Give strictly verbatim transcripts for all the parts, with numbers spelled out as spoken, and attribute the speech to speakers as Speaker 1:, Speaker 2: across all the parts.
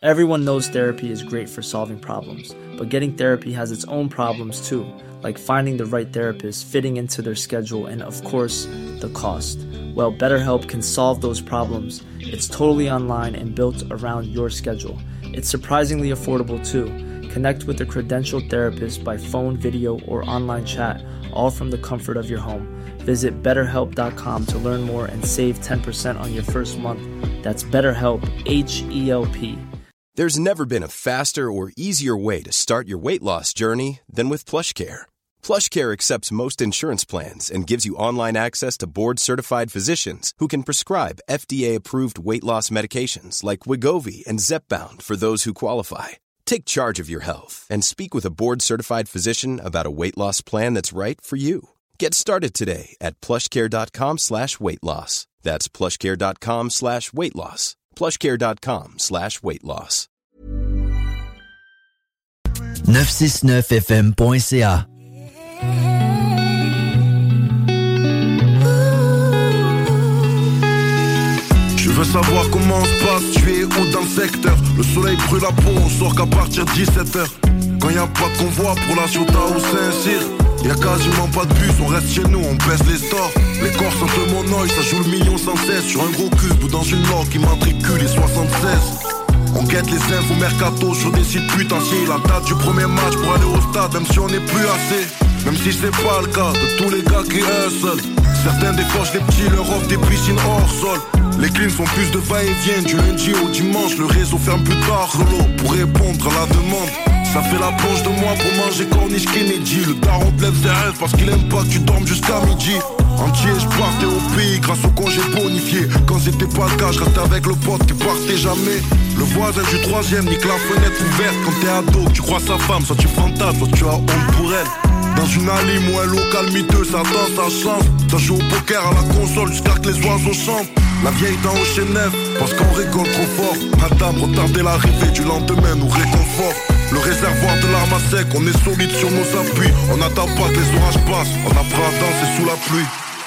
Speaker 1: Everyone knows therapy is great for solving problems, but getting therapy has its own problems too, like finding the right therapist, fitting into their schedule, and of course, the cost. Well, BetterHelp can solve those problems. It's totally online and built around your schedule. It's surprisingly affordable too. Connect with a credentialed therapist by phone, video, or online chat, all from the comfort of your home. Visit better help dot com to learn more and save ten percent on your first month. That's BetterHelp, H E L P.
Speaker 2: There's never been a faster or easier way to start your weight loss journey than with PlushCare. PlushCare accepts most insurance plans and gives you online access to board-certified physicians who can prescribe F D A-approved weight loss medications like Wegovy and Zepbound for those who qualify. Take charge of your health and speak with a board-certified physician about a weight loss plan that's right for you. Get started today at plushcare.com slash weight loss. That's plushcare.com slash weight loss. plushcare.com slash weight loss.
Speaker 3: neuf cent soixante-neuf F M point C A.
Speaker 4: Je veux savoir comment on se passe, tu es où dans le secteur? Le soleil brûle la peau, on sort qu'à partir de dix-sept heures. Quand y a pas de convoi pour la Ciotat ou Saint-Cyr, y a quasiment pas de bus, on reste chez nous, on baisse les stores. Les corps sentent le monoï, ça joue le million sans cesse. Sur un gros cube ou dans une log qui matricule les soixante-seize. On guette les infos mercato sur des sites putanciers. La date du premier match pour aller au stade, même si on n'est plus assez. Même si c'est pas le cas de tous les gars qui hustle. Certains décochent les petits, leur offrent des piscines hors sol. Les cleans font plus de va-et-vient du lundi au dimanche. Le réseau ferme plus tard, relot, pour répondre à la demande. Ça fait la plonge de moi pour manger corniche Kennedy. Le daron te lève ses rêves parce qu'il aime pas que tu dormes jusqu'à midi. Entier, je partais au pays grâce au congé bonifié. Quand c'était pas le cas, je restais avec le pote qui partait jamais. Le voisin du troisième nique la fenêtre ouverte. Quand t'es ado, tu crois sa femme, soit tu fantasmes, soit tu as honte pour elle. Dans une allée ou un local miteux, ça danse, ça chante. Ça joue au poker à la console jusqu'à que les oiseaux chantent. La vieille dans au Chenève, parce qu'on rigole trop fort. Madame, retardez l'arrivée du lendemain nous réconforte. Le réservoir de l'arme à sec, on est solide sur nos appuis. On n'attend pas que les orages passent, on apprend à danser sous la pluie.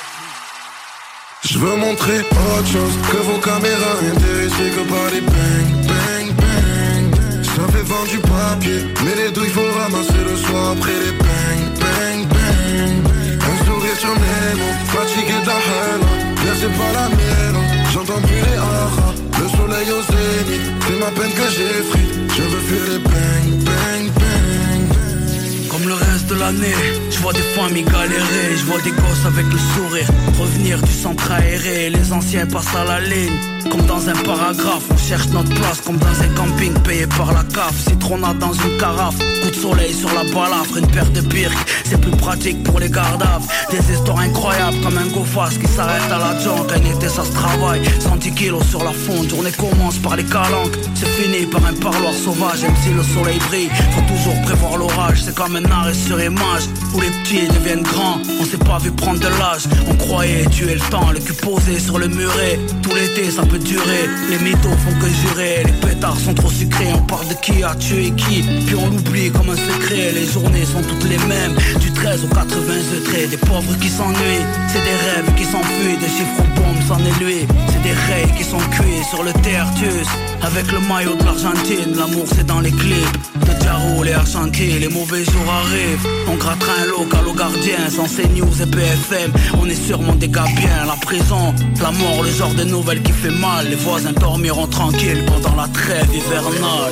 Speaker 4: Je veux montrer autre chose que vos caméras, intéressées que par les bang, bang, bang. Ça fait vendre du papier, mais les douilles faut ramasser le soir après les bang, bang, bang. Un sourire sur mes mots, fatigué de la haine. Là c'est pas la mienne, j'entends plus les haras. Le soleil au zénith, c'est ma peine que j'ai frite. Je veux fuir les bang, bang, bang.
Speaker 5: Comme le reste de l'année, je vois des familles galérer. Je vois des gosses avec le sourire revenir du centre aéré. Les anciens passent à la ligne comme dans un paragraphe. On cherche notre place comme dans un camping payé par la C A F. Citronnade dans une carafe, coup de soleil sur la balafre. Une paire de birks, c'est plus pratique pour les gardaves. Des histoires incroyables comme un go-fast qui s'arrête à la junk. Un été ça se travaille, cent dix kilos sur la fonte. Journée commence par les calanques, c'est fini par un parloir sauvage. Même si le soleil brille, faut toujours prévoir l'orage. C'est comme un arrêt sur image où les petits deviennent grands. On s'est pas vu prendre de l'âge, on croyait tuer le temps. Le cul posé sur le muret, tout l'été ça peut durer. Les mythos font que jurer, les pétards sont trop sucrés. On parle de qui a tué qui, puis on l'oublie comme un secret. Les journées sont toutes les mêmes, du treize au quatre-vingts degrés. Des pauvres qui s'ennuient, c'est des rêves qui s'enfuient. Des chiffres aux bombes s'en est lui, c'est des rails qui sont cuits sur le tertus. Avec le maillot de l'Argentine, l'amour c'est dans les clips de Jaro, les Argentines, les mauvais jours arrivent. On grattera un local au gardien, sans CNews et B F M. On est sûrement des gars bien, la prison, la mort, le genre de nouvelle qui fait mal. Les voisins dormiront tranquilles pendant la trêve hivernale.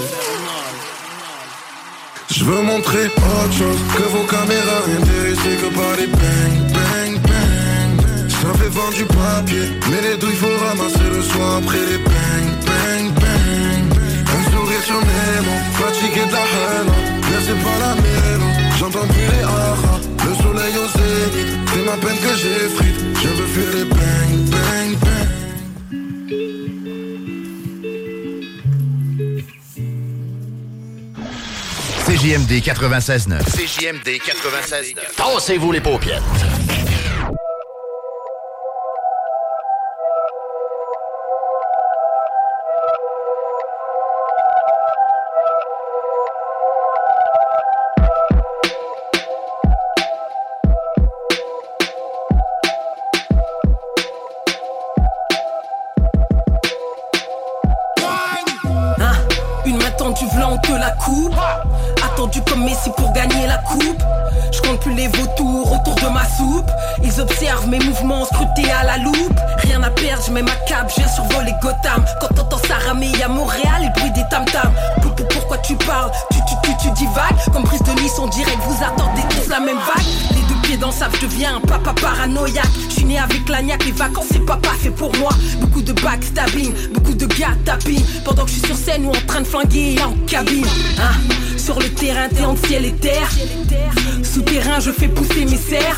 Speaker 4: Je veux montrer autre chose que vos caméras, intéressées que par les bang, bang, bang. Ça fait vendre du papier, mais les douilles faut ramasser le soir après les bang, bang, bang. Un sourire sur mes mots, fatigué de la haine. Là c'est pas la mienne, j'entends plus les haras. Le soleil au zénith, c'est ma peine que j'ai frite. Je veux fuir les bang, bang, bang.
Speaker 6: C J M D quatre-vingt-seize neuf.
Speaker 7: C J M D quatre-vingt-seize neuf.
Speaker 6: Tassez-vous les paupiètes.
Speaker 8: Attendu v'là on te la coupe. Attendu comme Messi pour gagner la coupe. Je compte plus les vautours autour de ma soupe. Ils observent mes mouvements scrutés à la loupe. Rien à perdre, je mets ma cape, je viens survoler Gotham. Quand t'entends ça ramer à Montréal, le bruit des tam-tams. Pourquoi tu parles, tu tu tu tu divagues. Comme prise de Nice en direct, vous attendez tous la même vague. Les deux pieds dans le sable, je deviens un papa paranoïaque. Je suis né avec l'agnac, les vacances c'est papa fait pour moi. Beaucoup de backstabbing, beaucoup de gars tapping. Pendant que je suis sur scène ou en train de flinguer en cabine hein. Sur le terrain, t'es entre ciel et terre. Souterrain, je fais pousser mes serres.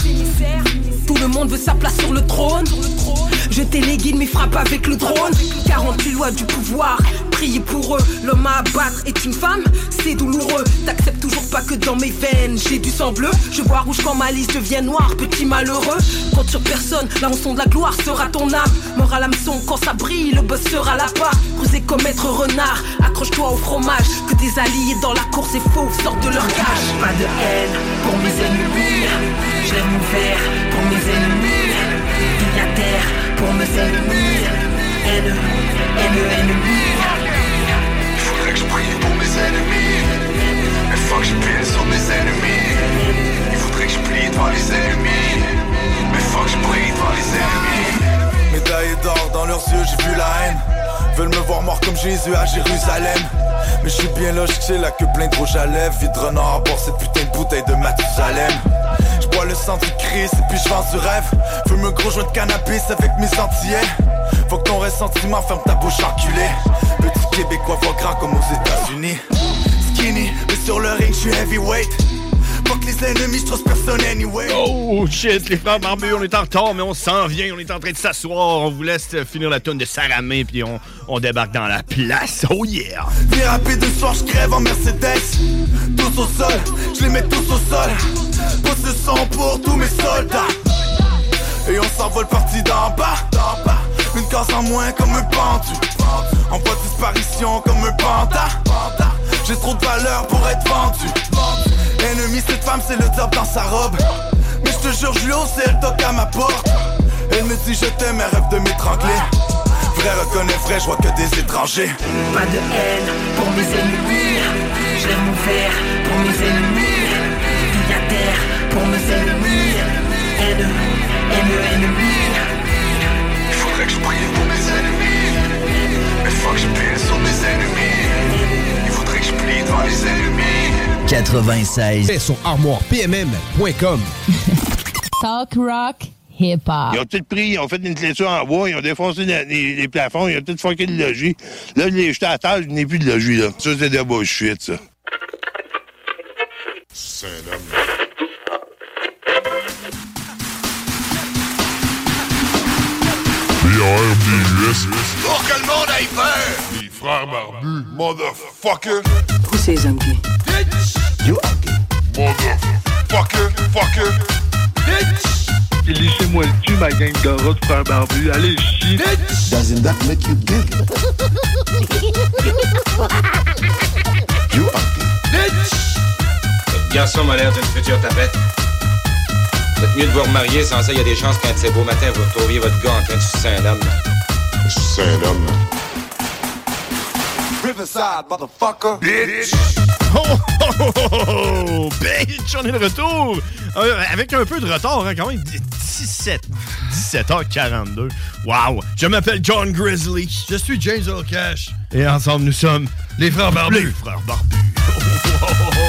Speaker 8: Tout le monde veut sa place sur le trône. Je téléguide mes frappes avec le drone. quarante-huit lois du pouvoir, priez pour eux. L'homme à abattre est une femme, c'est douloureux. T'acceptes toujours pas que dans mes veines j'ai du sang bleu. Je vois rouge quand ma liste devient noire, petit malheureux. Compte sur personne, la rançon de la gloire sera ton âme. Mort à l'hameçon, quand ça brille, le boss sera la part. Cruiser comme maître renard, accroche-toi au fromage. Que des alliés dans la course et faux sortent de leur cage. Pas de haine pour mes ennemis. Je lève mon verre pour mes ennemis. Vigne à terre pour mes ennemis. Haine, haine, ennemi.
Speaker 9: Faudrait que je prie pour mes ennemis. Mais faut que je pile sur mes ennemis. Il faudrait que je plie devant les ennemis. Mais faut que je prie devant les ennemis.
Speaker 4: Médaillés d'or dans leurs yeux, j'ai vu la haine. Veulent me voir mort comme Jésus à Jérusalem. Mais je suis bien logique, j'ai la queue pleine de rouge à lèvres. Vide renard à bord cette putain de bouteille de Mathusalem. Je bois le sang du Christ et puis je vends du rêve. Fume un gros joint de cannabis avec mes antillais. Faut que ton ressentiment ferme ta bouche enculée. Petit Québécois voit grand comme aux États-Unis. Skinny, mais sur le ring je suis heavyweight. Fuck les ennemis, je trust personne anyway.
Speaker 10: Oh shit, les frères barbus, on est en retard, mais on s'en vient, on est en train de s'asseoir. On vous laisse finir la tonne de Saramé, puis on, on débarque dans la place. Oh yeah!
Speaker 4: Bien rapide de soir, je crève en Mercedes. Tous au sol, je les mets tous au sol. Pose le son pour tous mes soldats. Et on s'envole parti d'en bas, d'en bas. Une case en moins comme un pendu. En voie de disparition comme un panda. J'ai trop de valeur pour être vendu. Ennemi, cette femme, c'est le diable dans sa robe. Mais je te jure, je lui hausse et elle toque à ma porte. Elle me dit je t'aime, elle rêve de m'étrangler. Vrai reconnaît vrai, je vois que des étrangers.
Speaker 8: Pas de haine pour mes ennemis. Je lève mon verre pour mes ennemis. Vigne à terre pour mes ennemis. Haine, haine, ennemi.
Speaker 9: Il faudrait que je prie pour mes ennemis. Mais faut que je pile sur mes ennemis. Il faudrait que je plie devant les ennemis.
Speaker 3: quatre-vingt-seize
Speaker 11: Et sur armoire p m m point com.
Speaker 12: Talk rock hip-hop.
Speaker 13: Ils ont tout pris, ils ont fait une clôture en bois, ils ont défoncé les, les, les plafonds, ils ont tout fucké le logis. Là, je l'ai jeté à terre, je n'ai plus de logis, là. Ça, c'est de la bullshit, ça.
Speaker 9: C'est un homme.
Speaker 14: B R B U S.
Speaker 9: Pour que le monde aille peur!
Speaker 14: Les frères barbus, motherfucker.
Speaker 8: Who says I'm gay?
Speaker 14: Bitch! You are gay. Motherfucker, fucker. Bitch!
Speaker 15: Lissez-moi le cul, ma gang de rats de frères barbus. Allez, chier.
Speaker 14: Bitch! Doesn't that make you gay? You are gay. Bitch!
Speaker 16: Votre garçon m'a l'air d'une future tapette. Vous êtes mieux de vous remarier, sans ça, il y a des chances qu'un de ces beaux matins, vous retrouviez votre gars en train de sucer un homme.
Speaker 14: Sucer un homme.
Speaker 9: Riverside, motherfucker.
Speaker 10: Bitch! Oh, oh, oh, oh, oh, bitch! On est de retour! Euh, avec un peu de retard, hein, quand même. dix-sept, dix-sept heures quarante-deux. Wow! Je m'appelle John Grizzly.
Speaker 11: Je suis James Earl Cash.
Speaker 10: Et ensemble, nous sommes
Speaker 11: les frères barbus.
Speaker 10: Les frères barbus. Oh, oh, oh, oh.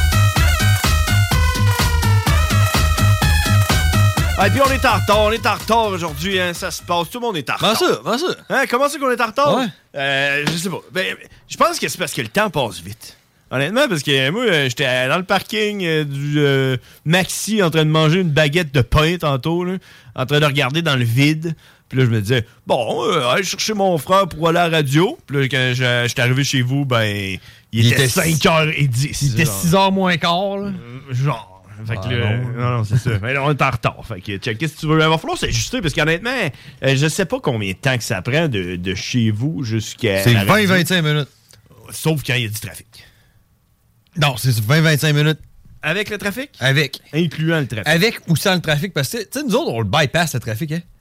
Speaker 10: Ah, et puis on est en retard, on est en retard aujourd'hui, hein, ça se passe, tout le monde est en retard.
Speaker 11: Comment ça, comment ça?
Speaker 10: Hein, comment c'est qu'on est en retard?
Speaker 11: Ouais.
Speaker 10: Euh, je sais pas. Ben, je pense que c'est parce que le temps passe vite. Honnêtement, parce que moi, j'étais dans le parking euh, du euh, Maxi en train de manger une baguette de pain tantôt, là, en train de regarder dans le vide. Puis là, je me disais, bon, euh, aller chercher mon frère pour aller à la radio. Puis là, quand j'étais arrivé chez vous, ben, il, il était, était cinq heures dix.
Speaker 11: Il était six heures moins quart, là.
Speaker 10: Euh, genre. Fait que
Speaker 11: ah,
Speaker 10: là, non, non, non c'est ça. Mais là, on est en retard. Fait que, check, qu'est-ce que tu veux? Il va falloir s'ajuster parce qu'honnêtement, euh, je sais pas combien de temps que ça prend de, de chez vous jusqu'à.
Speaker 11: C'est vingt à vingt-cinq minutes.
Speaker 10: Sauf quand il y a du trafic.
Speaker 11: Non, c'est vingt à vingt-cinq minutes.
Speaker 10: Avec le trafic?
Speaker 11: Avec.
Speaker 10: Incluant le trafic.
Speaker 11: Avec ou sans le trafic? Parce que, tu sais, nous autres, on le bypass, le trafic, hein?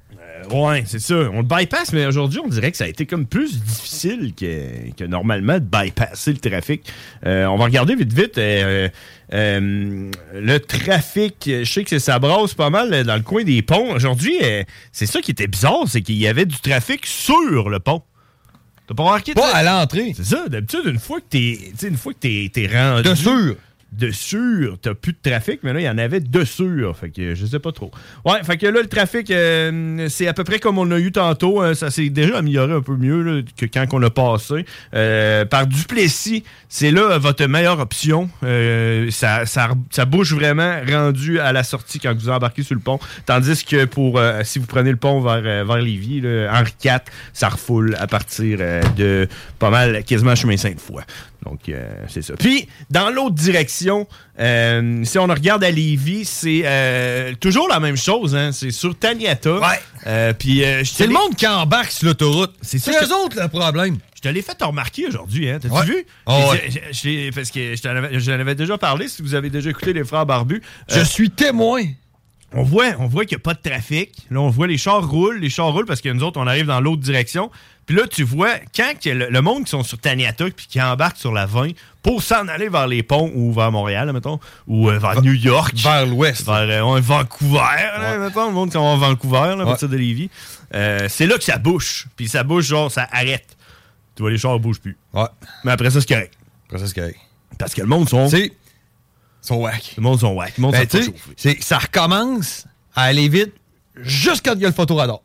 Speaker 10: ouais, c'est ça. On le bypass, mais aujourd'hui, on dirait que ça a été comme plus difficile que, que normalement de bypasser le trafic. Euh, on va regarder vite, vite. Euh, euh, le trafic, je sais que ça brasse pas mal dans le coin des ponts. Aujourd'hui, euh, c'est ça qui était bizarre, c'est qu'il y avait du trafic sur le pont. T'as pas remarqué?
Speaker 11: Pas à l'entrée.
Speaker 10: C'est ça. D'habitude, une fois que t'es, une fois que t'es, t'es rendu...
Speaker 11: De sûr.
Speaker 10: Dessus, t'as plus de trafic, mais là, il y en avait dessus. Fait que je sais pas trop. Ouais, fait que là, le trafic, euh, c'est à peu près comme on l'a eu tantôt. Hein, ça s'est déjà amélioré un peu mieux là, que quand on a passé. Euh, par Duplessis, c'est là votre meilleure option. Euh, ça, ça, ça bouge vraiment rendu à la sortie quand vous embarquez sur le pont. Tandis que pour euh, si vous prenez le pont vers, vers Lévis, là, Henri quatre, ça refoule à partir euh, de pas mal, quasiment chemin Sainte-Foy. Donc, euh, c'est ça. Puis, dans l'autre direction, euh, si on regarde à Lévis, c'est euh, toujours la même chose. Hein? C'est sur Taniata.
Speaker 11: Ouais.
Speaker 10: Euh, puis, euh,
Speaker 11: c'est le monde qui embarque sur l'autoroute. C'est
Speaker 10: ça,
Speaker 11: eux autres le problème.
Speaker 10: Je te l'ai fait remarquer aujourd'hui. Hein? T'as-tu
Speaker 11: ouais.
Speaker 10: vu?
Speaker 11: Oh, ouais.
Speaker 10: j'ai, j'ai, parce que je t'en avais, je t'en avais déjà parlé, si vous avez déjà écouté Les Frères Barbus.
Speaker 11: Je euh, suis témoin.
Speaker 10: On voit, on voit qu'il n'y a pas de trafic. Là, on voit les chars roulent. Les chars roulent parce que nous autres, on arrive dans l'autre direction. Puis là, tu vois, quand le, le monde qui sont sur Taniata puis qui embarque sur la vingt pour s'en aller vers les ponts ou vers Montréal, là, mettons, ou euh, vers New York.
Speaker 11: Vers l'ouest.
Speaker 10: Vers euh, Vancouver, là, ouais. mettons, le monde qui va à Vancouver, là, à partir ouais. de Lévis. Euh, c'est là que ça bouge. Puis ça bouge, genre, ça arrête. Tu vois, les chars ne bougent plus.
Speaker 11: Ouais.
Speaker 10: Mais après ça, c'est correct.
Speaker 11: Après ça, c'est correct.
Speaker 10: Parce que le monde sont...
Speaker 11: C'est... sont whack.
Speaker 10: Le monde sont whack. Le monde
Speaker 11: ben,
Speaker 10: sont pas chauffés.
Speaker 11: C'est, ça recommence à aller vite juste quand il y a le photoradar.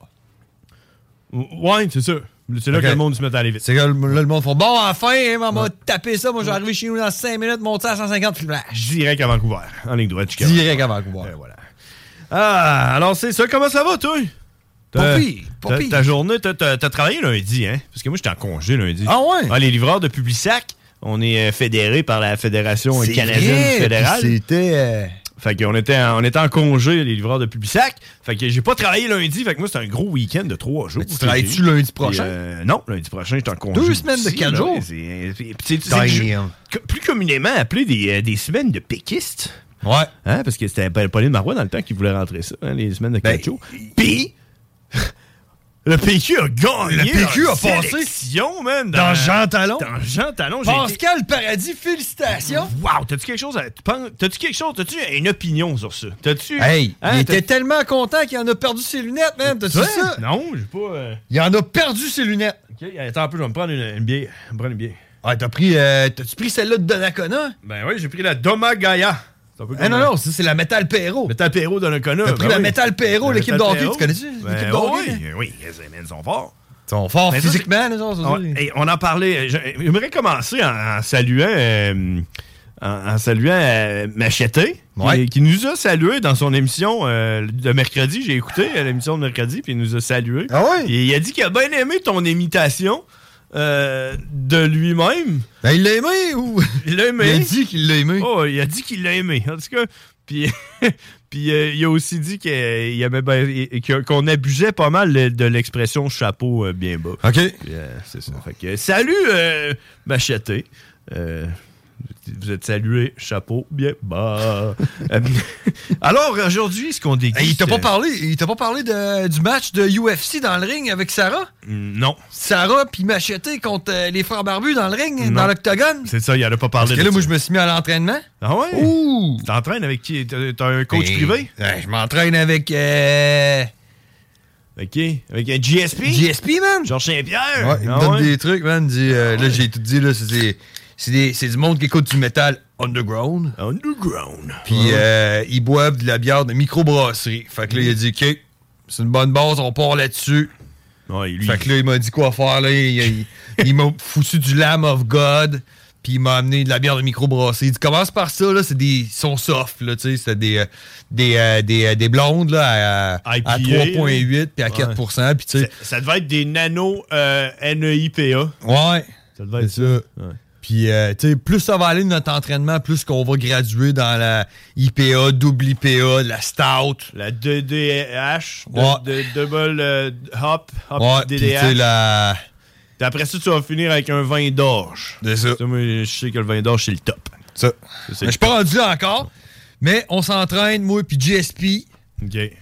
Speaker 10: Ouais, c'est ça. C'est là okay. que le monde se met à aller vite.
Speaker 11: C'est là que le monde fait bon, enfin, hein, on va ouais. taper ça. Moi, je vais arriver chez nous dans cinq minutes, monter à cent cinquante flash.
Speaker 10: Direct à Vancouver. En ligne droite.
Speaker 11: Direct à Vancouver.
Speaker 10: Et voilà. Ah, alors c'est ça. Comment ça va, toi?
Speaker 11: Pas pire, pas pire.
Speaker 10: Ta journée, t'as, t'as, t'as travaillé lundi, hein? Parce que moi, j'étais en congé lundi.
Speaker 11: Ah ouais?
Speaker 10: Ah, les livreurs de Publisac, on est fédérés par la Fédération c'est canadienne
Speaker 11: vrai,
Speaker 10: fédérale.
Speaker 11: C'était... Euh...
Speaker 10: Fait qu'on était en, on était en congé, les livreurs de Publisac. Fait que j'ai pas travaillé lundi. Fait que moi, c'était un gros week-end de trois jours.
Speaker 11: Mais tu travailles-tu lundi prochain?
Speaker 10: Euh, non, lundi prochain, j'étais en congé.
Speaker 11: Deux semaines de quatre jours?
Speaker 10: C'est, c'est, c'est, c'est, c'est plus communément appelé des, des semaines de péquistes.
Speaker 11: Ouais.
Speaker 10: Hein, parce que c'était Pauline Marois dans le temps qui voulait rentrer ça, hein, les semaines de quatre ben, jours. Puis... Le P Q a gagné.
Speaker 11: Le P Q a passé.
Speaker 10: Man,
Speaker 11: dans, dans Jean Talon.
Speaker 10: Dans Jean Talon.
Speaker 11: Pascal été... Paradis, félicitations.
Speaker 10: Wow, t'as-tu quelque chose à... T'as-tu quelque chose? T'as-tu une opinion sur ça? T'as-tu...
Speaker 11: Hey, hein, il
Speaker 10: t'as...
Speaker 11: était tellement content qu'il en a perdu ses lunettes, man. T'as-tu ouais? ça?
Speaker 10: Non, j'ai pas... Euh...
Speaker 11: Il en a perdu ses lunettes.
Speaker 10: OK, attends un peu, je vais me prendre une, une bière. Je vais me prendre une bière.
Speaker 11: Ah, t'as pris... Euh, t'as-tu pris celle-là de Donnacona?
Speaker 10: Ben oui, j'ai pris la Domagaya.
Speaker 11: Ah non, non, ça, c'est la Metal Perro.
Speaker 10: Metal Perro de Donnacona.
Speaker 11: T'as pris
Speaker 10: ben
Speaker 11: la
Speaker 10: oui.
Speaker 11: Metal Perro, l'équipe d'hockey, tu connais-tu?
Speaker 10: Ben
Speaker 11: l'équipe d'hockey?
Speaker 10: Oui, oui, les sont forts.
Speaker 11: Ils sont forts ben physiquement, les autres.
Speaker 10: On, et on en parlait. J'aimerais commencer en, en saluant, euh, en, en saluant euh, Macheté,
Speaker 11: ouais.
Speaker 10: qui, qui nous a salué dans son émission euh, de mercredi. J'ai écouté l'émission de mercredi, puis il nous a salué.
Speaker 11: Ah ouais?
Speaker 10: Et il a dit qu'il a bien aimé ton imitation. Euh, de lui-même.
Speaker 11: Ben, il l'a aimé ou...
Speaker 10: Il l'a aimé.
Speaker 11: Il a dit qu'il l'a aimé.
Speaker 10: Oh, il a dit qu'il l'a aimé. En tout cas, puis, puis euh, il a aussi dit qu'il aimait ben, qu'on abusait pas mal de l'expression chapeau euh, bien bas.
Speaker 11: OK.
Speaker 10: Puis, euh, c'est ça. Fait que, salut, euh, Macheté. Euh, vous êtes salué, chapeau bien bas. Alors, aujourd'hui, ce qu'on déguste...
Speaker 11: Hey, il t'a pas parlé, il t'a pas parlé de, du match de U F C dans le ring avec Sarah?
Speaker 10: Non.
Speaker 11: Sarah puis Macheté contre euh, les frères barbus dans le ring, non. Dans l'octogone?
Speaker 10: C'est ça, il en a pas parlé.
Speaker 11: Parce que là, moi, je me suis mis à l'entraînement.
Speaker 10: Ah ouais?
Speaker 11: Ouh!
Speaker 10: Tu t'entraînes avec qui? T'as un coach
Speaker 11: ben,
Speaker 10: privé?
Speaker 11: Ben, je m'entraîne avec... Euh...
Speaker 10: OK. Avec un G S P?
Speaker 11: G S P, man!
Speaker 10: Georges Saint-Pierre?
Speaker 11: Ouais, il me
Speaker 10: ah
Speaker 11: donne
Speaker 10: ouais?
Speaker 11: des trucs, man. Dit, euh, ah là, ouais. j'ai tout dit, là, c'est... C'est, des, c'est du monde qui écoute du métal underground.
Speaker 10: Underground.
Speaker 11: Puis uh-huh. euh, ils boivent de la bière de microbrasserie. Fait que là, il a dit, OK, c'est une bonne base, on part là-dessus.
Speaker 10: Ouais, lui,
Speaker 11: fait que là, il m'a dit quoi faire. Là. Il, il, il m'a foutu du Lamb of God. Puis il m'a amené de la bière de microbrasserie. Il dit, commence par ça, là, c'est des. Ils sont soft, là, tu sais. C'est des, des, euh, des, euh, des blondes, là, à, à trois virgule huit puis à quatre pour cent. Puis, tu sais.
Speaker 10: Ça, ça devait être des nano euh, N E I P A.
Speaker 11: Ouais.
Speaker 10: Ça devait être
Speaker 11: c'est ça. ça. Ouais. Puis, euh, tu sais, plus ça va aller de notre entraînement, plus qu'on va graduer dans la I P A, double I P A, la Stout.
Speaker 10: La D D H,
Speaker 11: ouais.
Speaker 10: de, de, double euh, hop, hop,
Speaker 11: ouais,
Speaker 10: D D H.
Speaker 11: Puis, la...
Speaker 10: Puis après ça, tu vas finir avec un vin d'orge.
Speaker 11: C'est ça.
Speaker 10: ça moi, je sais que le vin d'orge, c'est le top.
Speaker 11: Ça. ça je suis pas rendu là encore, mais on s'entraîne, moi, puis G S P.
Speaker 10: OK.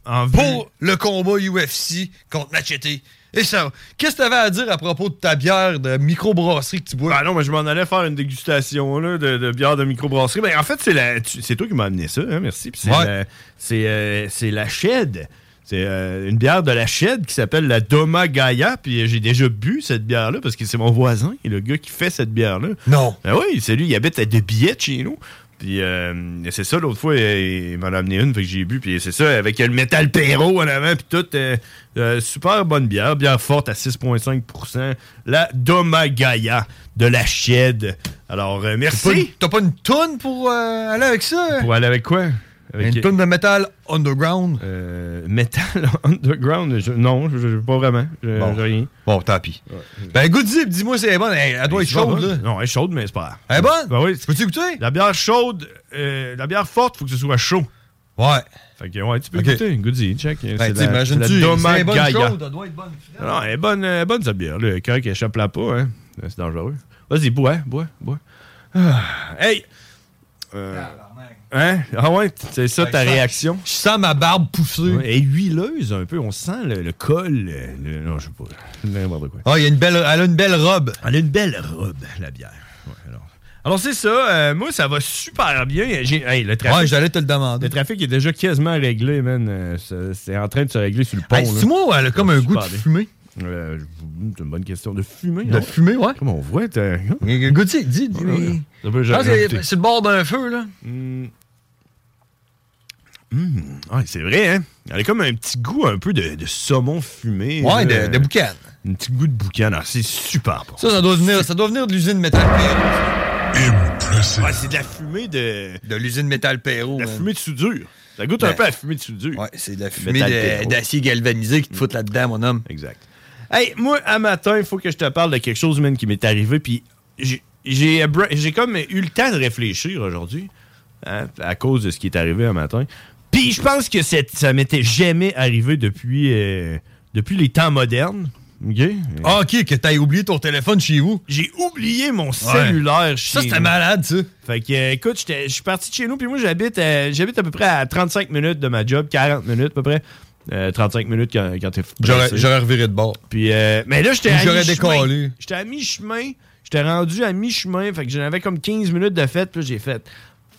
Speaker 10: en vue.
Speaker 11: Pour le combat U F C contre Machete. Et ça, qu'est-ce que tu avais à dire à propos de ta bière de microbrasserie que tu bois?
Speaker 10: Ben non, mais je m'en allais faire une dégustation là, de, de bière de microbrasserie. Ben, en fait, c'est la, tu, c'est toi qui m'as amené ça, hein, merci. Puis c'est,
Speaker 11: ouais.
Speaker 10: la, c'est, euh, c'est la Shed. C'est euh, une bière de la Shed qui s'appelle la Domagaya. Puis j'ai déjà bu cette bière-là parce que c'est mon voisin, le gars qui fait cette bière-là.
Speaker 11: Non.
Speaker 10: Ben oui, c'est lui, il habite à deux billettes chez nous. Puis euh, c'est ça, l'autre fois, il, il m'en a amené une, fait que j'ai bu. Puis c'est ça, avec le métal Perro en avant, puis tout. Euh, euh, super bonne bière, bière forte à six virgule cinq pour cent. La Domagaya de la Shed. Alors, euh, merci.
Speaker 11: T'as pas, une, t'as pas une toune pour euh, aller avec ça?
Speaker 10: Pour aller avec quoi? Avec
Speaker 11: une toune de Metal Underground?
Speaker 10: Euh, Metal Underground? Je, non, je, je, pas vraiment. Je,
Speaker 11: bon.
Speaker 10: J'ai rien.
Speaker 11: Bon, tant pis. Ouais. Ben, goûte-y, dis-moi si elle est bonne. Elle, elle doit être chaude, là.
Speaker 10: Non, elle est chaude, mais c'est pas grave.
Speaker 11: Elle est bonne?
Speaker 10: Ben oui.
Speaker 11: Peux-tu goûter?
Speaker 10: La bière chaude, euh, la bière forte, faut que ce soit chaud.
Speaker 11: Ouais.
Speaker 10: Fait que, ouais, tu peux
Speaker 11: okay.
Speaker 10: goûter. Goûte-y, check.
Speaker 11: Ben,
Speaker 10: c'est la,
Speaker 11: c'est la Domagaya. Chaude, elle doit être bonne.
Speaker 10: Non, elle est bonne, elle est bonne, cette bière. Le cœur qui échappe là pas, hein. C'est dangereux. Vas-y, bois, bois, bois. Ah. Hey! Euh, hein? Ah ouais, c'est ça ta réaction?
Speaker 11: Je sens ma barbe pousser.
Speaker 10: Ouais, elle est huileuse un peu, on sent le, le col. Le, le, non, je sais pas. N'importe quoi.
Speaker 11: Ah, il y a une belle, elle a une belle robe.
Speaker 10: Elle a une belle robe, la bière. Ouais, alors. alors, c'est ça. Euh, moi, ça va super bien. J'ai, hey, le trafic,
Speaker 11: ouais, j'allais te le demander.
Speaker 10: Le trafic est déjà quasiment réglé, man. Euh, c'est, c'est en train de se régler sur le pont.
Speaker 11: Hey, c'est moi, elle a comme un goût de fumée.
Speaker 10: Euh, c'est une bonne question. De fumer,
Speaker 11: De
Speaker 10: non?
Speaker 11: fumer, ouais.
Speaker 10: Comment on voit? T'as...
Speaker 11: Goûtez, dis, dis.
Speaker 10: Ouais,
Speaker 11: ah, c'est, c'est le bord d'un feu, là.
Speaker 10: Mm. Mm. Ouais, c'est vrai, hein? Elle a comme un petit goût un peu de, de saumon fumé.
Speaker 11: Ouais,
Speaker 10: là.
Speaker 11: de, de boucan.
Speaker 10: Un petit goût de boucan. Alors, c'est super bon.
Speaker 11: Ça, ça doit venir, ça doit venir de l'usine Metal Perro.
Speaker 10: Ouais, c'est de la fumée de...
Speaker 11: De l'usine Metal Perro.
Speaker 10: De la
Speaker 11: man.
Speaker 10: fumée de soudure. Ça goûte ben, un peu à la fumée de soudure.
Speaker 11: Ouais, c'est de la fumée de, d'acier galvanisé qui te fout là-dedans, mon homme.
Speaker 10: Exact. Hey, moi, à matin, il faut que je te parle de quelque chose, man, qui m'est arrivé, puis j'ai, j'ai, j'ai comme eu le temps de réfléchir aujourd'hui, hein, à cause de ce qui est arrivé à matin. Puis je pense que c'est, ça m'était jamais arrivé depuis, euh, depuis les temps modernes. OK?
Speaker 11: Ah, OK, que t'as oublié ton téléphone chez vous.
Speaker 10: J'ai oublié mon cellulaire
Speaker 11: ouais.
Speaker 10: chez
Speaker 11: Ça, c'était nous. Malade, ça.
Speaker 10: Fait que, euh, écoute, je suis parti de chez nous, puis moi, j'habite, euh, j'habite à peu près à trente-cinq minutes de ma job, quarante minutes à peu près. Euh, trente-cinq minutes quand, quand t'es
Speaker 11: j'aurais, j'aurais reviré de bord.
Speaker 10: Puis, euh, mais là, j'étais à
Speaker 11: j'aurais
Speaker 10: mi-chemin.
Speaker 11: Décollé.
Speaker 10: J'étais à mi-chemin. J'étais rendu à mi-chemin. Fait que j'en avais comme quinze minutes de fête. Puis là, j'ai fait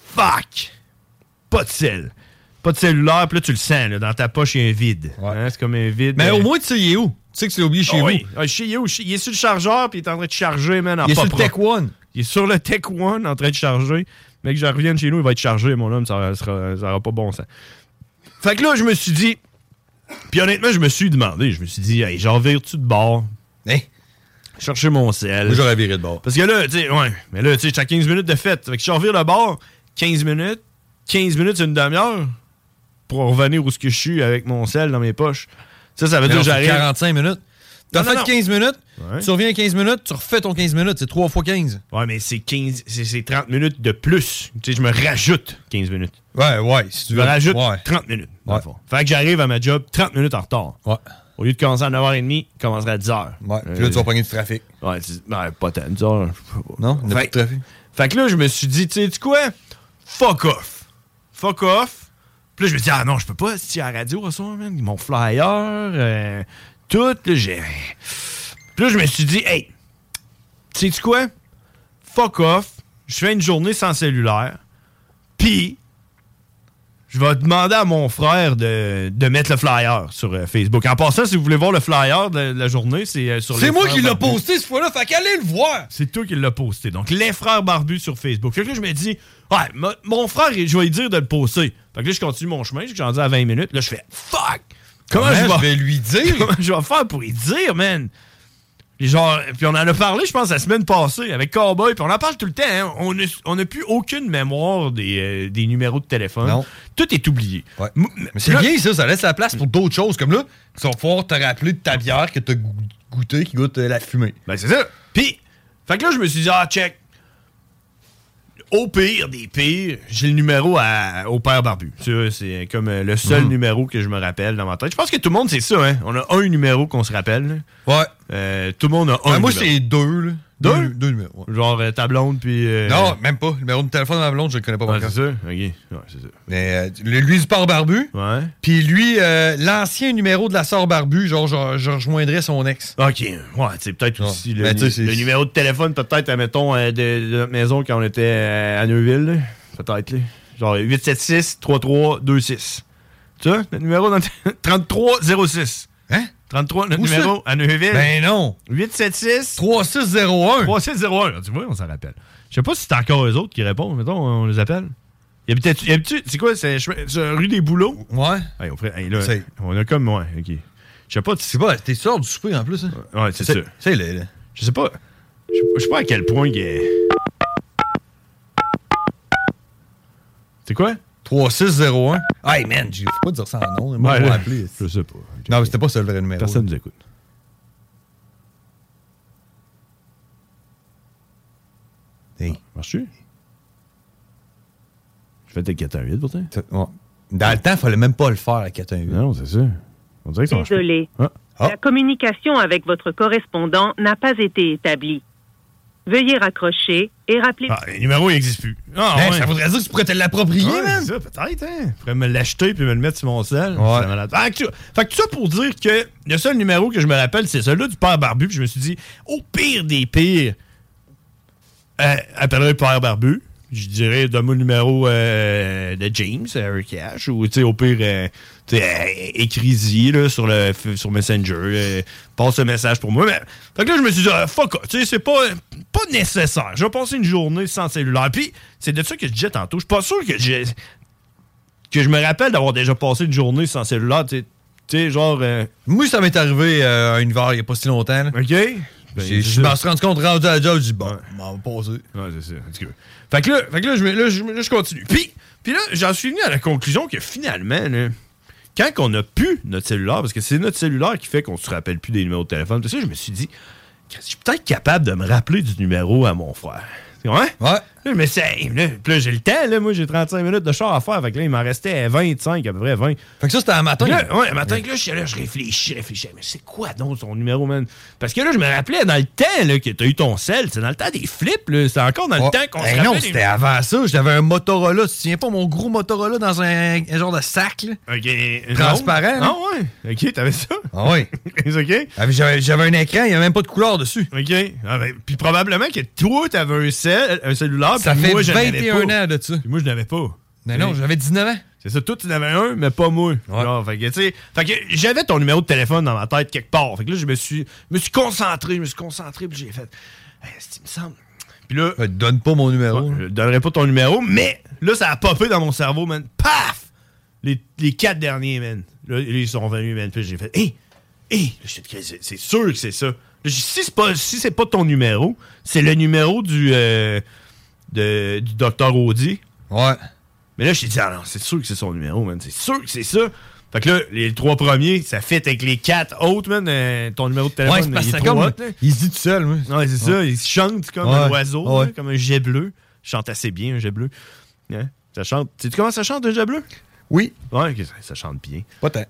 Speaker 10: fuck! Pas de sel. Pas de cellulaire. Puis là, tu le sens. Là, dans ta poche, il y a un vide. Ouais. Hein, c'est comme un vide.
Speaker 11: Mais
Speaker 10: euh...
Speaker 11: au moins, tu sais, il est où? Tu sais que tu l'as oublié chez
Speaker 10: oh,
Speaker 11: vous.
Speaker 10: Oui. Ah, chez où? Il est sur le chargeur. Puis il est en train de charger, man. En
Speaker 11: il est
Speaker 10: pas
Speaker 11: sur le Tech One.
Speaker 10: Il est sur le Tech One en train de charger. Mais que je revienne chez nous, il va être chargé, mon homme. Ça sera, ça aura pas bon sens. Fait que là, je me suis dit. Puis honnêtement, je me suis demandé, je me suis dit, hey, j'en vire-tu de bord?
Speaker 11: Hein?
Speaker 10: Chercher mon sel.
Speaker 11: Moi, j'aurais viré de bord.
Speaker 10: Parce que là, tu sais, ouais, mais là, tu sais, j'étais à quinze minutes de fête. Fait que je revire de bord, quinze minutes, quinze minutes, c'est une demi-heure pour revenir où ce que je suis avec mon sel dans mes poches. Ça, ça veut mais dire que j'arrive.
Speaker 11: quarante-cinq minutes. T'as non, fait non, quinze minutes, ouais. Tu reviens à quinze minutes, tu refais ton quinze minutes, c'est trois fois quinze.
Speaker 10: Ouais, mais c'est quinze, c'est, c'est trente minutes de plus. Tu sais, je me rajoute quinze minutes.
Speaker 11: Ouais, ouais. Si tu
Speaker 10: je me
Speaker 11: veux.
Speaker 10: rajoute
Speaker 11: ouais.
Speaker 10: trente minutes.
Speaker 11: Ouais.
Speaker 10: Fait que j'arrive à ma job trente minutes en retard.
Speaker 11: Ouais.
Speaker 10: Au lieu de commencer à neuf heures trente, je commencerai à dix heures.
Speaker 11: Ouais. Puis là, tu vas pogner du trafic.
Speaker 10: Ouais, tu... ouais, pas tant, dix heures.
Speaker 11: Non, il n'y a pas de trafic.
Speaker 10: Fait que là, je me suis dit, tu sais, tu quoi? Fuck off. Fuck off. Puis là, je me dis, ah non, je peux pas, si à la radio, ça, man. Mon flyer, euh, tout, là, j'ai. Puis là, je me suis dit, hey, tu sais-tu quoi? Fuck off. Je fais une journée sans cellulaire. Puis, je vais demander à mon frère de, de mettre le flyer sur euh, Facebook. En passant, si vous voulez voir le flyer de, de la journée, c'est euh, sur
Speaker 11: C'est moi qui l'ai posté cette fois-là, fait qu'allez le voir!
Speaker 10: C'est toi qui l'as posté. Donc, les frères barbus sur Facebook. Fait que là, je me dis, ouais, m- mon frère, je vais lui dire de le poster. Fait que là, je continue mon chemin, je suis rendu à vingt minutes. Là, je fais, fuck! Comment,
Speaker 11: Comment je,
Speaker 10: je
Speaker 11: vais lui dire?
Speaker 10: Comment je vais faire pour lui dire, man? Et genre, puis on en a parlé, je pense, la semaine passée avec Cowboy, puis on en parle tout le temps. Hein? On n'a on a plus aucune mémoire des, euh, des numéros de téléphone.
Speaker 11: Non.
Speaker 10: Tout est oublié.
Speaker 11: Ouais. M- Mais c'est là, bien ça, ça laisse la place pour d'autres choses. Comme là, tu vas pouvoir te rappeler de ta bière que tu as goûté qui goûte euh, la fumée.
Speaker 10: Ben c'est ça. Puis, fait que là, je me suis dit, ah, check. Au pire des pires, j'ai le numéro à, au père barbu. Ça, c'est comme euh, le seul mmh. numéro que je me rappelle dans ma tête. Je pense que tout le monde, c'est ça, hein. On a un numéro qu'on se rappelle. Là.
Speaker 11: Ouais.
Speaker 10: Euh, tout le monde a un
Speaker 11: ben,
Speaker 10: numéro.
Speaker 11: Moi, c'est deux, là.
Speaker 10: Deux?
Speaker 11: Deux, deux numéros. Ouais.
Speaker 10: Genre euh, ta blonde, puis... Euh...
Speaker 11: Non, même pas. Le numéro de téléphone de ma blonde, je le connais pas
Speaker 10: ouais,
Speaker 11: par
Speaker 10: c'est ça? OK. Ouais, c'est ça.
Speaker 11: Mais euh, lui, du port barbu.
Speaker 10: Ouais.
Speaker 11: Puis lui, euh, l'ancien numéro de la sœur barbu, genre, je, je rejoindrais son ex.
Speaker 10: OK. Ouais, c'est peut-être
Speaker 11: ouais.
Speaker 10: aussi le,
Speaker 11: ben,
Speaker 10: nu- le numéro de téléphone, peut-être, admettons, euh, de, de notre maison quand on était euh, à Neuville. Là. Peut-être, là. Genre huit sept six trois trois deux six. Tu vois, notre numéro dans trente-trois zéro six.
Speaker 11: Hein?
Speaker 10: trente-trois, notre
Speaker 11: Où
Speaker 10: numéro
Speaker 11: ça?
Speaker 10: à Neuville.
Speaker 11: Ben non.
Speaker 10: huit sept six
Speaker 11: trois six zéro un.
Speaker 10: trois six zéro un. Tu vois, on s'en rappelle. Je sais pas si c'est encore eux autres qui répondent. Mettons, on les appelle. Il y a peut-être. C'est quoi? C'est, c'est rue des Bouleaux?
Speaker 11: Ouais.
Speaker 10: Hey, on, ferait, hey, là, on a comme. Ouais, OK. Je sais pas. Tu
Speaker 11: sais pas, t'es sûr du souper en plus, hein?
Speaker 10: Ouais, c'est, c'est ça.
Speaker 11: C'est là, là.
Speaker 10: Je sais pas. Je sais pas à quel point il est. C'est quoi?
Speaker 11: trois six zéro un. Hey man, je faut pas dire ça en nom. Moi,
Speaker 10: ouais,
Speaker 11: je vais
Speaker 10: là,
Speaker 11: appeler.
Speaker 10: Je sais pas.
Speaker 11: Non, mais c'était pas ça le vrai numéro.
Speaker 10: Personne nous écoute.
Speaker 11: Hey.
Speaker 10: Marche-tu? Je fais tes quatre un huit pour toi.
Speaker 11: Ouais. Dans le temps, il fallait même pas le faire à quatre un huit.
Speaker 10: Non, c'est ça. On dirait que ça
Speaker 17: Désolé.
Speaker 10: Ah.
Speaker 17: Ah. La communication avec votre correspondant n'a pas été établie. Veuillez raccrocher et rappeler...
Speaker 10: Ah, le numéro, il n'existe plus. Ah,
Speaker 11: hey,
Speaker 10: ouais.
Speaker 11: Ça voudrait dire que tu pourrais te l'approprier,
Speaker 10: ouais,
Speaker 11: man.
Speaker 10: C'est ça, peut-être, hein. Je pourrais me l'acheter puis me le mettre sur mon sel.
Speaker 11: Ouais.
Speaker 10: Fait que, fait que tout ça pour dire que le seul numéro que je me rappelle, c'est celui-là du père barbu. Puis je me suis dit, au pire des pires, euh, appellerai le père barbu. Je dirais, donne-moi le numéro euh, de James, Eric Cash, ou tu sais, au pire, euh, tu sais, euh, écris-y là, sur, le, sur Messenger, euh, passe le message pour moi. Mais, fait que là, je me suis dit, ah, fuck, tu sais, c'est pas, pas nécessaire. Je vais passer une journée sans cellulaire. Puis, c'est de ça que je disais tantôt. Je suis pas sûr que j'ai que je me rappelle d'avoir déjà passé une journée sans cellulaire, tu sais, genre... Euh...
Speaker 11: Moi, ça m'est arrivé euh, à un hiver, il y a pas si longtemps. Là.
Speaker 10: OK.
Speaker 11: Ben, je me suis rendu compte, rendu à la job, je dis, bon,
Speaker 10: ouais.
Speaker 11: m'en va passer.
Speaker 10: Ouais, c'est ça. En tout cas. Fait que là, fait que là, je, là, je, là, je continue. Puis, puis là, j'en suis venu à la conclusion que finalement, là, quand on n'a plus notre cellulaire, parce que c'est notre cellulaire qui fait qu'on se rappelle plus des numéros de téléphone, tout ça, je me suis dit, je suis peut-être capable de me rappeler du numéro à mon frère. Ouais?
Speaker 11: Ouais.
Speaker 10: Là, mais c'est. Là, là j'ai le temps, là. Moi, j'ai trente-cinq minutes de char à faire. Fait que là, il m'en restait vingt-cinq, à peu près vingt.
Speaker 11: Fait que ça, c'était un matin.
Speaker 10: Là, ouais, un matin que là, je, là, je réfléchis, je réfléchis. Mais c'est quoi donc son numéro, man? Parce que là, je me rappelais dans le temps, là, que t'as eu ton sel. C'est dans le temps des flips, là. C'est encore dans le
Speaker 11: oh.
Speaker 10: temps qu'on
Speaker 11: hey,
Speaker 10: se rappelait.
Speaker 11: Non, c'était des... avant ça. J'avais un Motorola. Tu te souviens pas, mon gros Motorola dans un, un genre de sac, là?
Speaker 10: OK.
Speaker 11: Transparent.
Speaker 10: Ah ouais? OK, t'avais ça?
Speaker 11: Ah ouais.
Speaker 10: OK.
Speaker 11: J'avais, j'avais un écran, il n'y avait même pas de couleur dessus.
Speaker 10: OK. Ah, ben, puis probablement que toi, t'avais un, cell, un cellulaire.
Speaker 11: Ça fait
Speaker 10: moi,
Speaker 11: vingt et un ans de ça.
Speaker 10: Puis moi, je n'avais pas.
Speaker 11: Mais non, j'avais dix-neuf ans.
Speaker 10: C'est ça, toi, tu en avais un, mais pas moi.
Speaker 11: Ouais.
Speaker 10: Genre, fait que, tu sais, fait que j'avais ton numéro de téléphone dans ma tête quelque part. Fait que là, je me suis, me suis concentré, je me suis concentré, puis j'ai fait, hey, il me semble. Puis là.
Speaker 11: Ouais, donne pas mon numéro.
Speaker 10: Ouais, je donnerai pas ton numéro, mais là, ça a popé dans mon cerveau, man. Paf! Les, les quatre derniers, man. Là, ils sont venus, man. Puis j'ai fait, hé! Hé! C'est, c'est sûr que c'est ça. Là, j'ai dit, si c'est pas, si c'est pas ton numéro, c'est le numéro du, euh, de, du docteur Audi.
Speaker 11: Ouais.
Speaker 10: Mais là, je t'ai dit, ah non, c'est sûr que c'est son numéro, man. C'est sûr que c'est ça. Fait que là, les trois premiers, ça fit avec les quatre autres, man. Euh, ton numéro de téléphone,
Speaker 11: ouais, c'est parce
Speaker 10: il est
Speaker 11: que
Speaker 10: trop
Speaker 11: comme,
Speaker 10: hot,
Speaker 11: il se dit tout seul, moi.
Speaker 10: Ouais, c'est
Speaker 11: ouais.
Speaker 10: ça. Il chante comme
Speaker 11: ouais.
Speaker 10: un oiseau,
Speaker 11: ouais.
Speaker 10: là, comme un jet bleu. Je chante assez bien, un jet bleu. Hein? Ça chante. Tu sais comment ça chante, un jet bleu?
Speaker 11: Oui.
Speaker 10: Ouais, okay, ça, ça chante bien.
Speaker 11: Pas tant.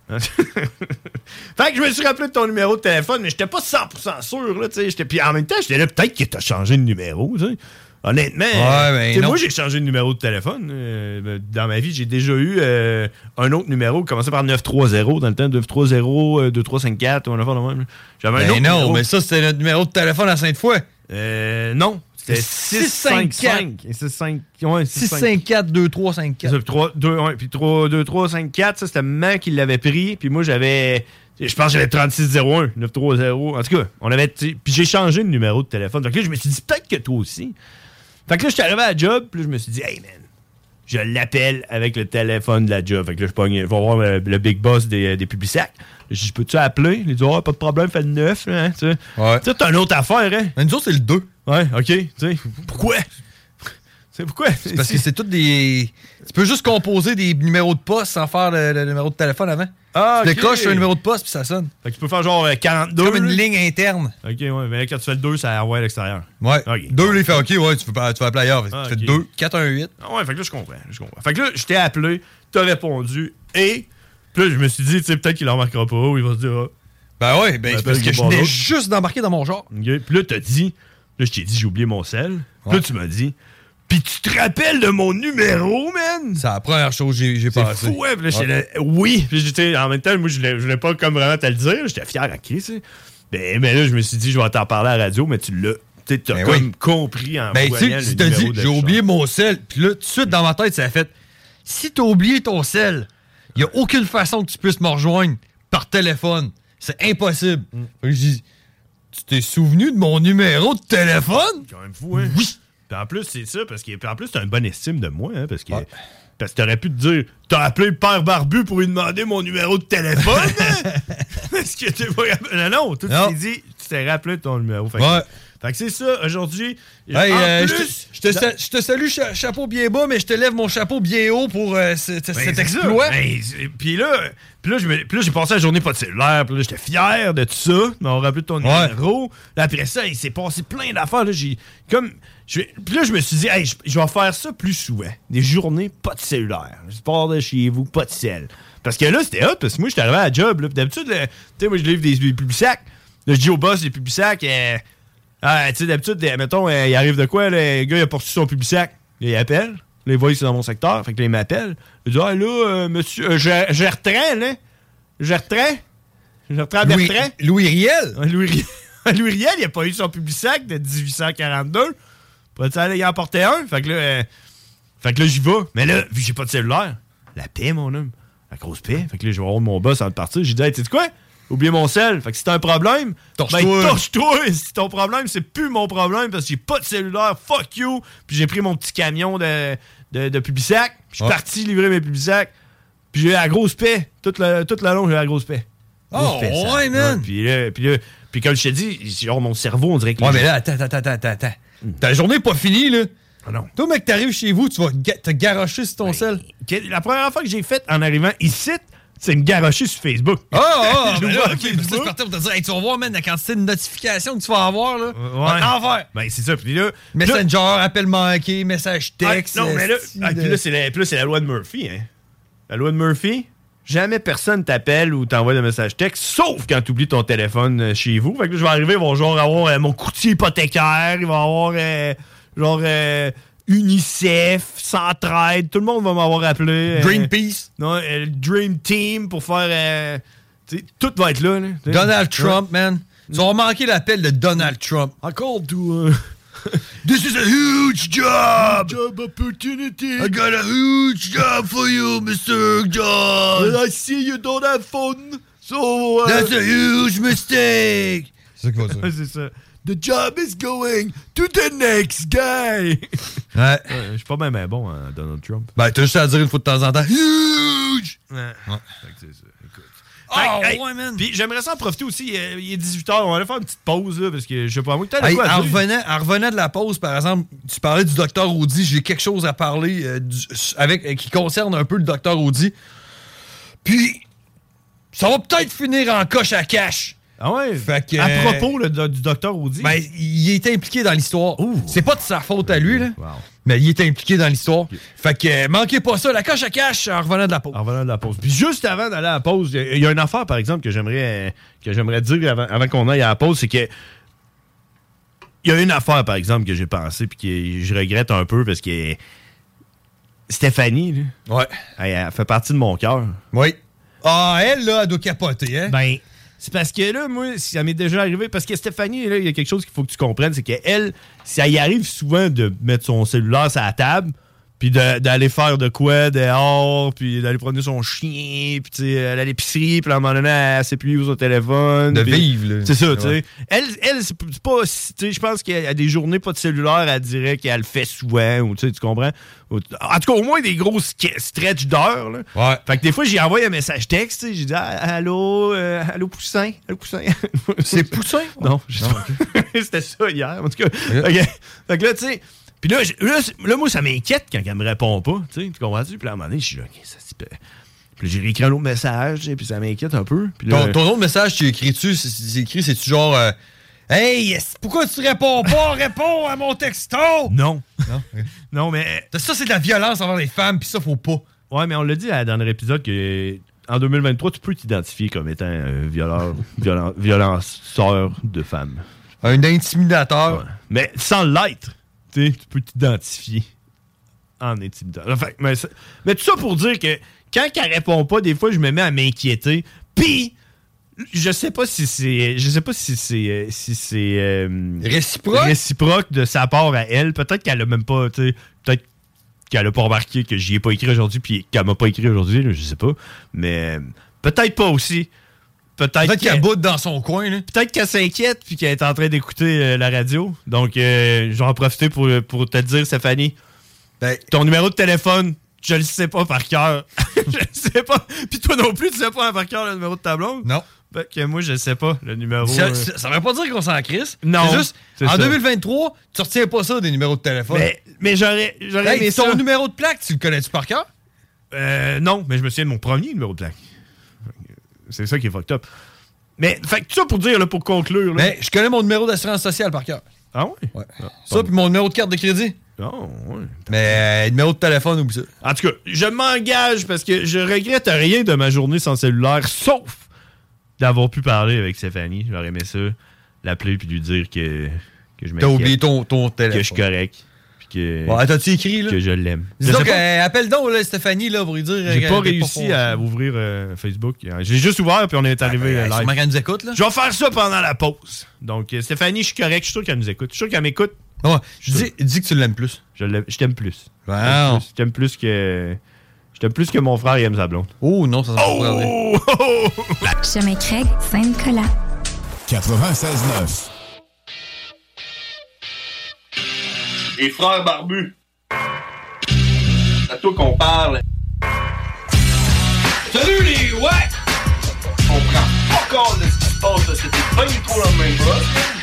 Speaker 10: Fait que je me suis rappelé de ton numéro de téléphone, mais j'étais pas cent pour cent sûr, là, tu sais. Puis en même temps, j'étais là, peut-être que t'as changé de numéro, tu sais. Honnêtement,
Speaker 11: ouais, ben
Speaker 10: moi, j'ai changé de numéro de téléphone. Euh, dans ma vie, j'ai déjà eu euh, un autre numéro, commencé par neuf trois zéro, dans le temps, neuf trois zéro, deux trois cinq quatre, ou un affaire de même. J'avais
Speaker 11: ben
Speaker 10: un autre
Speaker 11: non,
Speaker 10: numéro.
Speaker 11: mais ça, c'était notre numéro de téléphone à Sainte-Foy.
Speaker 10: Euh, non. C'était six cinq cinq.
Speaker 11: six cinq quatre deux trois cinq quatre.
Speaker 10: Puis deux trois cinq quatre, ça, c'était maman qui l'avait pris. Puis moi, j'avais... Je pense que j'avais trente-six zéro un, neuf trois zéro. En tout cas, on avait... Puis j'ai changé de numéro de téléphone. Donc là, je me suis dit, peut-être que toi aussi. Fait que là, je suis arrivé à la job, puis là, je me suis dit, hey, man, je l'appelle avec le téléphone de la job. Fait que là, je pogne, je vais voir le, le big boss des, des Publisac. Je dis, peux-tu appeler? Il dit, oh, pas de problème, fais le neuf, hein, tu sais.
Speaker 11: Ouais.
Speaker 10: Tu sais, t'as une autre affaire, hein?
Speaker 11: Mais nous autres, c'est le deux.
Speaker 10: Ouais, OK, tu sais. Pourquoi? C'est pourquoi?
Speaker 11: C'est parce que c'est tout des... Tu peux juste composer des numéros de poste sans faire le, le numéro de téléphone avant.
Speaker 10: Ah,
Speaker 11: tu
Speaker 10: OK.
Speaker 11: décoches sur un numéro de poste, puis ça sonne.
Speaker 10: Fait que tu peux faire genre quarante-deux.
Speaker 11: Comme une ligne interne.
Speaker 10: OK, ouais, mais là, quand tu fais le deux, ça envoie à l'extérieur.
Speaker 11: Ouais.
Speaker 10: Okay.
Speaker 11: deux, là, il fait OK, ouais, tu peux, tu peux appeler ailleurs.
Speaker 10: Ah,
Speaker 11: tu
Speaker 10: okay.
Speaker 11: fais deux, quatre un huit.
Speaker 10: Ah ouais, fait que là, je comprends, je comprends. Fait que là, je t'ai appelé, t'as répondu, et puis là, je me suis dit, tu sais, peut-être qu'il en remarquera pas, ou il va se dire, ah.
Speaker 11: Ben ouais, ben c'est parce que je venais juste d'embarquer dans mon genre.
Speaker 10: OK, puis là, t'as dit, Là, je t'ai dit, j'ai oublié mon sel. Ouais. Puis là, tu m'as dit, puis tu te rappelles de mon numéro, man?
Speaker 11: C'est la première chose que j'ai, j'ai pensé.
Speaker 10: C'est fou, ouais. Puis là, j'étais là, oui. Puis j'étais, en même temps, moi, je voulais, je voulais pas comme vraiment te le dire. J'étais fier à qui, tu sais. Ben, mais là, je me suis dit, je vais t'en parler à la radio, mais tu l'as. Tu t'as ben comme oui. compris en
Speaker 11: ben, voyant le numéro dit, de j'ai oublié mon sel. Puis là, tout de suite, dans ma tête, ça a fait, si t'as oublié ton sel, il n'y a aucune façon que tu puisses me rejoindre par téléphone. C'est impossible. Mm. Fait que je dis, tu t'es souvenu de mon numéro de téléphone?
Speaker 10: C'est quand même fou, hein? Oui. Puis en plus, c'est ça, parce que puis en plus, t'as une bonne estime de moi, hein, parce que, ouais. parce que t'aurais pu te dire, t'as appelé le père Barbu pour lui demander mon numéro de téléphone, hein? Parce que t'es pas... Non, non, tout t'es dit, tu t'es rappelé ton numéro. Fait que,
Speaker 11: ouais.
Speaker 10: Fait que c'est ça, aujourd'hui.
Speaker 11: Hey, euh, plus, je, te, je, te, je te salue cha- chapeau bien bas, mais je te lève mon chapeau bien haut pour euh, ce, ben, cet exploit.
Speaker 10: Ben, puis là, puis là, me, là, j'ai passé la journée pas de cellulaire, puis là, j'étais fier de tout ça, de m'avoir rappelé ton ouais. numéro. Là, après ça, il s'est passé plein d'affaires. Là, j'ai comme... Puis là, je me suis dit, hey, je, je vais faire ça plus souvent. Des journées, pas de cellulaire. Je pars de chez vous, pas de sel. Parce que là, c'était hot, parce que moi, j'étais arrivé à la job. Là, d'habitude, tu sais, moi, je livre des, des Publisac. Là, je dis au boss des Publisac, euh, ah, tu sais, d'habitude, mettons, euh, il arrive de quoi, là, le gars, il a poursuivi son Publisac. Il appelle. Les voix, c'est dans mon secteur. Fait que là, il m'appelle. Il dit, ah, là, euh, monsieur, euh, Gertran, là. Gertran? Gertran Bertrand?
Speaker 11: Louis Riel?
Speaker 10: Louis Riel. Louis Riel, il a pas eu son Publisac de dix-huit cent quarante-deux. Pourrais-tu aller y en porter un? Fait que là, euh, fait que là, j'y vais. Mais là, vu que j'ai pas de cellulaire, la paix, mon homme. La grosse paix. Fait que là, je vais voir mon boss avant de partir. J'ai dit, hey, tu sais quoi? Oubliez mon sel. Fait que si t'as un problème, torche-toi. Ben, torche-toi. Si ton problème, c'est plus mon problème parce que j'ai pas de cellulaire. Fuck you. Puis j'ai pris mon petit camion de, de, de Publisac. Puis je suis ouais. parti livrer mes Publisac. Puis j'ai eu la grosse paix. Toute la, toute la longue, j'ai eu la grosse paix. Grosse
Speaker 11: oh,
Speaker 10: paix,
Speaker 11: ouais, man.
Speaker 10: Ouais, puis là, puis là, puis comme je t'ai dit, genre, mon cerveau, on dirait que...
Speaker 11: Ouais, mais là, attends, attends, attends, attends. Mm. Ta journée n'est pas finie, là.
Speaker 10: Ah non.
Speaker 11: Toi, mec, t'arrives chez vous, tu vas ga- te garrocher sur ton ben, sel.
Speaker 10: La première fois que j'ai faite en arrivant ici, c'est me garrocher sur Facebook.
Speaker 11: Ah, oh, oh, ben là, ok, Facebook. Ça, je partais pour te dire, hey, tu vas voir, man, la quantité de notifications que tu vas avoir, là.
Speaker 10: Ouais.
Speaker 11: Enfer.
Speaker 10: Ben, c'est ça. Puis là.
Speaker 11: Messenger,
Speaker 10: là,
Speaker 11: appel manqué, message texte.
Speaker 10: Ah, non, mais là, ah, puis là, c'est la, puis là, c'est la loi de Murphy, hein. La loi de Murphy, jamais personne t'appelle ou t'envoie de message texte, sauf quand tu oublies ton téléphone chez vous. Fait que là, je vais arriver, ils vont genre avoir euh, mon courtier hypothécaire, ils vont avoir, euh, genre, euh, UNICEF, Centraide, tout le monde va m'avoir appelé.
Speaker 11: Greenpeace.
Speaker 10: Euh, non, euh, Dream Team pour faire... Euh, tout va être là. là
Speaker 11: Donald Trump, ouais. man. Tu vas manquer l'appel de Donald Trump.
Speaker 10: I called to... Uh,
Speaker 11: This is a huge job!
Speaker 10: Job opportunity!
Speaker 11: I got a huge job for you, Mister John!
Speaker 10: And I see you don't have phone, so... Uh,
Speaker 11: That's a huge mistake!
Speaker 10: C'est quoi ça? C'est ça. The job is going to the next guy!
Speaker 11: Ouais.
Speaker 10: Je suis pas même ben bon, hein, Donald Trump.
Speaker 11: Ben, t'as juste à dire une fois de temps en temps. Huge!
Speaker 10: Ouais. ouais. Fait que c'est ça. Écoute. Oh, hey, ouais, man! Puis j'aimerais ça en profiter aussi. Euh, il est dix-huit heures. On va aller faire une petite pause, là, parce que je sais pas moi. T'as
Speaker 11: hey,
Speaker 10: quoi
Speaker 11: en, revenant, en revenant de la pause, par exemple, tu parlais du docteur Audi. J'ai quelque chose à parler euh, du, avec, euh, qui concerne un peu le docteur Audi. Puis, ça va peut-être finir en coche à cash.
Speaker 10: Ah ouais?
Speaker 11: Fait que,
Speaker 10: à propos le, du docteur Audi?
Speaker 11: Ben, il est impliqué dans l'histoire.
Speaker 10: Ouh.
Speaker 11: C'est pas de sa faute à lui, là.
Speaker 10: Wow.
Speaker 11: Mais il est impliqué dans l'histoire. Okay. Fait que, euh, manquez pas ça, la coche à cash en revenant de la pause.
Speaker 10: En revenant de la pause. Puis juste avant d'aller à la pause, il y a une affaire, par exemple, que j'aimerais, que j'aimerais dire avant, avant qu'on aille à la pause, c'est que il y a une affaire, par exemple, que j'ai pensé puis que je regrette un peu parce que Stéphanie, là,
Speaker 11: ouais.
Speaker 10: elle, elle fait partie de mon cœur.
Speaker 11: Oui. Ah, elle, là, elle doit capoter, hein?
Speaker 10: Ben... C'est parce que là, moi, ça m'est déjà arrivé. Parce que Stéphanie, là, il y a quelque chose qu'il faut que tu comprennes. C'est qu'elle, ça y arrive souvent de mettre son cellulaire sur la table, puis de, d'aller faire de quoi dehors, puis d'aller promener son chien, puis tu sais, aller à l'épicerie, puis à un moment donné, elle s'appuie sur son téléphone.
Speaker 11: De
Speaker 10: pis,
Speaker 11: vivre, là.
Speaker 10: C'est ça, tu sais. Elle, elle c'est pas... Tu sais, je pense qu'il y a des journées pas de cellulaire, elle dirait qu'elle le fait souvent, ou tu sais, tu comprends? En tout cas, au moins des gros stretch d'heures, là.
Speaker 11: Ouais.
Speaker 10: Fait que des fois, j'ai envoyé un message texte, tu sais, j'ai dit ah, « Allô, euh, allô, Poussin? Allô, Poussin? »
Speaker 11: C'est Poussin?
Speaker 10: Non, je sais pas. C'était ça hier, en tout cas. Okay. Fait que là, tu sais... Puis là, là, là, moi, ça m'inquiète quand elle me répond pas. Tu comprends-tu? Puis là, à un moment donné, je suis là, OK, ça se peut. Puis j'ai réécrit un autre message, puis ça m'inquiète un peu. Puis là,
Speaker 11: ton, ton autre message, tu écris-tu? C'est écrit, c'est-tu genre. Euh, hey, pourquoi tu réponds pas? Réponds à mon texto!
Speaker 10: Non.
Speaker 11: Non,
Speaker 10: non mais.
Speaker 11: Ça, c'est de la violence envers les femmes, puis ça, faut pas.
Speaker 10: Ouais, mais on l'a dit à, dans l'épisode que. En deux mille vingt-trois, tu peux t'identifier comme étant un violeur, violent, violenceur de femmes.
Speaker 11: Un intimidateur.
Speaker 10: Ouais. Mais sans l'être, tu peux t'identifier en intimidateur. Enfin, mais, mais tout ça pour dire que quand elle répond pas, des fois, je me mets à m'inquiéter. Puis, je sais pas si c'est... Je sais pas si c'est... Si c'est euh,
Speaker 11: réciproque?
Speaker 10: Réciproque de sa part à elle. Peut-être qu'elle a même pas... Peut-être qu'elle a pas remarqué que j'y ai pas écrit aujourd'hui puis qu'elle m'a pas écrit aujourd'hui. Là, je sais pas. Mais peut-être pas aussi. Peut-être,
Speaker 11: peut-être
Speaker 10: qu'elle,
Speaker 11: qu'elle boude dans son coin. Là.
Speaker 10: Peut-être qu'elle s'inquiète puis qu'elle est en train d'écouter euh, la radio. Donc, euh, je vais en profiter pour, pour te dire, Stéphanie, ben, ton numéro de téléphone, je le sais pas par cœur. Je le sais pas. Puis toi non plus, tu sais pas par cœur le numéro de ta blonde?
Speaker 11: Non.
Speaker 10: Ben, que moi, je sais pas le numéro.
Speaker 11: Ça,
Speaker 10: euh...
Speaker 11: ça, ça veut pas dire qu'on s'en crisse.
Speaker 10: Non.
Speaker 11: C'est juste,
Speaker 10: c'est
Speaker 11: en
Speaker 10: ça.
Speaker 11: deux mille vingt-trois, tu retiens pas ça des numéros de téléphone.
Speaker 10: Mais, mais j'aurais, j'aurais
Speaker 11: hey,
Speaker 10: aimé
Speaker 11: ton
Speaker 10: ça.
Speaker 11: numéro de plaque, tu le connais-tu par cœur?
Speaker 10: Euh, non, mais je me souviens de mon premier numéro de plaque. C'est ça qui est fucked up. Mais, fait que tout ça pour dire, là, pour conclure. Là.
Speaker 11: Mais je connais mon numéro d'assurance sociale par cœur.
Speaker 10: Ah ouais?
Speaker 11: Ouais. Ah, ça, puis mon numéro de carte de crédit.
Speaker 10: Oh, ouais.
Speaker 11: Mais euh, numéro de téléphone, oublie ça.
Speaker 10: En tout cas, je m'engage parce que je regrette rien de ma journée sans cellulaire, sauf d'avoir pu parler avec Stéphanie. J'aurais aimé ça, l'appeler puis lui dire que, que je m'inquiète.
Speaker 11: T'as oublié ton, ton téléphone.
Speaker 10: Que je suis correct. Puis que,
Speaker 11: ouais, t'as-tu écrit, là?
Speaker 10: Que je l'aime.
Speaker 11: Dis donc, euh, appelle donc là, Stéphanie là, pour lui dire.
Speaker 10: J'ai
Speaker 11: euh,
Speaker 10: pas réussi pas à ouvrir euh, Facebook. J'ai juste ouvert puis on est arrivé
Speaker 11: ah, ben,
Speaker 10: live.
Speaker 11: Elle nous écoute, là.
Speaker 10: Je vais faire ça pendant la pause. Donc, euh, Stéphanie, je suis correct. Je suis sûr qu'elle nous écoute. Je suis sûr qu'elle m'écoute.
Speaker 11: Ouais, je dis, dis que tu l'aimes plus.
Speaker 10: Je, l'aime, je t'aime plus.
Speaker 11: Wow.
Speaker 10: Je t'aime plus que. Je t'aime plus que mon frère il aime sa blonde.
Speaker 11: Oh non, ça se
Speaker 10: oh! oh!
Speaker 18: Chemin Craig, Saint-Nicolas.
Speaker 14: quatre-vingt-seize neuf.
Speaker 19: Les frères barbus. C'est à toi qu'on parle. Salut les ouais! On prend pas compte de ce qui se passe là. C'était pas du tout la même chose.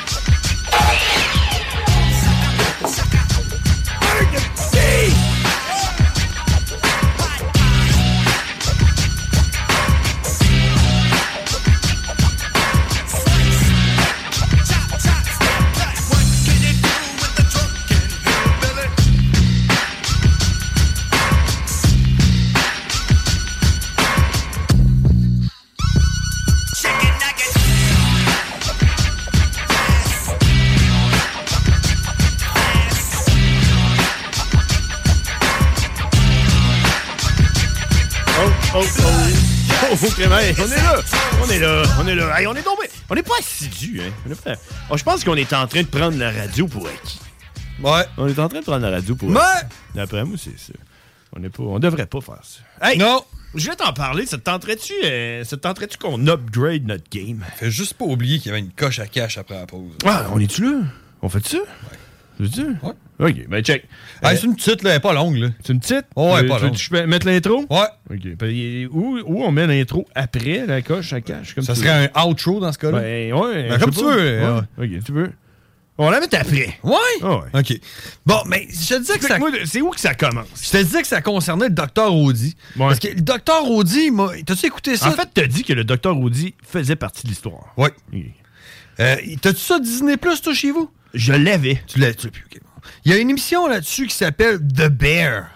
Speaker 10: Oh, oh, oh, oh, Clément, hey, on est là, on est là, on est là, hey, on est tombé, on n'est pas assidus, hein, on est pas... Oh, je pense qu'on est en train de prendre la radio pour acquis.
Speaker 11: Ouais.
Speaker 10: On est en train de prendre la radio pour
Speaker 11: ouais.
Speaker 10: acquis. D'après moi, c'est ça. On n'est pas, on devrait pas faire ça. Hey,
Speaker 11: non.
Speaker 10: Je vais t'en parler, ça te tenterait-tu, euh, ça te tenterait-tu qu'on upgrade notre game?
Speaker 11: Fais juste pas oublier qu'il y avait une coche à cache après la pause.
Speaker 10: Ouais, on est-tu là? On fait ça?
Speaker 11: Ouais.
Speaker 10: Veux-tu?
Speaker 11: Ouais.
Speaker 10: Ok, ben check.
Speaker 11: Ah, euh, c'est une petite, là, elle est pas longue, là.
Speaker 10: C'est une petite?
Speaker 11: Oh, elle est pas
Speaker 10: tu,
Speaker 11: longue.
Speaker 10: Tu peux mettre l'intro?
Speaker 11: Ouais.
Speaker 10: Ok. Ben, où, où on met l'intro après la coche à cache? Comme
Speaker 11: ça serait un outro dans ce cas-là?
Speaker 10: Ben, ouais.
Speaker 11: Ben, comme tu veux.
Speaker 10: Ouais. Ouais. Ok, tu veux. On la met après.
Speaker 11: Ouais?
Speaker 10: Oh, ouais.
Speaker 11: OK. Bon, mais je te disais que ça...
Speaker 10: Moi, c'est où que ça commence?
Speaker 11: Je te disais que ça concernait le docteur Audi. Ouais. Parce que le docteur Audi, m'a... t'as-tu écouté ça?
Speaker 10: En fait, t'as dit que le docteur Audi faisait partie de l'histoire.
Speaker 11: Oui.
Speaker 10: Okay.
Speaker 11: Euh, t'as-tu ça Disney Plus, toi, chez vous?
Speaker 10: Je l'avais.
Speaker 11: Tu l'as, tu l'as plus, OK. Il y a une émission là-dessus qui s'appelle The Bear.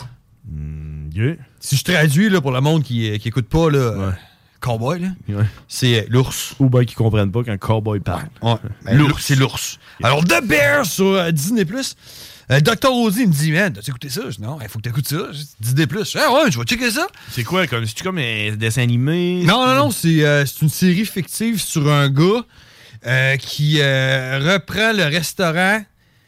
Speaker 10: Mm, yeah.
Speaker 11: Si je traduis là, pour le monde qui, qui écoute pas, là, ouais. Cowboy, là,
Speaker 10: ouais.
Speaker 11: c'est euh, l'ours.
Speaker 10: Ou bien qui comprennent pas quand Cowboy parle.
Speaker 11: Ouais. Ouais. Ben, l'ours, c'est l'ours. Yeah. Alors, The Bear sur euh, Disney Plus. Euh, docteur Audi me dit, man, t'as-tu écouté ça? Je dis, non, il faut que t'écoutes ça. Disney Plus. Ah ouais, je vais checker ça.
Speaker 10: C'est quoi? Comme, c'est-tu comme un dessin animé?
Speaker 11: Non, non, non, c'est, euh, c'est une série fictive sur un gars euh, qui euh, reprend le restaurant.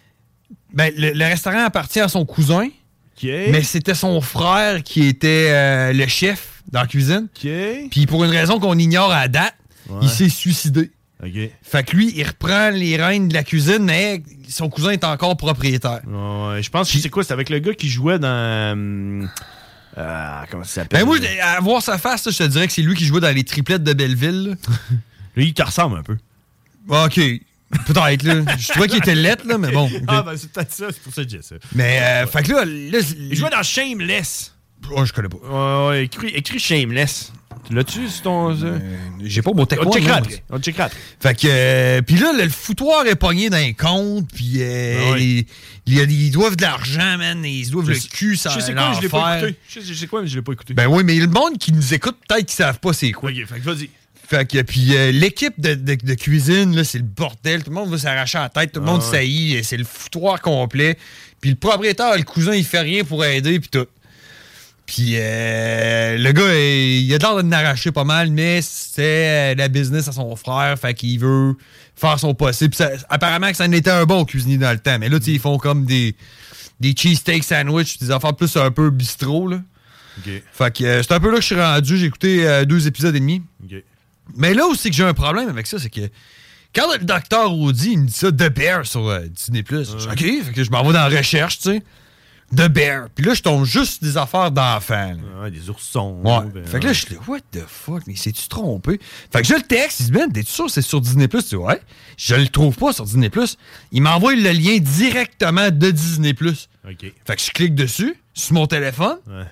Speaker 11: Ben, le, le restaurant appartient à son cousin,
Speaker 10: okay.
Speaker 11: mais c'était son frère qui était euh, le chef dans la cuisine.
Speaker 10: Okay.
Speaker 11: Puis pour une raison qu'on ignore à date, ouais. il s'est suicidé.
Speaker 10: Okay.
Speaker 11: Fait que lui, il reprend les rênes de la cuisine, mais son cousin est encore propriétaire.
Speaker 10: Ouais, je pense que c'est quoi? C'est avec le gars qui jouait dans... Euh, comment ça s'appelle?
Speaker 11: Ben moi, à voir sa face, je te dirais que c'est lui qui jouait dans les triplettes de Belleville.
Speaker 10: Lui, il te ressemble un peu.
Speaker 11: OK. Peut-être, là. Je trouvais qu'il était lettre, là, mais bon. Okay.
Speaker 10: Ah, ben, c'est peut-être ça, c'est pour ça que j'ai ça.
Speaker 11: Mais, euh, fait que là, là.
Speaker 10: Il jouait dans Shameless.
Speaker 11: Oh, je connais pas.
Speaker 10: Ouais, ouais, écrit, écrit Shameless. Tu l'as-tu, c'est ton. Euh...
Speaker 11: J'ai pas mon techno.
Speaker 10: On checkera après. On checkera après.
Speaker 11: Fait que. Euh, puis là, le foutoir est pogné dans un compte, puis euh, ah oui. ils, ils, ils doivent de l'argent, man. Ils doivent je le cul, ça.
Speaker 10: Je sais quoi, mais je l'ai pas écouté. Je sais quoi, mais je l'ai pas écouté.
Speaker 11: Ben oui, mais le monde qui nous écoute, peut-être qu'ils savent pas c'est quoi.
Speaker 10: Ok, fait que vas-y.
Speaker 11: Fait que, puis euh, l'équipe de, de, de cuisine, là, c'est le bordel. Tout le monde veut s'arracher la tête, tout le monde
Speaker 10: Ah ouais.
Speaker 11: saillit, c'est le foutoir complet. Puis le propriétaire, le cousin, il fait rien pour aider, puis tout. Puis euh, le gars, il a l'air de l'arracher pas mal, mais c'est la business à son frère, fait qu'il veut faire son possible. Puis ça, apparemment que ça en était un bon cuisinier dans le temps, mais là, tu sais, ils font comme des, des cheesesteak sandwich, des affaires plus un peu bistrot, là.
Speaker 10: Okay.
Speaker 11: Fait que euh, c'est un peu là que je suis rendu. J'ai écouté euh, deux épisodes et demi.
Speaker 10: Okay.
Speaker 11: Mais là aussi que j'ai un problème avec ça, c'est que quand le docteur Audi il me dit ça, The Bear sur euh, Disney plus, je dis OK, fait que je m'en vais dans la recherche, tu sais. The Bear. Puis là, je tombe juste sur des affaires d'enfants.
Speaker 10: Ouais, des oursons.
Speaker 11: Ouais.
Speaker 10: Ben,
Speaker 11: fait que là, je suis là, what the fuck, mais c'est-tu trompé? Fait que je le texte, il dit, ben, t'es-tu sûr que c'est sur Disney plus? Tu dis, ouais. Je le trouve pas sur Disney plus. Il m'envoie le lien directement de Disney plus.
Speaker 10: OK.
Speaker 11: Fait que je clique dessus, sur mon téléphone.
Speaker 10: Ouais.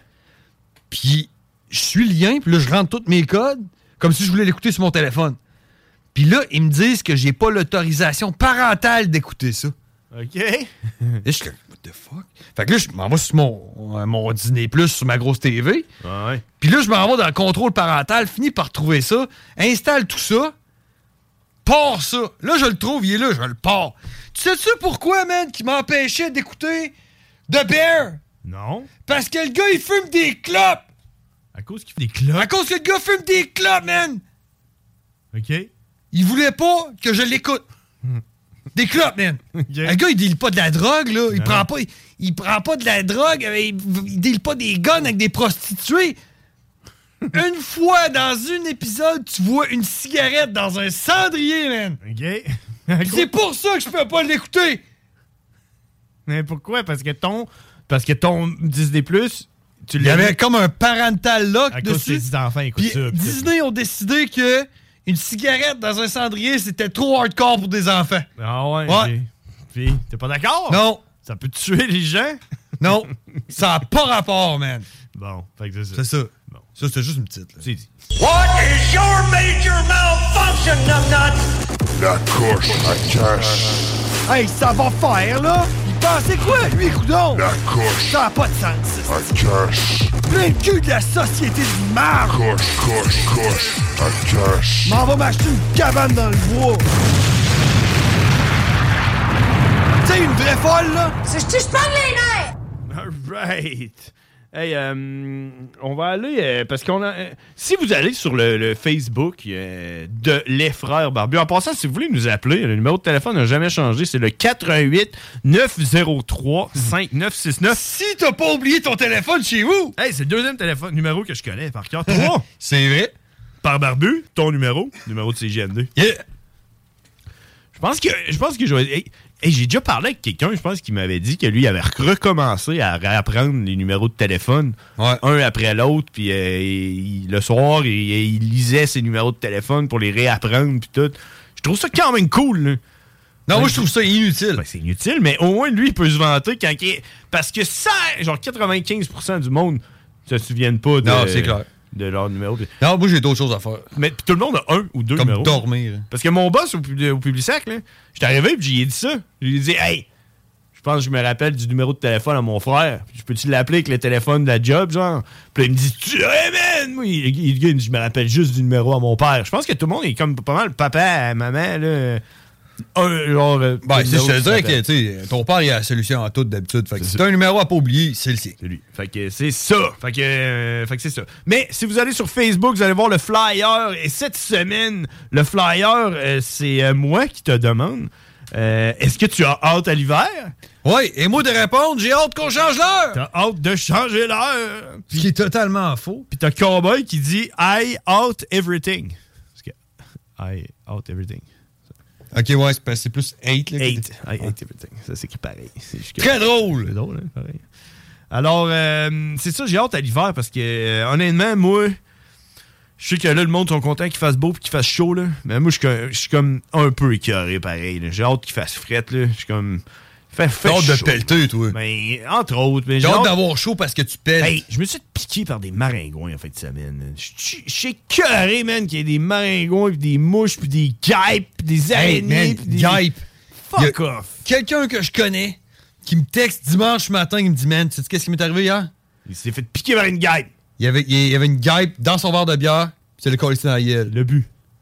Speaker 11: Puis je suis le lien, puis là, je rentre tous mes codes, comme si je voulais l'écouter sur mon téléphone. Puis là, ils me disent que j'ai pas l'autorisation parentale d'écouter ça.
Speaker 10: OK.
Speaker 11: Et je suis comme, what the fuck? Fait que là, je m'en vais sur mon, euh, mon Disney plus sur ma grosse T V.
Speaker 10: Ouais.
Speaker 11: Puis là, je m'en vais dans le contrôle parental, finis par trouver ça, installe tout ça, pars ça. Là, je le trouve, il est là, je le pars. Tu sais-tu pourquoi, man, qui m'empêchait d'écouter The Bear?
Speaker 10: Non.
Speaker 11: Parce que le gars, il fume des clopes.
Speaker 10: À cause qu'il fait des clopes?
Speaker 11: À cause que le gars fume des clopes, man.
Speaker 10: OK.
Speaker 11: Il voulait pas que je l'écoute. Des clopes, man. Okay. Le gars, il deal pas de la drogue, là. Il, prend pas, il, il prend pas de la drogue. Il, il deal pas des guns avec des prostituées. Une fois dans un épisode, tu vois une cigarette dans un cendrier, man.
Speaker 10: OK.
Speaker 11: C'est pour ça que je peux pas l'écouter.
Speaker 10: Mais pourquoi? Parce que ton... Parce que ton Disney plus, tu
Speaker 11: Il y avait comme un parental lock
Speaker 10: à
Speaker 11: dessus.
Speaker 10: Cause des enfants écoutent
Speaker 11: Puis
Speaker 10: ça.
Speaker 11: Disney ont décidé que une cigarette dans un cendrier, c'était trop hardcore pour des enfants.
Speaker 10: Ah ouais?
Speaker 11: Ouais.
Speaker 10: Puis, t'es pas d'accord?
Speaker 11: Non.
Speaker 10: Ça peut tuer les gens?
Speaker 11: Non. Ça a pas rapport, man.
Speaker 10: Bon, fait que c'est ça.
Speaker 11: C'est ça.
Speaker 10: Bon.
Speaker 11: Ça, c'est juste une petite. Là.
Speaker 10: C'est dit.
Speaker 19: What is your major malfunction, numbnut?
Speaker 9: La coche à cash.
Speaker 11: Hey, ça va faire, là? Il pensait quoi, lui, coudon?
Speaker 9: La coche
Speaker 11: Ça a pas de sens.
Speaker 9: à cash.
Speaker 11: Plein de cul de la société du marre.
Speaker 9: Coche, coche, coche à cash.
Speaker 11: M'en va m'acheter une cabane dans le bois. Tu sais, une vraie folle, là?
Speaker 19: C'est je te parle les nerfs!
Speaker 10: Alright. Hey, euh, on va aller, euh, parce qu'on a... Euh, si vous allez sur le, le Facebook euh, de Les Frères Barbus, en passant, si vous voulez nous appeler, le numéro de téléphone n'a jamais changé, c'est le quatre un huit neuf zéro trois cinq neuf six neuf.
Speaker 11: Si t'as pas oublié ton téléphone chez vous!
Speaker 10: Hey, c'est le deuxième téléphone numéro que je connais par cœur. Trois!
Speaker 11: C'est vrai?
Speaker 10: Par Barbu, ton numéro, numéro de C G M deux.
Speaker 11: Yeah!
Speaker 10: Je pense que je pense que je vais... Hey, hey, j'ai déjà parlé avec quelqu'un, je pense, qui m'avait dit que lui, il avait recommencé à réapprendre les numéros de téléphone,
Speaker 11: ouais.
Speaker 10: un après l'autre, puis euh, il, le soir, il, il lisait ses numéros de téléphone pour les réapprendre, puis tout. Je trouve ça quand même cool, là.
Speaker 11: Non, ben, moi, je trouve ça inutile.
Speaker 10: Ben, c'est inutile, mais au moins, lui, il peut se vanter quand il est... Parce que ça, genre quatre-vingt-quinze pour cent du monde ne se souviennent pas de...
Speaker 11: Non, c'est clair.
Speaker 10: De leur numéro.
Speaker 11: Non, moi, j'ai d'autres choses à faire.
Speaker 10: Mais tout le monde a un ou deux
Speaker 11: Comme
Speaker 10: numéros.
Speaker 11: dormir.
Speaker 10: Parce que mon boss au, au Publisac, là, j'étais arrivé et j'ai dit ça. J'ai dit, hey, je pense que je me rappelle du numéro de téléphone à mon frère. Je peux-tu l'appeler avec le téléphone de la job, genre? Puis là, il me dit, tu hey, man! Moi, il, il, il, il, je me rappelle juste du numéro à mon père. Je pense que tout le monde est comme pas mal papa, maman, là. Un, genre.
Speaker 11: Ben, je te dirais que, tu sais, ton père, il a la solution à tout d'habitude. Fait que si t'as un numéro à pas oublier, c'est le sien.
Speaker 10: C'est lui. Fait que c'est ça. Fait que, euh, fait que c'est ça. Mais si vous allez sur Facebook, vous allez voir le flyer. Et cette semaine, le flyer, euh, c'est euh, moi qui te demande. Euh, est-ce que tu as hâte à l'hiver?
Speaker 11: Oui, et moi de répondre, j'ai hâte qu'on change l'heure!
Speaker 10: T'as hâte de changer l'heure!
Speaker 11: Ce qui est totalement faux.
Speaker 10: Puis t'as Cowboy qui dit I out everything. Parce que I out everything.
Speaker 11: Ok, ouais, c'est, c'est plus hate. Là,
Speaker 10: hate. I hate everything. Ça s'écrit pareil. C'est juste que...
Speaker 11: Très drôle!
Speaker 10: C'est drôle, hein, pareil. Alors, euh, c'est ça, j'ai hâte à l'hiver parce que, euh, honnêtement, moi, je sais que là, le monde sont contents qu'il fasse beau et qu'il fasse chaud, là. Mais moi, je suis comme un peu écœuré, pareil. Là. J'ai hâte qu'il fasse frette, là. Je suis comme... Fait, fait
Speaker 11: J'ai hâte de
Speaker 10: chaud.
Speaker 11: pelleter, toi.
Speaker 10: Ben, entre autres. Mais
Speaker 11: j'ai
Speaker 10: hâte
Speaker 11: hâte d'avoir chaud parce que tu pelles.
Speaker 10: Hey, je me suis piqué par des maringouins en fin de semaine. Je suis écœuré, man, qu'il y ait des maringouins, pis des mouches, puis des guêpes, pis des araignées,
Speaker 11: hey,
Speaker 10: pis des...
Speaker 11: guêpes.
Speaker 10: Fuck off.
Speaker 11: Quelqu'un que je connais qui me texte dimanche matin, il me dit, man, tu sais qu'est-ce qui m'est arrivé hier?
Speaker 10: Il s'est fait piquer par une guêpe.
Speaker 11: Il y avait, il y avait une guêpe dans son verre de bière, puis c'est le collé dans la gueule.
Speaker 10: Le but.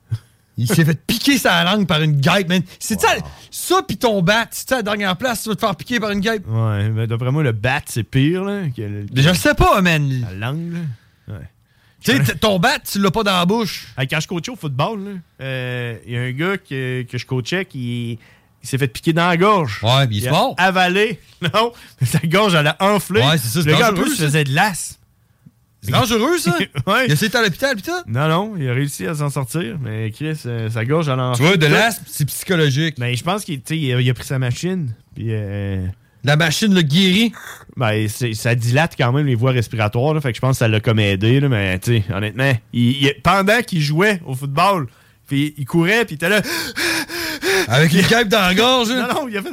Speaker 11: Il s'est fait piquer sa langue par une guêpe, man. C'est wow. ça, ça pis ton bat, c'est ça la dernière place, tu vas te faire piquer par une guêpe?
Speaker 10: Ouais, mais d'après moi, le bat, c'est pire, là. Que le,
Speaker 11: mais je le sais pas, man.
Speaker 10: La langue, là. Ouais.
Speaker 11: Tu sais, ton bat, tu l'as pas dans la bouche.
Speaker 10: Hey, quand je coachais au football, il euh, y a un gars que, que je coachais qui il s'est fait piquer dans la gorge.
Speaker 11: Ouais, pis il est mort.
Speaker 10: Avalé. Non, mais sa gorge, elle a enflé.
Speaker 11: Ouais, c'est ça, c'est
Speaker 10: le gars, en
Speaker 11: dangereux,
Speaker 10: plus, faisait de l'as.
Speaker 11: C'est dangereux, ça?
Speaker 10: Ouais.
Speaker 11: Il a essayé à l'hôpital, pis tout?
Speaker 10: Non, non, il a réussi à s'en sortir, mais Chris, euh, sa gorge, elle a enflé.
Speaker 11: Tu vois, de l'asthme, c'est psychologique.
Speaker 10: Mais je pense qu'il il a, il a pris sa machine, puis... Euh,
Speaker 11: la machine le guérit?
Speaker 10: Ben, ça dilate quand même les voies respiratoires, là, fait que je pense que ça l'a comme aidé, là, mais tu sais, honnêtement, il, il, pendant qu'il jouait au football, puis il courait, puis il était là...
Speaker 11: Avec une guêpe dans la gorge?
Speaker 10: Non, non, il a fait...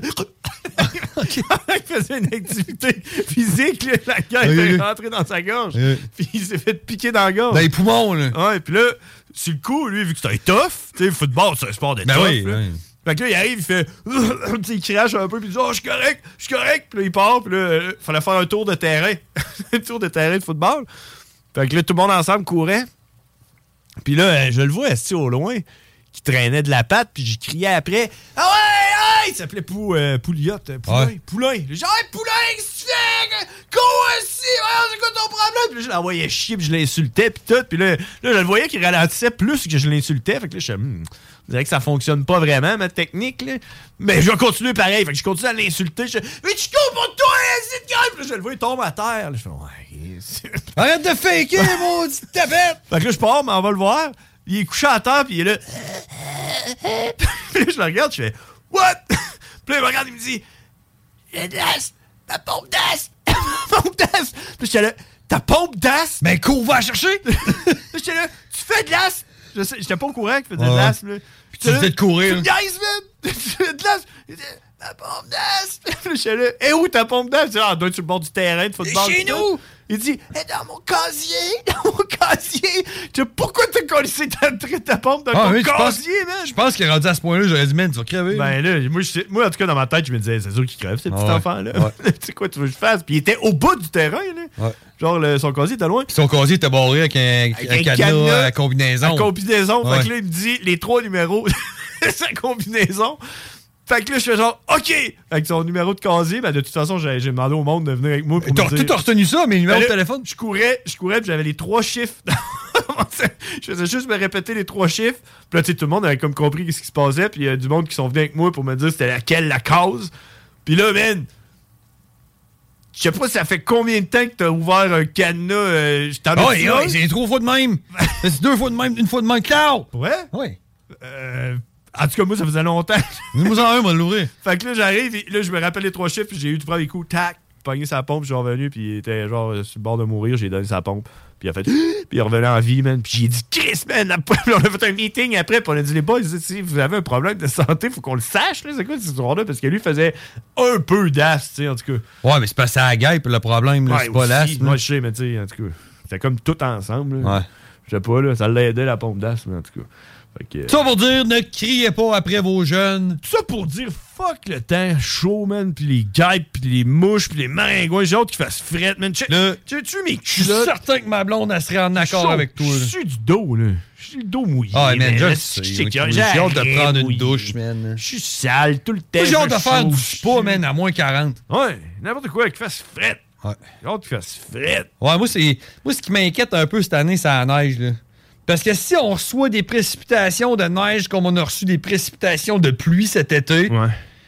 Speaker 10: il faisait une activité physique, là, la guêpe
Speaker 11: oui,
Speaker 10: est
Speaker 11: oui.
Speaker 10: rentrée dans sa gorge,
Speaker 11: oui.
Speaker 10: puis il s'est fait piquer dans la gorge.
Speaker 11: Dans les poumons, là.
Speaker 10: Ouais, puis là, sur le coup, lui, vu que c'était tough, tu sais, le football, c'est un sport de
Speaker 11: ben
Speaker 10: tough,
Speaker 11: oui,
Speaker 10: là.
Speaker 11: Oui.
Speaker 10: Fait que là, il arrive, il fait... il crache un peu, puis il dit « Oh, je suis correct, je suis correct! » Puis là, il part, puis là, il fallait faire un tour de terrain. un tour de terrain de football. Fait que là, tout le monde ensemble courait. Puis là, je le vois, assis au loin, qui traînait de la patte, puis j'ai crié après « Ah ouais, ouais! » Il s'appelait Pou, euh, Pouliot. Poulain. Ouais. Poulain. J'ai dit « Hey, Poulain, qu'est-ce que tu fais? Cours ici! Ouais, c'est quoi ton problème? » Puis là, je l'envoyais chier, puis je l'insultais, puis tout. Puis là, là, je le voyais qu'il ralentissait plus que je l'insultais. Fait que là, je hmm, je dirais que ça fonctionne pas vraiment, ma technique, là. Mais je vais continuer pareil. Fait que je continue à l'insulter. Je dis « Mais tu cours pour toi, c'est de gueule! » Puis là, je le vois, il tombe à terre. Là, je fais « Ouais,
Speaker 11: arrête de faker, maudite tapette! »
Speaker 10: Fait que là, je pars, mais on va le voir. Il est couché à terre, puis il est là. Puis là, je le regarde, je fais « What? » Puis là, il me regarde, il me dit « J'ai de l'as, ta pompe d'as! Ma pompe d'as! » Puis j'étais là « Ta pompe d'as? »
Speaker 11: Mais cours, va chercher!
Speaker 10: J'étais là « Tu fais de l'as? » J'étais pas au courant qu'il faisait de l'as, là.
Speaker 11: Puis tu faisais de courir.
Speaker 10: Tu me gaises, man! Tu fais de l'as? Ta pompe d'as! Puis j'étais là « Eh où ta pompe d'as? » Ah, doit être sur le bord du terrain de football.
Speaker 11: Chez nous!
Speaker 10: Il dit « Eh, dans mon casier! Dans mon casier! » Tu sais, pourquoi t'as collé ta, ta pompe dans
Speaker 11: ah,
Speaker 10: ton
Speaker 11: oui,
Speaker 10: casier,
Speaker 11: penses,
Speaker 10: man?
Speaker 11: Je pense qu'il est rendu à ce point-là, j'aurais dit, man, tu vas crever.
Speaker 10: Ben là, moi, je, moi, en tout cas, dans ma tête, je me disais, c'est sûr qu'il crève, ce petit
Speaker 11: ah, ouais.
Speaker 10: enfant-là.
Speaker 11: Ouais.
Speaker 10: Tu sais quoi, tu veux que je fasse? Puis il était au bout du terrain, là. Ouais. Genre, le, son casier était loin.
Speaker 11: Puis son casier était barré avec un, avec un, un cadenas, cadenas à combinaison.
Speaker 10: À combinaison.
Speaker 11: Ouais.
Speaker 10: Fait que là, il me dit les trois numéros de sa combinaison. Fait que là, je fais genre, OK! Avec son numéro de casier, ben de toute façon, j'ai, j'ai demandé au monde de venir avec moi pour
Speaker 11: t'as,
Speaker 10: me dire...
Speaker 11: T'as retenu ça, mes numéros
Speaker 10: ben là,
Speaker 11: de téléphone?
Speaker 10: Je courais, je courais, puis j'avais les trois chiffres. Je faisais juste me répéter les trois chiffres. Puis là, tu sais, tout le monde avait comme compris ce qui se passait. Puis il y a du monde qui sont venus avec moi pour me dire c'était laquelle la cause. Puis là, man... Je sais pas, ça fait combien de temps que t'as ouvert un cadenas? Euh, je t'en ai
Speaker 11: oh, dit ouais, c'est trois fois de même. C'est deux fois de même, une fois de même. Claro!
Speaker 10: Ouais?
Speaker 11: Ouais.
Speaker 10: Euh... En tout cas, moi, ça faisait longtemps.
Speaker 11: Nous en un, on va l'ouvrir.
Speaker 10: Fait que là, j'arrive, et là, je me rappelle les trois chiffres, puis j'ai eu du premier coup, tac, pogné sa pompe, je suis revenu, puis il était genre sur le bord de mourir, j'ai donné sa pompe, puis il a fait, puis il revenait en vie, man, puis j'ai dit, Chris, man, après, on a fait un meeting après, puis on a dit, les boys, si vous avez un problème de santé, faut qu'on le sache, là, c'est quoi cette histoire-là, parce que lui faisait un peu d'as, tu sais, en tout cas.
Speaker 11: Ouais, mais c'est pas ça à la guêpe, le problème, là,
Speaker 10: ouais,
Speaker 11: c'est pas l'as.
Speaker 10: Moi, je sais, mais tu sais, en tout cas, c'était comme tout ensemble, là.
Speaker 11: Ouais.
Speaker 10: Je sais pas, là, ça l'a aidé, la pompe d'as, mais en tout cas.
Speaker 11: Que... Ça pour dire, ne criez pas après vos jeunes.
Speaker 10: Ça pour dire, fuck le temps chaud, man, pis les guêpes, pis les mouches, pis les maringouins, j'ai hâte qu'ils fassent fret, man. Tu tu mes
Speaker 11: Je suis certain que ma blonde, elle serait en accord avec toi.
Speaker 10: Je suis du dos, là. Je suis le dos mouillé.
Speaker 11: Ah, man, je sais. J'ai hâte de prendre une douche, man.
Speaker 10: Je suis sale tout le temps.
Speaker 11: J'ai hâte de faire du spa, man, à moins quarante.
Speaker 10: Ouais, n'importe quoi, qu'il fasse fret.
Speaker 11: Ouais.
Speaker 10: J'ai hâte qu'il fasse fret.
Speaker 11: Ouais, moi, c'est moi ce qui m'inquiète un peu cette année, c'est la neige, là. Parce que si on reçoit des précipitations de neige comme on a reçu des précipitations de pluie cet été...
Speaker 10: Ouais.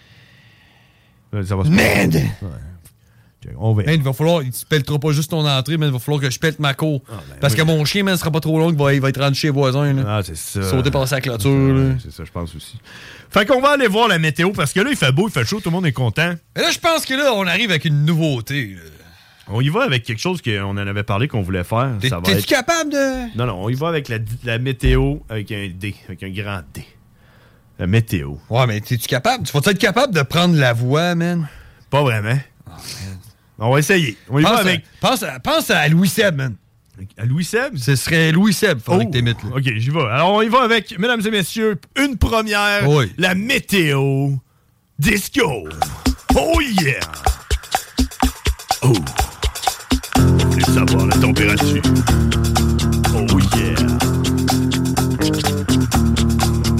Speaker 10: Ça va se
Speaker 11: Man!
Speaker 10: Ouais. On va.
Speaker 11: Man, il va falloir... Tu pelleteras pas juste ton entrée, mais il va falloir que je pète ma cour. Ah, ben, parce oui. que mon chien, man, sera pas trop long, il va, il va être rendu chez les voisins. Là.
Speaker 10: Ah, c'est ça.
Speaker 11: Sauter par sa clôture.
Speaker 10: C'est ça, c'est ça, je pense aussi. Fait qu'on va aller voir la météo, parce que là, il fait beau, il fait chaud, tout le monde est content.
Speaker 11: Et là, je pense que là, on arrive avec une nouveauté, là.
Speaker 10: On y va avec quelque chose qu'on en avait parlé qu'on voulait faire.
Speaker 11: T'es,
Speaker 10: ça va
Speaker 11: t'es-tu
Speaker 10: être...
Speaker 11: capable de...
Speaker 10: Non, non, on y va avec la, la météo avec un D, avec un grand D. La météo.
Speaker 11: Ouais, mais t'es-tu capable? Tu vas être capable de prendre la voix, man?
Speaker 10: Pas vraiment. Oh, man. On va essayer. On y
Speaker 11: pense
Speaker 10: va avec...
Speaker 11: À, pense, à, pense à Louis Seb, man.
Speaker 10: À Louis Seb?
Speaker 11: Ce serait Louis Seb, faudrait
Speaker 10: oh,
Speaker 11: que t'émites, là.
Speaker 10: OK, j'y vais. Alors, on y va avec, mesdames et messieurs, une première,
Speaker 11: oui.
Speaker 10: La météo disco. Oh yeah! Oh! Vous voulez savoir la température? Oh yeah!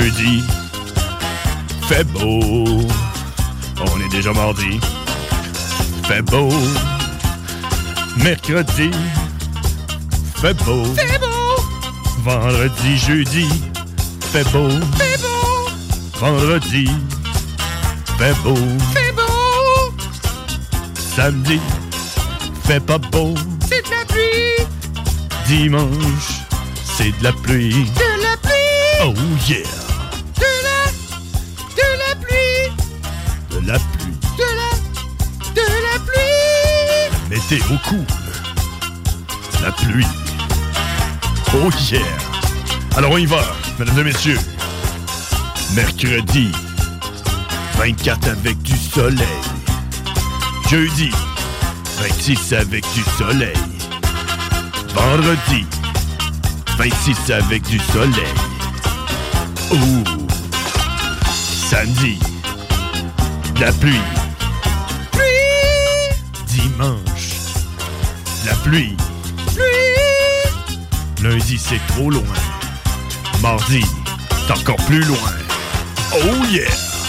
Speaker 10: Jeudi, fait beau. On est déjà mardi. Fait beau. Mercredi, fait beau.
Speaker 11: Fait beau.
Speaker 10: Vendredi, jeudi, fait beau.
Speaker 11: Fait beau.
Speaker 10: Vendredi, fait beau.
Speaker 11: Fait beau.
Speaker 10: Samedi, fait pas beau.
Speaker 11: C'est de la pluie.
Speaker 10: Dimanche, c'est de la pluie.
Speaker 11: De la pluie.
Speaker 10: Oh yeah.
Speaker 11: De la... De la pluie.
Speaker 10: De la pluie.
Speaker 11: De la... De la pluie.
Speaker 10: Météo cool. La pluie. Oh yeah. Alors on y va, mesdames et messieurs. Mercredi, vingt-quatre avec du soleil. Jeudi, vingt-six avec du soleil. Vendredi, vingt-six avec du soleil. Ouh. Samedi, de la pluie.
Speaker 11: Pluie.
Speaker 10: Dimanche, de la pluie.
Speaker 11: Pluie.
Speaker 10: Lundi, c'est trop loin. Mardi, c'est encore plus loin. Oh yeah!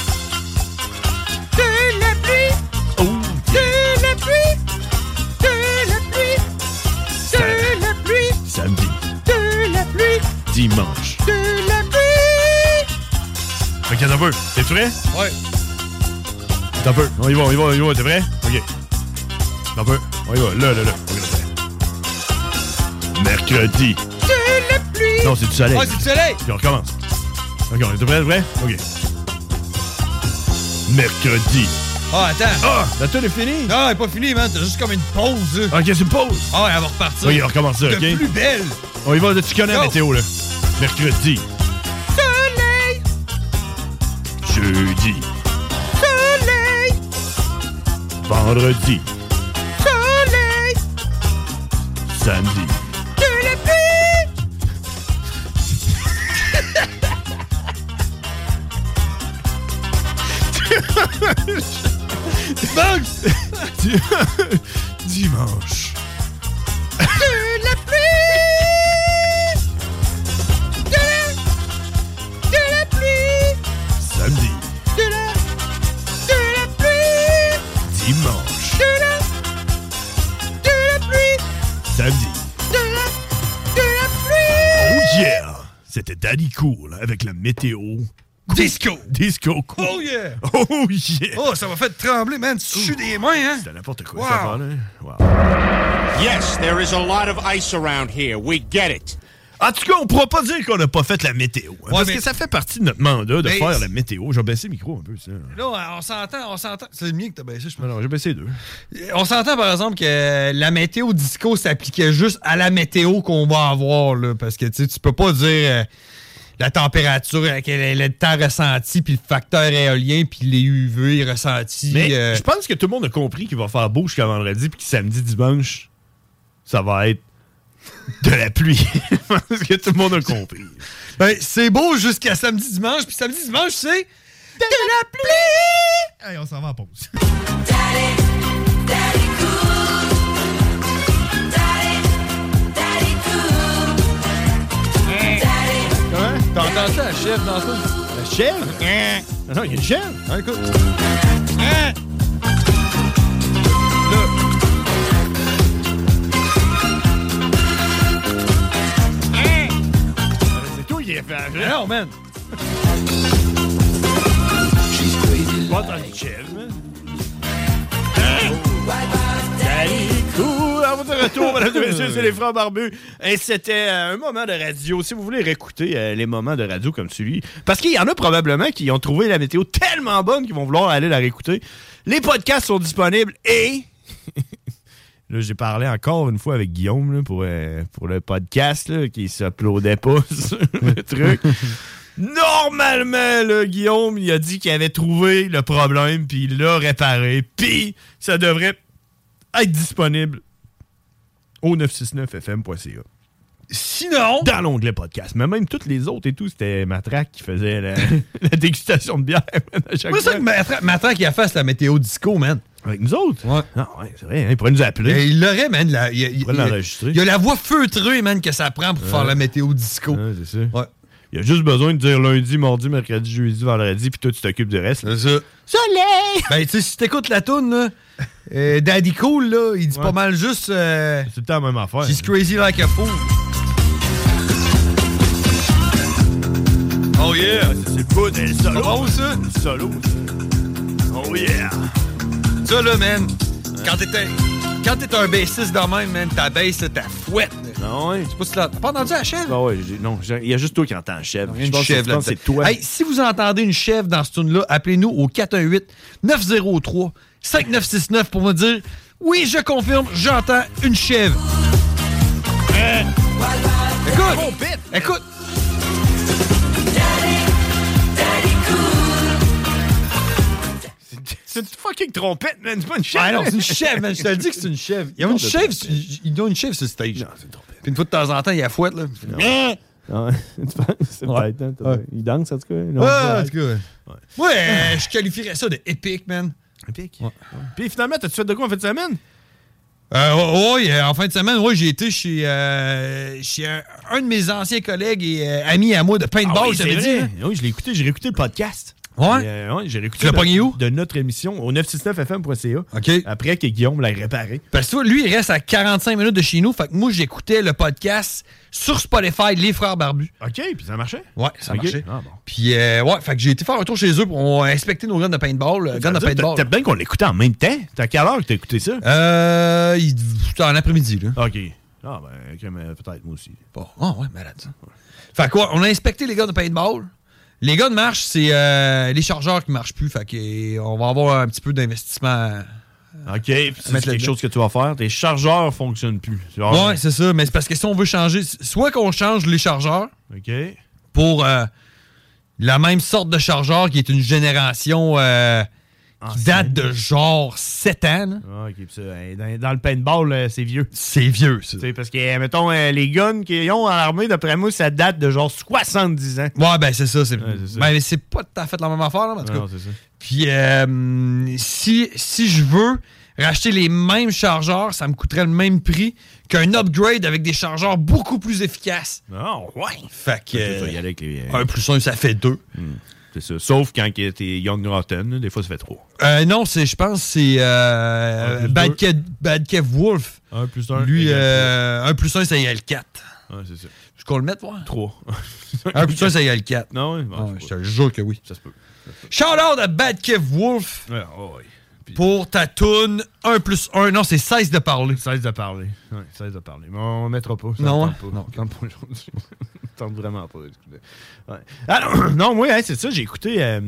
Speaker 11: De la pluie.
Speaker 10: Oh
Speaker 11: yeah! De la pluie. De la pluie. De la pluie.
Speaker 10: Samedi.
Speaker 11: De la pluie.
Speaker 10: Dimanche.
Speaker 11: De la pluie.
Speaker 10: Ok, t'as un peu. T'es prêt?
Speaker 11: Ouais.
Speaker 10: T'as un peu. On y va, on y va, on y va. T'es prêt? Ok. T'as un peu. On y va. Là, là, là. Mercredi.
Speaker 11: De la pluie.
Speaker 10: Non, c'est du soleil.
Speaker 11: Ouais, c'est du soleil.
Speaker 10: Puis on recommence. Ok, on est prêt, prêt? Ok. Mercredi.
Speaker 11: Ah, attends.
Speaker 10: Ah, la tour est finie?
Speaker 11: Non, elle est pas finie, man. T'as juste comme une pause. Là.
Speaker 10: Ok, c'est une pause.
Speaker 11: Ah, ouais, elle va repartir.
Speaker 10: Ok, on recommence ça,
Speaker 11: de
Speaker 10: ok?
Speaker 11: plus belle.
Speaker 10: On y va, tu connais la
Speaker 11: Go.
Speaker 10: météo, là. Mercredi.
Speaker 11: Soleil.
Speaker 10: Jeudi.
Speaker 11: Soleil.
Speaker 10: Vendredi.
Speaker 11: Soleil.
Speaker 10: Samedi.
Speaker 11: De la pluie.
Speaker 10: Dimanche.
Speaker 11: De la pluie. De la... De la pluie.
Speaker 10: Samedi.
Speaker 11: De la... De la pluie.
Speaker 10: Dimanche.
Speaker 11: De la... De la pluie.
Speaker 10: Samedi.
Speaker 11: De la... De la pluie.
Speaker 10: Oh yeah! C'était Daddy Cool avec la météo.
Speaker 11: Disco!
Speaker 10: Disco cool!
Speaker 11: Oh yeah!
Speaker 10: Oh yeah!
Speaker 11: Oh, ça m'a fait trembler, man! Tu sues des mains, hein?
Speaker 10: C'était n'importe quoi,
Speaker 11: wow.
Speaker 10: ça va, là. Wow.
Speaker 20: Yes, there is a lot of ice around here. We get it.
Speaker 10: En tout cas, on pourra pas dire qu'on n'a pas fait la météo. Hein,
Speaker 11: ouais,
Speaker 10: parce
Speaker 11: mais...
Speaker 10: que ça fait partie de notre mandat de
Speaker 11: mais...
Speaker 10: faire la météo. J'ai baissé le micro un peu, ça.
Speaker 11: Là, on s'entend, on s'entend. C'est le mien que t'as baissé, je pense.
Speaker 10: Non, non, j'ai baissé deux.
Speaker 11: On s'entend, par exemple, que la météo disco s'appliquait juste à la météo qu'on va avoir, là. Parce que, tu sais, tu peux pas dire... Euh, la température, le temps ressenti, puis le facteur éolien, puis les U V ressentis.
Speaker 10: Mais
Speaker 11: euh...
Speaker 10: je pense que tout le monde a compris qu'il va faire beau jusqu'à vendredi, puis que samedi, dimanche, ça va être de la pluie. Parce que tout le monde a compris.
Speaker 11: Ben, c'est beau jusqu'à samedi, dimanche, puis samedi, dimanche, c'est de la pluie!
Speaker 10: Allez, on s'en va en pause.
Speaker 11: Daddy, daddy cool. Daddy, daddy cool. Hey. T'as entendu ça, la chèvre dans ça?
Speaker 10: La chèvre?
Speaker 11: Hein?
Speaker 10: Non, non, il y a une chèvre.
Speaker 11: Ah, écoute. Hein? Là. Hein?
Speaker 10: C'est toi qui as fait la
Speaker 11: chèvre. Non, man.
Speaker 10: Pas entendu une chèvre, man. Hein? Daddy cool! À votre retour, mesdames et messieurs, c'est les Frères Barbus. Et c'était euh, un moment de radio. Si vous voulez réécouter euh, les moments de radio comme celui, parce qu'il y en a probablement qui ont trouvé la météo tellement bonne qu'ils vont vouloir aller la réécouter. Les podcasts sont disponibles et... Là, j'ai parlé encore une fois avec Guillaume là, pour, euh, pour le podcast là, qui s'uploadait pas sur le truc. Normalement, là, Guillaume, il a dit qu'il avait trouvé le problème, puis il l'a réparé, puis ça devrait être disponible au neuf cent soixante-neuf F M point C A.
Speaker 11: Sinon...
Speaker 10: Dans l'onglet podcast. Mais même toutes les autres et tout, c'était Matraque qui faisait la, la dégustation de bière. Man, à chaque
Speaker 11: c'est ça que Matraque, Matraque il a fait la météo disco, man.
Speaker 10: Avec nous autres?
Speaker 11: Ouais.
Speaker 10: Ah ouais, c'est vrai, hein, il pourrait nous appeler.
Speaker 11: Et il l'aurait, man. La, il, il,
Speaker 10: il pourrait
Speaker 11: il,
Speaker 10: l'enregistrer.
Speaker 11: Il y a la voix feutrée, man, que ça prend pour
Speaker 10: ouais.
Speaker 11: faire la météo disco.
Speaker 10: Ouais, c'est ça.
Speaker 11: Ouais.
Speaker 10: Il a juste besoin de dire lundi, mardi, mercredi, jeudi, vendredi, puis toi, tu t'occupes du reste.
Speaker 11: C'est ça.
Speaker 10: Soleil!
Speaker 11: Ben, tu sais, si t'écoutes la toune, là, euh, Daddy Cool, là, il dit
Speaker 10: Ouais.
Speaker 11: pas mal juste... Euh,
Speaker 10: c'est tout le temps la même affaire.
Speaker 11: She's crazy like a fool. Oh yeah!
Speaker 10: C'est le bout, c'est le solo.
Speaker 11: C'est bon, ça?
Speaker 10: C'est le solo, ça. Oh yeah!
Speaker 11: Ça, là, man, quand t'es un, quand t'es un bassiste de même, man, ta bass, là, ta fouette.
Speaker 10: Non, ouais.
Speaker 11: Je sais pas si t'as t'as pas entendu la chèvre?
Speaker 10: Ah ouais, j'ai- non, j'ai- il y a juste toi qui entends la chèvre.
Speaker 11: Il y a
Speaker 10: Je
Speaker 11: une
Speaker 10: pense que-
Speaker 11: chèvre
Speaker 10: je pense que
Speaker 11: là-dedans.
Speaker 10: c'est toi.
Speaker 11: Hey, si vous entendez une chèvre dans ce tune-là, appelez-nous au quatre un huit neuf zéro trois cinq neuf six neuf pour me dire « Oui, je confirme, j'entends une chèvre. Euh, » Écoute! Écoute!
Speaker 10: C'est une fucking trompette, man. C'est pas une chèvre.
Speaker 11: Ah non, c'est une chèvre, man. Je te le dis que c'est une chèvre. Il y a une chèvre, il y a une chèvre sur le stage.
Speaker 10: Non, c'est une trompette.
Speaker 11: Puis une fois de temps en temps, il y a la fouette, là.
Speaker 10: Non. Non, tu penses? C'est
Speaker 11: Ouais.
Speaker 10: peut-être, hein, t'as-
Speaker 11: Ouais.
Speaker 10: Il danse, en tout cas. Non,
Speaker 11: Ouais,
Speaker 10: c'est-
Speaker 11: en tout cas, ouais.
Speaker 10: Ouais.
Speaker 11: Ouais, euh, je qualifierais ça de épique, man.
Speaker 10: Épique. Ouais. Puis finalement, t'as-tu fait de quoi en fin de semaine?
Speaker 11: Euh, ouais, ouais, en fin de semaine, ouais, j'ai été chez, euh, chez un, un de mes anciens collègues et euh, amis à moi de paintball,
Speaker 10: Ah oui,
Speaker 11: je
Speaker 10: c'est
Speaker 11: t'avais dit.
Speaker 10: vrai.
Speaker 11: hein?
Speaker 10: Oui, je l'ai écouté. J'ai réécouté le podcast.
Speaker 11: Ouais?
Speaker 10: Et, euh, ouais, j'ai réécouté
Speaker 11: Tu l'as
Speaker 10: de-
Speaker 11: pogné où?
Speaker 10: De notre émission au neuf cent soixante-neuf F M point C A.
Speaker 11: OK.
Speaker 10: Après que Guillaume l'a réparé.
Speaker 11: Parce que toi, lui, il reste à quarante-cinq minutes de chez nous. Fait que moi, j'écoutais le podcast sur Spotify, Les Frères Barbus.
Speaker 10: OK, puis ça marchait?
Speaker 11: Ouais, ça
Speaker 10: OK.
Speaker 11: marchait.
Speaker 10: Ah, bon.
Speaker 11: Puis, euh, ouais, fait que j'ai été faire un tour chez eux pour inspecter nos guns de paintball. euh, Guns de
Speaker 10: Ça veut dire,
Speaker 11: paintball.
Speaker 10: T'as bien qu'on l'écoutait en même temps. T'as quelle heure que t'as écouté ça?
Speaker 11: Euh, il- c'était en après-midi, là.
Speaker 10: OK. Ah, ben, ok, mais peut-être moi aussi.
Speaker 11: Bon, ah ouais, malade, ça. Fait quoi, on a inspecté les gars de paintball. Les gars de marche, c'est euh, les chargeurs qui marchent plus. Fait que, euh, on va avoir un petit peu d'investissement.
Speaker 10: OK, puis c'est
Speaker 11: mettre
Speaker 10: quelque
Speaker 11: là-dedans.
Speaker 10: chose que tu vas faire. Tes chargeurs fonctionnent plus. Genre,
Speaker 11: Ouais, c'est ça. Mais c'est parce que si on veut changer, soit qu'on change les chargeurs
Speaker 10: OK.
Speaker 11: pour euh, la même sorte de chargeur qui est une génération euh, qui date de genre sept ans. là.
Speaker 10: Ah, OK, puis ça, euh, dans, dans le paintball, euh, c'est vieux.
Speaker 11: C'est vieux, ça.
Speaker 10: Tu sais, parce que, euh, mettons, euh, les guns qu'ils ont à l'armée, d'après moi, ça date de genre soixante-dix ans.
Speaker 11: Ouais, ben c'est ça. C'est
Speaker 10: Ouais, c'est ça.
Speaker 11: ben, c'est pas tout à fait la même affaire, là, en tout
Speaker 10: Non,
Speaker 11: cas.
Speaker 10: c'est ça.
Speaker 11: Puis, euh, si, si je veux racheter les mêmes chargeurs, ça me coûterait le même prix qu'un upgrade avec des chargeurs beaucoup plus efficaces.
Speaker 10: Ah, ouais.
Speaker 11: Fait que.
Speaker 10: Fait que tu vas y aller avec les, euh,
Speaker 11: un plus un, ça fait deux.
Speaker 10: Hmm, c'est ça. Sauf quand t'es Young Rotten, là, des fois, ça fait trois.
Speaker 11: Euh, non, c'est, je pense que c'est euh,
Speaker 10: Un plus
Speaker 11: Bad,
Speaker 10: deux.
Speaker 11: Kev, Bad Kev Wolf.
Speaker 10: Un plus un.
Speaker 11: Lui,
Speaker 10: égale
Speaker 11: euh, un plus un, ça égale quatre.
Speaker 10: trois. Ouais, c'est ça.
Speaker 11: Je qu'on le mette, moi?
Speaker 10: Trois.
Speaker 11: un plus un, ça égale quatre.
Speaker 10: Non, oui.
Speaker 11: Ah, je te jure que oui.
Speaker 10: Ça se peut.
Speaker 11: Shout out à Bad Kev Wolf
Speaker 10: Ouais, oh, ouais.
Speaker 11: pour ta toune un plus un. Non, c'est seize de parler.
Speaker 10: seize de parler. Ouais, seize de parler. Mais on ne mettra pas. Ça
Speaker 11: Non,
Speaker 10: me
Speaker 11: hein?
Speaker 10: tente pas.
Speaker 11: Non.
Speaker 10: Ça me tente pas aujourd'hui. Ça me tente vraiment pas. Ouais. Alors, non, moi, hein, c'est ça. J'ai écouté. euh,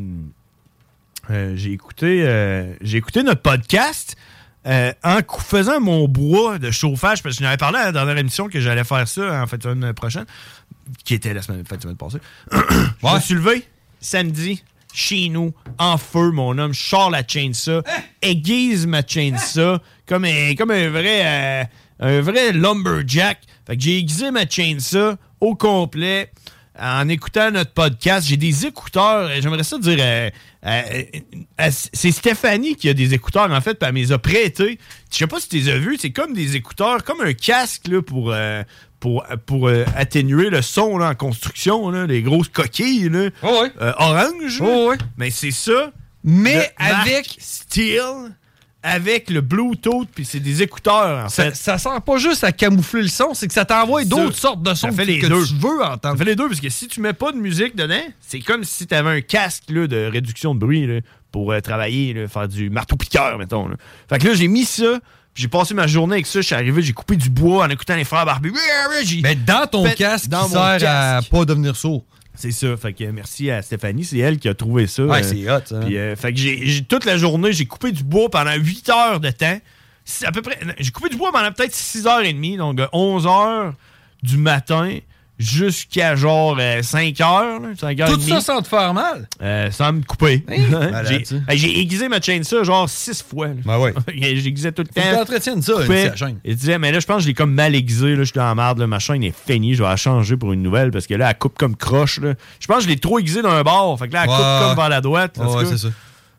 Speaker 10: euh, j'ai écouté. euh, j'ai écouté notre podcast. Euh, en cou- faisant mon bois de chauffage, parce que je n'avais parlé à la dernière émission que j'allais faire ça en fait semaine prochaine, qui était la semaine, fin de semaine passée. Je me suis levé samedi, chez nous, en feu, mon homme, je sors la chainsaw, aiguise ma chainsaw, comme un, comme un vrai euh, un vrai lumberjack. Fait que j'ai aiguisé ma chainsaw au complet en écoutant notre podcast. J'ai des écouteurs, euh, j'aimerais ça dire, euh, euh, euh, c'est Stéphanie qui a des écouteurs, en fait, puis elle me les a prêtés. Je sais pas si tu les as vus, c'est comme des écouteurs, comme un casque là, pour, euh, pour, pour euh, atténuer le son là, en construction, là, les grosses coquilles là,
Speaker 11: Oh ouais.
Speaker 10: euh, orange. là.
Speaker 11: Oh ouais.
Speaker 10: Mais c'est ça.
Speaker 11: Mais
Speaker 10: de marque
Speaker 11: avec.
Speaker 10: Steel, avec le Bluetooth, puis c'est des écouteurs, en
Speaker 11: Ça,
Speaker 10: fait.
Speaker 11: ça sert pas juste à camoufler le son, c'est que ça t'envoie
Speaker 10: Ça,
Speaker 11: d'autres sortes de sons
Speaker 10: ça fait
Speaker 11: que,
Speaker 10: les
Speaker 11: que
Speaker 10: deux.
Speaker 11: tu veux
Speaker 10: Ça
Speaker 11: entendre.
Speaker 10: fait les deux, parce que si tu mets pas de musique dedans, c'est comme si tu avais un casque là, de réduction de bruit là, pour euh, travailler, là, faire du marteau-piqueur, mettons. Là. Fait que là, j'ai mis ça, puis j'ai passé ma journée avec ça, je suis arrivé, j'ai coupé du bois en écoutant les frères Barbus.
Speaker 11: Mais dans ton
Speaker 10: fait-
Speaker 11: casque
Speaker 10: dans
Speaker 11: qui
Speaker 10: mon
Speaker 11: sert à
Speaker 10: casque.
Speaker 11: pas devenir sourd.
Speaker 10: C'est ça. Fait que merci à Stéphanie, c'est elle qui a trouvé ça.
Speaker 11: Ouais,
Speaker 10: euh,
Speaker 11: c'est hot, ça.
Speaker 10: Puis, euh, fait que j'ai, j'ai- toute la journée, j'ai coupé du bois pendant huit heures de temps. C'est à peu près. J'ai coupé du bois pendant peut-être six heures trente, donc de onze heures du matin jusqu'à genre euh, cinq heures. là, cinq heures
Speaker 11: Tout
Speaker 10: trente.
Speaker 11: ça sans te faire mal.
Speaker 10: Euh, sans me couper.
Speaker 11: malade,
Speaker 10: j'ai,
Speaker 11: ça.
Speaker 10: hey, j'ai aiguisé ma chaîne ça genre six fois. là.
Speaker 11: Ben ouais.
Speaker 10: j'ai aiguisé tout le
Speaker 11: Faut que
Speaker 10: temps.
Speaker 11: t'entretiennes ça,
Speaker 10: Coupais.
Speaker 11: une petite chaîne.
Speaker 10: Il disait, mais là, je pense que je l'ai comme mal aiguisé. Là, je suis dans la merde. Là, ma chaîne est finie. Je vais la changer pour une nouvelle parce que là, elle coupe comme croche. Là. Je pense que je l'ai trop aiguisé d'un bord. Fait que là, elle
Speaker 11: Ouais.
Speaker 10: coupe comme vers la droite. En
Speaker 11: Ouais,
Speaker 10: tout cas.
Speaker 11: c'est ça.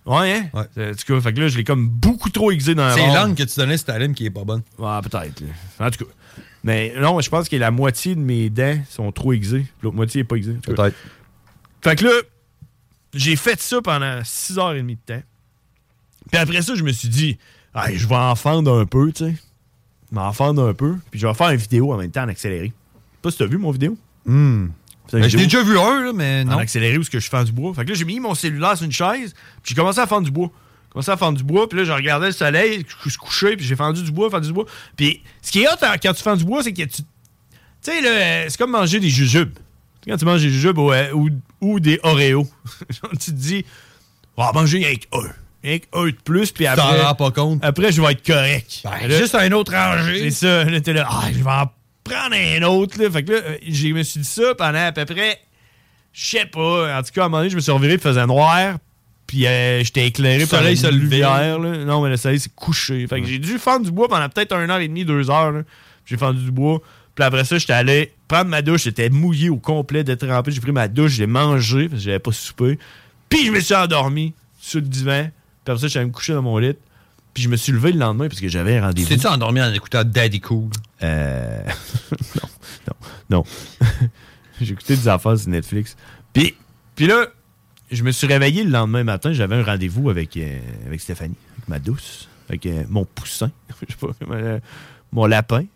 Speaker 10: Ouais, hein? Ouais. En tout cas, fait que là, je l'ai comme beaucoup trop aiguisé dans la
Speaker 11: C'est
Speaker 10: barre.
Speaker 11: l'angle que tu donnais, c'est ta lime qui est pas bonne.
Speaker 10: Ouais, peut-être. Là. En tout cas. Mais non, je pense que la moitié de mes dents sont trop aiguisées. L'autre moitié n'est pas aiguisée.
Speaker 11: Peut-être.
Speaker 10: Fait que là, j'ai fait ça pendant six heures trente de temps. Puis après ça, je me suis dit, hey, je vais en fendre un peu, tu sais. Je vais en fendre un peu. Puis je vais faire une vidéo en même temps en accéléré. Je sais pas si t'as vu mon vidéo.
Speaker 11: Hmm. Ben, je l'ai déjà vu un, là, mais non.
Speaker 10: En accéléré où est-ce que je fends du bois. Fait que là, j'ai mis mon cellulaire sur une chaise, puis j'ai commencé à fendre du bois. J'ai commencé à fendre du bois, puis là, je regardais le soleil, je suis couché, puis j'ai fendu du bois, fendu du bois. Puis ce qui est hot quand tu fends du bois, c'est que tu... Tu sais, là, c'est comme manger des jujubes. Quand tu manges des jujubes ou, ou, ou des Oreos, tu te dis, on va manger avec un. Avec un de plus, puis après...
Speaker 11: Tu t'en rends pas compte.
Speaker 10: Après, je vais être correct.
Speaker 11: Ben, là, juste un autre rangé.
Speaker 10: C'est ça. Là, t'es là, ah, je vais en prendre un autre, là. Fait que là, je me suis dit ça pendant à peu près... Je sais pas. En tout cas, à un moment donné, je me suis reviré, il faisait noir. Puis euh, j'étais éclairé par
Speaker 11: soleil se levait.
Speaker 10: Là. Non, mais le soleil s'est couché. Fait que j'ai dû fendre du bois pendant peut-être une heure et demie, deux heures. Là. J'ai fendu du bois. Puis après ça, j'étais allé prendre ma douche. J'étais mouillé au complet, détrempé. J'ai pris ma douche, j'ai mangé parce que j'avais pas soupé. Puis je me suis endormi sur le divan. Puis après ça, j'allais me coucher dans mon lit. Puis je me suis levé le lendemain parce que j'avais un rendez-vous.
Speaker 11: T'es-tu endormi en écoutant Daddy Cool?
Speaker 10: Euh... non, non, non. J'ai écouté des affaires sur Netflix. Puis, puis là, je me suis réveillé le lendemain matin. J'avais un rendez-vous avec, euh, avec Stéphanie, avec ma douce, avec euh, mon poussin, je sais pas, euh, mon lapin.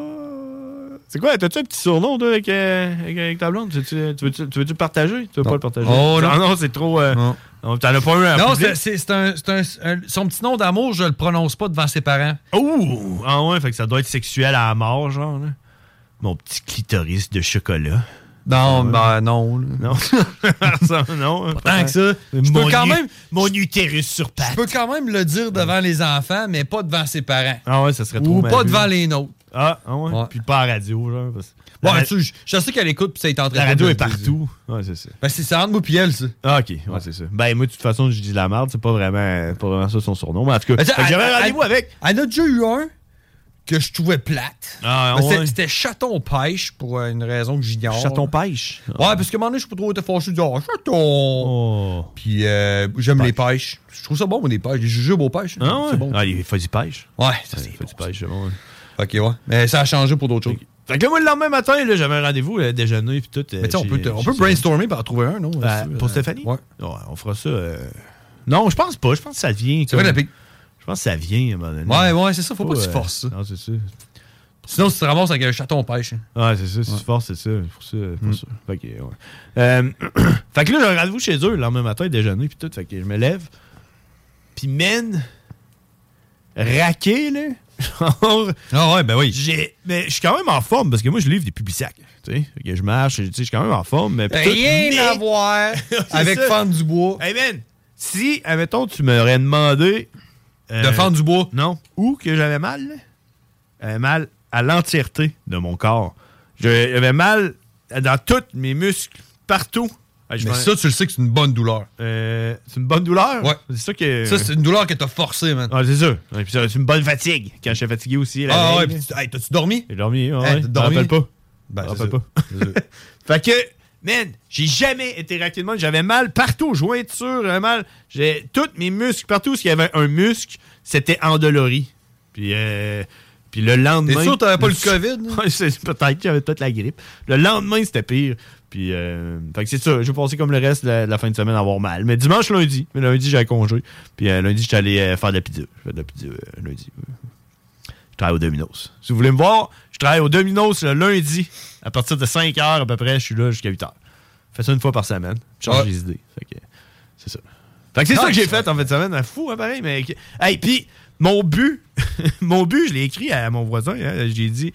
Speaker 10: Oh. C'est quoi? T'as-tu un petit surnom, toi, avec, euh, avec, avec ta blonde? Tu, tu, tu veux-tu, tu veux-tu le partager? Tu veux
Speaker 11: non.
Speaker 10: pas le partager?
Speaker 11: Oh non,
Speaker 10: ah, non, c'est trop... Euh, non. Non, t'en as pas eu un
Speaker 11: Non,
Speaker 10: public?
Speaker 11: c'est, c'est, c'est, un, c'est un, un... Son petit nom d'amour, je le prononce pas devant ses parents.
Speaker 10: Oh! Ah ouais, fait que ça doit être sexuel à la mort, genre, là. Mon petit clitoris de chocolat.
Speaker 11: Non, ben non. Là.
Speaker 10: Non. ça, non.
Speaker 11: Pas tant que ça. Je
Speaker 10: Mon
Speaker 11: peux quand
Speaker 10: u-
Speaker 11: même.
Speaker 10: Mon utérus sur pattes.
Speaker 11: Je peux quand même le dire devant les enfants, mais pas devant ses parents.
Speaker 10: Ah ouais, ça serait trop
Speaker 11: Ou
Speaker 10: mal
Speaker 11: pas
Speaker 10: vu.
Speaker 11: devant les nôtres.
Speaker 10: Ah, ah ouais.
Speaker 11: Ouais.
Speaker 10: Puis pas à la radio, genre. Parce...
Speaker 11: Bon,
Speaker 10: la...
Speaker 11: tu sais, je, je sais qu'elle écoute, puis ça est en train de.
Speaker 10: La radio
Speaker 11: de
Speaker 10: est
Speaker 11: le dire.
Speaker 10: partout. Ouais, c'est ça.
Speaker 11: Ben, c'est ça entre moi puis elle, ça.
Speaker 10: Ah, ok. Ouais, ouais, c'est ça. Ben, moi, de toute façon, je dis la merde. C'est pas vraiment, pas vraiment ça son surnom. Mais en tout cas,
Speaker 11: Ben,
Speaker 10: fait que j'avais un rendez-vous
Speaker 11: elle,
Speaker 10: avec.
Speaker 11: Elle en a déjà eu un que je trouvais plate.
Speaker 10: Ah,
Speaker 11: Ben,
Speaker 10: ouais.
Speaker 11: c'était, c'était chaton-pêche pour euh, une raison que j'ignore.
Speaker 10: Chaton-pêche?
Speaker 11: Ouais, parce qu'à un moment donné, je suis pas trop été fâché. Je dis, oh, chaton.
Speaker 10: Oh.
Speaker 11: Puis euh, j'aime
Speaker 10: Pêche.
Speaker 11: les pêches. Je trouve ça bon, moi, les pêches. Les jujubes aux pêches.
Speaker 10: Ah, ouais.
Speaker 11: C'est bon.
Speaker 10: Ah, il fait du pêche.
Speaker 11: Ouais,
Speaker 10: Ça,
Speaker 11: ça
Speaker 10: il
Speaker 11: c'est
Speaker 10: fait
Speaker 11: bon.
Speaker 10: du pêche, c'est bon. Ouais.
Speaker 11: Ok, ouais. Mais ça a changé pour d'autres choses.
Speaker 10: Fait que là, moi, le lendemain matin, là, j'avais un rendez-vous, là, déjeuner, puis tout.
Speaker 11: Mais tu sais, on peut, on peut brainstormer pour en trouver un, non?
Speaker 10: Euh,
Speaker 11: Là-dessus,
Speaker 10: pour
Speaker 11: euh,
Speaker 10: Stéphanie?
Speaker 11: Ouais.
Speaker 10: Ouais, on fera ça. Euh... Non, je pense pas. Je pense que ça vient.
Speaker 11: C'est vrai, la
Speaker 10: comme-
Speaker 11: pique.
Speaker 10: Je pense que ça vient à un moment donné.
Speaker 11: Ouais, ouais, c'est ça. Faut pas que tu
Speaker 10: euh,
Speaker 11: forces ça.
Speaker 10: Non, c'est ça.
Speaker 11: Sinon, tu te ramasses avec un chaton-pêche. Hein.
Speaker 10: Ouais, c'est ça. Si
Speaker 11: Ouais.
Speaker 10: tu forces, c'est ça. Pour ça, pour
Speaker 11: Mm.
Speaker 10: ça. Fait que, ouais. Euh, fait que là, j'ai un rendez-vous chez eux le lendemain matin, déjeuner, puis tout. Fait que je me lève. Puis, man, raqué, là. Genre,
Speaker 11: Ah ouais, ben oui.
Speaker 10: j'ai. Mais je suis quand même en forme parce que moi, je livre des Publisac. Tu sais, Fait que je marche, tu sais, je suis quand même en forme. Mais puis tout,
Speaker 11: Rien
Speaker 10: mais-
Speaker 11: à voir avec
Speaker 10: ça.
Speaker 11: fendre du bois.
Speaker 10: Hey man, si, admettons, tu m'aurais demandé. euh,
Speaker 11: De fendre du bois.
Speaker 10: Non. Où que j'avais mal, là? J'avais mal à l'entièreté de mon corps. J'avais mal dans tous mes muscles, partout. Ah, je
Speaker 11: Mais
Speaker 10: m'en-
Speaker 11: ça, tu le sais que c'est une bonne douleur.
Speaker 10: Euh, c'est une bonne douleur?
Speaker 11: Ouais.
Speaker 10: C'est ça que.
Speaker 11: Ça, c'est une douleur que t'as forcée, man.
Speaker 10: Ah, c'est ça. Ouais, puis ça, c'est une bonne fatigue. Quand j'étais fatigué aussi. La
Speaker 11: Ah ouais,
Speaker 10: veille,
Speaker 11: pis tu- hey, t'as-tu dormi?
Speaker 10: J'ai dormi, ouais.
Speaker 11: Hey,
Speaker 10: ouais.
Speaker 11: t'as
Speaker 10: Je
Speaker 11: dormi?
Speaker 10: me rappelle pas.
Speaker 11: Ben,
Speaker 10: Je
Speaker 11: c'est
Speaker 10: me rappelle
Speaker 11: ça.
Speaker 10: pas. Fait que, man, j'ai jamais été raqué de mal. J'avais mal partout, jointure, j'avais mal. J'ai tous mes muscles, partout où il y avait un muscle, c'était endolori. Puis, euh, puis le lendemain.
Speaker 11: T'es sûr que t'avais pas le COVID? là?
Speaker 10: Ouais, c'est- peut-être, j'avais peut-être la grippe. Le lendemain, c'était pire. Puis, euh, fait que c'est ça. Je vais passer comme le reste de la, de la fin de semaine à avoir mal. Mais dimanche, lundi. Mais lundi, j'avais congé. Puis euh, lundi, j'étais allé euh, faire de la pizza. Je fais de la pizza euh, lundi. Je travaille au Domino's. Si vous voulez me voir, je travaille au Domino's le lundi. À partir de cinq heures à peu près, je suis là jusqu'à huit heures. Je fais ça une fois par semaine. Je change
Speaker 11: Ouais.
Speaker 10: les idées. Fait que c'est ça. Fait que c'est
Speaker 11: Ah,
Speaker 10: ça que j'ai
Speaker 11: c'est-
Speaker 10: fait en fin de semaine. Un fou, hein, pareil. Mais... Hey, puis mon but, mon but, je l'ai écrit à mon voisin. Hein, j'ai dit...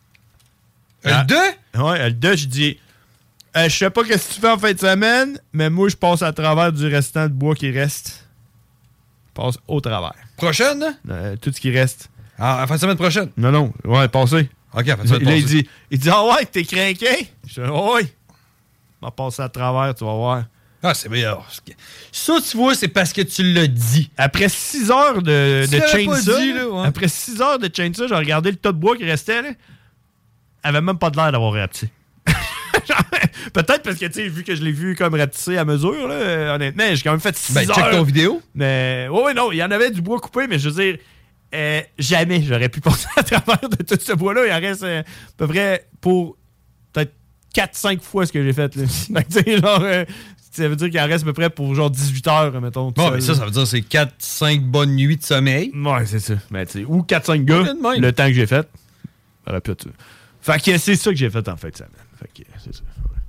Speaker 11: Le deux?
Speaker 10: Ouais, le deux, j'ai dit... Euh, je sais pas qu'est-ce que tu fais en fin de semaine, mais moi, je passe à travers du restant de bois qui reste. Je passe au travers.
Speaker 11: Prochaine, là?
Speaker 10: Euh, tout ce qui reste.
Speaker 11: Ah, à la fin de semaine prochaine.
Speaker 10: Non, non. Ouais, passé.
Speaker 11: Ok, à la fin de semaine
Speaker 10: Là, il
Speaker 11: passée.
Speaker 10: dit, il dit, ah ouais, t'es craqué? Je dis, ah ouais. On va passer à travers, tu vas voir.
Speaker 11: Ah, c'est bien. Ça, tu vois, c'est parce que tu l'as dit.
Speaker 10: Après six heures de,
Speaker 11: Tu
Speaker 10: de
Speaker 11: l'avais pas
Speaker 10: chainsaw,
Speaker 11: dit, là, ouais.
Speaker 10: après six heures de chainsaw, j'ai regardé le tas de bois qui restait, là. Elle avait même pas de l'air d'avoir réapti. Peut-être parce que, tu sais, vu que je l'ai vu comme ratissé à mesure, là, euh, honnêtement, j'ai quand même fait six
Speaker 11: Ben,
Speaker 10: heures.
Speaker 11: check ton vidéo.
Speaker 10: Mais, ouais, ouais, non, il y en avait du bois coupé, mais je veux dire, euh, jamais j'aurais pu passer à travers de tout ce bois-là. Il en reste euh, à peu près pour peut-être quatre cinq fois ce que j'ai fait, là. Donc, tu sais, genre, euh, ça veut dire qu'il en reste à peu près pour genre dix-huit heures, mettons.
Speaker 11: Bon, mais ça, ça veut dire que c'est quatre cinq bonnes nuits de sommeil.
Speaker 10: Ouais, c'est ça. Ben, tu sais, ou quatre cinq gars, le temps que j'ai fait. Ça aurait pu être ça. Fait que c'est ça que j'ai fait en fin de semaine. Fait que c'est ça.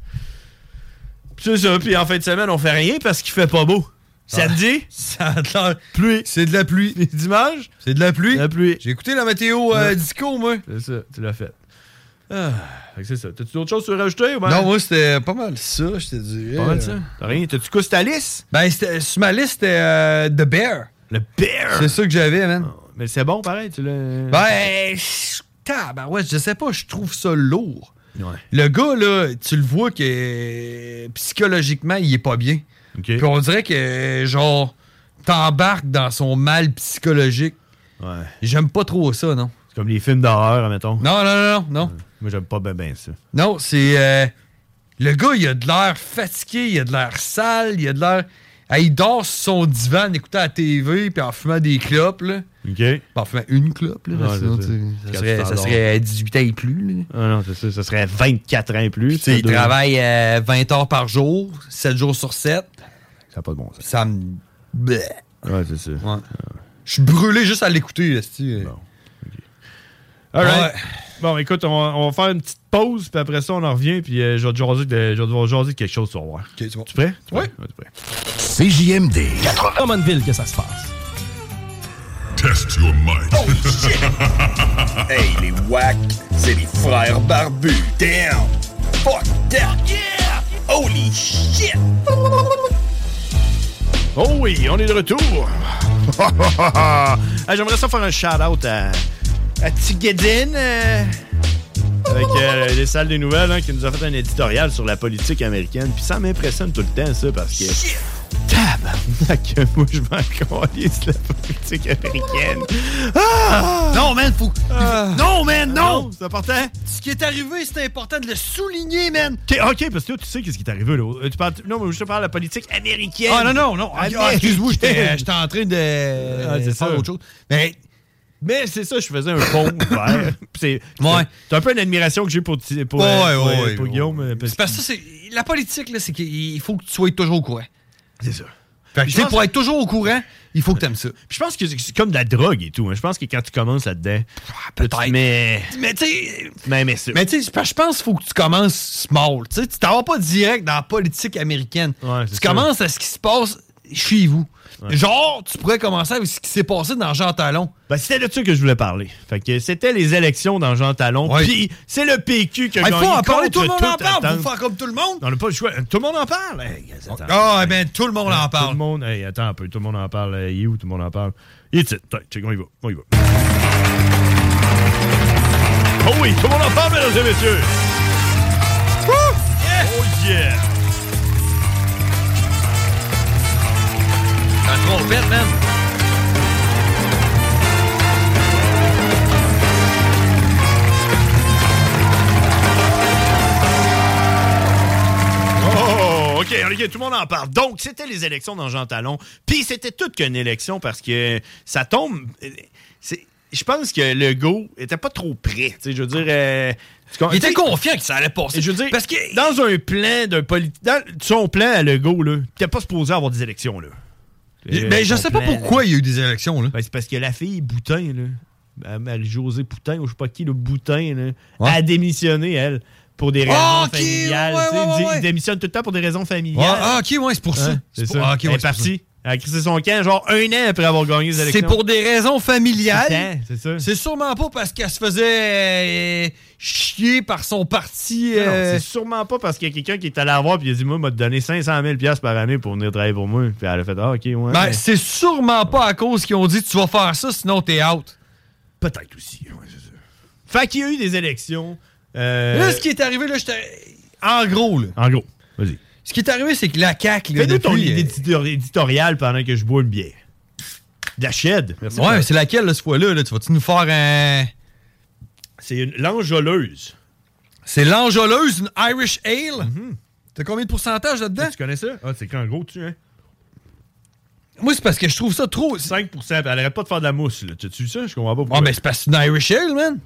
Speaker 10: Puis c'est ça. Puis en fin de semaine, on fait rien parce qu'il fait pas beau. Samedi,
Speaker 11: ah, ça a l'air pluie. C'est de la pluie.
Speaker 10: Dimanche,
Speaker 11: c'est de la pluie.
Speaker 10: La pluie.
Speaker 11: J'ai écouté la météo euh, disco, moi.
Speaker 10: C'est ça, tu l'as fait. Ah, fait que c'est ça. T'as-tu d'autres choses à rajouter? Ou ben?
Speaker 11: Non, moi, c'était pas mal ça, je te dirais.
Speaker 10: Pas mal ça. T'as rien? T'as-tu quoi sur ta liste?
Speaker 11: Ben, sur ma liste, c'était euh, The Bear.
Speaker 10: Le Bear?
Speaker 11: C'est ça que j'avais, man.
Speaker 10: Oh, mais c'est bon, pareil, tu l'as...
Speaker 11: Ben, tabarouette, je sais pas, je trouve ça lourd.
Speaker 10: Ouais.
Speaker 11: Le gars, là, tu le vois que euh, psychologiquement, il est pas bien.
Speaker 10: Okay.
Speaker 11: Puis on dirait que, genre, t'embarques dans son mal psychologique.
Speaker 10: Ouais.
Speaker 11: J'aime pas trop ça, non?
Speaker 10: C'est comme les films d'horreur, mettons.
Speaker 11: Non, non, non, non. non.
Speaker 10: Ouais. Moi, j'aime pas bien ben ça.
Speaker 11: Non, c'est... Euh, le gars, il a de l'air fatigué, il a de l'air sale, il a de l'air... Ah, il dort sur son divan en écoutant la T V puis en fumant des clopes, là.
Speaker 10: OK.
Speaker 11: Puis en fumant une clope, là.
Speaker 10: Ouais,
Speaker 11: sinon,
Speaker 10: ça.
Speaker 11: Ça, serait, ça serait dix-huit ans et plus, là.
Speaker 10: Ah non, c'est ça. Ça serait vingt-quatre ans et plus.
Speaker 11: Il deux... travaille euh, vingt heures par jour, sept jours sur sept.
Speaker 10: Ça n'a pas de bon sens.
Speaker 11: Ça me... Bleh.
Speaker 10: Ouais, c'est ça.
Speaker 11: Ouais. Je suis brûlé juste à l'écouter, là, c'est-tu.
Speaker 10: Bon. OK. All right. Ouais. Bon, écoute, on va, on va faire une petite pause, puis après ça, on en revient, puis euh, je vais te jaser de, je vais te jaser de quelque chose, tu vas voir.
Speaker 11: OK, c'est bon.
Speaker 10: Tu prêt? Tu
Speaker 11: ouais.
Speaker 10: ouais. Tu prêt?
Speaker 3: C J M D.
Speaker 14: Drummondville, que ça se passe.
Speaker 9: Test your mind.
Speaker 19: Oh shit! Hey, les wack, c'est les frères barbus. Damn! Fuck that! Yeah! Holy shit!
Speaker 10: Oh oui, on est de retour. Hey, j'aimerais ça faire un shout-out à, à Tigedin, euh, avec euh, les salles des nouvelles, hein, qui nous a fait un éditorial sur la politique américaine. Puis ça m'impressionne tout le temps, ça, parce que... Tabarnak, moi, je m'en calisse la politique américaine. Ah!
Speaker 11: Non, man, faut... Ah! Non, man, non!
Speaker 10: non c'est important.
Speaker 11: Ce qui est arrivé, c'est important de le souligner, man.
Speaker 10: OK, OK, parce que toi, tu sais qu'est-ce qui est arrivé, là. Tu parles... Non, mais je te parle de la politique américaine.
Speaker 11: Ah, non, non, non. Ah, excuse-moi, j'étais, j'étais en train de
Speaker 10: ah, c'est
Speaker 11: faire
Speaker 10: ça.
Speaker 11: autre chose. Mais...
Speaker 10: Mais c'est ça, je faisais un pont ouvert. C'est,
Speaker 11: ouais.
Speaker 10: c'est un peu une admiration que j'ai pour, pour,
Speaker 11: ouais,
Speaker 10: euh, pour,
Speaker 11: ouais,
Speaker 10: pour,
Speaker 11: ouais,
Speaker 10: pour
Speaker 11: ouais.
Speaker 10: Guillaume. Parce
Speaker 11: c'est parce que ça, c'est... La politique, là, c'est qu'il faut que tu sois toujours au courant.
Speaker 10: C'est ça.
Speaker 11: Fait que, pour que... être toujours au courant, il faut que tu aimes ça.
Speaker 10: Puis je pense que c'est comme de la drogue et tout. Hein. Je pense que quand tu commences là-dedans,
Speaker 11: ah, peut-être.
Speaker 10: Mais,
Speaker 11: mais tu sais,
Speaker 10: mais, mais, ça.
Speaker 11: mais tu sais, je pense qu'il faut que tu commences small. Tu sais, tu t'en vas pas direct dans la politique américaine.
Speaker 10: Ouais,
Speaker 11: tu
Speaker 10: ça.
Speaker 11: commences à ce qui se passe chez vous. Ouais. Genre, tu pourrais commencer avec ce qui s'est passé dans Jean Talon.
Speaker 10: Ben, c'était de ça que je voulais parler. Fait que c'était les élections dans Jean Talon. Ouais. Puis c'est le P Q qui a
Speaker 11: ah,
Speaker 10: gagné.
Speaker 11: Il faut en parler, tout le monde en
Speaker 10: attente.
Speaker 11: parle. Faut faire comme tout le monde.
Speaker 10: On n'a pas le choix. Tout le monde en parle. Hey,
Speaker 11: ah, hey, ben, tout le monde
Speaker 10: hey,
Speaker 11: en parle.
Speaker 10: Tout le monde. Hey, attends un peu. Tout le monde en parle. Il est où? Tout le monde en parle. Il est titre. Check, on y va. On y va. Oh oui, tout le monde en parle, mesdames et messieurs. Woo! Yeah. Oh yeah.
Speaker 11: La trompette, man.
Speaker 10: Oh, OK, OK, tout le monde en parle. Donc, c'était les élections dans Jean Talon. Puis, c'était toute qu'une élection parce que ça tombe... C'est... Je pense que Legault était pas trop prêt. Je veux dire... Euh,
Speaker 11: il était confiant que ça allait passer.
Speaker 10: Je veux dire, parce que dans un plan d'un politique... Dans son plan à Legault, là, il n'était pas supposé avoir des élections, là.
Speaker 11: Euh, ben, je sais plan, pas pourquoi il y a eu des élections, là.
Speaker 10: Ben, c'est parce que la fille Boutin, là, Marie-Josée Boutin, ou je sais pas qui, le Boutin, là, ouais. a démissionné, elle, pour des raisons oh, okay, familiales.
Speaker 11: Ouais, ouais, ouais, ouais.
Speaker 10: Il démissionne tout le temps pour des raisons familiales.
Speaker 11: Ah, ok, ouais, c'est pour ça.
Speaker 10: Hein, c'est,
Speaker 11: c'est
Speaker 10: ça.
Speaker 11: Pour... Ah, okay,
Speaker 10: elle
Speaker 11: ouais,
Speaker 10: est partie. Elle a crissé son camp, genre un an après avoir gagné les élections.
Speaker 11: C'est pour des raisons familiales.
Speaker 10: C'est, c'est ça.
Speaker 11: C'est sûrement pas parce qu'elle se faisait euh, chier par son parti. Euh...
Speaker 10: Non, c'est sûrement pas parce qu'il y a quelqu'un qui est allé la voir et il a dit, moi, m'a donné cinq cent mille dollars par année pour venir travailler pour moi. Puis elle a fait, ah, ok, ouais.
Speaker 11: Ben, c'est sûrement pas à cause qu'ils ont dit, tu vas faire ça, sinon t'es out.
Speaker 10: Peut-être aussi, ouais, c'est ça. Fait qu'il y a eu des élections. Euh...
Speaker 11: Là, ce qui est arrivé, là, j'étais. En gros, là.
Speaker 10: En gros, vas-y.
Speaker 11: Ce qui est arrivé, c'est que la C A Q... Là,
Speaker 10: fais-nous
Speaker 11: depuis,
Speaker 10: ton idée éditoriale pendant que je bois une bière. De la shed.
Speaker 11: Merci. Ouais, mais c'est laquelle, là, cette fois-là? Là? Tu vas-tu nous faire un...
Speaker 10: C'est une l'enjôleuse.
Speaker 11: C'est l'enjôleuse, une Irish Ale. Mm-hmm. T'as combien de pourcentage là-dedans?
Speaker 10: Tu connais ça? Ah, c'est quand gros dessus, hein?
Speaker 11: Moi, c'est parce que je trouve ça trop...
Speaker 10: cinq pour cent, elle arrête pas de faire de la mousse, là. Tu as vu ça? Je comprends pas pourquoi.
Speaker 11: Ah, mais c'est parce que c'est une Irish Ale, man.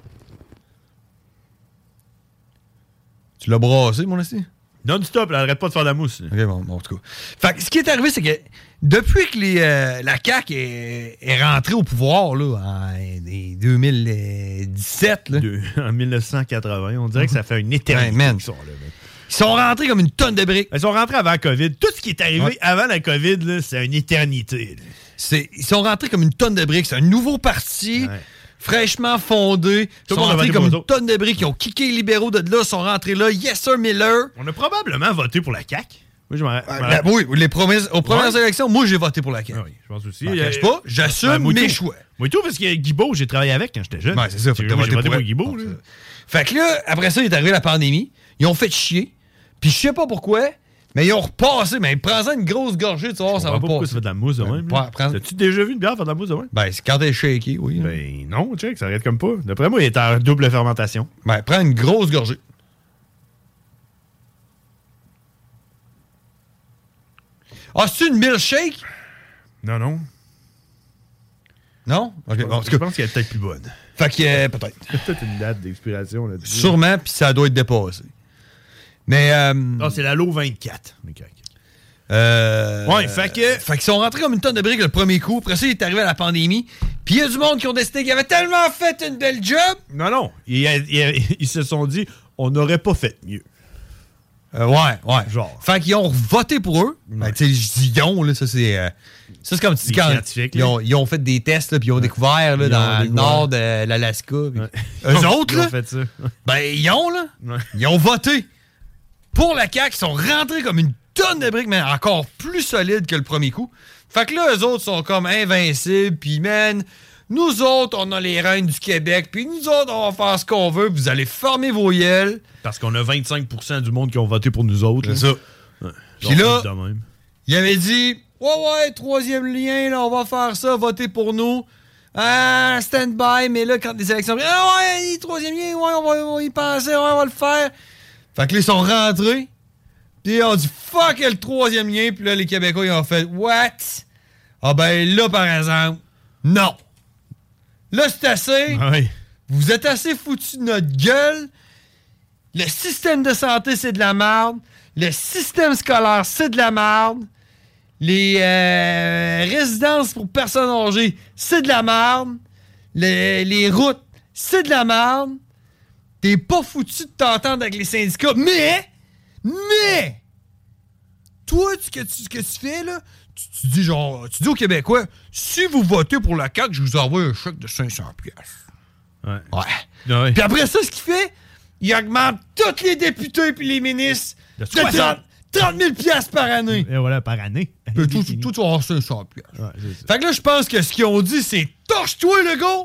Speaker 11: Tu l'as brassé, mon esti?
Speaker 10: Non-stop, elle arrête pas de faire de la mousse. Là.
Speaker 11: OK, bon, bon, en tout cas. Fait que ce qui est arrivé, c'est que depuis que les, euh, la C A Q est, est rentrée au pouvoir, là, en deux mille dix-sept, là.
Speaker 10: De, en dix-neuf cent quatre-vingts, on dirait que ça fait une éternité.
Speaker 11: Ouais, man.
Speaker 10: Ils sont là, man.
Speaker 11: Ils sont rentrés comme une tonne de briques.
Speaker 10: Ils sont rentrés avant la COVID. Tout ce qui est arrivé
Speaker 11: ouais.
Speaker 10: avant la COVID, là, c'est une éternité.
Speaker 11: C'est, ils sont rentrés comme une tonne de briques. C'est un nouveau parti, ouais. fraîchement fondé. Ils sont rentrés comme une autres. tonne de briques. Ils ont kické les libéraux de là, sont rentrés là. Yes, sir, Miller.
Speaker 10: On a probablement voté pour la C A Q.
Speaker 11: Oui, je m'en euh, la, oui, les promesses, aux premières ouais. élections, moi, j'ai voté pour la C A Q.
Speaker 10: Ah oui, je pense aussi.
Speaker 11: Je cache pas, j'assume ben, mes choix.
Speaker 10: Moi, tout, parce que Guibault, j'ai travaillé avec quand j'étais jeune.
Speaker 11: Ouais, c'est ça.
Speaker 10: J'ai voté pour, pour Guibault. Là.
Speaker 11: Fait que là, après ça, il est arrivé la pandémie. Ils ont fait chier. Puis je sais pas pourquoi, mais ils ont repassé. Mais prends-en une grosse gorgée, tu vois, ça va pas.
Speaker 10: Pourquoi ça fait de la mousse de même? As-tu déjà vu une bière faire de la mousse de même?
Speaker 11: Ben, c'est quand elle est shaky, oui.
Speaker 10: Ben non, check, ça arrête comme pas. D'après moi, il est en double fermentation.
Speaker 11: Ben, prends une grosse gorgée. Ah, c'est une milkshake?
Speaker 10: Non, non.
Speaker 11: Non? Okay. Bon,
Speaker 10: je pense qu'elle est peut-être plus bonne.
Speaker 11: Fait que, euh, peut-être.
Speaker 10: Il y a peut-être une date d'expiration là-dessus.
Speaker 11: Sûrement, puis ça doit être dépassé. Mais. Euh,
Speaker 10: non, c'est la Low vingt-quatre.
Speaker 11: Euh,
Speaker 10: ouais, fait que.
Speaker 11: Fait qu'ils sont rentrés comme une tonne de briques le premier coup. Après ça, il est arrivé à la pandémie. Puis il y a du monde qui ont décidé qu'ils avaient tellement fait une belle job.
Speaker 10: Non, non. Ils, ils, ils se sont dit, on n'aurait pas fait mieux.
Speaker 11: Euh, ouais, ouais. Genre. Fait qu'ils ont voté pour eux. Ouais. Ben, tu sais, je dis ils là, ça c'est. Euh, ça c'est comme tu dis quand. Ils ont, ils ont fait des tests, là, puis ils ont ouais. découvert, là, ils dans le nord de l'Alaska. Ouais. Eux autres, là. Ils ont fait ça. Ben, ils ont, là. Ouais. Ils ont voté pour la C A Q. Ils sont rentrés comme une tonne de briques, mais encore plus solides que le premier coup. Fait que là, eux autres sont comme invincibles, puis man. Nous autres, on a les reines du Québec, puis nous autres, on va faire ce qu'on veut, puis vous allez fermer vos yeux.
Speaker 10: Parce qu'on a vingt-cinq pour cent du monde qui ont voté pour nous autres.
Speaker 11: C'est ça. Ouais. Puis là, il avait dit, ouais, ouais, troisième lien, là, on va faire ça, voter pour nous. Ah, stand-by, mais là, quand les élections... Ah ouais, troisième lien, ouais, on va, on va y penser, ouais, on va le faire. Fait que là, ils sont rentrés, puis ils ont dit, fuck le troisième lien, puis là, les Québécois, ils ont fait, what? Ah ben là, par exemple, non. Là, c'est assez.
Speaker 10: Ah oui.
Speaker 11: Vous êtes assez foutus de notre gueule. Le système de santé, c'est de la merde. Le système scolaire, c'est de la merde. Les euh, résidences pour personnes âgées, c'est de la merde. Le, les routes, c'est de la merde. T'es pas foutu de t'entendre avec les syndicats. Mais, mais, toi, ce que tu, ce que tu fais, là, tu, tu dis genre, tu dis aux Québécois, si vous votez pour la C A Q, je vous envoie un chèque de cinq cents piastres.
Speaker 10: Ouais.
Speaker 11: Ouais.
Speaker 10: ouais.
Speaker 11: Puis après ça, ce qu'il fait, il augmente tous les députés puis les ministres de trente mille piastres par année.
Speaker 10: Et voilà, par année.
Speaker 11: Puis tout, tout, tout, tu vas avoir cinq cents piastres. Ouais, fait que là, je pense que ce qu'ils ont dit, c'est torche-toi, le gars!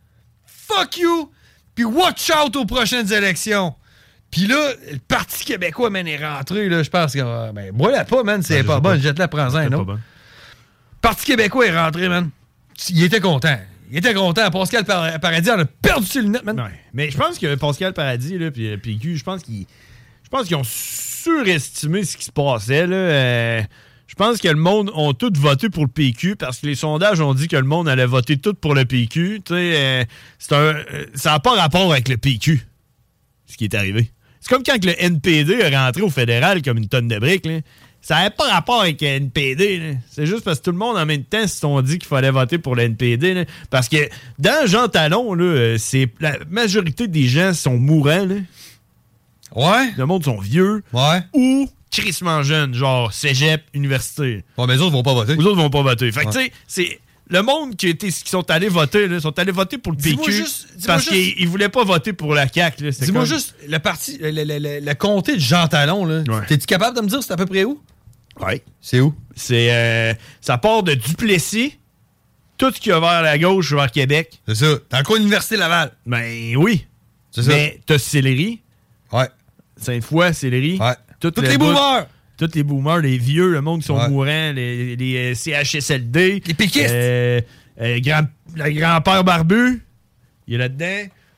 Speaker 11: Fuck you! Puis watch out aux prochaines élections. Puis là, le Parti québécois, man, est rentré, là, je pense que... Ben, bois-la pas, man, c'est ben, pas bon, jette-la, prends-en, non? Bon. Parti québécois est rentré, man. Il était content. Il était content. Pascal Paradis en a perdu ses lunettes, man.
Speaker 10: Ouais. Mais je pense que Pascal Paradis, là, puis P Q, je pense qu'ils... Je pense qu'ils ont surestimé ce qui se passait, là. Euh, je pense que le monde ont tout voté pour le P Q parce que les sondages ont dit que le monde allait voter tout pour le P Q. Tu sais, euh, c'est un... Euh, ça n'a pas rapport avec le P Q, ce qui est arrivé. C'est comme quand le N P D est rentré au fédéral comme une tonne de briques, là. Ça n'avait pas rapport avec le N P D. Là. C'est juste parce que tout le monde, en même temps, se sont dit qu'il fallait voter pour le N P D. Là. Parce que dans Jean Talon, là, c'est, la majorité des gens sont mourants. Là.
Speaker 11: Ouais.
Speaker 10: Le monde sont vieux.
Speaker 11: Ouais.
Speaker 10: Ou crissement jeunes, genre cégep, université.
Speaker 11: Ouais, mais les autres vont pas voter.
Speaker 10: Les autres vont pas voter. Fait que, ouais. Tu sais, c'est... Le monde qui, était, qui sont allés voter, là, sont allés voter pour le P Q juste, parce juste, qu'ils ne voulaient pas voter pour la C A Q. Là.
Speaker 11: Dis-moi
Speaker 10: comme...
Speaker 11: juste, le parti, le, le, le, le comté de Jean Talon, là, ouais. T'es-tu capable de me dire c'est à peu près où?
Speaker 10: Oui.
Speaker 11: C'est où?
Speaker 10: C'est, euh, ça part de Duplessis, tout ce qui va vers la gauche vers Québec.
Speaker 11: C'est ça. Dans le coin de l'Université Laval.
Speaker 10: Ben oui. C'est ça. Mais t'as Sillery.
Speaker 11: Ouais.
Speaker 10: Sainte-Foy, Sillery.
Speaker 11: Ouais. Tous les boomers.
Speaker 10: Tous les boomers, les vieux, le monde qui sont
Speaker 11: ouais.
Speaker 10: mourants, les, les euh, C H S L D.
Speaker 11: Les péquistes.
Speaker 10: Euh, euh, grand, le grand-père barbu, il est là-dedans.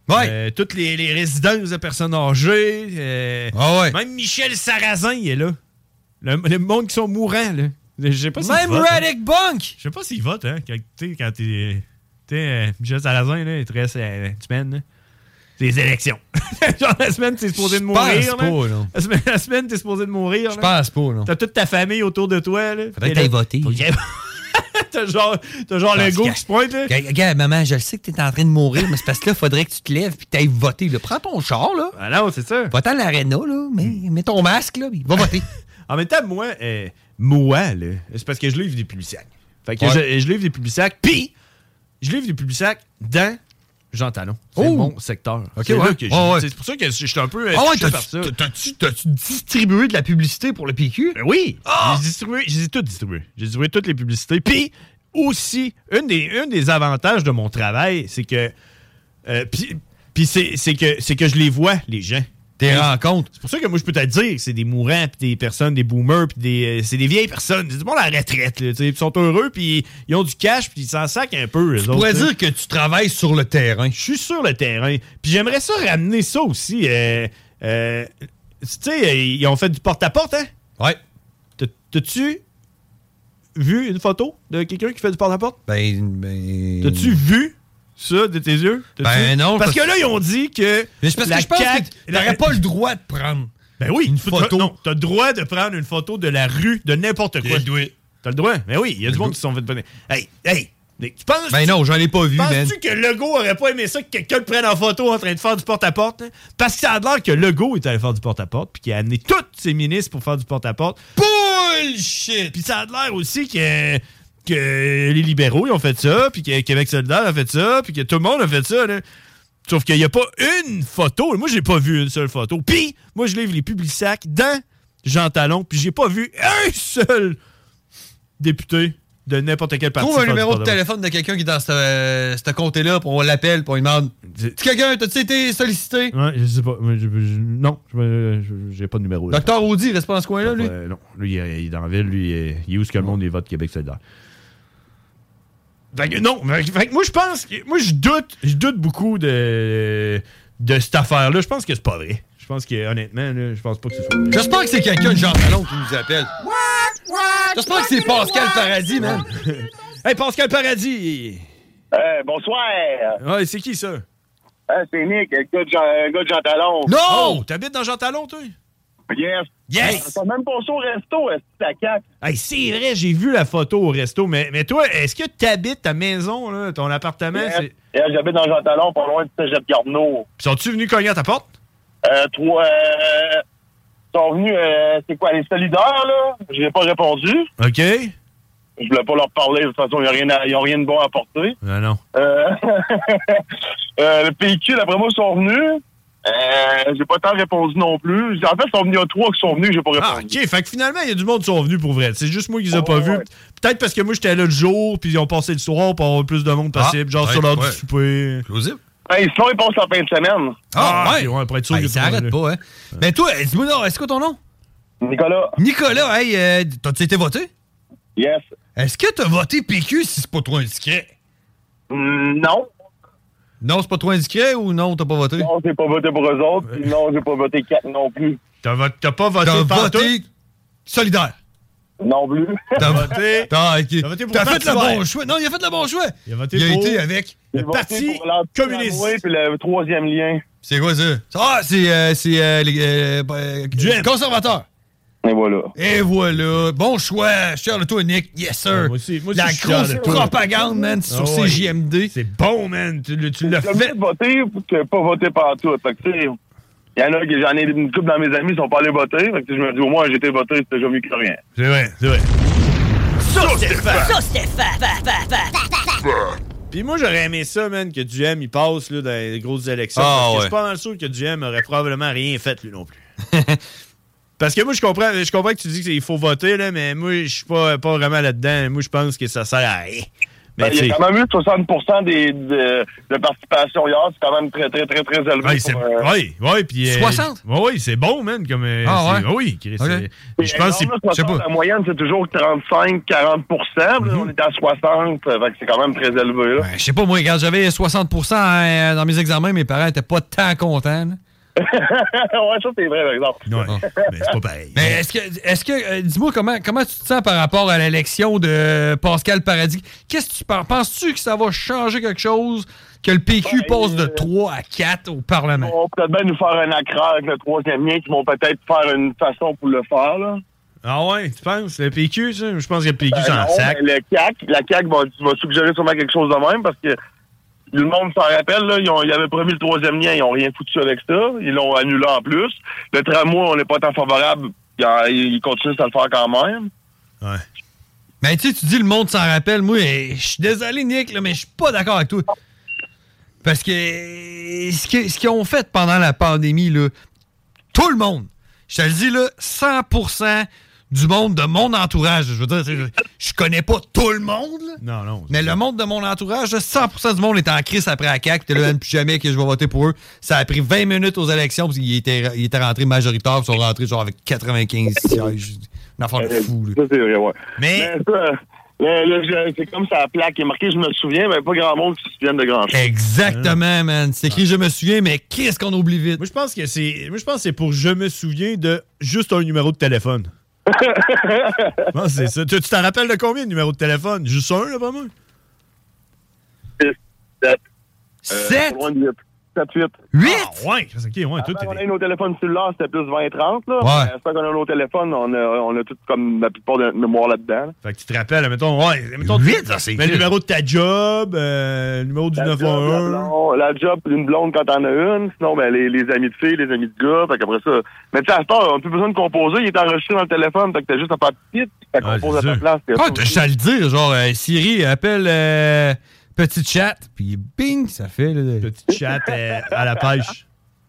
Speaker 11: Ouais.
Speaker 10: Euh, toutes les, les résidences de personnes âgées. Euh,
Speaker 11: ah ouais.
Speaker 10: Même Michel Sarrazin, il est là. Le, le monde qui sont mourants, là. Je sais pas s'il
Speaker 11: Même
Speaker 10: vote,
Speaker 11: Radic
Speaker 10: hein.
Speaker 11: Bunk!
Speaker 10: Je sais pas s'il vote, hein. Quand t'es... Quand t'es tu sais, euh, Michel Sarrazin, là, il te reste euh, une semaine, là. C'est les élections. Genre, la semaine, t'es supposé de mourir.
Speaker 11: Je pense pas,
Speaker 10: là.
Speaker 11: là.
Speaker 10: La semaine, la semaine, t'es supposé de mourir.
Speaker 11: Je pense pas, non.
Speaker 10: T'as toute ta famille autour de toi, là.
Speaker 11: Faudrait que t'ailles voter.
Speaker 10: T'as genre, t'as genre le go qui se pointe, là.
Speaker 11: Regarde, maman, je le sais que t'es en train de mourir, mais c'est parce que là, faudrait que tu te lèves puis que t'ailles voter. Là. Prends ton char, là.
Speaker 10: Ah non, c'est ça.
Speaker 11: Va-t'en à l'aréna, là. Mais, mets ton masque, là, puis va voter.
Speaker 10: En même temps, moi, euh, moi, là, c'est parce que je livre des Publisac. Fait que
Speaker 11: Ouais.
Speaker 10: je, je livre des Publisac, puis je livre des Publisac dans Jean Talon. C'est
Speaker 11: Oh!
Speaker 10: mon secteur.
Speaker 11: Ok,
Speaker 10: c'est
Speaker 11: ouais.
Speaker 10: là que je-
Speaker 11: Ouais, ouais.
Speaker 10: C'est pour ça que je suis un peu euh,
Speaker 11: Ah ouais,
Speaker 10: touché par
Speaker 11: t'as-tu,
Speaker 10: ça.
Speaker 11: t'as-tu, t'as-tu distribué de la publicité pour le P Q?
Speaker 10: Ben oui!
Speaker 11: Ah!
Speaker 10: J'ai distribué, j'ai tout distribué. J'ai distribué toutes les publicités. Puis aussi, une des, un des avantages de mon travail, c'est que. Euh, puis puis c'est, c'est, que, c'est que je les vois, les gens.
Speaker 11: Tes rencontres.
Speaker 10: C'est pour ça que moi, je peux te dire que c'est des mourants, puis des personnes, des boomers, puis des, euh, c'est des vieilles personnes. C'est du monde à la retraite, là, tu sais. Ils sont heureux, puis ils ont du cash, puis ils s'en sacent un peu.
Speaker 11: Tu pourrais dire que tu travailles sur le terrain.
Speaker 10: Je suis sur le terrain. Puis j'aimerais ça ramener ça aussi. Euh, euh, tu sais, ils ont fait du porte-à-porte, hein?
Speaker 11: Ouais.
Speaker 10: T'as- T'as-tu vu une photo de quelqu'un qui fait du porte-à-porte?
Speaker 11: Ben, ben...
Speaker 10: T'as-tu vu ça de tes yeux? T'as-tu-
Speaker 11: Ben non.
Speaker 10: Parce que là, ils ont dit que
Speaker 11: Mais c'est parce
Speaker 10: la
Speaker 11: que je pense
Speaker 10: C A Q
Speaker 11: que t'aurais pas le droit de prendre
Speaker 10: Ben oui,
Speaker 11: une
Speaker 10: tu-
Speaker 11: photo.
Speaker 10: Non, t'as le droit de prendre une photo de la rue, de n'importe quoi. T'as le droit? Ben oui, il y a du monde qui se sont fait bonner. Hey, hey! Tu penses,
Speaker 11: Ben non, j'en ai pas vu, man.
Speaker 10: Penses-tu que Legault aurait pas aimé ça que quelqu'un le prenne en photo en train de faire du porte-à-porte? Hein? Parce que ça a l'air que Legault est allé faire du porte-à-porte puis qu'il a amené tous ses ministres pour faire du porte-à-porte.
Speaker 11: Bullshit!
Speaker 10: Puis ça a l'air aussi que, que les libéraux ils ont fait ça, puis que Québec solidaire a fait ça, puis que tout le monde a fait ça. Là. Sauf qu'il n'y a pas une photo. Moi, j'ai pas vu une seule photo. Puis, moi, je livre les Publisac dans Jean Talon, puis j'ai pas vu un seul député de n'importe quel parti.
Speaker 11: Trouve un
Speaker 10: faire du
Speaker 11: numéro de
Speaker 10: porte-à-porte.
Speaker 11: téléphone de quelqu'un qui est dans ce, euh, ce comté-là, puis on l'appelle, puis on lui demande « Quelqu'un, t'as-tu été sollicité? »
Speaker 10: Ouais, je sais pas. Moi, je- je- non, je- je- j'ai pas de numéro. là.
Speaker 11: Docteur Audi, il reste pas dans ce coin-là, lui?
Speaker 10: Euh, non, lui, il est il est dans la ville. Lui, il est, il est où ce que le monde il vote Québec solidaire. Fait que, non, fait que- fait que moi, je pense que. Moi, je doute, je doute beaucoup de, de cette affaire-là. Je pense que c'est pas vrai. Je pense que, honnêtement, là, je pense pas que ce soit vrai.
Speaker 11: J'espère que c'est quelqu'un de Jean Talon qui nous appelle. J'espère que c'est Pascal Paradis, man.
Speaker 10: Hey, Pascal Paradis!
Speaker 21: Euh, bonsoir.
Speaker 10: Ouais, c'est qui ça?
Speaker 21: Euh, c'est Nick, le gars de Jean, le gars de Jean Talon.
Speaker 10: Non! Oh, t'habites dans Jean Talon, toi?
Speaker 21: Yes.
Speaker 10: Yes!
Speaker 21: T'as même pas ça au resto, est-ce que la cac?
Speaker 10: Hey, c'est vrai, j'ai vu la photo au resto, mais, mais toi, est-ce que t'habites ta maison, là, ton appartement?
Speaker 21: Yes.
Speaker 10: c'est-
Speaker 21: Yes, j'habite dans Jean Talon, pas loin du Cégep Garneau.
Speaker 10: Puis sont-tu venus cogner à ta porte?
Speaker 21: Euh, toi, euh, ils sont venus, euh, c'est quoi, les solidaires, là? Je n'ai pas répondu.
Speaker 10: OK.
Speaker 21: Je voulais pas leur parler, de toute façon, ils n'ont rien, à- ils ont rien de bon à apporter.
Speaker 10: Non, non.
Speaker 21: Euh, euh, le P Q, d'après moi, ils sont venus. Euh, j'ai pas tant répondu non plus. En fait, ils sont venus, il y a trois qui sont venus, j'ai pas répondu.
Speaker 10: Ah, OK. Fait que finalement, il y a du monde qui sont venus pour vrai. C'est juste moi qui les ai
Speaker 21: Oh,
Speaker 10: pas vus.
Speaker 21: ouais.
Speaker 10: Peut-être parce que moi, j'étais là le jour, puis ils ont passé le soir pour avoir plus de monde possible,
Speaker 11: Ah,
Speaker 10: genre
Speaker 11: ouais,
Speaker 10: sur l'heure
Speaker 11: ouais.
Speaker 10: du souper.
Speaker 11: Plausible.
Speaker 21: Hey, sinon, ils passent en fin de semaine.
Speaker 11: Ah, ouais.
Speaker 10: ok, ouais, pour être sûr
Speaker 11: Hey,
Speaker 10: que
Speaker 11: ça
Speaker 10: tout le monde
Speaker 11: arrête
Speaker 10: est
Speaker 11: pas, hein. Mais toi, dis-moi, non, est-ce que ton nom?
Speaker 21: Nicolas.
Speaker 11: Nicolas, hey, euh, t'as-tu été voté?
Speaker 21: Yes.
Speaker 11: Est-ce que t'as voté P Q si c'est pas trop indiscret?
Speaker 21: Mm, non.
Speaker 11: Non, c'est pas trop indiscret ou non, t'as pas voté?
Speaker 21: Non, j'ai pas voté pour eux autres. Puis non, j'ai pas voté quatre non plus.
Speaker 10: T'as, vo- t'as pas voté
Speaker 11: T'as
Speaker 10: pantoute?
Speaker 11: voté solidaire.
Speaker 21: Non plus.
Speaker 11: T'as
Speaker 10: voté.
Speaker 11: T'as, ok.
Speaker 10: T'as voté pour
Speaker 11: T'as
Speaker 10: le
Speaker 11: fait
Speaker 10: Parti
Speaker 11: le bon
Speaker 10: vert.
Speaker 11: choix. Non, il a fait le bon choix.
Speaker 10: Il a voté
Speaker 11: Il a
Speaker 10: pour
Speaker 11: été avec
Speaker 21: J'ai
Speaker 10: le
Speaker 21: voté
Speaker 10: Parti
Speaker 21: pour l'Anti-
Speaker 10: communiste.
Speaker 21: Tramway, puis le troisième lien.
Speaker 11: C'est quoi ça? Ah, c'est, euh, c'est euh, les euh, euh,
Speaker 10: Du M.
Speaker 11: conservateurs.
Speaker 21: Et voilà.
Speaker 11: Et voilà. Bon choix. Je suis fier de toi, Nick. Yes, sir.
Speaker 10: Ah, moi aussi, moi aussi,
Speaker 11: La
Speaker 10: je suis fier
Speaker 11: grosse
Speaker 10: de toi.
Speaker 11: propagande, man, sur
Speaker 10: Ah ouais.
Speaker 11: C J M D.
Speaker 10: C'est bon, man. Tu, le- tu l'as
Speaker 21: J'ai
Speaker 10: fait.
Speaker 21: mieux de voter que pas voter partout. Fait que, tu sais, il y en a que j'en ai une couple dans mes amis qui sont pas allés voter. Fait que, tu sais, je me dis, au moins, j'ai été voté, c'était déjà mieux que rien.
Speaker 10: C'est vrai, c'est vrai. Ça, Stéphane!
Speaker 8: Ça, Stéphane!
Speaker 10: Puis moi, j'aurais aimé ça, man, que Duhem, il passe là, dans les grosses élections.
Speaker 11: Ah,
Speaker 10: parce que
Speaker 11: ouais.
Speaker 10: je suis pas mal sûr que Duhem aurait probablement rien fait, lui non plus. Parce que moi, je comprends, je comprends que tu dis qu'il faut voter, là, mais moi, je suis pas, pas vraiment là-dedans. Moi, je pense que ça sert à rien. Mais
Speaker 21: ben, il y a quand même eu soixante pour cent des, de, de participation hier. C'est quand même très, très, très, très élevé.
Speaker 10: Oui,
Speaker 21: pour, euh...
Speaker 10: oui, oui. Puis, euh,
Speaker 11: soixante?
Speaker 10: Oui, oui, c'est bon, man. Comme, euh,
Speaker 11: ah, ouais?
Speaker 10: Oui, Chris.
Speaker 11: Okay.
Speaker 10: Je pense que
Speaker 21: c'est... La moyenne, c'est toujours trente-cinq à quarante pour cent. Mm-hmm. On est à soixante. Fait que c'est quand même très élevé.
Speaker 11: Ben, je sais pas, moi, quand j'avais soixante pour cent hein, dans mes examens, mes parents étaient pas tant contents. Là.
Speaker 21: ouais, ça, c'est vrai, par exemple.
Speaker 10: Ouais, mais c'est pas pareil.
Speaker 11: Mais est-ce que, est-ce que euh, dis-moi, comment, comment tu te sens par rapport à l'élection de Pascal Paradis? Qu'est-ce que tu penses? Penses-tu que ça va changer quelque chose, que le P Q ouais, passe de trois à quatre au Parlement?
Speaker 21: Ils vont peut-être bien nous faire un accra avec le troisième lien, qui vont peut-être faire une façon pour le faire, là.
Speaker 10: Ah ouais, tu penses? Le P Q, ça? Je pense que le P Q,
Speaker 21: ben
Speaker 10: c'est un sac.
Speaker 21: Le C A Q, la C A Q va, va suggérer sûrement quelque chose de même, parce que le monde s'en rappelle, là, ils, ont, ils avaient promis le troisième lien, ils n'ont rien foutu avec ça. Ils l'ont annulé en plus. Le tramway, on n'est pas tant favorable. Ils, ils continuent à le faire quand même.
Speaker 11: Ouais. Mais tu sais, tu dis le monde s'en rappelle. Moi, je suis désolé, Nick, là, mais je suis pas d'accord avec toi. Parce que ce qu'ils ce qu'ils ont fait pendant la pandémie, là, tout le monde, je te le dis, là, cent pour cent du monde de mon entourage. Je veux dire, je, je connais pas tout le monde, là,
Speaker 10: non, non,
Speaker 11: mais le monde de mon entourage, là, cent pour cent du monde est en crise après la C A Q. T'es là, plus jamais que je vais voter pour eux. Ça a pris vingt minutes aux élections parce qu'ils étaient, ils étaient rentrés majoritaires, ils sont rentrés genre avec quatre-vingt-quinze sièges. Une affaire de fou. Là.
Speaker 21: Ça, c'est vrai, ouais.
Speaker 11: Mais...
Speaker 21: mais ça, là, là, c'est comme ça, la plaque est marquée, je me souviens, mais pas grand monde qui se souvienne de grand chose.
Speaker 11: Exactement, man. C'est écrit, je me souviens, mais qu'est-ce qu'on oublie vite?
Speaker 10: Moi, je pense que c'est, moi, je pense que c'est pour je me souviens de juste un numéro de téléphone. Non, c'est ça. Tu, tu t'en rappelles de combien de numéros de téléphone? Juste un, là, vraiment?
Speaker 21: six, sept.
Speaker 11: sept?
Speaker 21: sept, huit.
Speaker 11: huit?
Speaker 21: Ah,
Speaker 10: ouais, c'est ok, ouais. Tout
Speaker 21: on a eu nos téléphones cellulaires, c'était plus vingt trente, là.
Speaker 11: Ouais.
Speaker 21: C'est qu'on a nos téléphones, on a, on a tout comme la plupart de notre mémoire là-dedans. Là.
Speaker 10: Fait que tu te rappelles, mettons, ouais, mettons.
Speaker 11: huit, ça, c'est
Speaker 10: mais le numéro de ta job, euh, le numéro du
Speaker 21: la
Speaker 10: neuf un un.
Speaker 21: La, la job, une blonde quand t'en as une. Sinon, ben, les, les amis de filles, les amis de gars. Fait qu'après ça. Mais tu sais, à ce temps, on n'a plus besoin de composer. Il est enregistré dans le téléphone. Fait que t'as juste à faire petite. Ça
Speaker 10: ouais,
Speaker 21: compose à ta place.
Speaker 11: Ah, t'as juste à le dire. Genre, euh, Siri, appelle euh, Petit Chat. Puis bing, ça fait. Là,
Speaker 10: Petit Chat euh, à la pêche.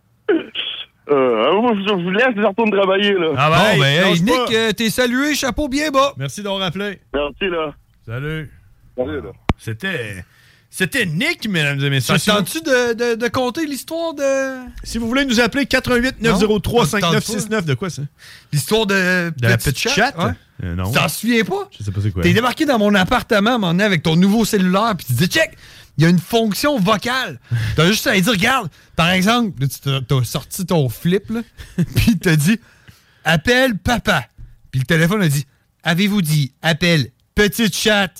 Speaker 21: Euh, moi, je vous laisse, je retourne travailler, là.
Speaker 10: Ah ben,
Speaker 11: bon,
Speaker 10: hey,
Speaker 11: ben, hey, Nick, euh, t'es salué, chapeau bien bas.
Speaker 10: Merci d'avoir rappelé.
Speaker 21: Merci, là.
Speaker 10: Salut.
Speaker 21: Salut, là.
Speaker 10: C'était... C'était Nick, mesdames et messieurs.
Speaker 11: Ça tente-tu de, de, de compter l'histoire de...
Speaker 10: Si vous voulez nous appeler, quatre un huit neuf zéro trois cinq neuf six neuf. De quoi, ça?
Speaker 11: L'histoire de...
Speaker 10: De la petite chatte?
Speaker 11: Ouais.
Speaker 10: Euh, non.
Speaker 11: Tu t'en souviens pas?
Speaker 10: Je sais pas c'est quoi.
Speaker 11: T'es débarqué dans mon appartement, à un moment donné, avec ton nouveau cellulaire, puis tu dis, check, il y a une fonction vocale. T'as juste à dire, regarde, par exemple, là, tu t'as, t'as sorti ton flip, là, puis t'as dit, appelle papa. Puis le téléphone a dit, avez-vous dit, appelle petite chatte?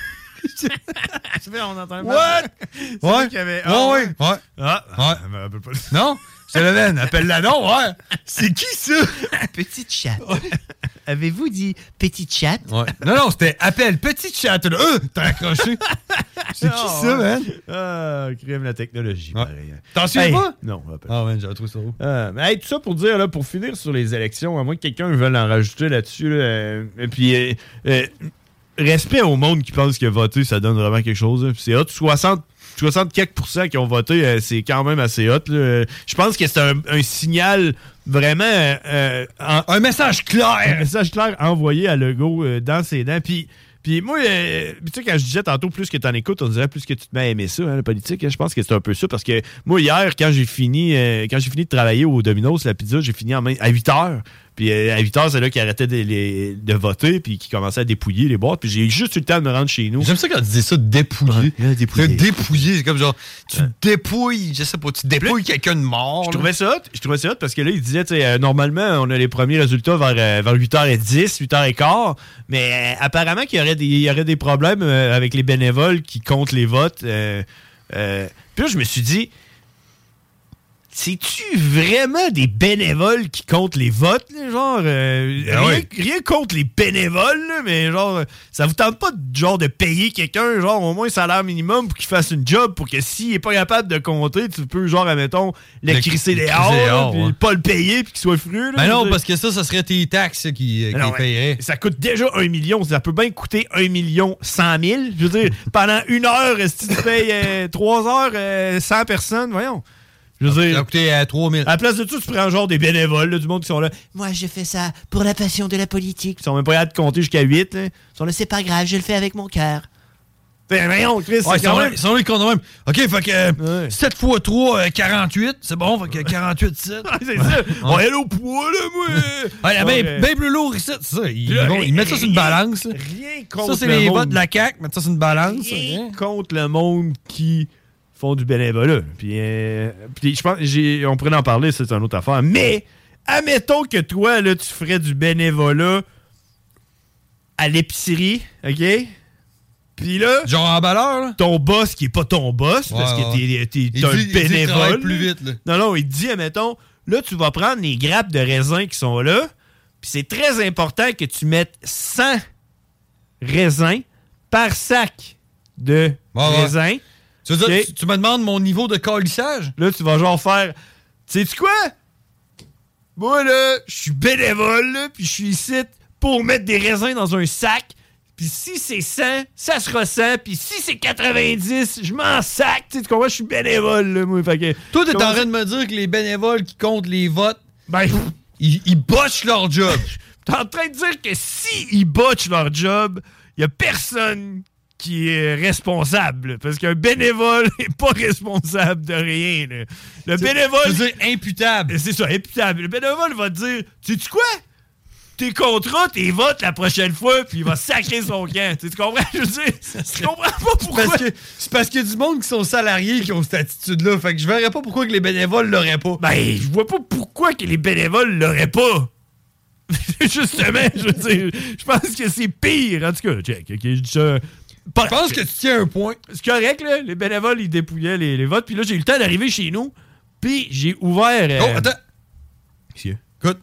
Speaker 10: On entend
Speaker 11: What? Ouais.
Speaker 10: Qu'il y avait...
Speaker 11: Ah, ouais, ouais. Ouais.
Speaker 10: Ah,
Speaker 11: ouais.
Speaker 10: Un peu pas...
Speaker 11: Non? Je te le mène, appelle-la non, ouais. C'est qui ça?
Speaker 3: Petite chatte. Avez-vous dit petite chatte?
Speaker 11: Ouais. Non, non, c'était appelle petite chatte. Là. Euh, t'as accroché. C'est qui ça, man?
Speaker 10: Ah, crème la technologie, ouais. Pareil.
Speaker 11: T'en souviens
Speaker 10: hey,
Speaker 11: pas?
Speaker 10: Non.
Speaker 11: Ah, man, j'ai trouvé ça beau.
Speaker 10: Euh, mais hey, tout ça pour dire, là, pour finir sur les élections, à moins que quelqu'un veuille en rajouter là-dessus, là, euh, et puis... Euh, euh, respect au monde qui pense que voter, ça donne vraiment quelque chose. Hein. C'est hot. soixante, soixante quelques pourcents qui ont voté, euh, c'est quand même assez hot. Là. Je pense que c'est un, un signal vraiment... Euh, en,
Speaker 11: un message clair!
Speaker 10: Un message clair envoyé à Legault euh, dans ses dents. Puis... Puis moi, euh, tu sais, quand je disais tantôt, plus que t'en écoutes, on dirait plus que tu te mets à aimer ça, hein, la politique. Hein, je pense que c'est un peu ça, parce que moi, hier, quand j'ai fini euh, quand j'ai fini de travailler au Domino's, la pizza, j'ai fini en main à huit heures. Puis euh, à huit heures, c'est là qu'ils arrêtaient de, les, de voter, puis qu'ils commençaient à dépouiller les boîtes. Puis j'ai juste eu le temps de me rendre chez nous.
Speaker 11: J'aime ça quand tu dis ça, dépouiller.
Speaker 10: Ouais, dépouiller.
Speaker 11: Dépouiller, c'est comme genre, tu ouais. dépouilles, je sais pas, tu dépouilles quelqu'un de mort.
Speaker 10: Je trouvais ça hot, je trouvais ça hot parce que là, il disait, tu sais, euh, normalement, on a les premiers résultats vers, euh, vers huit heures dix, huit heures quinze, mais euh, apparemment qu'il y aurait des, il y aurait des problèmes euh, avec les bénévoles qui comptent les votes. Euh, euh, puis là, je me suis dit, c'est-tu vraiment des bénévoles qui comptent les votes, là, genre, euh,
Speaker 11: ben
Speaker 10: rien,
Speaker 11: oui.
Speaker 10: rien contre les bénévoles, là, mais genre, ça vous tente pas de, genre, de payer quelqu'un, genre, au moins un salaire minimum pour qu'il fasse une job, pour que s'il est pas capable de compter, tu peux, genre, admettons, le, le crisser dehors, puis ouais. pas le payer, puis qu'il soit fru.
Speaker 11: Ben non, parce que ça, ça serait tes taxes ça, qui, qui non, payeraient.
Speaker 10: Ça coûte déjà un million, ça peut bien coûter un million cent mille. Je veux dire, pendant une heure, si tu payes euh, trois heures, euh, cent personnes, voyons. Je veux dire,
Speaker 11: ça a coûté à trois mille.
Speaker 10: À la place de tout, tu prends genre des bénévoles, là, du monde qui sont là.
Speaker 3: Moi, je fais ça pour la passion de la politique.
Speaker 10: Ils sont même pas capables de compter jusqu'à huit. Là. Ils
Speaker 3: sont là, c'est pas grave, je le fais avec mon cœur.
Speaker 10: Ben, voyons, Chris,
Speaker 11: Ouais,
Speaker 10: c'est quand même...
Speaker 11: ils sont là, ils comptent de même. OK, fait que euh, ouais. sept fois trois, euh, quarante-huit. C'est bon, fait que quarante-huit, sept.
Speaker 10: C'est ça. On est là au poids, là, moi.
Speaker 11: Ouais,
Speaker 10: ouais,
Speaker 11: bien ben plus lourd ici, c'est ça. Ils,
Speaker 10: là,
Speaker 11: vont, ils mettent ça sur une balance.
Speaker 10: Rien, rien contre
Speaker 11: ça, c'est
Speaker 10: le
Speaker 11: les
Speaker 10: monde.
Speaker 11: votes de la C A Q, mettre ça sur une balance.
Speaker 10: Rien
Speaker 11: rien.
Speaker 10: contre le monde qui font du bénévolat. Puis, euh, puis je pense, j'ai, on pourrait en parler, c'est une autre affaire. Mais, admettons que toi, là, tu ferais du bénévolat à l'épicerie, OK? Puis là,
Speaker 11: genre en valeur, là?
Speaker 10: Ton boss qui est pas ton boss, ouais, parce que t'es, t'es, t'es un
Speaker 11: dit,
Speaker 10: bénévole.
Speaker 11: Il plus vite, là.
Speaker 10: Non, non, il te dit, admettons, là, tu vas prendre les grappes de raisins qui sont là, puis c'est très important que tu mettes cent raisins par sac de
Speaker 11: ouais,
Speaker 10: raisins.
Speaker 11: Ouais. Tu veux dire, okay. tu, tu me demandes mon niveau de calissage?
Speaker 10: Là, tu vas genre faire, sais-tu quoi? Moi, là, je suis bénévole, là, puis je suis ici pour mettre des raisins dans un sac. Puis si c'est cent, ça sera cent. Puis si c'est quatre-vingt-dix, je m'en sac. Tu comprends? Je suis bénévole, là, moi. Fait que,
Speaker 11: toi, t'es en train de me dire que les bénévoles qui comptent les votes,
Speaker 10: ben,
Speaker 11: ils, ils botchent leur job.
Speaker 10: T'es en train de dire que si ils botchent leur job, il y a personne qui est responsable. Parce qu'un bénévole n'est pas responsable de rien. Là. Le
Speaker 11: c'est,
Speaker 10: bénévole...
Speaker 11: Je veux dire imputable.
Speaker 10: C'est ça, imputable. Le bénévole va te dire, sais-tu quoi? Tes contrats, tes votes la prochaine fois, puis il va sacrer son camp. Tu comprends? Je veux dire, tu comprends pas pourquoi.
Speaker 11: C'est parce, que, c'est parce qu'il y a du monde qui sont salariés qui ont cette attitude-là. Fait que je verrais pas pourquoi que les bénévoles l'auraient pas.
Speaker 10: Ben, je vois pas pourquoi que les bénévoles l'auraient pas. Justement, je veux dire, je pense que c'est pire. En tout cas, check. OK, je dis ça.
Speaker 11: Je pense que tu tiens un point.
Speaker 10: C'est correct, là. Les bénévoles, ils dépouillaient les, les votes. Puis là, j'ai eu le temps d'arriver chez nous. Puis j'ai ouvert... Euh...
Speaker 11: Oh, attends.
Speaker 10: Monsieur.
Speaker 11: Écoute.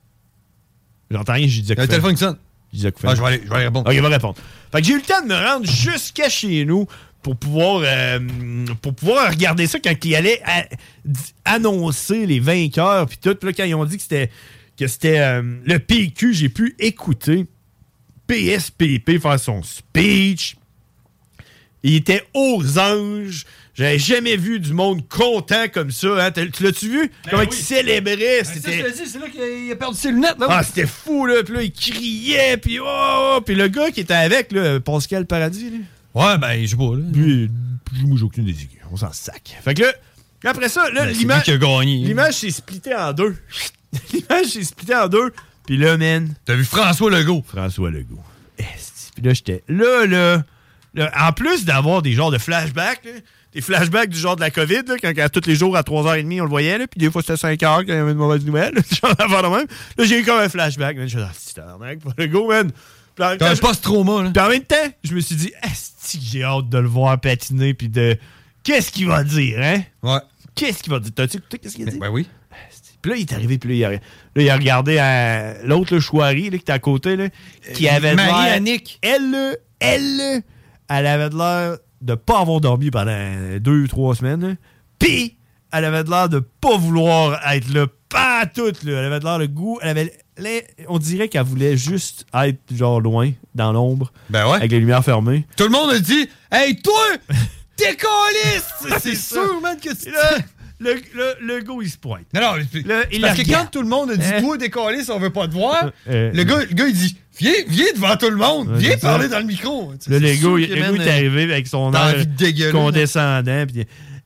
Speaker 10: J'entends rien, j'ai dit
Speaker 11: Il y a un téléphone qui sonne.
Speaker 10: Je disais
Speaker 11: ah, je vais aller, je vais aller répondre.
Speaker 10: Ok, il va répondre. Fait que j'ai eu le temps de me rendre jusqu'à chez nous pour pouvoir, euh, pour pouvoir regarder ça quand ils allaient à, annoncer les vainqueurs. Puis tout, là, quand ils ont dit que c'était, que c'était euh, le P Q, j'ai pu écouter P S P P faire son speech. Il était aux anges. J'avais jamais vu du monde content comme ça. Hein? Tu l'as-tu vu? Ben Comment oui. il célébrait?
Speaker 11: Ben
Speaker 10: c'était...
Speaker 11: Ça, je te dis, c'est là qu'il a perdu ses lunettes. Là.
Speaker 10: Ah, c'était fou, là. Puis là, il criait. Puis oh! Puis le gars qui était avec, là, Pascal Paradis, là.
Speaker 11: Ouais, ben, je sais pas, là.
Speaker 10: Puis, moi, j'ai aucune des idées. On s'en sac. Fait que là, après ça, là,
Speaker 11: ben,
Speaker 10: l'image...
Speaker 11: qui a gagné.
Speaker 10: L'image s'est splittée en deux. L'image s'est splittée en deux. Puis là, man...
Speaker 11: T'as vu François Legault?
Speaker 10: François Legault. Puis là, j'étais... Là, là... Là, en plus d'avoir des genres de flashbacks, là, des flashbacks du genre de la COVID, là, quand, quand tous les jours à trois heures trente, on le voyait, là, puis des fois c'était cinq heures quand il y avait une mauvaise nouvelle, genre d'affaire de même. Là, j'ai eu comme un flashback, man. Je me suis dit, ah, c'est un le go, man.
Speaker 11: T'as un post-trauma, là.
Speaker 10: Puis en même temps, je me suis dit, asti que j'ai hâte de le voir patiner, puis de. Qu'est-ce qu'il va dire, hein?
Speaker 11: Ouais.
Speaker 10: Qu'est-ce qu'il va dire? T'as-tu écouté qu'est-ce qu'il a dit?
Speaker 11: Ben oui.
Speaker 10: Puis là, il est arrivé, puis là, il a, là, il a regardé à l'autre, le Chouari, là, qui était à côté, là, qui
Speaker 11: euh,
Speaker 10: avait
Speaker 11: Marie-Annick.
Speaker 10: Elle, elle, elle avait de l'air de pas avoir dormi pendant deux ou trois semaines. Puis, elle avait de l'air de pas vouloir être là, pas toute, là. Elle avait de l'air de goût. Elle avait, on dirait qu'elle voulait juste être, genre, loin, dans l'ombre.
Speaker 11: Ben ouais.
Speaker 10: Avec les lumières fermées.
Speaker 11: Tout le monde a dit, hey, toi, t'es caliste! C'est sûr, man, que tu.
Speaker 10: Le, le, le gars, il se pointe.
Speaker 11: Non, non, le, il parce que regarde. Quand tout le monde a dit hein? Toi, décoller, si on veut pas te voir, euh, le, gars, le gars, il dit Viens, viens devant tout le monde, ouais, viens parler ça. Dans le micro.
Speaker 10: Là, le gars, il est arrivé avec son air condescendant. Pis,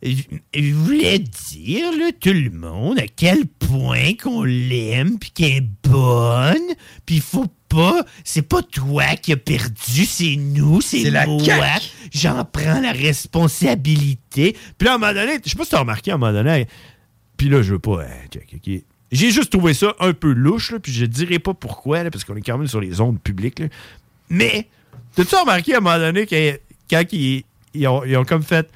Speaker 10: il voulait dire, là, tout le monde, à quel point qu'on l'aime, puis qu'elle est bonne, puis il faut pas, c'est pas toi qui as perdu, c'est nous, c'est, c'est moi. La J'en prends la responsabilité. Puis là, à un moment donné, je sais pas si t'as remarqué, à un moment donné, puis là, je veux pas, hein, check, ok. J'ai juste trouvé ça un peu louche, là, puis je dirais pas pourquoi, là, parce qu'on est quand même sur les ondes publiques, là. Mais, t'as-tu remarqué à un moment donné, que, quand ils, ils, ont, ils ont comme fait,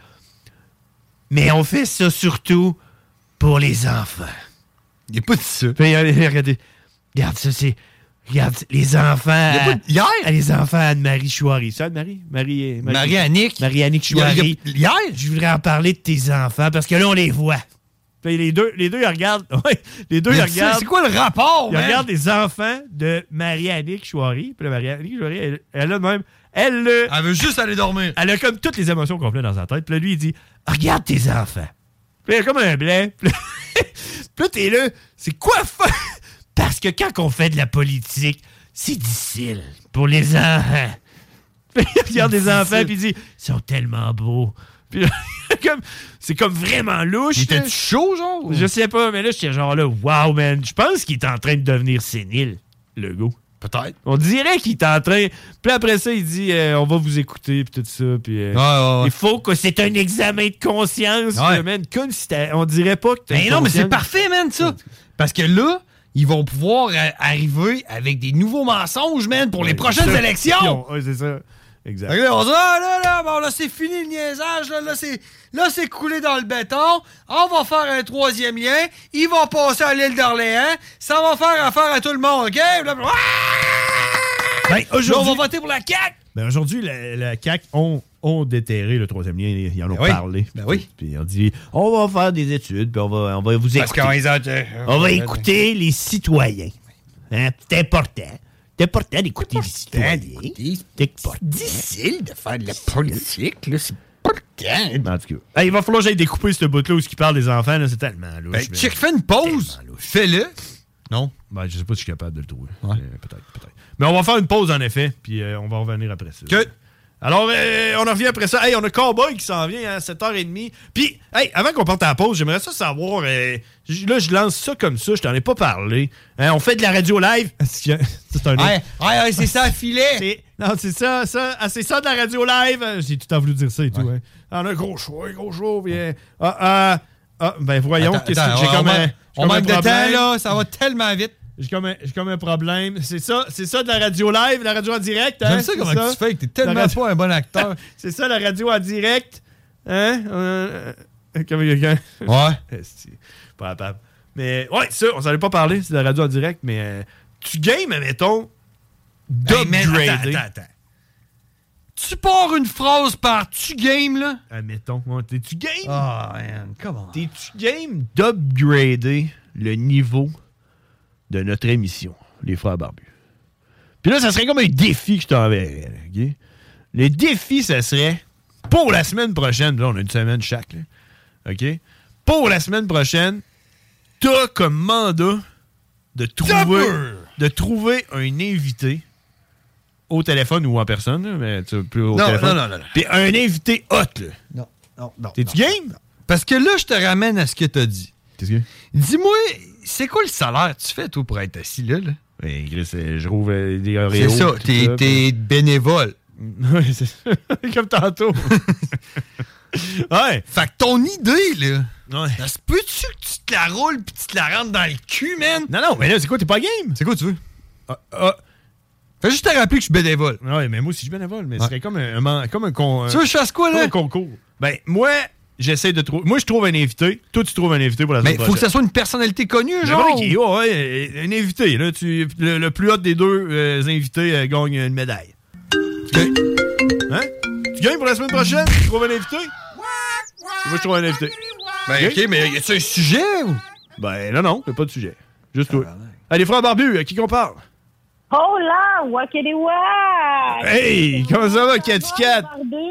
Speaker 10: mais on fait ça surtout pour les enfants.
Speaker 11: Il a pas dit ça.
Speaker 10: Puis, regardez, regarde ça, c'est... Regarde, les enfants... À,
Speaker 11: hier?
Speaker 10: À les enfants Anne-Marie Chouari. Ça, Anne-Marie? Marie, Marie,
Speaker 11: Marie-Annick.
Speaker 10: Marie-Annick Chouari.
Speaker 11: Hier?
Speaker 10: Je voudrais en parler de tes enfants, parce que là, on les voit. Puis les deux, les deux, ils regardent... Ouais, les deux, ils regardent...
Speaker 11: C'est quoi le rapport,
Speaker 10: Ils man? regardent les enfants de Marie-Annick Chouari. Puis là, Marie-Annick Chouari, elle, elle a même... Elle,
Speaker 11: elle veut juste aller dormir.
Speaker 10: Elle a comme toutes les émotions complètes dans sa tête. Puis là, lui, il dit, regarde tes enfants. Puis elle a comme un blanc. Puis là, t'es là, c'est quoi faire? Parce que quand on fait de la politique, c'est difficile pour les enfants. Puis il regarde des enfants, puis il dit « Ils sont tellement beaux. » Puis comme, c'est comme vraiment louche.
Speaker 11: Il était chaud, genre?
Speaker 10: Je sais pas, mais là, j'étais genre là, wow, man. Je pense qu'il est en train de devenir sénile, le gars.
Speaker 11: Peut-être.
Speaker 10: On dirait qu'il est en train... Puis après ça, il dit, euh, on va vous écouter, puis tout ça. Puis euh,
Speaker 11: ouais, ouais, ouais.
Speaker 10: il faut que c'est un examen de conscience,
Speaker 11: ouais.
Speaker 10: là, man. Comme si on dirait pas que t'as
Speaker 11: Mais non, mais c'est parfait, man, ça. Parce que là, ils vont pouvoir euh, arriver avec des nouveaux mensonges, man, pour les prochaines élections.
Speaker 10: Oui, c'est ça. Exact.
Speaker 11: Là, on dit, ah, là, là, bon, là, c'est fini le niaisage, là, là, c'est, là, c'est coulé dans le béton, on va faire un troisième lien, ils vont passer à l'île d'Orléans, ça va faire affaire à tout le monde, OK? Là,
Speaker 10: ben, aujourd'hui,
Speaker 11: là, on va voter pour la C A Q!
Speaker 10: Ben, aujourd'hui, la, la C A Q ont, ont déterré le troisième lien, ils en ont
Speaker 11: ben oui.
Speaker 10: parlé.
Speaker 11: Ben oui.
Speaker 10: Puis on dit, on va faire des études, puis on va, on va vous écouter.
Speaker 11: Parce qu'on ont,
Speaker 10: on va écouter les citoyens. Hein? C'est important. C'est important d'écouter les citoyens.
Speaker 11: C'est difficile de faire de la politique, là, c'est pas le temps.
Speaker 10: En tout cas. Hey, il va falloir que j'aille découper ce bout-là où il parle des enfants, là, c'est tellement louche.
Speaker 11: Ben, mais... check, fais une pause. Fais-le. Non?
Speaker 10: Ben, je sais pas si je suis capable de le trouver. Ouais. Euh, peut-être, peut-être. Mais on va faire une pause, en effet, puis euh, on va revenir après ça.
Speaker 11: Que...
Speaker 10: Alors, euh, on en revient après ça. Hey, on a Cowboy qui s'en vient à sept heures trente. Puis, hey, avant qu'on parte à la pause, j'aimerais ça savoir... Euh, là, je lance ça comme ça, je t'en ai pas parlé. Hein, on fait de la radio live. C'est un autre...
Speaker 11: Ouais, ouais, ouais, c'est ça, filet.
Speaker 10: C'est... Non, c'est ça, ça. Ah, c'est ça de la radio live. J'ai tout à voulu dire ça et tout. Ouais. Hein. On a un gros show, un gros show. Puis, euh, ah, ah, ah, ben voyons,
Speaker 11: attends,
Speaker 10: qu'est-ce
Speaker 11: attends,
Speaker 10: que j'ai comme un...
Speaker 11: On manque de temps, là, ça va tellement vite.
Speaker 10: J'ai comme, un, j'ai comme un problème. C'est ça, c'est ça de la radio live, la radio en direct. Hein?
Speaker 11: J'aime ça comment ça. tu fais, que t'es tellement radio... pas un bon acteur.
Speaker 10: C'est ça, la radio en direct. Hein? Euh, comme quelqu'un.
Speaker 11: Ouais.
Speaker 10: Pas capable. Mais ouais, ça, on s'en allait pas parler, c'est de la radio en direct, mais euh, tu games, admettons, d'upgrader.
Speaker 11: Hey, attends, attends, attends. Tu pars une phrase par tu game, là?
Speaker 10: Admettons. Ouais, t'es-tu game?
Speaker 11: Oh, man, comment?
Speaker 10: T'es-tu game d'upgrader le niveau de notre émission, les Frères Barbus? Puis là, ça serait comme un défi que je t'enverrais. Okay? Le défi, ça serait, pour la semaine prochaine, là, on a une semaine chaque, là, OK? Pour la semaine prochaine, t'as comme mandat de trouver, de trouver un invité au téléphone ou en personne, là, mais tu plus au
Speaker 11: non,
Speaker 10: téléphone.
Speaker 11: Non, non, non, non.
Speaker 10: Puis un invité hot, là.
Speaker 11: Non, non, non.
Speaker 10: T'es-tu
Speaker 11: non,
Speaker 10: game?
Speaker 11: Non. Parce que là, je te ramène à ce que t'as dit.
Speaker 10: Qu'est-ce que?
Speaker 11: Dis-moi, c'est quoi le salaire que tu fais, toi, pour être assis là? là?
Speaker 10: Oui, je rouvre des Oreos.
Speaker 11: C'est ça, t'es,
Speaker 10: ça,
Speaker 11: t'es
Speaker 10: puis...
Speaker 11: bénévole.
Speaker 10: Oui, c'est ça. Comme tantôt. Ouais.
Speaker 11: Fait que ton idée, là,
Speaker 10: ouais.
Speaker 11: Ça se peut-tu que tu te la roules pis tu te la rentres dans le cul, man?
Speaker 10: Non, non, mais là, c'est quoi, t'es pas game?
Speaker 11: C'est quoi tu veux?
Speaker 10: Ah, ah.
Speaker 11: Fais juste te rappeler que je suis bénévole.
Speaker 10: Ouais, mais moi aussi, je suis bénévole, mais
Speaker 11: ouais.
Speaker 10: ce serait comme un, un, comme un, con,
Speaker 11: tu veux que je fasse quoi, là?
Speaker 10: Un concours. Ben, moi, j'essaie de trouver... Moi, je trouve un invité. Toi, tu trouves un invité pour la semaine
Speaker 11: prochaine. Mais faut que ça soit une personnalité connue, genre?
Speaker 10: OK, ouais, ouais, un invité. Là, tu, le, le plus hot des deux euh, invités euh, gagne une médaille. Okay. Hein? Tu gagnes pour la semaine prochaine? Tu trouves un invité? Moi, je trouve un invité.
Speaker 11: Ben, OK, mais y a-tu un sujet? Ou?
Speaker 10: Ben, non, non, y'a pas de sujet. Juste toi. Allez, frère Barbu, à qui qu'on parle?
Speaker 1: Oh là, Wakelewa!
Speaker 10: Hey, comment ça va, Cathy Cat?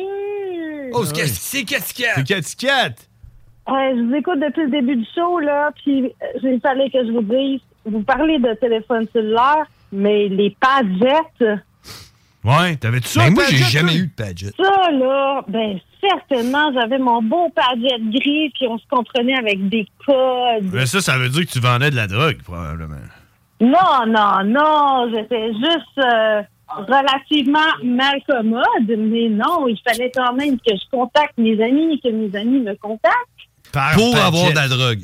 Speaker 11: Oh, c'est, c'est Cathy Cat!
Speaker 10: C'est Cathy Cat!
Speaker 1: Euh, je vous écoute depuis le début du show, là, puis il fallait que je vous dise, vous parlez de téléphone cellulaire, mais les Padgett...
Speaker 10: Ouais, t'avais-tu ça?
Speaker 11: Ben moi, j'ai jamais eu de Padgett.
Speaker 1: Ça, là, ben certainement, j'avais mon beau Padgett gris, puis on se comprenait avec des codes.
Speaker 10: Mais ça, ça veut dire que tu vendais de la drogue, probablement.
Speaker 1: Non, non, non, j'étais juste euh, relativement mal commode, mais non, il fallait quand même que je contacte mes amis, que mes amis me contactent.
Speaker 11: Par Pour Padgett. Avoir de la drogue.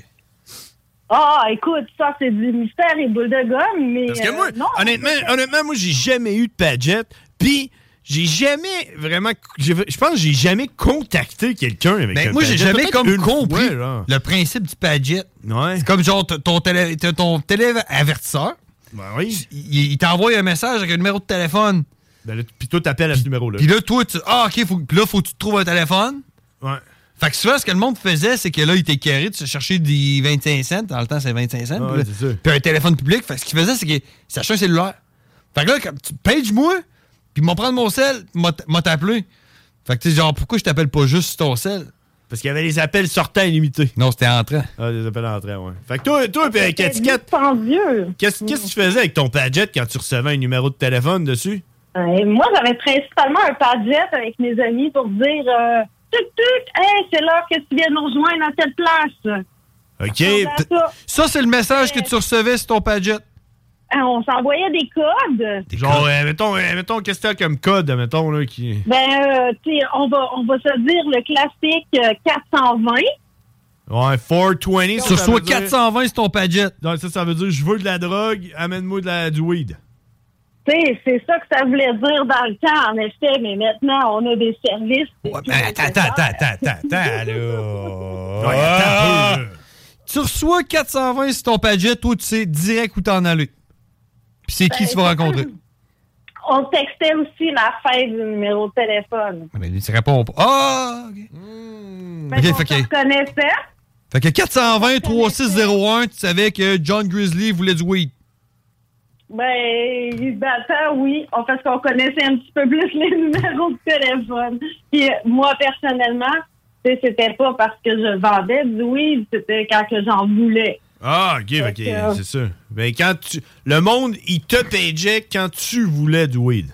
Speaker 1: Ah, écoute, ça, c'est du mystère et boule de gomme, mais...
Speaker 10: Parce que moi,
Speaker 1: euh, non,
Speaker 10: honnêtement, honnêtement, moi, j'ai jamais eu de Padgett, puis j'ai jamais vraiment... Je pense que j'ai jamais contacté quelqu'un avec
Speaker 11: ben,
Speaker 10: un
Speaker 11: moi,
Speaker 10: Padgett.
Speaker 11: j'ai jamais comme compris
Speaker 10: fois,
Speaker 11: le principe du Padgett.
Speaker 10: Ouais.
Speaker 11: C'est comme genre ton télé, ton télé-avertisseur.
Speaker 10: Ben oui.
Speaker 11: Il, il t'envoie un message avec un numéro de téléphone.
Speaker 10: Ben puis toi, t'appelles à ce numéro-là.
Speaker 11: Puis là, toi, tu... Ah, OK, faut, puis là, faut que tu te trouves un téléphone.
Speaker 10: Ouais.
Speaker 11: Fait que souvent, ce que le monde faisait, c'est que là, il était carré de se chercher des vingt-cinq cents. Dans le temps, c'est vingt-cinq cents.
Speaker 10: Ouais, c'est ça.
Speaker 11: Puis un téléphone public. Fait que ce qu'il faisait, c'est qu'il s'achetait un cellulaire. Fait que là, quand tu page-moi, puis m'en prendre mon sel, m'a t'appelé. Fait que tu sais, genre, pourquoi je t'appelle pas juste sur ton sel?
Speaker 10: Parce qu'il y avait les appels sortants illimités.
Speaker 11: Non, c'était entrant.
Speaker 10: Ah, les appels entrants, ouais. Fait que toi, toi, puis Cathy Cat, qu'est-ce que tu faisais avec ton Padgett quand tu recevais un numéro de téléphone dessus?
Speaker 1: Euh, moi, j'avais principalement un padjet avec mes amis pour dire euh, tuc tuc, hey, c'est l'heure que tu viens nous rejoindre à telle place.
Speaker 10: OK.
Speaker 1: Ça,
Speaker 11: ça c'est le message que tu recevais sur ton padjet.
Speaker 1: Euh, on s'envoyait des codes.
Speaker 10: Des Genre, codes. Euh, mettons, euh, mettons qu'est-ce que t'as comme code, mettons, là, qui...
Speaker 1: Ben, euh, tu sais, on va, on va se dire le classique euh, quatre cent vingt.
Speaker 10: Ouais, quatre cent vingt.
Speaker 11: Sur soit quatre cent vingt, c'est ton padjet.
Speaker 10: Donc, ça, ça veut dire, je veux de la drogue, amène-moi de la, du weed.
Speaker 1: Tu sais, c'est ça que ça voulait dire dans le temps, en effet, mais maintenant, on a des services.
Speaker 11: Ouais, mais attends, attends, attends, attends, attends, attends, là. Ouais, attends un peu. Tu reçois quatre cent vingt sur ton padjet, toi, tu sais direct où t'en aller. Puis c'est ben, qui tu vas rencontrer?
Speaker 1: On textait aussi la fin du numéro de téléphone.
Speaker 11: Mais il ne répond pas. Ah! OK. Mmh.
Speaker 1: Ben, okay, on se reconnaissait.
Speaker 11: Fait que quatre cent vingt, trois six zéro un, tu savais que John Grizzly voulait du weed.
Speaker 1: Ben, ben ça, oui. Parce qu'on connaissait un petit peu plus les numéros de téléphone. Puis moi, personnellement, c'était pas parce que je vendais du weed, c'était quand que j'en voulais.
Speaker 10: Ah, OK, OK, euh, c'est ça. Ben, quand tu... Le monde, il te pageait quand tu voulais du weed.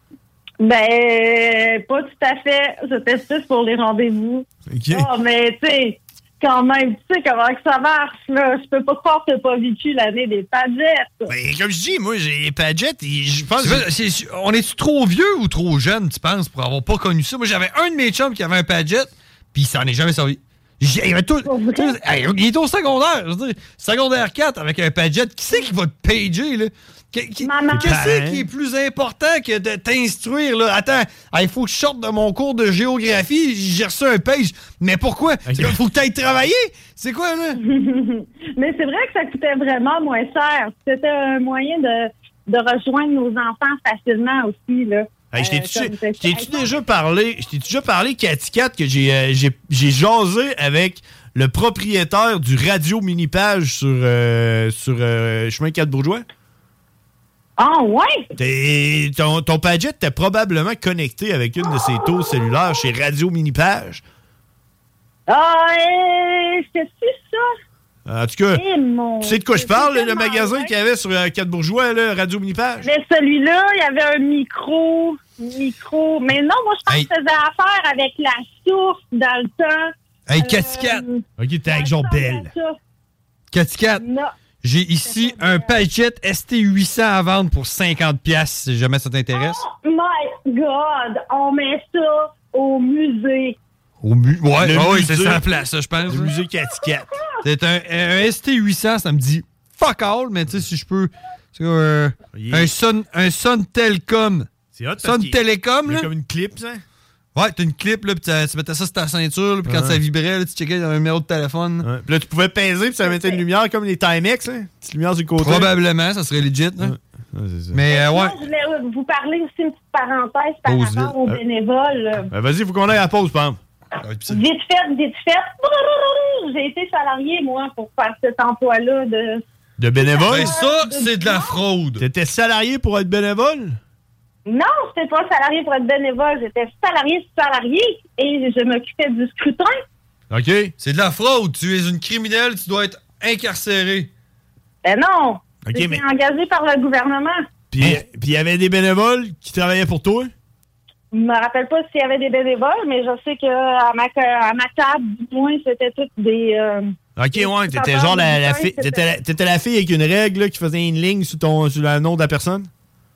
Speaker 1: Ben, pas tout à fait. C'était plus pour les rendez-vous.
Speaker 10: OK.
Speaker 1: Oh, mais tu sais, quand même, tu sais comment que ça marche, là. Je peux pas croire que t'as pas vécu l'année des pagettes.
Speaker 10: Ben, comme je dis, moi, j'ai les pagettes et je pense...
Speaker 11: Que... C'est, on est-tu trop vieux ou trop jeune, tu penses, pour avoir pas connu ça? Moi, j'avais un de mes chums qui avait un pagette, puis il s'en est jamais servi. Il, avait tout, tout, il est au secondaire, je veux dire, secondaire quatre avec un padjet. Qui c'est qui va te pager, là? Qu'est-ce qui est plus important que de t'instruire, là? Attends, il faut que je sorte de mon cours de géographie, j'ai reçu un page. Mais pourquoi? Il faut que tu ailles travailler? C'est quoi, là?
Speaker 1: Mais c'est vrai que ça coûtait vraiment moins cher. C'était un moyen de, de rejoindre nos enfants facilement aussi, là.
Speaker 10: Hey, je t'ai-tu déjà parlé, je t'ai déjà parlé, Cathy Cat, que j'ai, euh, j'ai, j'ai jasé avec le propriétaire du Radio Minipage sur, euh, sur euh, Chemin quatre Bourgeois?
Speaker 1: Ah, oh, ouais?
Speaker 10: T'es, ton, ton padjet était probablement connecté avec une de ses taux cellulaires chez Radio Minipage.
Speaker 1: Ah, euh, c'est-tu ça?
Speaker 10: En tout cas, tu sais de quoi je parle, le magasin qu'il y avait sur euh, quatre Bourgeois, là, Radio Minipage?
Speaker 1: Mais celui-là, il y avait un micro, micro. Mais non, moi, je pense hey. que je faisais affaire avec la source dans le temps.
Speaker 11: Hey, Cathy Cat!
Speaker 10: Euh, OK, t'es avec Jean Belle.
Speaker 11: Cathy Cat, j'ai ici un Padjet S T huit cents à vendre pour cinquante dollars, si jamais ça t'intéresse.
Speaker 1: Oh my God! On met ça au musée.
Speaker 11: Au mu- ouais, oh, oui, c'est ça la place, ça, je pense.
Speaker 10: Le musée Cathy Cat.
Speaker 11: C'est un, un S T huit cents, ça me dit fuck all, mais tu sais, si je peux. C'est euh, yeah. un Sun, un Sun Telecom.
Speaker 10: C'est hot,
Speaker 11: Sun Telecom, là.
Speaker 10: C'est comme une clip, ça?
Speaker 11: Ouais, t'as une clip, là, pis tu mettais ça sur ta ceinture, puis quand ouais. ça vibrait, là, tu checkais un numéro de téléphone.
Speaker 10: Ouais. Puis là, tu pouvais peser, puis ça mettait une lumière comme les Timex, hein? Petite lumière du côté.
Speaker 11: Probablement, ça serait legit, là.
Speaker 10: Ouais. Ouais, c'est ça.
Speaker 11: Mais, euh, ouais.
Speaker 1: Je voulais vous parler aussi une petite parenthèse par
Speaker 11: Pause
Speaker 1: rapport aux
Speaker 10: euh,
Speaker 1: bénévoles.
Speaker 10: Ben, vas-y, faut qu'on aille à la pause, Pam.
Speaker 1: Vite fait, vite fait. J'ai été salarié, moi, pour faire cet emploi-là de...
Speaker 10: De bénévole?
Speaker 11: Ben ça, c'est de la fraude.
Speaker 10: T'étais salarié pour être bénévole?
Speaker 1: Non, j'étais pas salarié pour être bénévole. J'étais salarié salarié et je m'occupais du scrutin.
Speaker 11: OK. C'est de la fraude. Tu es une criminelle, tu dois être incarcéré.
Speaker 1: Ben non.
Speaker 10: Okay,
Speaker 1: J'étais
Speaker 10: mais...
Speaker 1: engagé par le gouvernement.
Speaker 10: Puis il y avait des bénévoles qui travaillaient pour toi?
Speaker 1: Je me rappelle pas s'il y avait des bénévoles, mais je sais qu'à ma, à ma table, du moins, c'était toutes des... Euh,
Speaker 10: OK,
Speaker 1: des
Speaker 10: ouais, t'étais genre la, la fille... T'étais la, t'étais la fille avec une règle là, qui faisait une ligne sur, ton, sur le nom de la personne?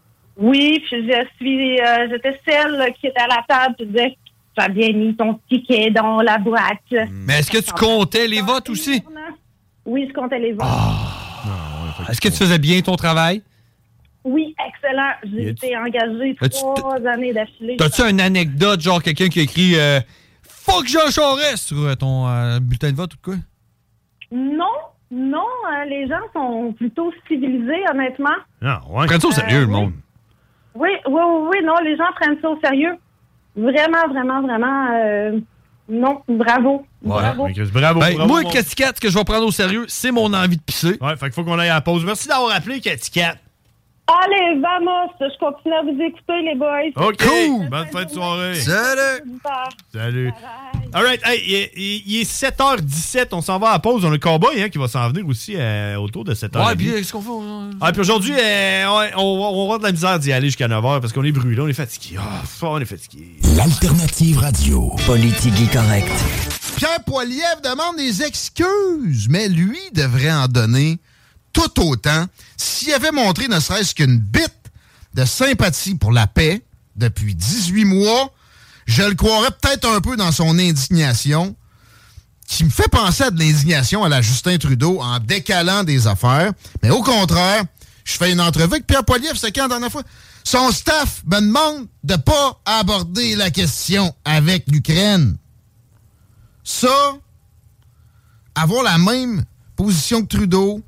Speaker 1: Oui, puis je suis... Euh, j'étais celle là, qui était à la table qui disait « Tu as bien mis ton ticket dans la boîte. Mm. »
Speaker 11: Mais est-ce que tu comptais les votes aussi?
Speaker 1: Oui, je comptais les votes.
Speaker 11: Oh. Non, est-ce que tu faisais bien ton travail?
Speaker 1: Oui, excellent. J'ai été engagée trois années d'affilée.
Speaker 11: T'as-tu une anecdote, genre quelqu'un qui a écrit euh, « Fuck Jean Charest » sur ton euh, bulletin de vote ou quoi?
Speaker 1: Non, non. Euh, les gens sont plutôt civilisés, honnêtement.
Speaker 10: Ah, ouais.
Speaker 11: Prends ça au sérieux,
Speaker 1: euh,
Speaker 11: le monde.
Speaker 1: Oui, oui, oui, oui. Non, les gens prennent ça au sérieux. Vraiment, vraiment, vraiment... Euh, non, bravo.
Speaker 10: Ouais,
Speaker 1: bravo.
Speaker 10: Okay, bravo,
Speaker 11: ben,
Speaker 10: bravo.
Speaker 11: Moi, mon... Cathy Cat, ce que je vais prendre au sérieux, c'est mon envie de pisser.
Speaker 10: Ouais, fait qu'il faut qu'on aille à la pause. Merci d'avoir appelé, Cathy Cat.
Speaker 1: Allez, vamos! Je continue à vous écouter, les boys.
Speaker 10: OK! Cool! Bonne fin de soirée!
Speaker 11: Salut!
Speaker 10: Salut! All right, hey, il, est, il est sept heures dix-sept, on s'en va à la pause. On a le cowboy hein, qui va s'en venir aussi euh, autour de sept heures.
Speaker 11: Ouais, puis qu'est-ce qu'on fait? On...
Speaker 10: Ah, puis aujourd'hui, euh, on, on, on va avoir de la misère d'y aller jusqu'à neuf heures parce qu'on est brûlé, on est fatigué. Ah, oh, on est fatigué.
Speaker 2: L'alternative radio. Politique correcte.
Speaker 22: Pierre Poilievre demande des excuses, mais lui devrait en donner tout autant s'il avait montré ne serait-ce qu'une bite de sympathie pour la paix depuis dix-huit mois. Je le croirais peut-être un peu dans son indignation, qui me fait penser à de l'indignation à la Justin Trudeau en décalant des affaires. Mais au contraire, je fais une entrevue avec Pierre Poilievre, c'est quand la dernière fois? Son staff me demande de pas aborder la question avec l'Ukraine. Ça, avoir la même position que Trudeau,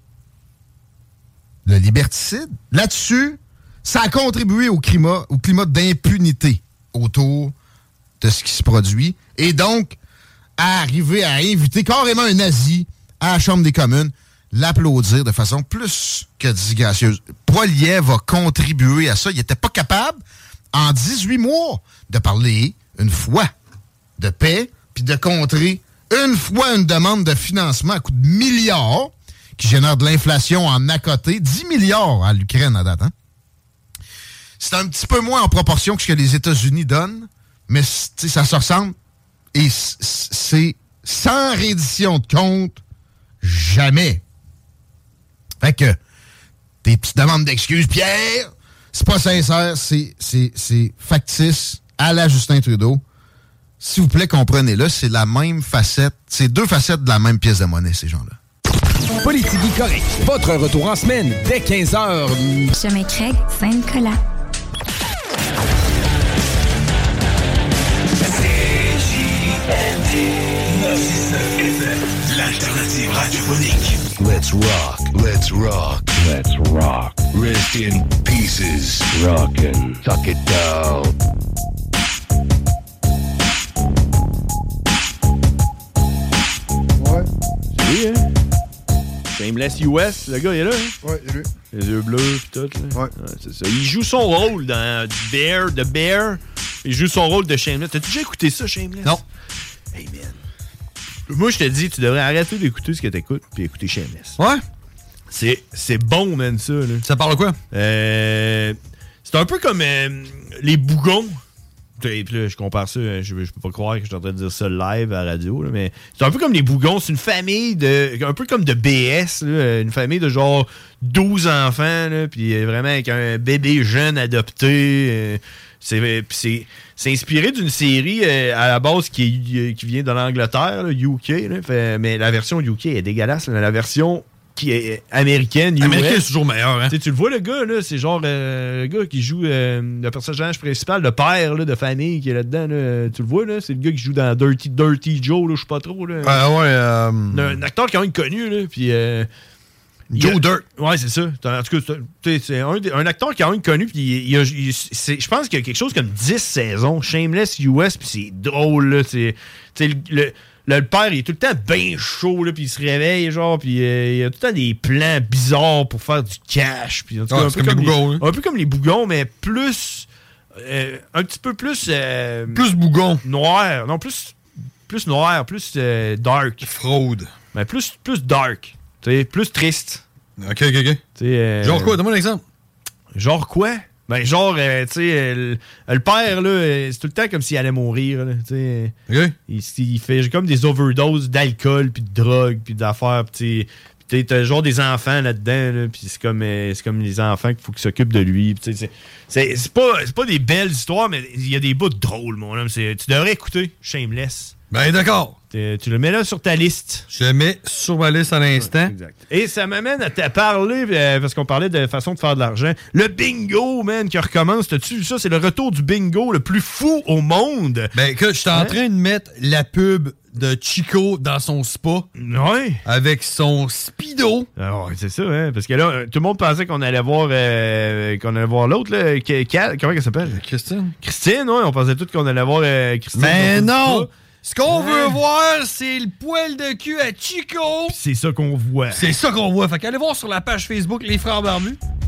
Speaker 22: le liberticide, là-dessus, ça a contribué au climat, au climat d'impunité autour de ce qui se produit, et donc à arriver à inviter carrément un nazi à la Chambre des communes, l'applaudir de façon plus que disgracieuse. Poilievre va contribuer à ça. Il n'était pas capable, en dix-huit mois, de parler une fois de paix, puis de contrer une fois une demande de financement à coût de milliards, qui génère de l'inflation en à côté, dix milliards à l'Ukraine à date. Hein? C'est un petit peu moins en proportion que ce que les États-Unis donnent, mais ça se ressemble. Et c'est sans reddition de compte, jamais. Fait que, tes petites demandes d'excuses, Pierre, c'est pas sincère, c'est, c'est, c'est factice à la Justin Trudeau. S'il vous plaît, comprenez-le, c'est la même facette, c'est deux facettes de la même pièce de monnaie, ces gens-là.
Speaker 2: Politique correct. Votre retour en semaine dès quinze heures.
Speaker 18: Chemin Craig, Saint-Nicolas.
Speaker 2: L'alternative radiophonique. Let's rock, let's rock, let's rock. Rest in pieces. Rockin', tuck it down.
Speaker 10: Ouais. C'est lui, hein? Shameless U S, le gars, il est là, hein?
Speaker 22: Ouais, il est lui.
Speaker 10: Les yeux bleus pis tout, là.
Speaker 22: Ouais.
Speaker 10: Ouais, c'est ça. Il joue son rôle dans Bear, The Bear. Il joue son rôle de Shameless. T'as-tu déjà écouté ça, Shameless?
Speaker 22: Non.
Speaker 10: Hey, man. Moi, je te dis, tu devrais arrêter d'écouter ce que t'écoutes puis écouter Shameless.
Speaker 11: Ouais?
Speaker 10: C'est, c'est bon, man, ça, là.
Speaker 11: Ça parle de quoi?
Speaker 10: Euh, c'est un peu comme euh, les bougons. Puis là, je compare ça, je, je peux pas croire que je suis en train de dire ça live à la radio, là, mais c'est un peu comme les bougons. C'est une famille de. Un peu comme de B S, là, une famille de genre douze enfants, là, puis vraiment avec un bébé jeune adopté. Euh, c'est, c'est, c'est inspiré d'une série euh, à la base qui, qui vient de l'Angleterre, là, U K, là, fait, mais la version U K est dégueulasse. Là, la version qui est américaine, U S.
Speaker 11: Américain, c'est toujours meilleur, hein?
Speaker 10: Tu le vois, le gars, là, c'est genre euh, le gars qui joue euh, le personnage principal, le père là, de famille qui est là-dedans. Là, tu le vois, là, c'est le gars qui joue dans Dirty, Dirty Joe, là, je sais pas trop. Là.
Speaker 11: Ah ouais. Euh...
Speaker 10: Un, un acteur quand même connu, là, puis... Euh,
Speaker 11: Joe
Speaker 10: a,
Speaker 11: Dirt.
Speaker 10: Ouais, c'est ça. En tout cas, c'est, c'est un, un acteur quand même connu, puis il, il, il, je pense qu'il y a quelque chose comme dix saisons, Shameless U S, puis c'est drôle, là. C'est, le, le, le père, il est tout le temps bien chaud, là, puis il se réveille, genre, puis euh, il y a tout le temps des plans bizarres pour faire du cash. Puis, en tout cas,
Speaker 11: ah,
Speaker 10: un,
Speaker 11: peu
Speaker 10: peu comme
Speaker 11: les bougons,
Speaker 10: les,
Speaker 11: hein?
Speaker 10: un peu comme les bougons, mais plus... Euh, un petit peu plus... Euh,
Speaker 11: plus bougon.
Speaker 10: Noir. Non, plus, plus noir, plus euh, dark.
Speaker 11: Fraude.
Speaker 10: Mais plus, plus dark. T'sais, plus triste.
Speaker 11: OK, OK, OK.
Speaker 10: Euh,
Speaker 11: genre quoi? Donne-moi un exemple.
Speaker 10: Genre quoi? Ben, genre, euh, tu sais, le, le père, là, c'est tout le temps comme s'il allait mourir, là, tu sais.
Speaker 11: OK.
Speaker 10: Il, il fait comme des overdoses d'alcool, puis de drogue, puis d'affaires, puis tu t'as genre des enfants là-dedans, là, puis c'est comme, euh, c'est comme les enfants qu'il faut qu'ils s'occupent de lui. C'est, c'est, c'est, c'est, pas, c'est pas des belles histoires, mais il y a des bouts drôles, mon homme. C'est, tu devrais écouter Shameless.
Speaker 11: Ben d'accord.
Speaker 10: Tu le mets là sur ta liste.
Speaker 11: Je le mets sur ma liste à l'instant.
Speaker 10: Ouais, exact. Et ça m'amène à te parler, euh, parce qu'on parlait de façon de faire de l'argent. Le bingo, man, qui recommence. T'as-tu vu ça? C'est le retour du bingo le plus fou au monde.
Speaker 11: Ben écoute, je suis en
Speaker 10: hein?
Speaker 11: train de mettre la pub de Chico dans son spa.
Speaker 10: Ouais.
Speaker 11: Avec son speedo.
Speaker 10: Ah ouais, c'est ça, hein. Parce que là, tout le monde pensait qu'on allait voir euh, qu'on allait voir l'autre, là. Cal, comment elle s'appelle?
Speaker 11: Christine.
Speaker 10: Christine, ouais. On pensait tous qu'on allait voir euh, Christine.
Speaker 11: Mais non! Ce qu'on veut voir, c'est le poil de cul à Chico.
Speaker 10: C'est ça qu'on voit.
Speaker 11: C'est ça qu'on voit. Fait qu'allez voir sur la page Facebook Les Frères Barbus.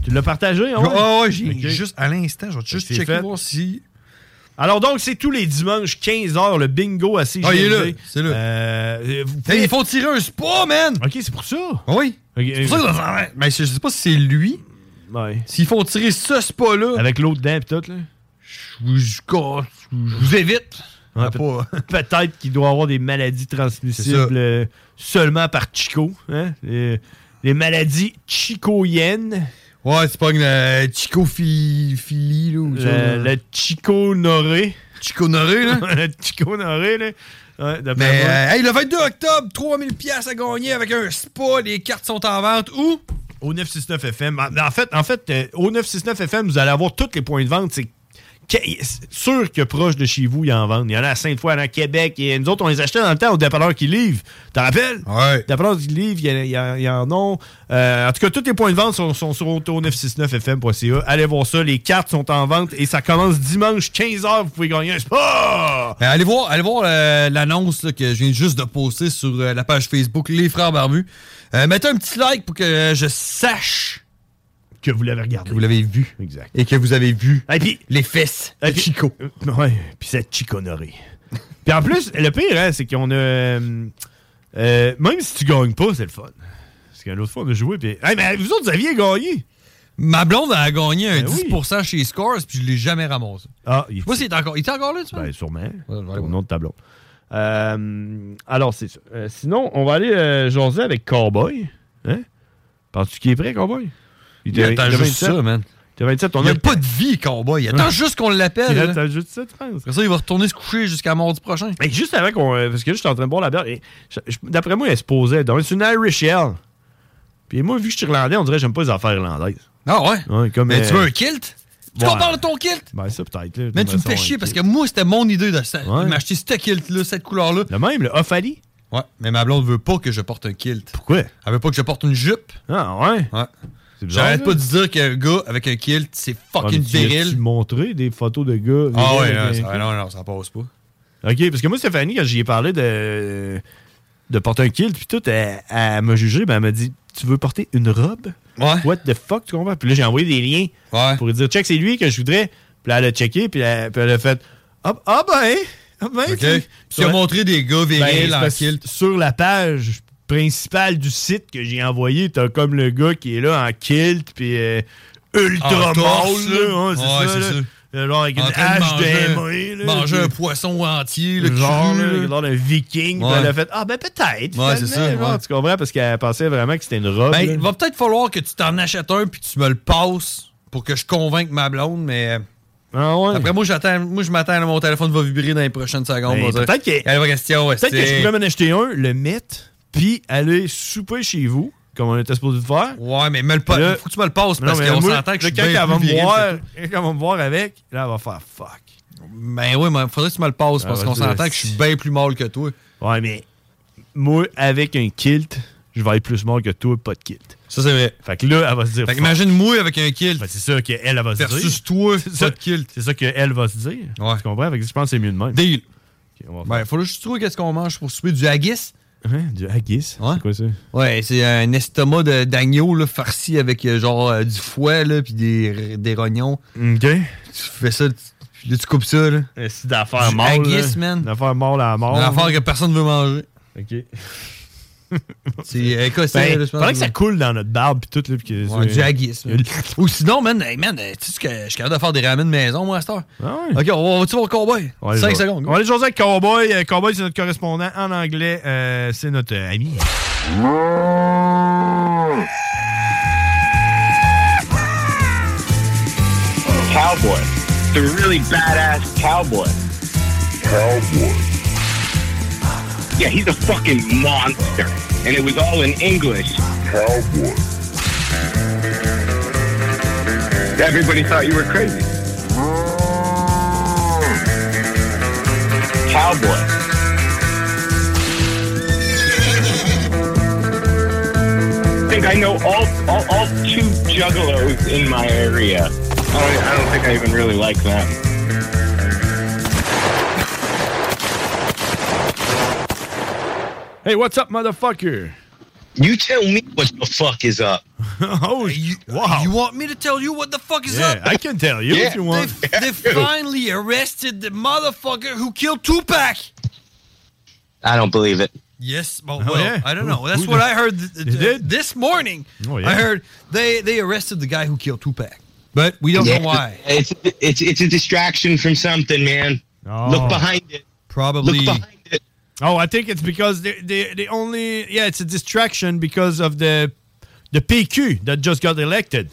Speaker 10: Tu l'as partagé, hein?
Speaker 11: Ah ouais, j'ai
Speaker 10: Ok.
Speaker 11: juste à l'instant, je vais juste
Speaker 10: C'est
Speaker 11: checker
Speaker 10: fait.
Speaker 11: voir si...
Speaker 10: Alors donc, c'est tous les dimanches, quinze heures, le bingo à C G M D.
Speaker 11: Ah, il est là, c'est là.
Speaker 10: Euh, vous
Speaker 11: Hey,
Speaker 10: pouvez-
Speaker 11: ils font tirer un spa, man!
Speaker 10: OK, c'est pour ça.
Speaker 11: Oui.
Speaker 10: Ok,
Speaker 11: C'est pour ça que dans- mais je sais pas si c'est lui.
Speaker 10: Ouais.
Speaker 11: S'ils font tirer ce spa-là...
Speaker 10: Avec l'autre dent pis tout, là.
Speaker 11: Je vous- je je vous évite.
Speaker 10: Ouais,
Speaker 11: Ah,
Speaker 10: peut-
Speaker 11: pas-
Speaker 10: Peut-être qu'il doit avoir des maladies
Speaker 11: C'est ça.
Speaker 10: transmissibles euh, seulement par Chico. Hein? Les, les maladies chicoyennes.
Speaker 11: Ouais, c'est pas une euh, chicophilie, là, ou ça.
Speaker 10: Le, le chico-noré.
Speaker 11: Chico-noré, là?
Speaker 10: le chico-noré, là. Ouais, d'après
Speaker 11: Mais,
Speaker 10: moi.
Speaker 11: euh, hey, le vingt-deux octobre, trois mille piastres à gagner avec un spa. Les cartes sont en vente. Où?
Speaker 10: Au neuf cent soixante-neuf F M. En fait, en fait euh, au neuf cent soixante-neuf F M, vous allez avoir tous les points de vente. C'est que- c'est sûr que proche de chez vous, il y en vendent. Il y en a à Sainte-Foy, il y en a à Québec. Et nous autres, on les achetait dans le temps au dépanneur qui livre. T'en rappelles?
Speaker 11: Ouais.
Speaker 10: Dépanneur qui livre, il y, a- il y a- il y en a. Euh, en tout cas, tous les points de vente sont, sont sur au neuf cent soixante-neuf F M point C A. Allez voir ça. Les cartes sont en vente et ça commence dimanche, quinze heures. Vous pouvez gagner un spa!
Speaker 11: Ben, allez voir, allez voir euh, l'annonce là, que je viens juste de poster sur euh, la page Facebook Les Frères Barbus. Euh, mettez un petit like pour que euh, je sache
Speaker 10: que vous l'avez regardé.
Speaker 11: Que vous l'avez vu.
Speaker 10: Exact.
Speaker 11: Et que vous avez vu
Speaker 10: Et puis,
Speaker 11: les fesses
Speaker 10: et
Speaker 11: de
Speaker 10: puis-
Speaker 11: Chico.
Speaker 10: Euh, ouais, puis cette chiconerie. Puis en plus, le pire, hein, c'est qu'on a... euh, euh, même si tu gagnes pas, c'est le fun. Parce que l'autre fois, on a joué, puis... Hey, mais vous autres, vous aviez gagné!
Speaker 11: Ma blonde a gagné un
Speaker 10: Ben oui.
Speaker 11: dix pour cent chez Scores, puis je l'ai jamais ramassé.
Speaker 10: Ah, il
Speaker 11: Je sais pas s'il est encore, il est encore là, tu vois?
Speaker 10: Ben, sûrement.
Speaker 11: Ouais, ouais,
Speaker 10: Au
Speaker 11: ouais.
Speaker 10: nom de tableau. Euh, alors, c'est ça. Euh, sinon, on va aller euh, jaser avec Cowboy. Hein? Penses-tu qu'il est prêt, Cowboy?
Speaker 11: Il attend juste ça, man.
Speaker 10: T'as vingt-sept, on
Speaker 11: Il
Speaker 10: a
Speaker 11: a pas de vie, Cowboy. Il attend
Speaker 10: Ouais.
Speaker 11: juste qu'on l'appelle.
Speaker 10: Il
Speaker 11: là.
Speaker 10: attend juste ça, tu penses?
Speaker 11: Après ça, il va retourner se coucher jusqu'à mardi prochain.
Speaker 10: Mais juste avant qu'on. euh, Parce que là, j'étais en train de boire la bière. Et je- je- d'après moi, elle se posait. Donc, c'est une Irish Ale. Puis moi, vu que je suis irlandais, on dirait que j'aime pas les affaires irlandaises.
Speaker 11: Ah ouais?
Speaker 10: Ouais, comme,
Speaker 11: Mais
Speaker 10: euh,
Speaker 11: tu veux un kilt? Tu
Speaker 10: ouais.
Speaker 11: qu'on parle de ton kilt?
Speaker 10: Ben, ça, peut-être. là,
Speaker 11: Mais
Speaker 10: de
Speaker 11: tu me
Speaker 10: façon,
Speaker 11: fais
Speaker 10: un
Speaker 11: chier
Speaker 10: kilt.
Speaker 11: parce que moi, c'était mon idée de ça.
Speaker 10: Ouais.
Speaker 11: de m'acheter ce kilt-là, cette couleur-là.
Speaker 10: Le même, le Off-Ali?
Speaker 11: Ouais, mais ma blonde veut pas que je porte un kilt.
Speaker 10: Pourquoi?
Speaker 11: Elle veut pas que je porte une jupe.
Speaker 10: Ah, ouais?
Speaker 11: Ouais.
Speaker 10: C'est bizarre.
Speaker 11: J'arrête
Speaker 10: ça.
Speaker 11: pas de dire qu'un gars avec un kilt, c'est
Speaker 10: Ouais,
Speaker 11: fucking
Speaker 10: mais tu as-tu
Speaker 11: viril.
Speaker 10: montré des photos de gars?
Speaker 11: Ah
Speaker 10: virils
Speaker 11: ouais, non,
Speaker 10: avec
Speaker 11: ça,
Speaker 10: un-
Speaker 11: non, non, ça passe pas.
Speaker 10: OK, parce que moi, Stéphanie, quand j'y ai parlé de, de porter un kilt, puis tout, elle, elle m'a jugé, ben, elle m'a dit, tu veux porter une robe?
Speaker 11: Ouais.
Speaker 10: What the fuck, tu comprends? Puis là, j'ai envoyé des liens
Speaker 11: Ouais.
Speaker 10: pour lui dire, check, c'est lui que je voudrais. Puis là, elle a checké, puis elle, puis elle a fait, ah, ah ben, ah ben,
Speaker 11: OK.
Speaker 10: tu-
Speaker 11: Tu as montré des gars
Speaker 10: Ben,
Speaker 11: virils
Speaker 10: c'est
Speaker 11: en
Speaker 10: parce-
Speaker 11: kilt.
Speaker 10: Sur la page principale du site que j'ai envoyé, t'as comme le gars qui est là en kilt, puis euh, ultra
Speaker 11: En torse,
Speaker 10: mâle, là. Ouais, c'est
Speaker 11: Ouais,
Speaker 10: ça,
Speaker 11: c'est
Speaker 10: là.
Speaker 11: ça.
Speaker 10: Euh, Genre avec une
Speaker 11: En train de
Speaker 10: hache
Speaker 11: manger-
Speaker 10: des mains, là.
Speaker 11: Manger
Speaker 10: puis-
Speaker 11: un poisson entier, le
Speaker 10: genre,
Speaker 11: cru,
Speaker 10: là,
Speaker 11: là.
Speaker 10: genre d'un viking. Puis
Speaker 11: Ouais.
Speaker 10: elle a fait, ah ben peut-être.
Speaker 11: Ouais, c'est
Speaker 10: finalement,
Speaker 11: ça,
Speaker 10: genre,
Speaker 11: ouais.
Speaker 10: Tu comprends? Parce qu'elle pensait vraiment que c'était une robe.
Speaker 11: Ben,
Speaker 10: là.
Speaker 11: il va peut-être falloir que tu t'en achètes un puis tu me le passes pour que je convainque ma blonde, mais.
Speaker 10: Ah ouais.
Speaker 11: Après, moi, j'attends, moi, je m'attends à mon téléphone va vibrer dans les prochaines secondes.
Speaker 10: Ben,
Speaker 11: on va dire.
Speaker 10: peut-être que-
Speaker 11: Il y a une question.
Speaker 10: Peut-être que je pourrais m'en acheter un, le mettre, puis aller souper chez vous, comme on était supposé de faire.
Speaker 11: Ouais, mais me le pas.
Speaker 10: Là-
Speaker 11: Faut que tu me le passes
Speaker 10: Non,
Speaker 11: parce
Speaker 10: mais
Speaker 11: qu'on
Speaker 10: moi,
Speaker 11: s'entend que je
Speaker 10: là,
Speaker 11: suis
Speaker 10: quand
Speaker 11: bien
Speaker 10: elle va
Speaker 11: plus
Speaker 10: me
Speaker 11: viril
Speaker 10: voir,
Speaker 11: que toi.
Speaker 10: quand elle va me voir avec, là, elle va faire fuck.
Speaker 11: Ben oui, mais faudrait que tu me le passes parce
Speaker 10: Ah,
Speaker 11: qu'on
Speaker 10: vas-y,
Speaker 11: s'entend que je suis bien plus mâle que toi.
Speaker 10: Ouais, mais moi, avec un kilt, je vais être plus mort que toi, pas de kilt.
Speaker 11: Ça, c'est vrai.
Speaker 10: Fait que là, elle va se dire.
Speaker 11: Fait
Speaker 10: fuck.
Speaker 11: qu'imagine moi avec un kilt.
Speaker 10: Ben, c'est ça qu'elle elle va se dire.
Speaker 11: Versus toi,
Speaker 10: C'est
Speaker 11: pas
Speaker 10: ça,
Speaker 11: de kilt.
Speaker 10: c'est ça qu'elle va se dire.
Speaker 11: Ouais.
Speaker 10: Tu comprends? Fait que je pense que c'est mieux de même.
Speaker 11: Deal.
Speaker 10: Ok, on va
Speaker 11: Ben, faut juste trouver qu'est-ce qu'on mange pour souper du haggis.
Speaker 10: Hein? Du haggis?
Speaker 11: Ouais.
Speaker 10: C'est quoi ça?
Speaker 11: Ouais, c'est un estomac de- d'agneau là, farci avec euh, genre euh, du fouet là, puis des, des rognons.
Speaker 10: OK.
Speaker 11: Tu fais ça, tu- puis là tu coupes ça. Là.
Speaker 10: C'est d'affaires
Speaker 11: Du
Speaker 10: mâles.
Speaker 11: haggis,
Speaker 10: là.
Speaker 11: man.
Speaker 10: D'affaires mâles à la mort.
Speaker 11: Une affaire que personne veut manger.
Speaker 10: OK.
Speaker 11: C'est écossais.
Speaker 10: Ben,
Speaker 11: là, je pense.
Speaker 10: faudrait que ça coule dans notre barbe pis tout. Là, pis que
Speaker 11: Ouais,
Speaker 10: c'est-
Speaker 11: du haggis. là. Ou sinon, man, hey, man, tu sais ce que je suis capable de faire des ramen de maison, moi, à cette heure.
Speaker 10: Ah ouais.
Speaker 11: Ok, on va-tu voir Cowboy?
Speaker 10: On va aller
Speaker 11: cinq
Speaker 10: jaser-
Speaker 11: secondes.
Speaker 10: On va aller jaser avec Cowboy. Euh, Cowboy, c'est notre correspondant en anglais. Euh, c'est notre euh, ami.
Speaker 5: Cowboy. The really badass cowboy. Cowboy. Yeah, he's a fucking monster. And it was all in English. Cowboy. Everybody thought you were crazy. Cowboy. I think I know all, all, all two juggalos in my area. I don't, I don't think I even really like them.
Speaker 10: Hey, what's up, motherfucker?
Speaker 5: You tell me what the fuck is up.
Speaker 10: Oh,
Speaker 11: you,
Speaker 10: wow.
Speaker 11: You want me to tell you what the fuck is
Speaker 10: Yeah,
Speaker 11: up?
Speaker 10: I can tell you
Speaker 5: Yeah.
Speaker 10: if you want.
Speaker 11: They, they finally arrested the motherfucker who killed Tupac.
Speaker 5: I don't believe it.
Speaker 11: Yes, well,
Speaker 10: Oh,
Speaker 11: well
Speaker 10: yeah?
Speaker 11: I don't
Speaker 10: Who-
Speaker 11: know. That's
Speaker 10: who
Speaker 11: what
Speaker 10: did-
Speaker 11: I heard th- th-
Speaker 10: They did?
Speaker 11: this morning.
Speaker 10: Oh, yeah.
Speaker 11: I heard they, they arrested the guy who killed Tupac, but we don't
Speaker 5: Yeah,
Speaker 11: know why.
Speaker 5: It's it's it's a distraction from something, man.
Speaker 10: Oh.
Speaker 5: Look behind it.
Speaker 11: Probably.
Speaker 5: Look behind it.
Speaker 10: Oh, I think it's because they they they only yeah, it's a distraction because of the the P Q that just got elected.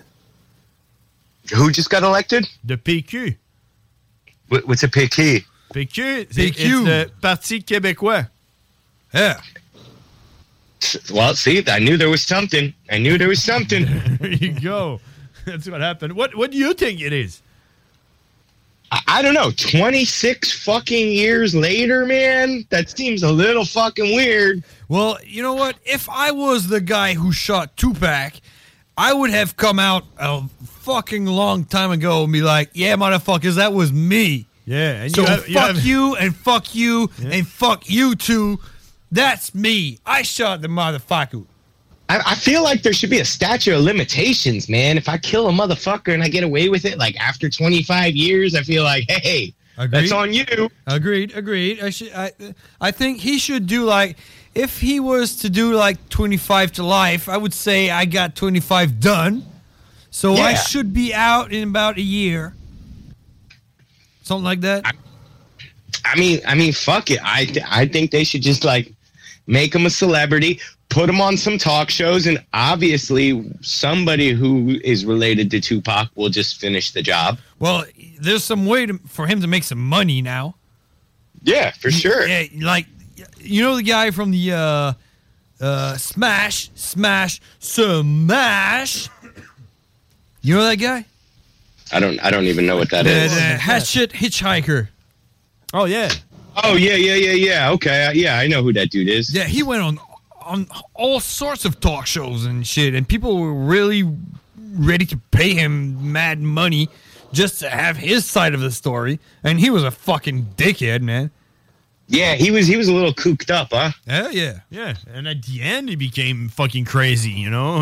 Speaker 5: Who just got elected?
Speaker 10: The P Q.
Speaker 5: What, what's a P Q?
Speaker 10: P Q, c'est
Speaker 11: P Q.
Speaker 10: it's the Parti québécois.
Speaker 11: Yeah.
Speaker 5: Well, see, I knew there was something. I knew there was something.
Speaker 10: There you go. That's what happened. What what do you think it is?
Speaker 5: I, I don't know. twenty-six fucking years later, man. That seems a little fucking weird.
Speaker 11: Well, you know what? If I was the guy who shot Tupac, I would have come out a fucking long time ago and be like, yeah, motherfuckers, that was me.
Speaker 10: Yeah, and
Speaker 11: So
Speaker 10: you have, you
Speaker 11: fuck
Speaker 10: have-
Speaker 11: you and fuck you
Speaker 10: Yeah.
Speaker 11: and fuck you too. That's me. I shot the motherfucker.
Speaker 5: I, I feel like there should be a statute of limitations, man. If I kill a motherfucker and I get away with it, like after twenty-five years, I feel like, hey,
Speaker 11: Agreed.
Speaker 5: that's on you.
Speaker 11: Agreed, agreed. I should. I, I think he should do like, if he was to do like twenty-five to life, I would say I got twenty-five done. So I
Speaker 5: Yeah.
Speaker 11: should be out in about a year. Something like that.
Speaker 5: I, I mean, I mean, fuck it. I th- I think they should just like make him a celebrity, put him on some talk shows, and obviously somebody who is related to Tupac will just finish the job.
Speaker 11: Well, there's some way to, for him to make some money now.
Speaker 5: Yeah, for sure.
Speaker 11: Yeah, like, you know the guy from the uh, uh, Smash, Smash, Smash. You know that guy?
Speaker 5: I don't I don't even know what that
Speaker 11: The,
Speaker 5: is.
Speaker 11: the Hatchet Hitchhiker.
Speaker 10: Oh yeah.
Speaker 5: Oh yeah, yeah, yeah, yeah. Okay, uh, yeah, I know who that dude is.
Speaker 11: Yeah, he went on on all sorts of talk shows and shit, and people were really ready to pay him mad money just to have his side of the story. And he was a fucking dickhead, man.
Speaker 5: Yeah, he was he was a little cooked up, huh?
Speaker 11: Hell yeah.
Speaker 10: Yeah, and at the end he became fucking crazy, you know.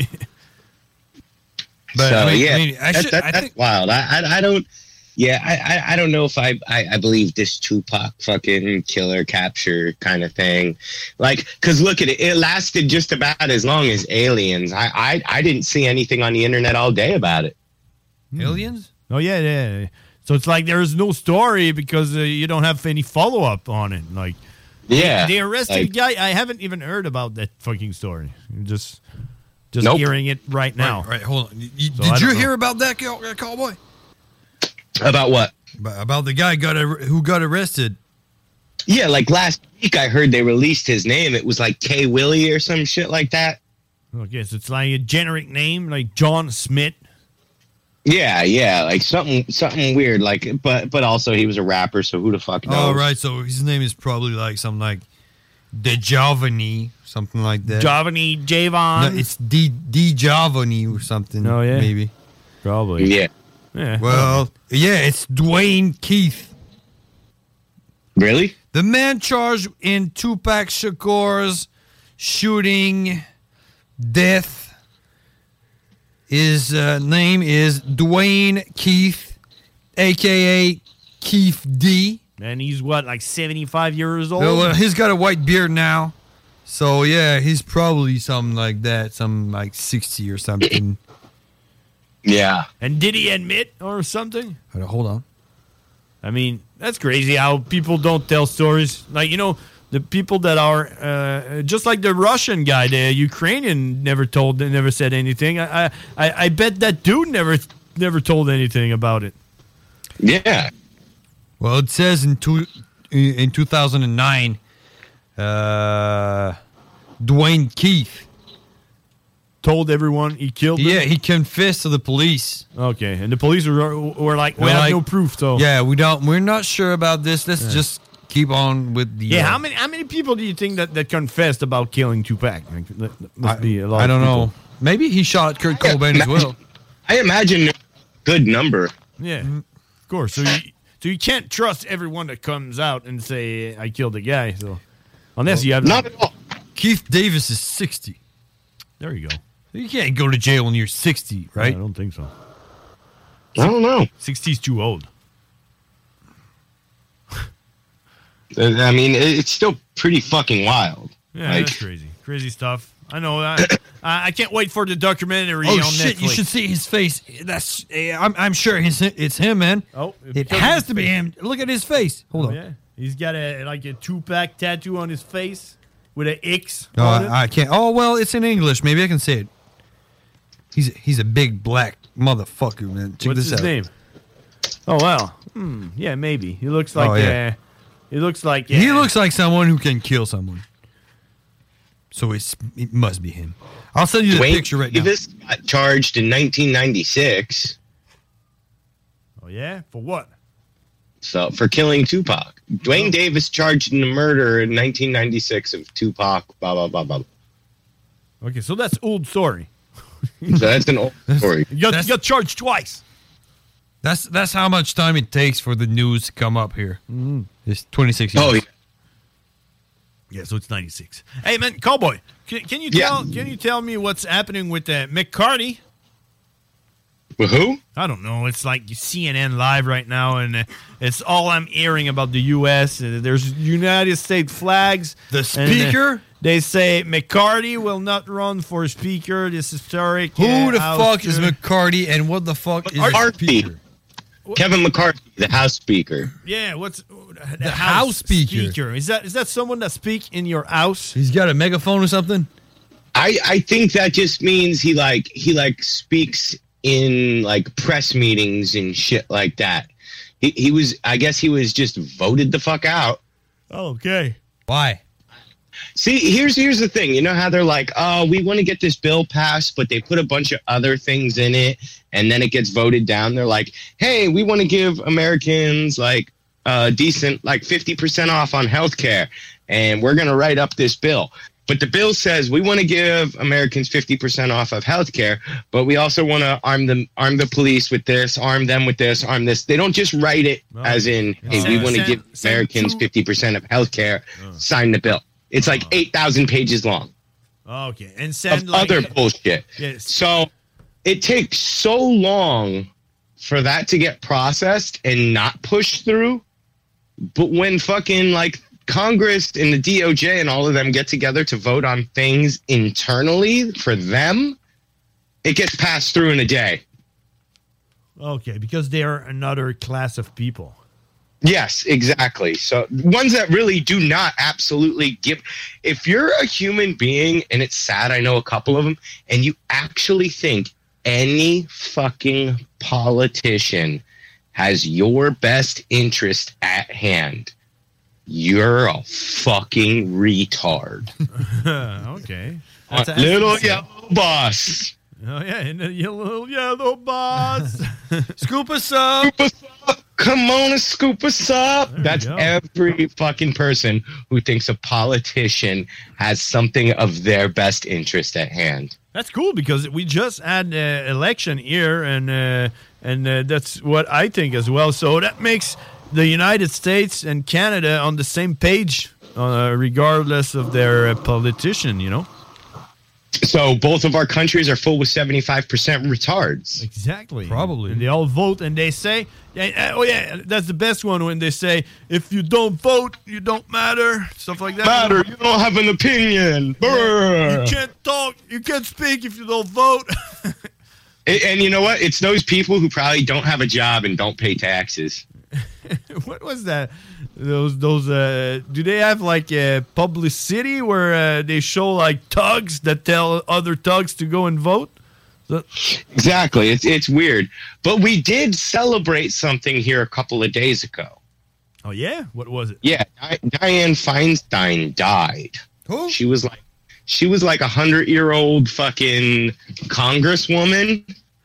Speaker 11: But,
Speaker 5: so
Speaker 11: I mean-
Speaker 5: yeah,
Speaker 11: I mean, I
Speaker 5: that-
Speaker 11: should-
Speaker 5: that-
Speaker 11: I
Speaker 5: that's
Speaker 11: think-
Speaker 5: wild. I, I I don't. Yeah, I, I I don't know if I, I I believe this Tupac fucking killer capture kind of thing, like because look at it, it lasted just about as long as Aliens. I I, I didn't see anything on the internet all day about it.
Speaker 11: Aliens?
Speaker 10: Oh yeah, yeah. So it's like there is no story because uh, you don't have any follow up on it. Like,
Speaker 5: Yeah,
Speaker 10: they, they arrested
Speaker 5: like-
Speaker 10: a guy. I haven't even heard about that fucking story. Just, just
Speaker 5: Nope.
Speaker 10: hearing it right now.
Speaker 11: Right, right, hold on. You-
Speaker 10: So I
Speaker 11: did you
Speaker 10: don't know.
Speaker 11: hear about that, cow- uh, cowboy?
Speaker 5: About what?
Speaker 11: About, about the guy got ar- who got arrested.
Speaker 5: Yeah, like last week I heard they released his name. It was like K Willie or some shit like that.
Speaker 10: Okay, so it's like a generic name, like John Smith.
Speaker 5: Yeah, yeah, like something something weird. Like, but but also he was a rapper, so who the fuck knows?
Speaker 11: Oh, right. So his name is probably like something like DeJavani, something like that.
Speaker 10: Javani, Javon.
Speaker 11: No, it's D D Javani or something.
Speaker 10: Oh, yeah?
Speaker 11: maybe.
Speaker 10: Probably.
Speaker 5: Yeah.
Speaker 10: Yeah.
Speaker 11: Well, yeah, it's Dwayne Keith.
Speaker 5: Really?
Speaker 11: The man charged in Tupac Shakur's shooting death. His uh, name is Dwayne Keith, a k a. Keith D.
Speaker 10: And he's what, like seventy-five years old?
Speaker 11: Well, uh, he's got a white beard now. So, yeah, he's probably something like that. Some like sixty or something.
Speaker 5: Yeah.
Speaker 10: And did he admit or something?
Speaker 11: Hold on.
Speaker 10: I mean, that's crazy how people don't tell stories. Like, you know, the people that are, uh, just like the Russian guy, the Ukrainian never told, never said anything. I, I, I bet that dude never, never told anything about it.
Speaker 5: Yeah.
Speaker 11: Well, it says in two, in two thousand nine, uh, Dwayne Keith
Speaker 10: told everyone he killed them?
Speaker 11: Yeah, he confessed to the police.
Speaker 10: Okay, and the police were, were like, we
Speaker 11: They're
Speaker 10: have
Speaker 11: like,
Speaker 10: no proof, so.
Speaker 11: Yeah, we don't. We're not sure about this. Let's
Speaker 10: Yeah.
Speaker 11: just keep on with the.
Speaker 10: Yeah,
Speaker 11: uh,
Speaker 10: how many how many people do you think that, that confessed about killing Tupac? Like, that- that must
Speaker 11: I,
Speaker 10: be a lot.
Speaker 11: I don't
Speaker 10: of people.
Speaker 11: know. Maybe he shot Kurt Cobain as well.
Speaker 5: I imagine a good number.
Speaker 10: Yeah, of course. So you so you can't trust everyone that comes out and say I killed a guy. So unless you have
Speaker 5: Not at all.
Speaker 11: Keith Davis is sixty.
Speaker 10: There you go.
Speaker 11: You can't go to jail when you're sixty, right?
Speaker 10: I don't think so.
Speaker 5: I don't know.
Speaker 10: sixty's too old.
Speaker 5: I mean, it's still pretty fucking wild.
Speaker 10: Yeah,
Speaker 5: like,
Speaker 10: that's crazy. Crazy stuff. I know. I, I can't wait for the documentary
Speaker 11: Oh
Speaker 10: on
Speaker 11: shit!
Speaker 10: Netflix.
Speaker 11: You should see his face. That's. eh, I'm. I'm sure it's, it's him, man.
Speaker 10: Oh,
Speaker 11: it
Speaker 10: because
Speaker 11: has
Speaker 10: of
Speaker 11: to be
Speaker 10: his
Speaker 11: him. Look at his face. Hold
Speaker 10: Oh,
Speaker 11: on.
Speaker 10: yeah. He's got a like a Tupac tattoo on his face with an X.
Speaker 11: No,
Speaker 10: on it.
Speaker 11: I, I can't. Oh well, it's in English. Maybe I can say it. He's he's a big black motherfucker, man. Check
Speaker 10: What's
Speaker 11: this
Speaker 10: his
Speaker 11: out.
Speaker 10: name? Oh wow. Hmm. Yeah, maybe. He looks like.
Speaker 11: Oh, yeah.
Speaker 10: uh, he looks like.
Speaker 11: He
Speaker 10: uh,
Speaker 11: looks like someone who can kill someone. So it's it must be him. I'll send you the
Speaker 5: Dwayne
Speaker 11: picture right now.
Speaker 5: Davis got charged in nineteen ninety-six.
Speaker 10: Oh yeah, for what?
Speaker 5: So for killing Tupac, Dwayne Davis charged in the murder in nineteen ninety-six of Tupac. Blah blah blah blah.
Speaker 10: Okay, so that's old story.
Speaker 5: So that's an old story.
Speaker 10: You got, you got charged twice.
Speaker 11: That's that's how much time it takes for the news to come up here. Mm-hmm. It's twenty-six years.
Speaker 5: Oh, yeah.
Speaker 10: Yeah, so it's ninety-six. Hey man, Cowboy, can, can you
Speaker 5: Yeah.
Speaker 10: tell can you tell me what's happening with uh, McCarthy?
Speaker 5: With who?
Speaker 10: I don't know. It's like C N N Live right now, and uh, it's all I'm hearing about the U S Uh, there's United States flags.
Speaker 11: The
Speaker 10: and, uh,
Speaker 11: speaker?
Speaker 10: they say McCarthy will not run for speaker. This historic.
Speaker 11: Who
Speaker 10: uh,
Speaker 11: the
Speaker 10: House
Speaker 11: fuck is
Speaker 10: to-
Speaker 11: McCarty and what the fuck is
Speaker 5: McCarthy.
Speaker 11: speaker?
Speaker 5: Kevin McCarthy, the House Speaker.
Speaker 10: Yeah, what's the,
Speaker 11: The House Speaker.
Speaker 10: Is that is that someone that speak in your house?
Speaker 11: He's got a megaphone or something?
Speaker 5: I I think that just means he like he like speaks in like press meetings and shit like that. He he was I guess he was just voted the fuck out.
Speaker 10: Okay.
Speaker 11: Why?
Speaker 5: See, here's here's the thing. You know how they're like, oh, we want to get this bill passed, but they put a bunch of other things in it, and then it gets voted down. They're like, hey, we want to give Americans like uh, decent, like fifty percent off on healthcare, and we're going to write up this bill. But the bill says we want to give Americans fifty percent off of healthcare, but we also want to arm them, arm the police with this, arm them with this, arm this. They don't just write it
Speaker 10: Oh.
Speaker 5: as in, hey,
Speaker 10: Send-
Speaker 5: we want to
Speaker 10: send-
Speaker 5: give
Speaker 10: send
Speaker 5: Americans
Speaker 10: two-
Speaker 5: fifty percent of healthcare. Sign the bill. It's like eight thousand pages long
Speaker 10: Okay, and send
Speaker 5: of
Speaker 10: like
Speaker 5: other bullshit.
Speaker 10: Yes.
Speaker 5: So it takes so long for that to get processed and not pushed through. But when fucking like Congress and the D O J and all of them get together to vote on things internally for them, it gets passed through in a day.
Speaker 10: Okay, because they are another class of people.
Speaker 5: Yes, exactly. So ones that really do not absolutely give. If you're a human being, and it's sad, I know a couple of them, and you actually think any fucking politician has your best interest at hand, you're a fucking retard.
Speaker 10: Okay.
Speaker 5: Uh, little yellow boss.
Speaker 10: Oh yeah, and the yellow yellow boss.
Speaker 11: Scoop us up.
Speaker 5: Scoop us up. Come on and scoop us up.
Speaker 10: There you
Speaker 5: That's
Speaker 10: go.
Speaker 5: every fucking person who thinks a politician has something of their best interest at hand.
Speaker 10: That's cool because we just had an election here, and uh, and uh, that's what I think as well. So that makes the United States and Canada on the same page, uh, regardless of their uh, politician. You know.
Speaker 5: So both of our countries are full with seventy-five percent retards.
Speaker 10: Exactly.
Speaker 11: Probably.
Speaker 10: And they all vote, and they say, yeah, oh yeah, that's the best one when they say, if you don't vote, you don't matter, stuff like that.
Speaker 5: Matter, you don't have an opinion. Brr.
Speaker 10: You can't talk, you can't speak if you don't vote.
Speaker 5: And, and you know what? It's those people who probably don't have a job and don't pay taxes.
Speaker 10: What was that? Those those uh do they have like a publicity where uh, they show like thugs that tell other thugs to go and vote? So-
Speaker 5: Exactly. It's it's weird. But we did celebrate something here a couple of days ago.
Speaker 10: oh yeah, what was it?
Speaker 5: Yeah, Di- Dianne Feinstein died.
Speaker 11: Who?
Speaker 5: She was like she was like a hundred year old fucking congresswoman.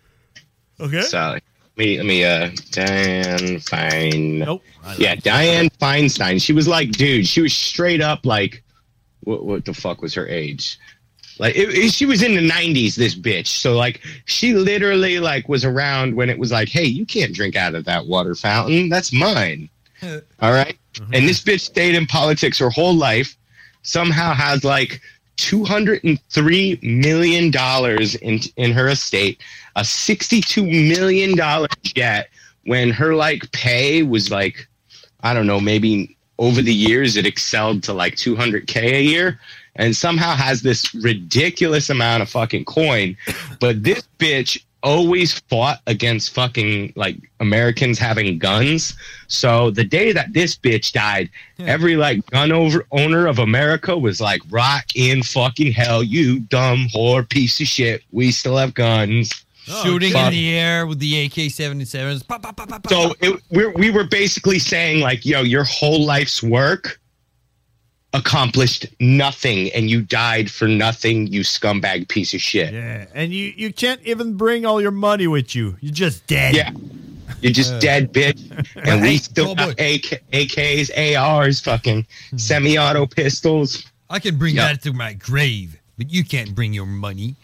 Speaker 10: Okay.
Speaker 5: So let me let me uh Dianne Fein.
Speaker 10: Nope.
Speaker 5: Yeah, Dianne Feinstein. She was like, dude, she was straight up like, what what the fuck was her age? Like it, it- she was in the nineties, this bitch. So like she literally like was around when it was like, hey, you can't drink out of that water fountain. That's mine. All right? And this bitch stayed in politics her whole life, somehow has like two hundred three million dollars in in her estate, a sixty-two million dollars jet, when her like pay was like, I don't know, maybe over the years it excelled to like two hundred K a year, and somehow has this ridiculous amount of fucking coin. But this bitch always fought against fucking like Americans having guns. So the day that this bitch died, yeah. every like gun over owner of America was like, rock in fucking hell, you dumb whore piece of shit. We still have guns.
Speaker 11: Oh, shooting fuck. in the air with the A K seventy-sevens. Pop, pop, pop, pop,
Speaker 5: so it, we're, we were basically saying like, yo, your whole life's work accomplished nothing, and you died for nothing, you scumbag piece of shit.
Speaker 10: Yeah, and you, you can't even bring all your money with you. You're just dead.
Speaker 5: Yeah, you're just uh, dead, bitch. And we still have A K, A Ks, A Rs, fucking semi-auto pistols.
Speaker 11: I can bring yep. that to my grave, but you can't bring your money.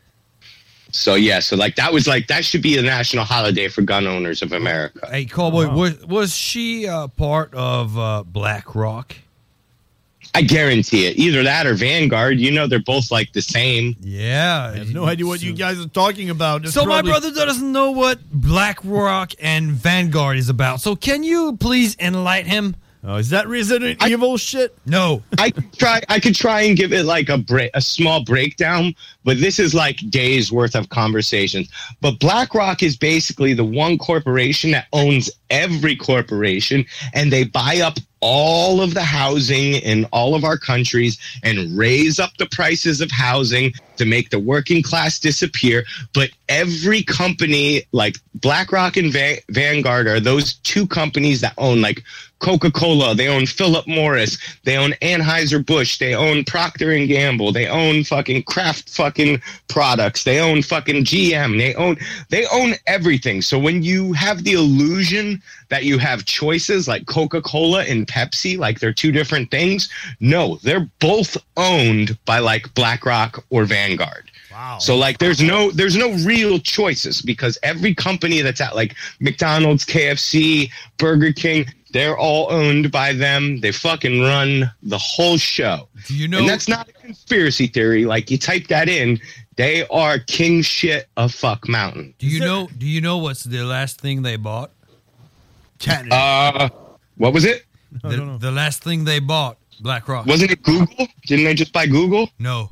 Speaker 5: So, yeah, so, like, that was, like, that should be a national holiday for gun owners of America.
Speaker 11: Hey, Cowboy, wow. was, was she uh, part of uh, BlackRock?
Speaker 5: I guarantee it. Either that or Vanguard. You know, they're both like the same.
Speaker 11: Yeah.
Speaker 10: I have no idea what you guys are talking about. It's
Speaker 11: so
Speaker 10: probably-
Speaker 11: my brother doesn't know what BlackRock and Vanguard is about. So can you please enlighten him?
Speaker 10: Oh, is that Resident I, Evil shit?
Speaker 11: No.
Speaker 5: I could try I could try and give it like a break, a small breakdown, but this is like days worth of conversations. But BlackRock is basically the one corporation that owns every corporation, and they buy up all of the housing in all of our countries and raise up the prices of housing to make the working class disappear. But every company like BlackRock and Va- Vanguard are those two companies that own like Coca-Cola, they own Philip Morris, they own Anheuser-Busch, they own Procter and Gamble, they own fucking Kraft fucking products, they own fucking G M, they own they own everything. So when you have the illusion that you have choices like Coca-Cola and Pepsi, like they're two different things, no, they're both owned by like BlackRock or Vanguard.
Speaker 10: Wow.
Speaker 5: So like there's no there's no real choices, because every company that's at like McDonald's, K F C, Burger King, they're all owned by them. They fucking run the whole show.
Speaker 11: Do you know?
Speaker 5: And that's not a conspiracy theory. Like you type that in, they are king shit of fuck mountain.
Speaker 11: Do you know? Do you know what's the last thing they bought?
Speaker 10: Canada.
Speaker 5: Uh, what was it?
Speaker 11: The, the last thing they bought, BlackRock.
Speaker 5: Wasn't it Google? Didn't they just buy Google?
Speaker 11: No.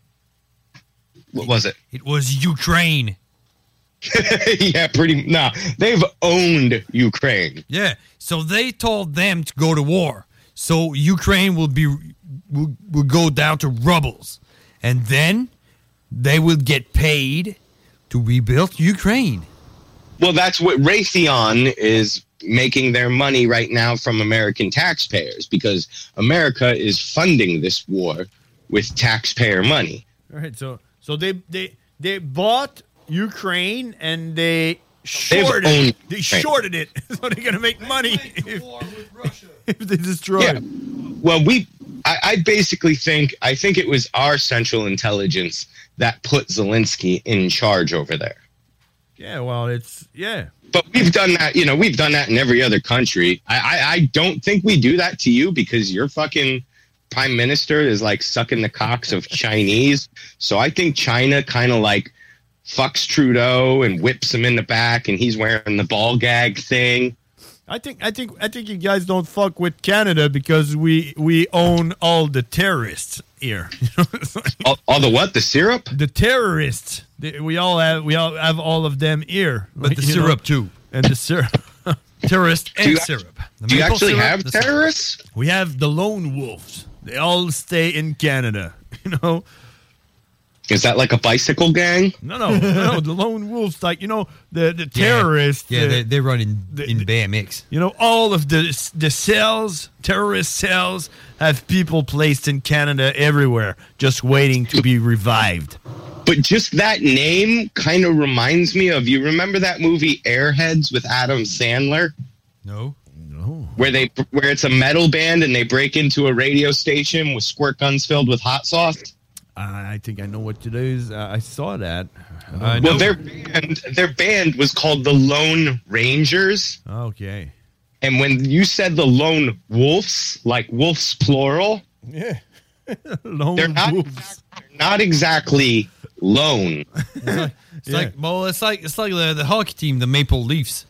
Speaker 5: What was it?
Speaker 11: It was Ukraine.
Speaker 5: Yeah, pretty. Nah, they've owned Ukraine.
Speaker 11: Yeah, so they told them to go to war, so Ukraine will be will, will go down to rubbles, and then they will get paid to rebuild Ukraine.
Speaker 5: Well, that's what Raytheon is making their money right now from American taxpayers, because America is funding this war with taxpayer money.
Speaker 10: All right, so so they they they bought Ukraine and they shorted it. They shorted it, so they're gonna make money if, if they destroy
Speaker 5: yeah.
Speaker 10: it.
Speaker 5: Well, we I, I basically think I think it was our Central Intelligence that put Zelensky in charge over there.
Speaker 10: Yeah, well, it's yeah.
Speaker 5: But we've done that, you know, we've done that in every other country. I, I, I don't think we do that to you, because your fucking prime minister is like sucking the cocks of Chinese. So I think China kind of like fucks Trudeau and whips him in the back, and he's wearing the ball gag thing.
Speaker 10: I think I think I think you guys don't fuck with Canada because we we own all the terrorists here.
Speaker 5: all, all the what? The syrup?
Speaker 10: The terrorists. The, we all have we all have all of them here.
Speaker 11: But
Speaker 10: like,
Speaker 11: the syrup
Speaker 10: know,
Speaker 11: too.
Speaker 10: And the syrup.
Speaker 11: Terrorist and
Speaker 5: you,
Speaker 11: syrup. The
Speaker 5: do you actually
Speaker 11: syrup,
Speaker 5: have terrorists?
Speaker 10: Syrup. We have the lone wolves. They all stay in Canada. You know.
Speaker 5: Is that like a bicycle gang?
Speaker 10: No, no, no. The lone wolves, like, you know, the the terrorists.
Speaker 11: Yeah, yeah
Speaker 10: the,
Speaker 11: they, they run in
Speaker 10: the,
Speaker 11: in B M X.
Speaker 10: You know, all of the the cells, terrorist cells, have people placed in Canada everywhere, just waiting to be revived.
Speaker 5: But just that name kind of reminds me of, you remember that movie Airheads with Adam Sandler?
Speaker 11: No.
Speaker 10: No.
Speaker 5: Where they where it's a metal band and they break into a radio station with squirt guns filled with hot sauce?
Speaker 10: I think I know what it is. Uh, I saw that.
Speaker 5: Uh, well, their band, their band was called the Lone Rangers.
Speaker 10: Okay.
Speaker 5: And when you said the Lone Wolves, like wolves plural,
Speaker 10: yeah, lone
Speaker 5: they're not
Speaker 10: wolves.
Speaker 5: exact- they're not exactly lone.
Speaker 11: It's like, it's like well, it's like it's like the, the hockey team, the Maple Leafs.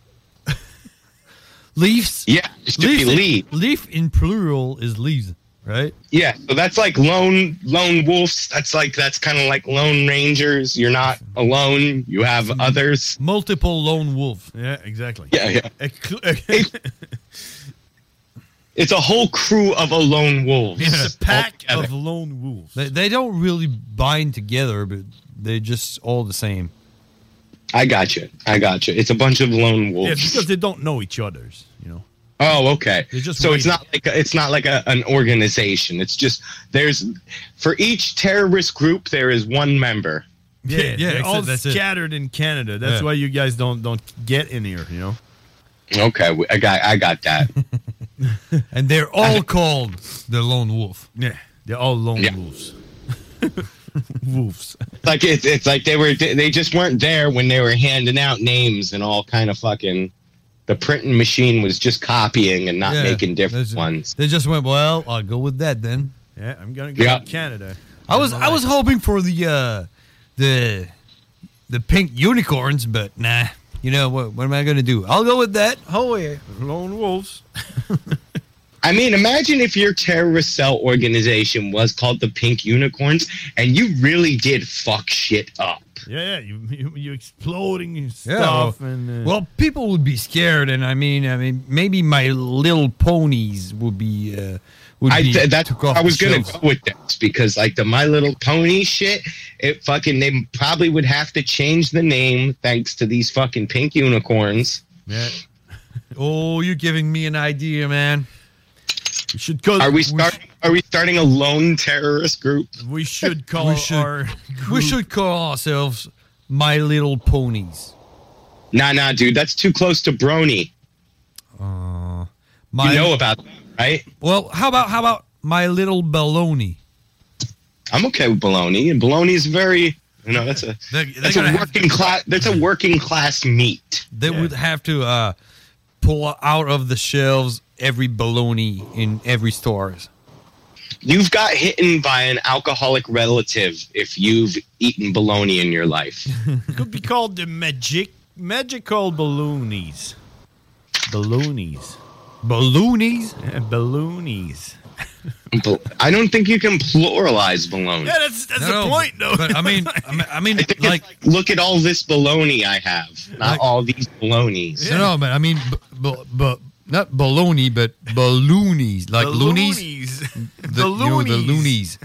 Speaker 11: Leafs.
Speaker 5: Yeah, it should be
Speaker 11: in-
Speaker 5: leaf.
Speaker 11: Leaf in plural is leaves, right?
Speaker 5: Yeah, so that's like lone lone wolves. That's like that's kind of like lone rangers. You're not alone. You have others.
Speaker 11: Multiple lone wolf.
Speaker 10: Yeah, exactly.
Speaker 5: Yeah, yeah.
Speaker 10: It-
Speaker 5: It's a whole crew of a lone wolf.
Speaker 10: It's a pack of lone wolves.
Speaker 11: They, they don't really bind together, but they're just all the same.
Speaker 5: I got you. I got you. It's a bunch of lone
Speaker 10: Yeah,
Speaker 5: wolves.
Speaker 10: because they don't know each other's, you know.
Speaker 5: Oh, okay.
Speaker 10: They're just
Speaker 5: So it's
Speaker 10: waiting.
Speaker 5: not like a, it's not like a, an organization. It's just there's for each terrorist group there is one member.
Speaker 10: Yeah,
Speaker 11: yeah,
Speaker 10: they're
Speaker 11: that's
Speaker 10: all
Speaker 11: it, that's it.
Speaker 10: scattered in Canada. That's
Speaker 11: Yeah.
Speaker 10: why you guys don't don't get in here, you know.
Speaker 5: Okay, we- I got I got that.
Speaker 11: And they're all called the lone wolf.
Speaker 10: Yeah, they're all lone
Speaker 5: Yeah.
Speaker 10: wolves. Wolves.
Speaker 5: like it's it's like they were they just weren't there when they were handing out names and all kind of fucking. The printing machine was just copying and not
Speaker 11: Yeah,
Speaker 5: making different
Speaker 11: that's-
Speaker 5: ones.
Speaker 11: They just went, well, I'll go with that then.
Speaker 10: Yeah, I'm gonna go
Speaker 5: Yeah.
Speaker 10: to Canada.
Speaker 11: I was I was hoping for the uh, the the pink unicorns, but nah. You know what? What am I gonna do? I'll go with that. Oh yeah,
Speaker 10: lone wolves.
Speaker 5: I mean, imagine if your terrorist cell organization was called the Pink Unicorns and you really did fuck shit up.
Speaker 10: Yeah, yeah, you you, you exploding
Speaker 11: Yeah.
Speaker 10: stuff
Speaker 11: well,
Speaker 10: and uh,
Speaker 11: well, people would be scared, and I mean, I mean, maybe My Little Ponies would be. Uh, would
Speaker 5: I
Speaker 11: be
Speaker 5: th- that's
Speaker 11: took off
Speaker 5: I was
Speaker 11: the
Speaker 5: gonna
Speaker 11: shelves.
Speaker 5: go with this because like the My Little Pony shit, it fucking they probably would have to change the name thanks to these fucking pink unicorns.
Speaker 10: yeah.
Speaker 11: Oh, you're giving me an idea, man.
Speaker 10: We should call.
Speaker 5: Are we
Speaker 10: we
Speaker 5: starting? Are we starting a lone terrorist group?
Speaker 10: We should call
Speaker 11: We should-
Speaker 10: our.
Speaker 11: We should call ourselves My Little Ponies.
Speaker 5: Nah, nah, dude, that's too close to Brony.
Speaker 11: Uh, my,
Speaker 5: You know about that, right?
Speaker 11: Well, how about how about My Little Baloney?
Speaker 5: I'm okay with bologna, and bologna is very, you know, that's a
Speaker 11: They're- they're
Speaker 5: that's a
Speaker 11: gonna have-
Speaker 5: working class. That's a working class meat.
Speaker 11: They would have to uh, pull out of the shelves every baloney in every store.
Speaker 5: You've got hitten by an alcoholic relative if you've eaten bologna in your life.
Speaker 10: Could be called the magic magical balloonies. Balloonies.
Speaker 11: Balloonies?
Speaker 10: Yeah, balloonies.
Speaker 5: Bal- I don't think you can pluralize bologna.
Speaker 10: Yeah, that's that's
Speaker 11: No,
Speaker 10: the
Speaker 11: no,
Speaker 10: point, though.
Speaker 11: But I mean, I mean, I mean
Speaker 5: I think
Speaker 11: like,
Speaker 5: it's like, look at all this bologna I have, not
Speaker 11: Like-
Speaker 5: all these bolognas.
Speaker 11: no, no, but I mean, b- b- b- not baloney, but balloonies, like loonies.
Speaker 10: Balloonies.
Speaker 11: The, you know, the loonies.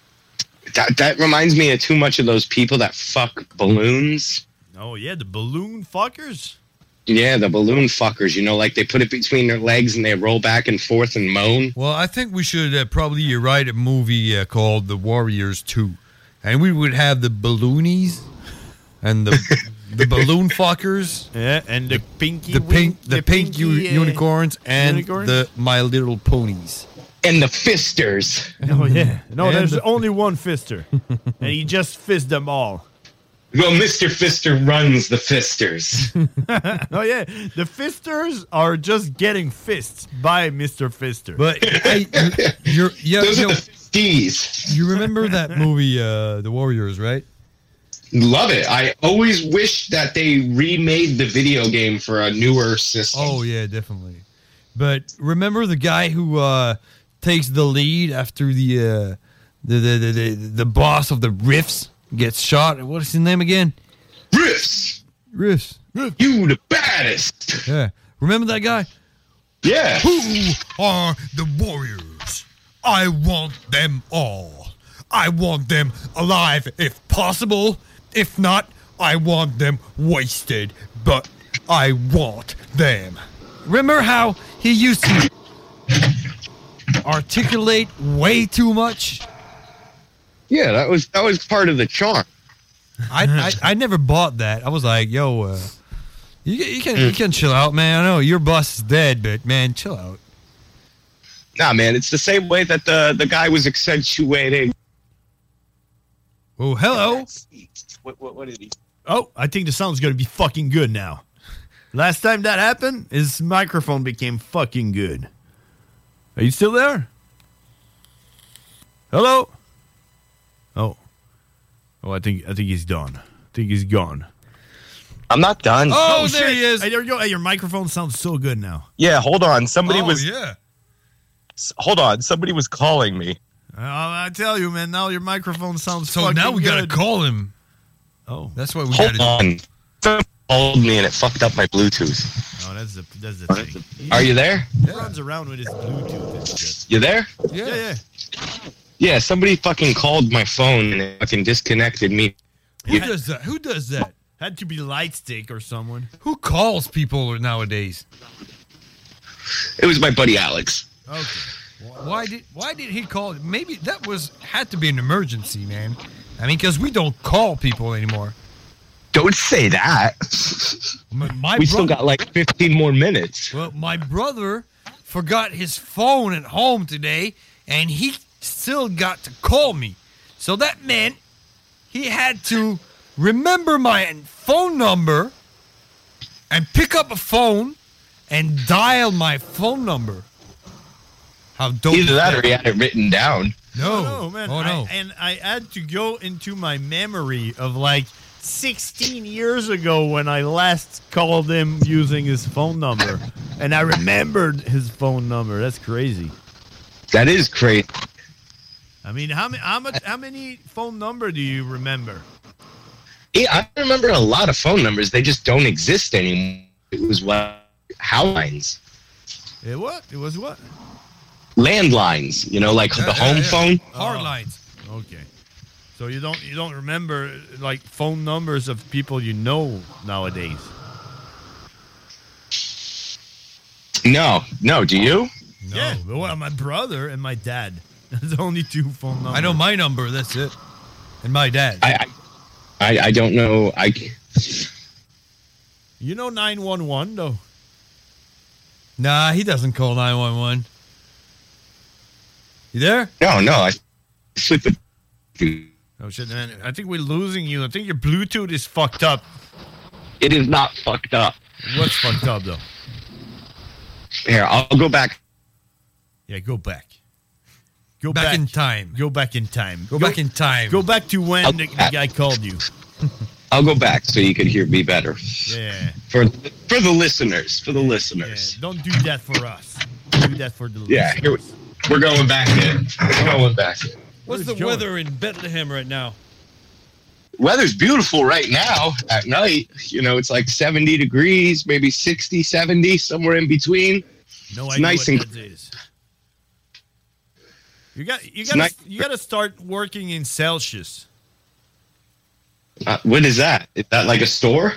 Speaker 5: That, that reminds me of too much of those people that fuck balloons.
Speaker 10: Oh yeah, the balloon fuckers.
Speaker 5: Yeah, the balloon fuckers. You know, like they put it between their legs and they roll back and forth and moan.
Speaker 11: Well, I think we should uh, probably write a movie uh, called The Warriors two, and we would have the balloonies and the the balloon fuckers.
Speaker 10: Yeah, and the pinky.
Speaker 11: The pink,
Speaker 10: wing-
Speaker 11: the, pink
Speaker 10: pinky,
Speaker 11: u-
Speaker 10: uh,
Speaker 11: unicorns and
Speaker 10: unicorns?
Speaker 11: the My Little Ponies.
Speaker 5: And the fisters.
Speaker 10: Oh yeah, no,
Speaker 11: And
Speaker 10: there's
Speaker 11: the-
Speaker 10: only one fister, and he just fists them all.
Speaker 5: Well, Mister Fister runs the fisters.
Speaker 10: Oh yeah, the fisters are just getting fists by Mister Fister.
Speaker 11: But hey, you- you're, yeah,
Speaker 5: Those
Speaker 11: you,
Speaker 5: are
Speaker 11: know,
Speaker 5: the fisties.
Speaker 11: you remember that movie, uh, The Warriors, right?
Speaker 5: Love it. I always wish that they remade the video game for a newer system.
Speaker 11: Oh yeah, definitely. But remember the guy who uh, takes the lead after the, uh, the, the the the the boss of the Riffs gets shot. What is his name again?
Speaker 5: Riffs.
Speaker 11: Riffs.
Speaker 5: You the baddest.
Speaker 11: Yeah. Remember that guy?
Speaker 5: Yeah.
Speaker 11: Who are the Warriors? I want them all. I want them alive if possible. If not, I want them wasted. But I want them. Remember how he used to articulate way too much?
Speaker 5: Yeah, that was that was part of the charm.
Speaker 11: I, I I never bought that. I was like, yo, uh, you, you can you can chill out, man. I know your boss is dead, but man, chill out.
Speaker 5: Nah, man, it's the same way that the the guy was accentuating.
Speaker 11: Oh, hello.
Speaker 5: What what, what did he?
Speaker 10: Oh, I think the sound's gonna be fucking good now. Last time that happened, his microphone became fucking good. Are you still there? Hello? Oh. Oh, I think I think he's done. I think he's gone.
Speaker 6: I'm not done.
Speaker 10: Oh, there he is. Hey, there you go. Hey, your microphone sounds so good now.
Speaker 6: Yeah, hold on. Somebody
Speaker 10: Oh,
Speaker 6: was.
Speaker 10: yeah.
Speaker 6: S- Hold on. Somebody was calling me.
Speaker 10: Uh, I tell you, man, now your microphone sounds
Speaker 11: So
Speaker 10: fucking
Speaker 11: now we gotta
Speaker 10: good.
Speaker 11: call him.
Speaker 10: Oh.
Speaker 11: That's what we
Speaker 6: Hold
Speaker 11: gotta
Speaker 6: on. Someone called me and it fucked up my Bluetooth.
Speaker 10: Oh, that's the that's the thing.
Speaker 6: Are you there?
Speaker 10: He runs around with his Bluetooth and shit.
Speaker 6: You there?
Speaker 10: Yeah, yeah.
Speaker 6: Yeah, somebody fucking called my phone and it fucking disconnected me.
Speaker 11: Who does that? Who does that?
Speaker 10: Had to be Lightstick or someone.
Speaker 11: Who calls people nowadays?
Speaker 6: It was my buddy Alex.
Speaker 10: Okay.
Speaker 11: Why did Why did he call? Maybe that was had to be an emergency, man. I mean, because we don't call people anymore.
Speaker 6: Don't say that.
Speaker 11: My, my
Speaker 6: we still
Speaker 11: brother-
Speaker 6: got like fifteen more minutes.
Speaker 11: Well, my brother forgot his phone at home today, and he still got to call me. So that meant he had to remember my phone number and pick up a phone and dial my phone number. How dope
Speaker 6: Either
Speaker 11: is
Speaker 6: that or he had it written down.
Speaker 11: No.
Speaker 10: Oh, man.
Speaker 11: Oh, no.
Speaker 10: I, and I had to go into my memory of like sixteen years ago when I last called him using his phone number. And I remembered his phone number. That's crazy.
Speaker 6: That is crazy.
Speaker 10: I mean, how many how much how many phone number do you remember?
Speaker 6: Yeah, I remember a lot of phone numbers. They just don't exist anymore. It was what howlines,
Speaker 10: It what? It was what?
Speaker 6: landlines. You know, like the home phone.
Speaker 11: Hard lines.
Speaker 10: Okay. So you don't you don't remember like phone numbers of people you know nowadays?
Speaker 6: No, no. Do you?
Speaker 10: No. Yeah. Well, my brother and my dad. There's only two phone numbers.
Speaker 11: I know my number. That's it. And my dad.
Speaker 6: I, I, I don't know. I.
Speaker 10: You know nine one one though.
Speaker 11: Nah, he doesn't call nine one one. You there?
Speaker 6: No, no. I sleep with.
Speaker 10: Oh shit, man! I think we're losing you. I think your Bluetooth is fucked up.
Speaker 6: It is not fucked up.
Speaker 10: What's fucked up though?
Speaker 6: Here, I'll go back.
Speaker 10: Yeah, go back. Go
Speaker 11: Back
Speaker 10: back,
Speaker 11: in time.
Speaker 10: Go back in time.
Speaker 11: Go back in time.
Speaker 10: Go back to when
Speaker 6: I'll-
Speaker 10: the, the guy called you.
Speaker 6: I'll go back so you could hear me better.
Speaker 10: Yeah.
Speaker 6: For for the listeners, for the listeners.
Speaker 10: Don't do that for us. Do that for the
Speaker 6: Yeah, here we, we're going back in. We're going back in.
Speaker 11: What's the weather in Bethlehem right now?
Speaker 6: Weather's beautiful right now at night. You know, it's like seventy degrees, maybe sixty, seventy, somewhere in between.
Speaker 10: No
Speaker 6: It's
Speaker 10: idea
Speaker 6: nice
Speaker 10: what
Speaker 6: and
Speaker 10: that is. You got you
Speaker 6: It's
Speaker 10: got
Speaker 6: nice-
Speaker 10: you got to start working in Celsius.
Speaker 6: uh, what is that? Is that like a store?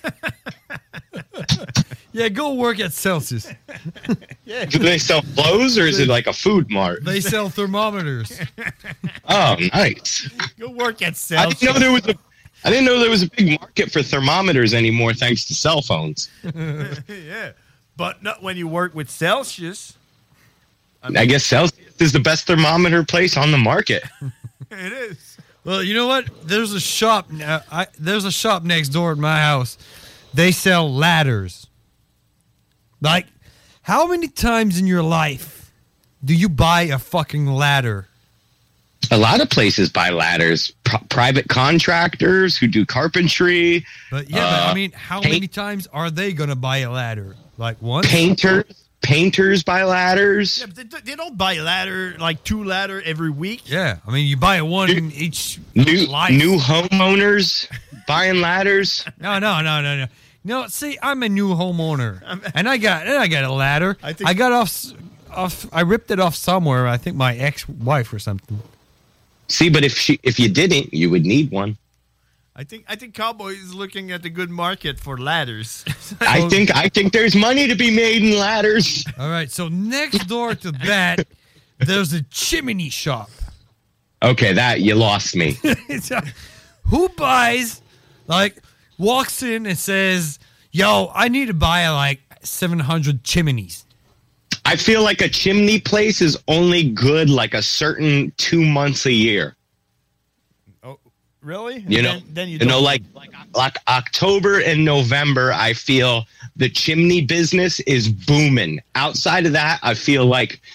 Speaker 11: Yeah, go work at Celsius.
Speaker 10: Yeah.
Speaker 6: Do they sell clothes or is it like a food mart?
Speaker 11: They sell thermometers.
Speaker 6: Oh, nice.
Speaker 10: Go work at
Speaker 6: I
Speaker 10: Celsius.
Speaker 6: didn't know there was a I didn't know there was a big market for thermometers anymore thanks to cell phones.
Speaker 10: Yeah, but not when you work with Celsius.
Speaker 6: I guess Celsius is the best thermometer place on the market.
Speaker 10: It is.
Speaker 11: Well, you know what? There's a shop. Uh, I, there's a shop next door at my house. They sell ladders. Like, how many times in your life do you buy a fucking ladder?
Speaker 6: A lot of places buy ladders. P- private contractors who do carpentry.
Speaker 11: But yeah, but
Speaker 6: uh,
Speaker 11: I mean, how
Speaker 6: paint-
Speaker 11: many times are they gonna buy a ladder? Like once?
Speaker 6: Painters. Painters buy ladders.
Speaker 10: Yeah, but they, they don't buy a ladder like two ladder every week.
Speaker 11: Yeah, I mean, you buy one in each
Speaker 6: New
Speaker 11: life.
Speaker 6: new homeowners buying ladders.
Speaker 11: No, no, no, no, no. No, see, I'm a new homeowner, and I got and I got a ladder. I, I got off, s- off. I ripped it off somewhere. I think my ex-wife or something.
Speaker 6: See, but if she if you didn't, you would need one.
Speaker 10: I think I think Cowboy is looking at the good market for ladders.
Speaker 6: I think I think there's money to be made in ladders.
Speaker 11: All right, so next door to that, there's a chimney shop.
Speaker 6: Okay, that you lost me.
Speaker 11: It's a- who buys, like, walks in and says, "Yo, I need to buy like seven hundred chimneys."
Speaker 6: I feel like a chimney place is only good like a certain two months a year.
Speaker 10: Really?
Speaker 6: You know,
Speaker 10: Then, then you,
Speaker 6: you know,
Speaker 10: don't-
Speaker 6: like like like October and November, I feel the chimney business is booming. Outside of that, I feel like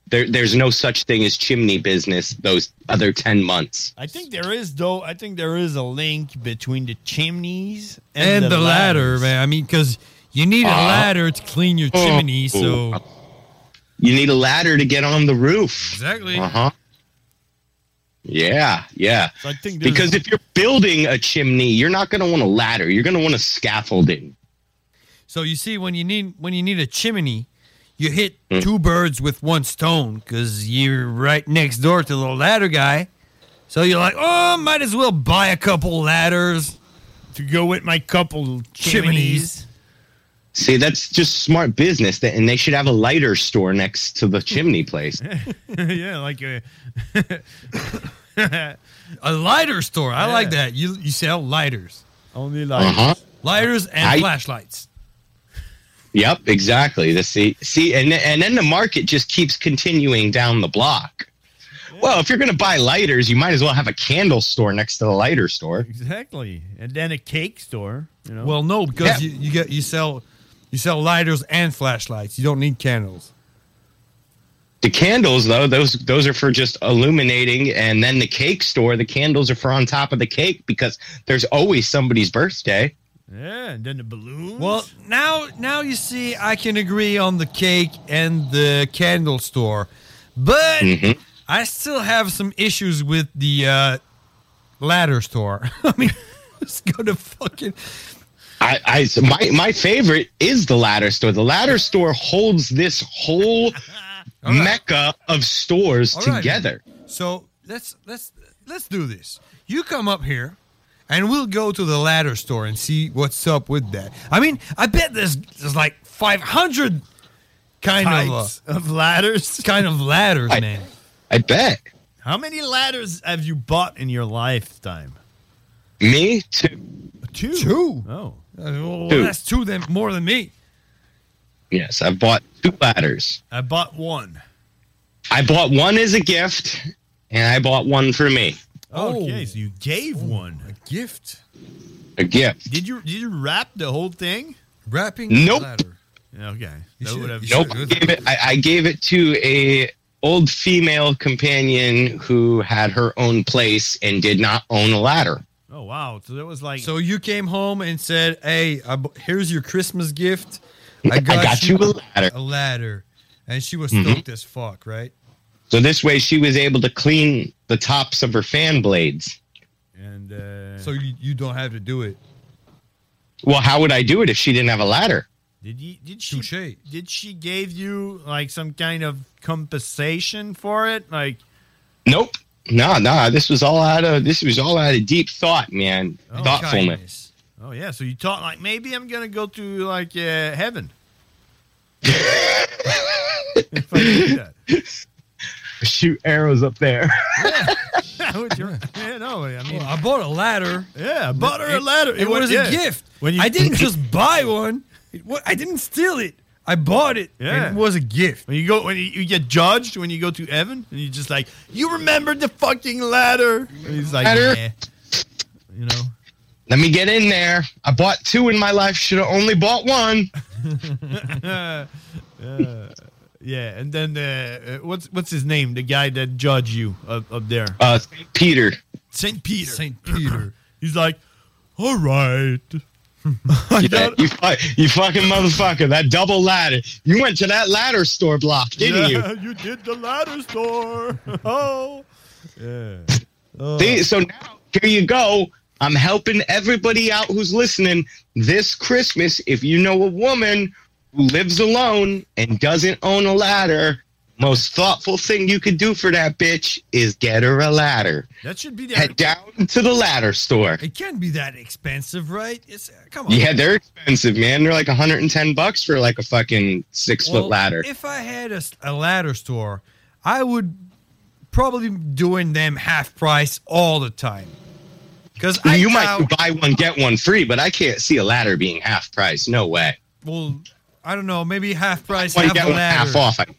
Speaker 6: there, there's no such thing as chimney business those other ten months.
Speaker 10: I think there is, though. I think there is a link between the chimneys and,
Speaker 11: And
Speaker 10: the,
Speaker 11: the ladder,
Speaker 10: ladders.
Speaker 11: man. I mean, because you need a
Speaker 6: Uh,
Speaker 11: ladder to clean your chimney, so...
Speaker 6: You need a ladder to get on the roof.
Speaker 11: Exactly.
Speaker 6: Uh-huh. Yeah, yeah.
Speaker 10: So I think there's-
Speaker 6: because if you're building a chimney, you're not going to want a ladder. You're going to want a scaffolding.
Speaker 11: So you see, when you need when you need a chimney, you hit
Speaker 6: Mm.
Speaker 11: two birds with one stone because you're right next door to the ladder guy. So you're like, oh, might as well buy a couple ladders
Speaker 10: to go with my couple
Speaker 11: chimneys.
Speaker 6: See, that's just smart business, that, and they should have a lighter store next to the chimney place.
Speaker 10: Yeah, like a...
Speaker 11: A lighter store. I
Speaker 10: Yeah.
Speaker 11: like that. You you sell lighters.
Speaker 10: Only lighters.
Speaker 6: Uh-huh.
Speaker 11: Lighters and
Speaker 6: I-
Speaker 11: flashlights.
Speaker 6: Yep, exactly. The see, see, and and then the market just keeps continuing down the block. Well, if you're going to buy lighters, you might as well have a candle store next to the lighter store.
Speaker 10: Exactly. And then a cake store, you know.
Speaker 11: Well, no, because
Speaker 6: Yeah.
Speaker 11: you, you get you sell you sell lighters and flashlights. You don't need candles.
Speaker 6: The candles, though, those those are for just illuminating, and then the cake store, the candles are for on top of the cake because there's always somebody's birthday.
Speaker 10: Yeah, and then the balloons.
Speaker 11: Well, now now you see I can agree on the cake and the candle store, but
Speaker 6: Mhm.
Speaker 11: I still have some issues with the uh, ladder store. I mean, it's gonna fucking.
Speaker 6: I, I so my my favorite is the ladder store. The ladder store holds this whole mecca of stores
Speaker 11: All right,
Speaker 6: together.
Speaker 11: man. So let's let's let's do this. You come up here, and we'll go to the ladder store and see what's up with that. I mean, I bet there's there's like five hundred kind
Speaker 10: Types
Speaker 11: of uh,
Speaker 10: of ladders.
Speaker 11: kind of ladders,
Speaker 6: I-
Speaker 11: man.
Speaker 6: I bet.
Speaker 10: How many ladders have you bought in your lifetime?
Speaker 6: Me too.
Speaker 10: Two.
Speaker 11: Two.
Speaker 10: Oh.
Speaker 11: Uh, well,
Speaker 6: Two.
Speaker 11: that's two than more than me.
Speaker 6: Yes, I've bought two ladders.
Speaker 10: I bought one.
Speaker 6: I bought one as a gift, and I bought one for me.
Speaker 10: Okay, so you gave one.
Speaker 11: A gift.
Speaker 6: A gift.
Speaker 10: Did you did you wrap the whole thing?
Speaker 11: Wrapping
Speaker 6: Nope.
Speaker 11: ladder.
Speaker 10: Okay.
Speaker 11: You
Speaker 10: That
Speaker 11: should-
Speaker 10: would have-
Speaker 11: you
Speaker 6: Nope. I gave it, I, I gave it to a old female companion who had her own place and did not own a ladder.
Speaker 10: Oh wow! So that was like
Speaker 11: So you came home and said, "Hey, I bu- here's your Christmas gift.
Speaker 6: I got you a ladder."
Speaker 11: A ladder," and she was
Speaker 6: Mhm.
Speaker 11: stoked as fuck, right?
Speaker 6: So this way she was able to clean the tops of her fan blades.
Speaker 10: and uh,
Speaker 11: So you, you don't have to do it.
Speaker 6: Well, how would I do it if she didn't have a ladder?
Speaker 10: did you did she
Speaker 11: Touche.
Speaker 10: did she gave you like some kind of compensation for it? Like
Speaker 6: Nope. No, no. This was all out of this was all out of deep thought, man.
Speaker 10: Oh,
Speaker 6: Thoughtfulness.
Speaker 11: Kindness.
Speaker 10: oh yeah, so you thought like maybe I'm gonna go to like uh, heaven. If I do that.
Speaker 6: Shoot arrows up there.
Speaker 10: Would you- yeah, no, I mean,
Speaker 11: Well, I bought a ladder.
Speaker 10: yeah, I bought her a ladder.
Speaker 11: It, was
Speaker 10: yeah.
Speaker 11: a gift.
Speaker 10: When you,
Speaker 11: I didn't just buy one. It, wa- I didn't steal it. I bought it.
Speaker 10: Yeah.
Speaker 11: And it was a gift.
Speaker 10: When you go, when you, you get judged when you go to heaven, and you just like, you remember the fucking ladder? And he's like,
Speaker 6: Ladder?
Speaker 10: yeah. You know.
Speaker 6: Let me get in there. I bought two in my life. Should have only bought one.
Speaker 10: uh, yeah, and then uh, uh, what's what's his name? The guy that judged you up, up there,
Speaker 6: Uh, Saint Peter.
Speaker 10: Saint Peter.
Speaker 11: Saint Peter.
Speaker 10: He's like, all right.
Speaker 6: Yeah, you, fu- you fucking motherfucker. That double ladder. You went to that ladder store block, didn't
Speaker 10: yeah,
Speaker 6: you?
Speaker 10: you did the ladder store. Oh, yeah. Oh.
Speaker 6: See, so now, here you go. I'm helping everybody out who's listening this Christmas. If you know a woman who lives alone and doesn't own a ladder, most thoughtful thing you could do for that bitch is get her a ladder.
Speaker 10: That should be the
Speaker 6: Head down to the ladder store.
Speaker 11: It can't be that expensive, right? It's come on.
Speaker 6: Yeah, they're expensive, man. They're like one hundred ten bucks for like a fucking six
Speaker 11: Well,
Speaker 6: foot ladder.
Speaker 11: If I had a, s- a ladder store, I would probably be doing them half price all the time. Because I
Speaker 6: you
Speaker 11: doubt-
Speaker 6: might buy one get one free, but I can't see a ladder being half price. No way.
Speaker 11: Well, I don't know. Maybe half price,
Speaker 6: One
Speaker 11: half
Speaker 6: get
Speaker 11: a
Speaker 6: one
Speaker 11: ladder.
Speaker 6: half off. I-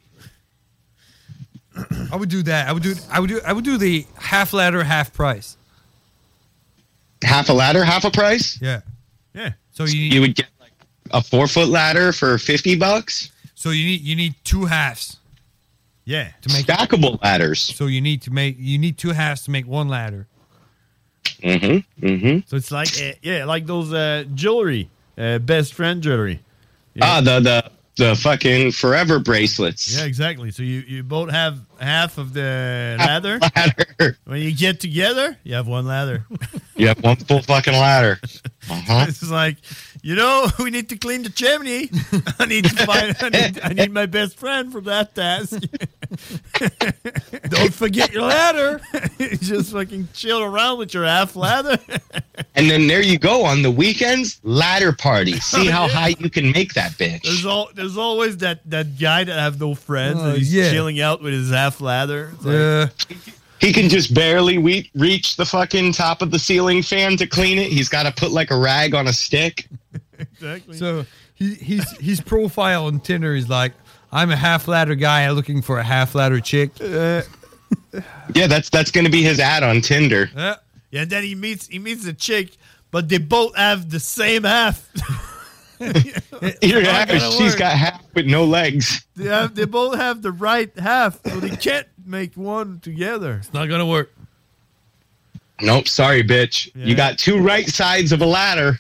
Speaker 11: I would do that. I would do. I would do. I would do the half ladder, half price.
Speaker 6: Half a ladder, half a price.
Speaker 11: Yeah.
Speaker 10: Yeah.
Speaker 11: So you need,
Speaker 6: You would get like a four foot ladder for fifty bucks.
Speaker 11: so you need you need two halves.
Speaker 10: Yeah.
Speaker 11: To make
Speaker 6: stackable ladders.
Speaker 11: So you need to make you need two halves to make one ladder.
Speaker 6: Mm-hmm. Mm-hmm.
Speaker 10: So it's like uh, yeah, like those uh, jewelry, uh, best friend jewelry.
Speaker 6: Ah, the the the fucking forever bracelets.
Speaker 10: Yeah, exactly. So you, you both have half of the
Speaker 6: Half
Speaker 10: ladder.
Speaker 6: ladder.
Speaker 10: When you get together, you have one ladder.
Speaker 6: You have one full fucking ladder. Uh-huh.
Speaker 10: It's like, you know, we need to clean the chimney. I need to find. I need, I need my best friend for that task. Don't forget your ladder. You just fucking chill around with your half ladder.
Speaker 6: And then there you go on the weekends, ladder party. See how high you can make that bitch.
Speaker 10: There's all there's always that, that guy that have no friends
Speaker 6: Oh,
Speaker 10: and he's
Speaker 6: yeah.
Speaker 10: chilling out with his half ladder. It's like,
Speaker 11: Yeah.
Speaker 6: He can just barely we- reach the fucking top of the ceiling fan to clean it. He's got to put like a rag on a stick.
Speaker 10: exactly.
Speaker 11: So he, he's his profile on Tinder is like, I'm a half ladder guy looking for a half ladder chick.
Speaker 10: Uh,
Speaker 6: Yeah, that's that's going to be his ad on Tinder.
Speaker 10: yeah. Yeah, and then he meets he meets a chick, but they both have the same half.
Speaker 6: Your
Speaker 10: not
Speaker 6: half,
Speaker 10: gonna
Speaker 6: she's
Speaker 10: work.
Speaker 6: got half with no legs.
Speaker 10: They have they both have the right half, so they can't make one together.
Speaker 11: It's not gonna work.
Speaker 6: Nope, sorry, bitch.
Speaker 10: Yeah.
Speaker 6: You got two right sides of a ladder.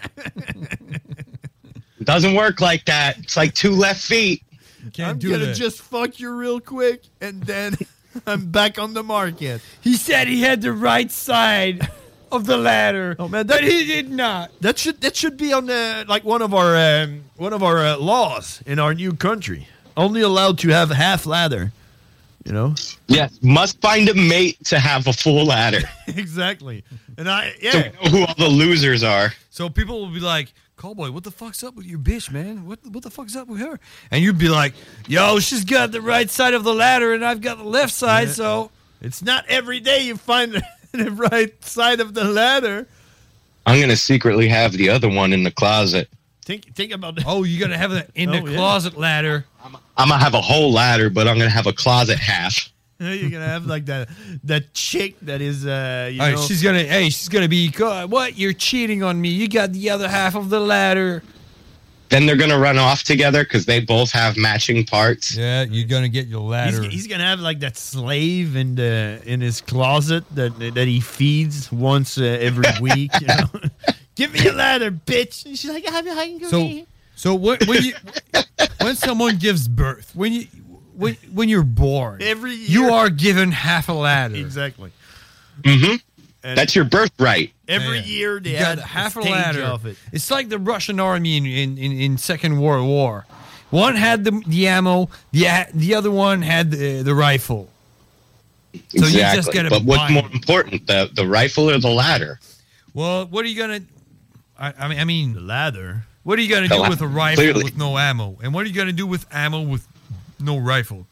Speaker 6: It doesn't work like that. It's like two left feet.
Speaker 11: Can't
Speaker 10: I'm
Speaker 11: do
Speaker 10: gonna
Speaker 11: that.
Speaker 10: just fuck you real quick, and then I'm back on the market.
Speaker 11: He said he had the right side of the ladder,
Speaker 10: Oh man,
Speaker 11: but
Speaker 10: that,
Speaker 11: he did not.
Speaker 10: that should that should be on the like one of our um, one of our uh, laws in our new country. Only allowed to have half ladder. You know.
Speaker 6: Yes, must find a mate to have a full ladder.
Speaker 10: Exactly. And I
Speaker 6: So
Speaker 10: yeah.
Speaker 6: we know who all the losers are.
Speaker 11: So people will be like, Cowboy, what the fuck's up with your bitch, man? What what the fuck's up with her? And you'd be like, yo, she's got the right side of the ladder and I've got the left side,
Speaker 10: Yeah.
Speaker 11: so
Speaker 10: It's not every day you find the, the right side of the ladder.
Speaker 6: I'm going to secretly have the other one in the closet.
Speaker 10: Think think about that.
Speaker 11: oh, you gotta have it in
Speaker 10: Oh,
Speaker 11: the
Speaker 10: yeah.
Speaker 11: closet ladder.
Speaker 6: I'm going to have a whole ladder, but I'm going to have a closet half.
Speaker 10: You're gonna have like that that chick that is uh you
Speaker 11: All right,
Speaker 10: know
Speaker 11: she's gonna hey, she's gonna be "God, what? You're cheating on me. You got the other half of the ladder.
Speaker 6: Then they're going to run off together because they both have matching parts.
Speaker 11: Yeah, you're gonna get your
Speaker 10: he's,
Speaker 11: ladder.
Speaker 10: he's gonna have like that slave in the in his closet that that he feeds once uh, every week. You know? Give me a ladder, bitch. And she's like, I'm hungry.
Speaker 11: So, so when, when you when someone gives birth, when you when when you're born,
Speaker 10: Every year.
Speaker 11: you are given half a ladder.
Speaker 10: Exactly.
Speaker 6: Mm-hmm.
Speaker 10: And
Speaker 6: That's your birthright.
Speaker 10: every
Speaker 11: Yeah.
Speaker 10: year they
Speaker 11: You
Speaker 10: had
Speaker 11: got half a
Speaker 10: stage
Speaker 11: ladder.
Speaker 10: of it.
Speaker 11: It's like the Russian army in in, in, in Second World War. One had the the ammo, the a- the other one had the, the rifle. So you just gotta
Speaker 6: But what's
Speaker 11: buy
Speaker 6: more
Speaker 11: it.
Speaker 6: important, the, the rifle or the ladder?
Speaker 11: Well, what are you gonna? I, I mean, I mean,
Speaker 10: The ladder.
Speaker 11: what are you gonna
Speaker 6: The
Speaker 11: do
Speaker 6: la-
Speaker 11: with a rifle
Speaker 6: clearly.
Speaker 11: with no ammo? And what are you gonna do with ammo with no rifle?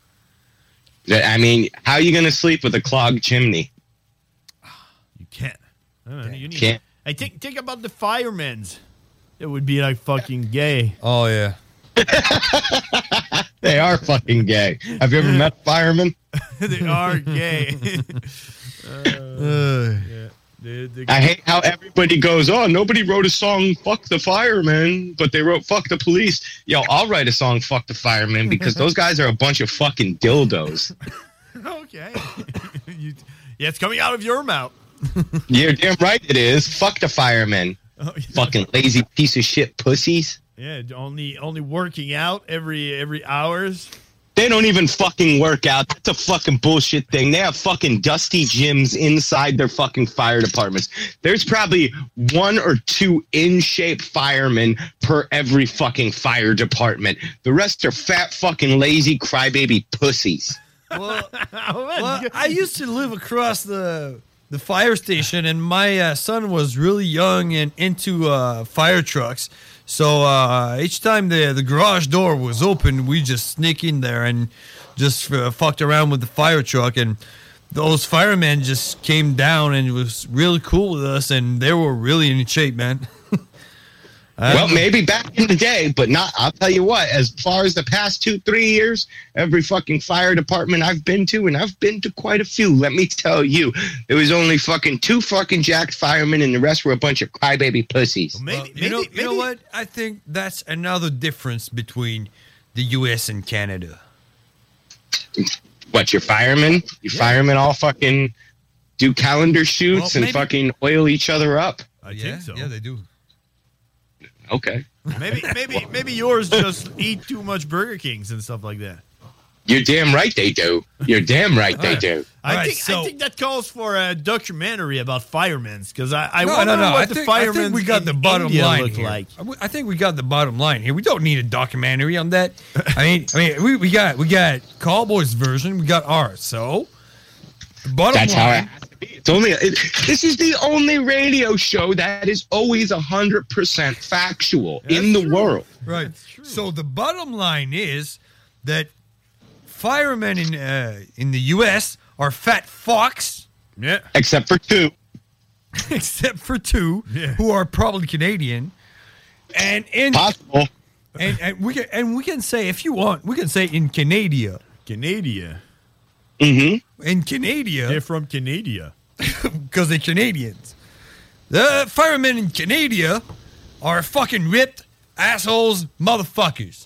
Speaker 6: I mean, how are you going to sleep with a clogged chimney?
Speaker 10: You can't. I don't know, you need,
Speaker 6: Can't.
Speaker 10: I think think about the firemen's. It would be like fucking gay.
Speaker 11: Oh yeah.
Speaker 6: They are fucking gay. Have you ever met a fireman?
Speaker 10: They are gay. Uh, yeah. They- they-
Speaker 6: I hate how everybody goes, oh, nobody wrote a song, fuck the firemen, but they wrote fuck the police. Yo, I'll write a song, fuck the firemen, because those guys are a bunch of fucking dildos.
Speaker 10: Okay. You- yeah, it's coming out of your mouth.
Speaker 6: You're damn right it is. Fuck the firemen.
Speaker 10: Oh, yeah.
Speaker 6: Fucking lazy piece of shit pussies.
Speaker 10: Yeah, only only working out every every hours.
Speaker 6: They don't even fucking work out. That's a fucking bullshit thing. They have fucking dusty gyms inside their fucking fire departments. There's probably one or two in-shape firemen per every fucking fire department. The rest are fat fucking lazy crybaby pussies.
Speaker 11: Well, well, I used to live across the the fire station, and my uh, son was really young and into uh, fire trucks. So uh, each time the the garage door was open, we just sneak in there and just uh, fucked around with the fire truck. And those firemen just came down and it was really cool with us, and they were really in shape, man.
Speaker 6: Well, maybe back in the day, but not. I'll tell you what, as far as the past two, three years, every fucking fire department I've been to, and I've been to quite a few, let me tell you, there was only fucking two fucking jacked firemen, and the rest were a bunch of crybaby pussies.
Speaker 10: Maybe,
Speaker 11: you know, you know what? I think that's another difference between the U S and Canada.
Speaker 6: What, your firemen? Your firemen all fucking do calendar shoots
Speaker 11: Well,
Speaker 6: and
Speaker 11: maybe-
Speaker 6: fucking oil each other up?
Speaker 10: I
Speaker 11: yeah,
Speaker 10: think so.
Speaker 11: Yeah, they do.
Speaker 6: Okay.
Speaker 10: Maybe, maybe, maybe yours just eat too much Burger Kings and stuff like that.
Speaker 6: You're damn right they do. You're damn right they do.
Speaker 10: I
Speaker 11: All
Speaker 10: think
Speaker 11: right, so-
Speaker 10: I think that calls for a documentary about firemen because I, I
Speaker 11: no,
Speaker 10: wonder
Speaker 11: no, no.
Speaker 10: what
Speaker 11: I
Speaker 10: the
Speaker 11: think, I
Speaker 10: firemen
Speaker 11: think we got
Speaker 10: in
Speaker 11: the bottom
Speaker 10: India
Speaker 11: line
Speaker 10: look
Speaker 11: here.
Speaker 10: like.
Speaker 11: I w- I think we got the bottom line here. We don't need a documentary on that. I mean, I mean, we, we got we got Cowboys version. We got ours. So the bottom
Speaker 6: That's how it
Speaker 11: line.
Speaker 6: has to be. It's only it, this is the only radio show that is always a hundred percent factual in the world.
Speaker 11: Right. So the bottom line is that firemen in uh, in the U S are fat fucks.
Speaker 10: Yeah.
Speaker 6: Except for two.
Speaker 11: Except for two
Speaker 10: Yeah.
Speaker 11: who are probably Canadian. And in
Speaker 6: Possible.
Speaker 11: and, and we can and we can say if you want, we can say in Canada.
Speaker 10: Canada.
Speaker 6: Mm-hmm.
Speaker 11: In Canada.
Speaker 10: They're from Canada.
Speaker 11: Because they're Canadians. The firemen in Canada are fucking ripped assholes motherfuckers.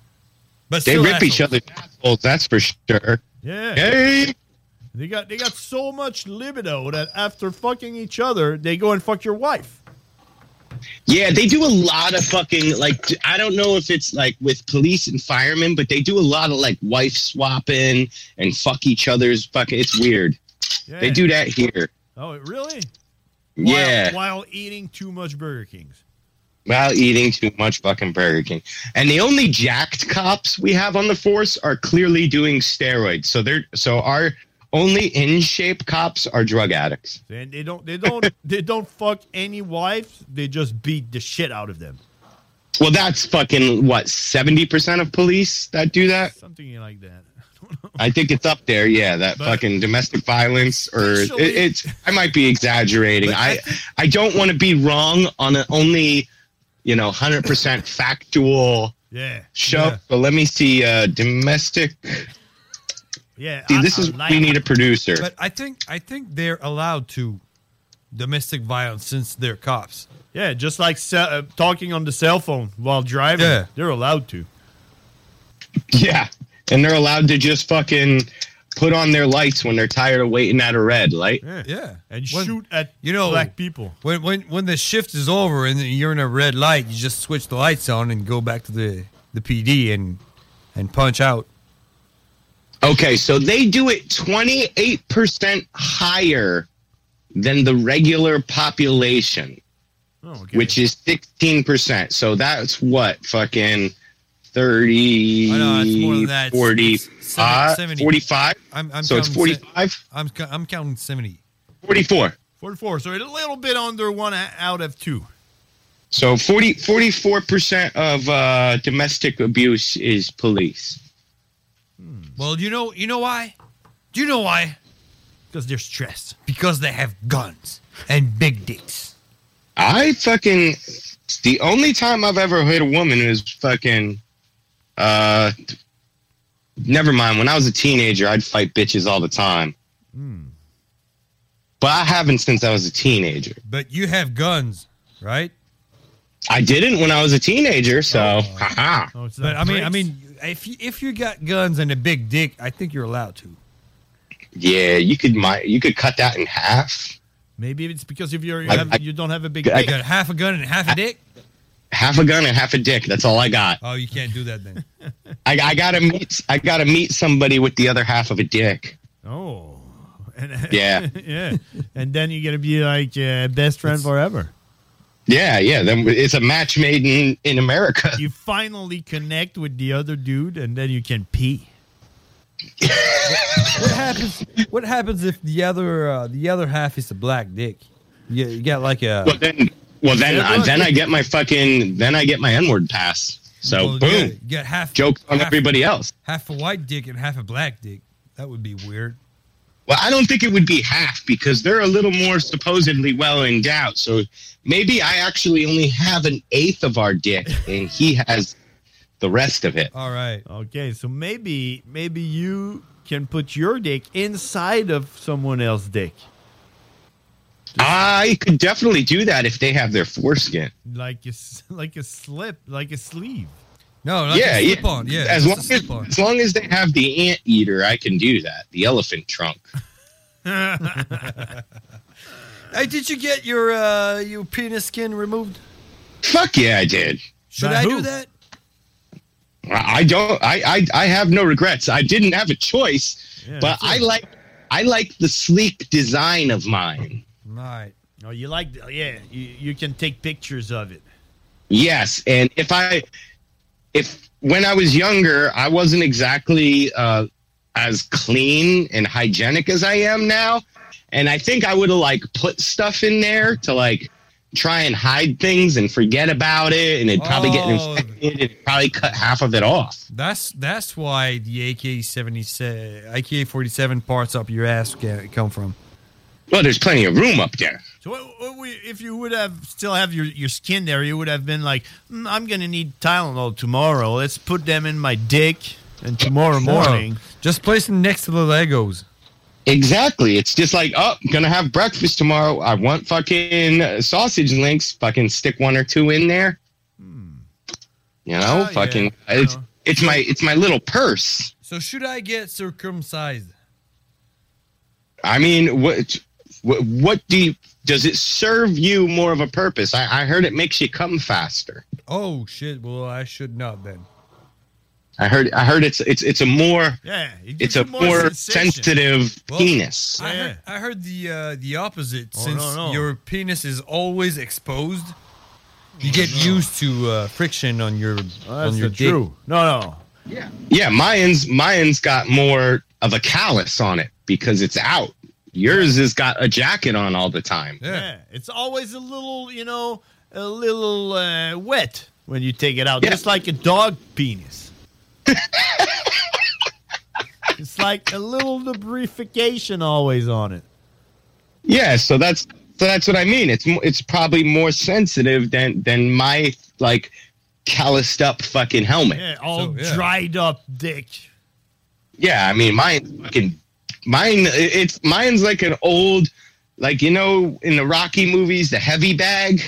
Speaker 11: But
Speaker 6: They
Speaker 11: still
Speaker 6: rip each
Speaker 11: assholes.
Speaker 6: other's assholes, that's for sure.
Speaker 10: Yeah.
Speaker 6: Hey.
Speaker 10: They got they got so much libido that after fucking each other, they go and fuck your wife.
Speaker 6: Yeah, they do a lot of fucking, like, I don't know if it's like with police and firemen, but they do a lot of like wife swapping and fuck each other's fucking, it's weird.
Speaker 10: Yeah.
Speaker 6: They do that here.
Speaker 10: Oh, really?
Speaker 6: Yeah.
Speaker 10: While, while eating too much Burger Kings.
Speaker 6: While eating too much fucking Burger King. And the only jacked cops we have on the force are clearly doing steroids. So they're, so our only in shape cops are drug addicts.
Speaker 10: And they don't they don't they don't fuck any wives. They just beat the shit out of them.
Speaker 6: Well, that's fucking, what, seventy percent of police that do that?
Speaker 10: Something like that.
Speaker 6: I think it's up there, yeah. That
Speaker 10: But-
Speaker 6: fucking domestic violence, or it,
Speaker 10: Especially-
Speaker 6: it's. I might be exaggerating.
Speaker 10: But I
Speaker 6: I I don't want to be wrong on an only, you know, hundred percent factual
Speaker 10: Yeah.
Speaker 6: show.
Speaker 11: Yeah.
Speaker 6: But let me see. Uh, domestic.
Speaker 10: Yeah.
Speaker 6: See,
Speaker 10: I-
Speaker 6: this
Speaker 10: I
Speaker 6: is
Speaker 10: like
Speaker 6: we
Speaker 10: it.
Speaker 6: need a producer.
Speaker 11: But I think I think they're allowed to domestic violence since they're cops.
Speaker 10: Yeah, just like ce- uh, talking on the cell phone while driving.
Speaker 11: Yeah.
Speaker 10: They're allowed to.
Speaker 6: Yeah, and they're allowed to just fucking put on their lights when they're tired of waiting at a red light.
Speaker 10: Yeah.
Speaker 11: Yeah.
Speaker 10: And
Speaker 11: When-
Speaker 10: shoot at
Speaker 11: you know,
Speaker 10: black people.
Speaker 11: When when when the shift is over and you're in a red light, you just switch the lights on and go back to the, the P D and and punch out.
Speaker 6: Okay, so they do it twenty-eight percent higher than the regular population,
Speaker 10: Oh, okay.
Speaker 6: which is sixteen percent. So that's what, fucking thirty,
Speaker 11: I know, it's more than that. It's-
Speaker 6: forty,
Speaker 11: it's seventy- seventy.
Speaker 6: forty-five?
Speaker 11: I'm, I'm
Speaker 6: So it's
Speaker 11: counting se-
Speaker 6: forty-five?
Speaker 11: I'm co- I'm counting seventy.
Speaker 6: forty-four.
Speaker 10: forty-four. So a little bit under one a- out of two.
Speaker 6: So forty, forty-four percent of uh, domestic abuse is police.
Speaker 11: Well, you know you know why? Do you know why?
Speaker 10: Because they're stressed.
Speaker 11: Because they have guns and big dicks.
Speaker 6: I fucking, the only time I've ever hit a woman is fucking, uh, never mind. When I was a teenager, I'd fight bitches all the time. But I haven't since I was a teenager.
Speaker 11: But you have guns, right?
Speaker 6: I didn't when I was a teenager, so, haha.
Speaker 10: Oh, it's
Speaker 11: But
Speaker 10: not
Speaker 11: I mean, I
Speaker 10: bricks?
Speaker 11: mean, if you, if you got guns and a big dick, I think you're allowed to.
Speaker 6: Yeah, you could, my, you could cut that in half.
Speaker 10: Maybe it's because if you're, you,
Speaker 6: I-
Speaker 10: have,
Speaker 6: I-
Speaker 10: you don't have a big
Speaker 6: I
Speaker 10: dick.
Speaker 11: You got half a gun and half a dick?
Speaker 6: Half a gun and half a dick. That's all I got.
Speaker 11: Oh, you can't do that then.
Speaker 6: I, I gotta meet, I gotta meet somebody with the other half of a dick.
Speaker 10: Oh. And,
Speaker 6: Yeah.
Speaker 10: yeah. And then you're going to be like uh, best friend forever.
Speaker 6: Yeah, yeah. Then it's a match made in, in America.
Speaker 10: You finally connect with the other dude and then you can pee.
Speaker 11: What happens? What happens if the other uh, the other half is a black dick? You, you got like a
Speaker 6: Well then, well then,
Speaker 11: Yeah,
Speaker 6: I,
Speaker 11: look.
Speaker 6: then I get my fucking, then I get my N-word pass. So
Speaker 11: well, you
Speaker 6: boom,
Speaker 11: got- You got half
Speaker 6: jokes on
Speaker 11: half-
Speaker 6: everybody else.
Speaker 11: half a white dick and half a black dick. That would be weird.
Speaker 6: Well, I don't think it would be half because they're a little more supposedly well endowed. So maybe I actually only have an eighth of our dick, and he has the rest of it.
Speaker 11: All right.
Speaker 10: Okay, so maybe maybe you can put your dick inside of someone else's dick.
Speaker 6: I could definitely do that if they have their foreskin.
Speaker 10: Like a, s- like a slip, like a sleeve.
Speaker 11: No, not
Speaker 6: yeah,
Speaker 11: the
Speaker 6: yeah.
Speaker 11: slip-on. Yeah,
Speaker 6: as long
Speaker 11: just
Speaker 6: as,
Speaker 11: a slip-on.
Speaker 6: as long as they have the anteater, I can do that. The elephant trunk.
Speaker 11: Hey, did you get your uh, your penis skin removed?
Speaker 6: Fuck yeah, I did.
Speaker 11: Should I do that?
Speaker 6: I don't. I, I I have no regrets. I didn't have a choice,
Speaker 10: Yeah,
Speaker 6: but
Speaker 10: that's
Speaker 6: I
Speaker 10: it.
Speaker 6: like I like the sleek design of mine.
Speaker 11: Right.
Speaker 10: Oh, you like? Yeah, you, you can take pictures of it.
Speaker 6: Yes, and if I if when I was younger, I wasn't exactly uh, as clean and hygienic as I am now, and I think I would have like put stuff in there to like try and hide things and forget about it, and it'd probably get
Speaker 11: Oh.
Speaker 6: infected. It'd probably cut half of it off.
Speaker 11: That's that's why the A K seventy-seven, A K forty-seven parts up your ass ca- come from.
Speaker 6: Well, there's plenty of room up there.
Speaker 10: So what, what we, if you would have still have your, your skin there, you would have been like, mm, I'm gonna need Tylenol tomorrow. Let's put them in my dick, and tomorrow morning,
Speaker 11: just place them next to the Legos.
Speaker 6: Exactly. It's just like, oh, gonna have breakfast tomorrow. I want fucking uh, sausage links. Fucking stick one or two in there. You know,
Speaker 11: Oh,
Speaker 6: fucking.
Speaker 11: yeah.
Speaker 6: It's it's my it's my little purse.
Speaker 11: So should I get circumcised?
Speaker 6: I mean, what what, what do you, does it serve you more of a purpose? I, I heard it makes you come faster.
Speaker 11: Oh shit! Well, I should not then.
Speaker 6: I heard I heard it's it's it's a more
Speaker 10: yeah,
Speaker 6: it's a
Speaker 10: more
Speaker 6: more,
Speaker 10: sensation.
Speaker 6: sensitive
Speaker 11: Well,
Speaker 6: penis.
Speaker 11: I heard, I heard the uh, the opposite.
Speaker 10: Oh,
Speaker 11: Since
Speaker 10: no, no.
Speaker 11: your penis is always exposed, you get used to uh, friction on your on
Speaker 10: that's
Speaker 11: your
Speaker 10: the
Speaker 11: dick.
Speaker 10: true. No, no.
Speaker 6: Yeah, yeah. Mine's mine's got more of a callus on it because it's out. Yours has got a jacket on all the time.
Speaker 10: Yeah. It's always a little, you know, a little uh, wet when you take it out, just like a dog penis. It's like a little lubrification always on it.
Speaker 6: Yeah, so that's so that's what I mean. It's mo- it's probably more sensitive than than my like calloused up fucking helmet.
Speaker 10: Yeah, all dried up dick.
Speaker 6: Yeah, I mean mine fucking mine. It's mine's like an old, like you know in the Rocky movies, the heavy bag.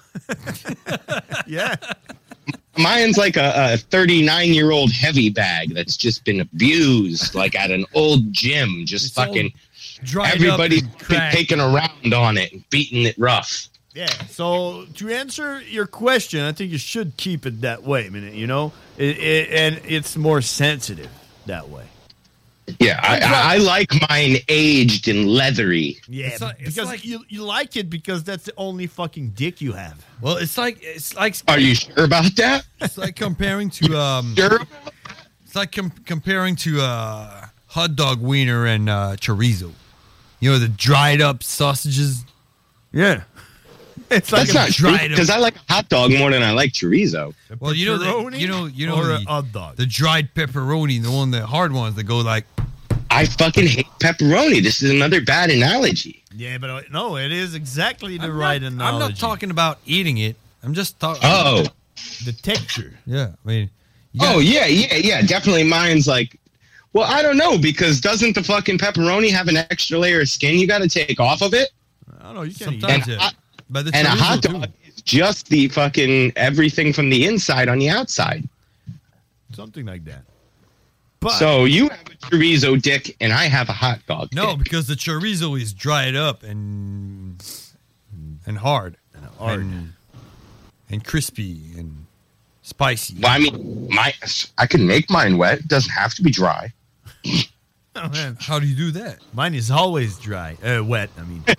Speaker 10: Yeah.
Speaker 6: Mine's like a, a thirty-nine-year-old heavy bag that's just been abused, like at an old gym. Just fucking
Speaker 10: dried up
Speaker 6: everybody's
Speaker 10: and
Speaker 6: been
Speaker 10: cracked.
Speaker 6: taking around on it and beating it rough.
Speaker 10: Yeah. So to answer your question, I think you should keep it that way. I mean, you know, it, it, and it's more sensitive that way.
Speaker 6: Yeah, I, I, I like mine aged and leathery.
Speaker 10: Yeah,
Speaker 11: It's like- it's
Speaker 10: because
Speaker 11: like-
Speaker 10: you you like it because that's the only fucking dick you have.
Speaker 11: Well, it's like it's like.
Speaker 6: Are you sure about that?
Speaker 11: It's like comparing to um.
Speaker 6: Sure.
Speaker 11: It's like com- comparing to uh, hot dog wiener and uh, chorizo. You know the dried up sausages.
Speaker 10: Yeah, it's
Speaker 6: That's not true because I like a hot dog more than I like chorizo.
Speaker 11: Well, you know, the,
Speaker 10: pepperoni
Speaker 11: you know, you know,
Speaker 10: or
Speaker 11: the,
Speaker 10: a hot dog?
Speaker 11: the dried pepperoni, the one, the hard ones that go like.
Speaker 6: I fucking hate pepperoni. This is another bad analogy.
Speaker 10: Yeah, but uh, no, it is exactly the right
Speaker 11: I'm
Speaker 10: analogy.
Speaker 11: not talking about eating it. I'm just talking.
Speaker 6: Oh.
Speaker 10: the texture.
Speaker 11: Yeah, I mean.
Speaker 6: Oh yeah, yeah, yeah. Definitely, mine's like. Well, I don't know because doesn't the fucking pepperoni have an extra layer of skin you got to take off of it?
Speaker 10: I don't know. You can eat
Speaker 11: Sometimes,
Speaker 10: it.
Speaker 11: yeah. But the
Speaker 6: And a
Speaker 11: chorizo
Speaker 6: hot
Speaker 11: too.
Speaker 6: dog is just the fucking everything from the inside on the outside.
Speaker 10: Something like that. But
Speaker 6: So you have a chorizo dick and I have a hot dog.
Speaker 11: No,
Speaker 6: dick.
Speaker 11: because the chorizo is dried up and and hard and
Speaker 10: hard.
Speaker 11: and, and crispy and spicy.
Speaker 6: Well, I mean, my I can make mine wet. It doesn't have to be dry.
Speaker 10: Oh, man.
Speaker 11: How do you do that?
Speaker 10: Mine is always dry, uh, wet. I mean.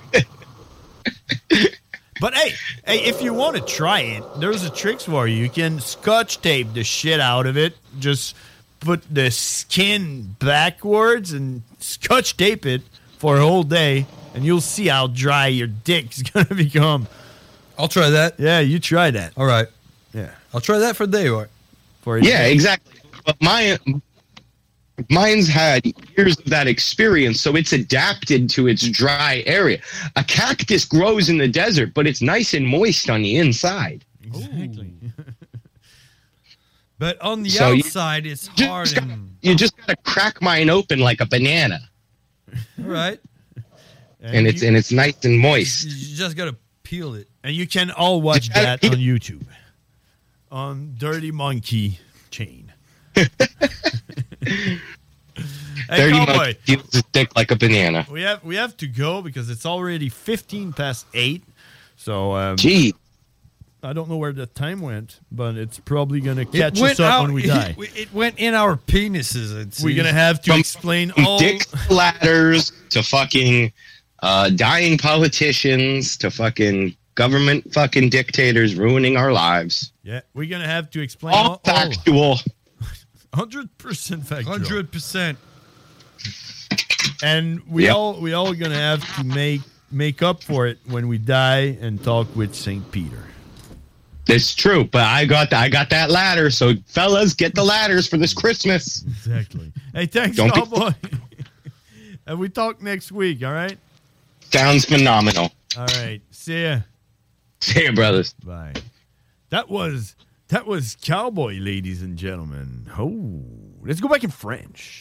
Speaker 10: But hey, hey, if you want to try it, there's a tricks for you. You can scotch tape the shit out of it. Just put the skin backwards and scotch tape it for a whole day, and you'll see how dry your dick's gonna become.
Speaker 11: I'll try that.
Speaker 10: Yeah, you try that.
Speaker 11: All right.
Speaker 10: Yeah,
Speaker 11: I'll try that for a day. Or
Speaker 10: for a
Speaker 6: Yeah,
Speaker 10: day.
Speaker 6: exactly. But mine, mine's had years of that experience, so it's adapted to its dry area. A cactus grows in the desert, but it's nice and moist on the inside.
Speaker 10: Exactly.
Speaker 11: But on the
Speaker 6: So you-
Speaker 11: outside, it's
Speaker 6: Just
Speaker 11: hard
Speaker 6: gotta-
Speaker 11: and
Speaker 6: you just gotta crack mine open like a banana,
Speaker 11: all right.
Speaker 6: and it's
Speaker 10: you,
Speaker 6: and it's nice and moist.
Speaker 11: You just gotta peel it.
Speaker 10: and you can all watch
Speaker 6: Just gotta
Speaker 10: that
Speaker 6: keep
Speaker 10: on YouTube. On Dirty Monkey. chain.
Speaker 6: Dirty
Speaker 10: Cowboy.
Speaker 6: monkey feels his dick like a banana.
Speaker 10: We have we have to go because it's already fifteen past eight. So, um,
Speaker 6: Gee.
Speaker 10: I don't know where the time went, but it's probably going to
Speaker 11: It
Speaker 10: catch us
Speaker 11: went
Speaker 10: up
Speaker 11: out-
Speaker 10: when we die.
Speaker 11: It, it went in our penises. It
Speaker 10: We're going to
Speaker 11: seems.
Speaker 10: have to
Speaker 6: From-
Speaker 10: explain
Speaker 6: From
Speaker 10: all...
Speaker 6: dick ladders to fucking uh, dying politicians to fucking government fucking dictators ruining our lives.
Speaker 10: Yeah, we're going to have to explain
Speaker 6: All
Speaker 10: all...
Speaker 6: factual.
Speaker 10: one hundred percent factual.
Speaker 11: one hundred percent.
Speaker 10: And we
Speaker 6: Yep.
Speaker 10: all we all going to have to make make up for it when we die and talk with Saint Peter.
Speaker 6: It's true, but I got I got that ladder, so fellas, get the ladders for this Christmas.
Speaker 10: Exactly. Hey, thanks,
Speaker 6: Don't be-
Speaker 10: Cowboy. And we talk next week, all right?
Speaker 6: Sounds phenomenal.
Speaker 10: All right. See ya.
Speaker 6: See ya, brothers.
Speaker 10: Bye. That was that was Cowboy, ladies and gentlemen. Oh, let's go back in French.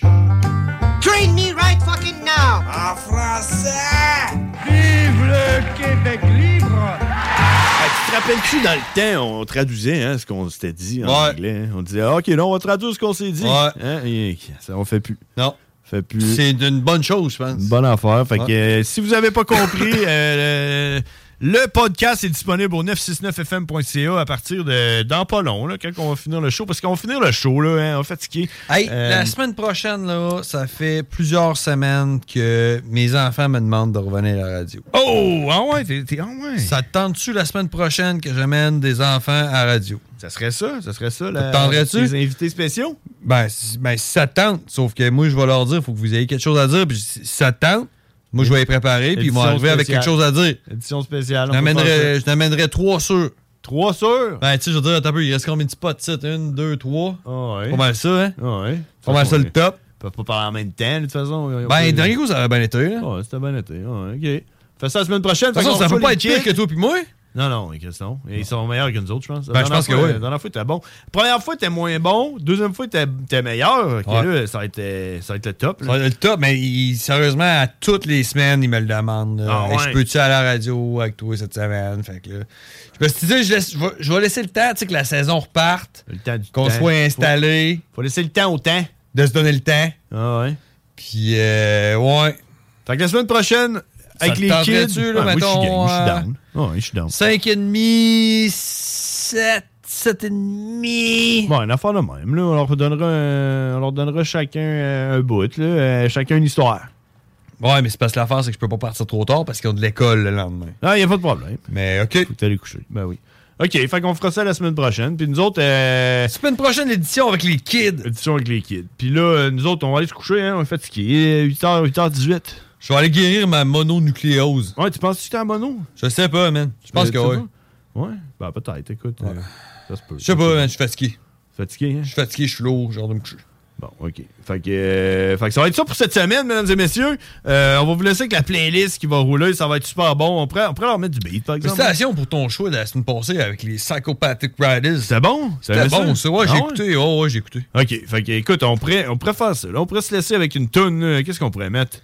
Speaker 4: Train me right fucking now! En français!
Speaker 10: Vive le Québec libre! Tu te rappelles-tu, dans le temps, on traduisait hein, ce qu'on s'était dit en
Speaker 11: Ouais.
Speaker 10: anglais. Hein? On disait, ah, OK, non, on va traduire ce qu'on s'est dit.
Speaker 11: Ouais.
Speaker 10: Hein? Et ça, on fait plus.
Speaker 11: Non.
Speaker 10: Fait plus.
Speaker 11: C'est une bonne chose, je pense.
Speaker 10: Une bonne affaire. Fait
Speaker 11: Ouais.
Speaker 10: que euh, si vous n'avez pas compris, euh, le, le podcast est disponible au neuf cent soixante-neuf F M point C A à partir de dans pas long, là, quand on va finir le show. Parce qu'on va finir le show, là, hein, on est fatigué.
Speaker 11: Hey,
Speaker 10: Euh,
Speaker 11: la semaine prochaine, là, ça fait plusieurs semaines que mes enfants me demandent de revenir à la radio.
Speaker 10: Oh! Ah ouais, t'es, t'es- ah ouais.
Speaker 11: Ça te tente-tu la semaine prochaine que j'amène des enfants à la radio?
Speaker 10: Ça serait ça, ça serait ça.
Speaker 11: Ça
Speaker 10: La,
Speaker 11: te tenterait-tu?
Speaker 10: Les invités spéciaux?
Speaker 11: Ben, si, ben, si ça te tente, sauf que moi, je vais leur dire, il faut que vous ayez quelque chose à dire, puis si ça te tente, moi, je vais les préparer, puis ils vont
Speaker 10: Édition
Speaker 11: arriver avec
Speaker 10: spéciale.
Speaker 11: quelque chose à dire.
Speaker 10: Édition spéciale. on
Speaker 11: Je
Speaker 10: peut faire
Speaker 11: n'amènerais
Speaker 10: ça.
Speaker 11: je n'amènerais trois sûrs.
Speaker 10: Trois sûrs?
Speaker 11: Ben, tu sais, je veux dire, attends un peu, il reste combien de spots, tu sais? Une, deux, trois.
Speaker 10: Ah ouais.
Speaker 11: Pas mal ça, hein?
Speaker 10: Ah ouais.
Speaker 11: Pas mal ça, le top.
Speaker 10: Ils peuvent pas parler en même temps, de toute façon.
Speaker 11: Ben, dernier coup, ça avait bien été, là.
Speaker 10: Ouais, c'était bien été. Ouais, OK. Fais ça la semaine prochaine.
Speaker 11: De toute façon, ça peut pas être pire que toi puis moi.
Speaker 10: Non, non, les questions. Ils sont meilleurs que nous autres, je pense. La
Speaker 11: Ben, je
Speaker 10: dernière
Speaker 11: pense que
Speaker 10: fois,
Speaker 11: oui.
Speaker 10: La dernière fois, t'es bon. Première fois, t'es moins bon. Deuxième fois, t'es, t'es meilleur. OK,
Speaker 11: Ouais.
Speaker 10: là, ça va être, euh, ça va être le top.
Speaker 11: Ça
Speaker 10: là.
Speaker 11: va être le top, mais il- sérieusement, à toutes les semaines, il me le demande. là.
Speaker 10: Ah
Speaker 11: Hey,
Speaker 10: ouais.
Speaker 11: Je peux-tu aller à la radio avec toi cette semaine? Fait que là, je me suis dit, je, laisse- je vais, je vais laisser le temps, tu sais, que la saison reparte,
Speaker 10: Le temps du
Speaker 11: qu'on
Speaker 10: temps.
Speaker 11: soit installé,
Speaker 10: Faut, faut laisser le temps au temps.
Speaker 11: de se donner le temps.
Speaker 10: Ah ouais.
Speaker 11: Puis, euh, ouais.
Speaker 10: Fait que la semaine prochaine, avec
Speaker 11: te
Speaker 10: les
Speaker 11: tenterait-tu,
Speaker 10: kids...
Speaker 11: là,
Speaker 10: Ah, moi, je suis
Speaker 11: mettons,
Speaker 10: game, je suis
Speaker 11: euh,
Speaker 10: down. Ah ouais, je suis down.
Speaker 11: cinq et demi, sept, sept et demi.
Speaker 10: Bon, une affaire de même. Là. On, leur donnera un- on leur donnera chacun euh, un bout, là, euh, chacun une histoire.
Speaker 11: Ouais, mais c'est parce que l'affaire, c'est que je peux pas partir trop tard parce qu'ils ont de l'école le lendemain.
Speaker 10: Ah, il n'y a pas de problème.
Speaker 11: Mais OK.
Speaker 10: Faut aller coucher. Ben oui. OK, fait qu'on fera ça la semaine prochaine. Puis nous autres... Euh,
Speaker 11: semaine prochaine, l'édition avec les kids.
Speaker 10: Édition avec les kids. Puis là, euh, nous autres, on va aller se coucher, hein. On est fatigués. huit heures, huit heures dix-huit.
Speaker 11: Je vais aller guérir ma mononucléose.
Speaker 10: Ouais, tu penses que tu t'es en mono?
Speaker 11: Je sais pas, man. Je pense
Speaker 10: Euh,
Speaker 11: que
Speaker 10: tu sais
Speaker 11: oui.
Speaker 10: pas? Ouais? Ben peut-être, écoute.
Speaker 11: Ouais.
Speaker 10: euh, ça se peut.
Speaker 11: Je sais pas, man. Je suis fatigué.
Speaker 10: Fatigué, hein?
Speaker 11: Je suis fatigué, je suis lourd, j'ai hâte de me coucher.
Speaker 10: Bon, OK. Fait que, euh, fait que ça va être ça pour cette semaine, mesdames et messieurs. Euh, on va vous laisser avec la playlist qui va rouler. Ça va être super bon. On pourrait, on pourrait leur mettre du beat, par exemple.
Speaker 11: Félicitations pour ton choix de la semaine passée avec les Psychopathic Riders.
Speaker 10: C'était bon?
Speaker 11: C'était bon, ça. Ouais,
Speaker 10: Ah
Speaker 11: j'ai
Speaker 10: ouais?
Speaker 11: écouté. Oh, ouais, j'ai écouté.
Speaker 10: OK. Fait que, écoute, on pourrait, on pourrait faire ça. Là. On pourrait se laisser avec une toune. là. Qu'est-ce qu'on pourrait mettre?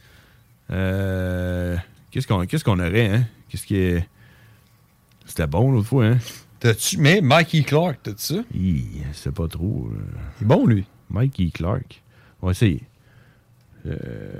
Speaker 10: Euh, qu'est-ce qu'on qu'est-ce qu'on aurait, hein? Qu'est-ce qui est... C'était bon l'autre fois, hein?
Speaker 11: T'as-tu... Mais Mikey Clark, t'as-tu ça?
Speaker 10: Hi, c'est pas trop... euh,
Speaker 11: Il est bon, lui.
Speaker 10: Mikey Clark. On va essayer. Euh...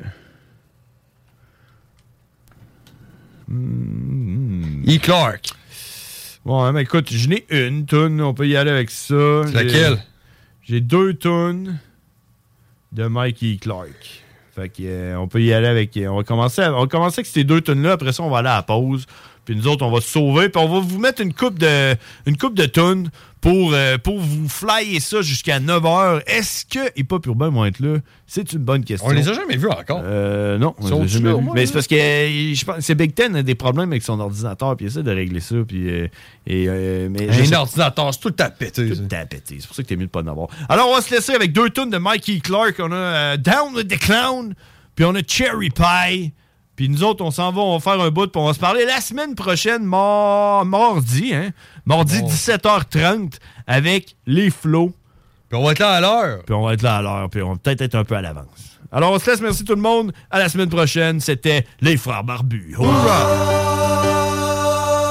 Speaker 10: Mm,
Speaker 11: E. Clark.
Speaker 10: Bon, mais écoute, je n'ai une toune. On peut y aller avec ça.
Speaker 11: C'est
Speaker 10: J'ai-
Speaker 11: laquelle?
Speaker 10: J'ai deux tunes de Mikey Clark. Fait que, euh, on peut y aller avec... On va commencer, à- on va commencer avec ces deux tunes-là. Après ça, on va aller à la pause. Puis nous autres, on va se sauver. Puis on va vous mettre une coupe de, une coupe de tunes pour, euh, pour vous flyer ça jusqu'à neuf heures. Est-ce que Hip Hop Urbain vont être là? C'est une bonne question.
Speaker 11: On les a jamais vus encore.
Speaker 10: Euh, non, on
Speaker 11: Sont-ils
Speaker 10: les a jamais
Speaker 11: là, au
Speaker 10: vus.
Speaker 11: moins,
Speaker 10: Mais
Speaker 11: là?
Speaker 10: c'est parce que euh, je pense c'est Big Ten a des problèmes avec son ordinateur. Puis il essaie de régler ça. Puis, euh, et, euh, mais je
Speaker 11: Un
Speaker 10: sais-
Speaker 11: ordinateur, c'est tout le temps pété.
Speaker 10: tout
Speaker 11: ça.
Speaker 10: le temps pété. C'est pour ça que t'es mieux de pas en avoir. Alors, on va se laisser avec deux tunes de Mikey Clark. On a euh, Down with the Clown, puis on a Cherry Pie. Puis nous autres, on s'en va, on va faire un bout, puis on va se parler la semaine prochaine, mar- mardi, hein? Mardi,
Speaker 11: Oh.
Speaker 10: dix-sept heures trente, avec les flots.
Speaker 11: Puis on va être là à l'heure.
Speaker 10: Puis on va être là à l'heure, puis on va peut-être être un peu à l'avance. Alors, on se laisse. Merci tout le monde. À la semaine prochaine. C'était les Frères Barbus. Hourra!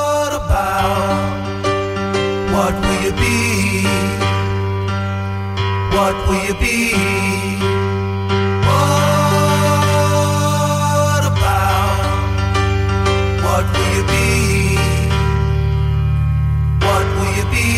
Speaker 4: What will you be?
Speaker 9: What will you be? What about? What will you be? What will you be?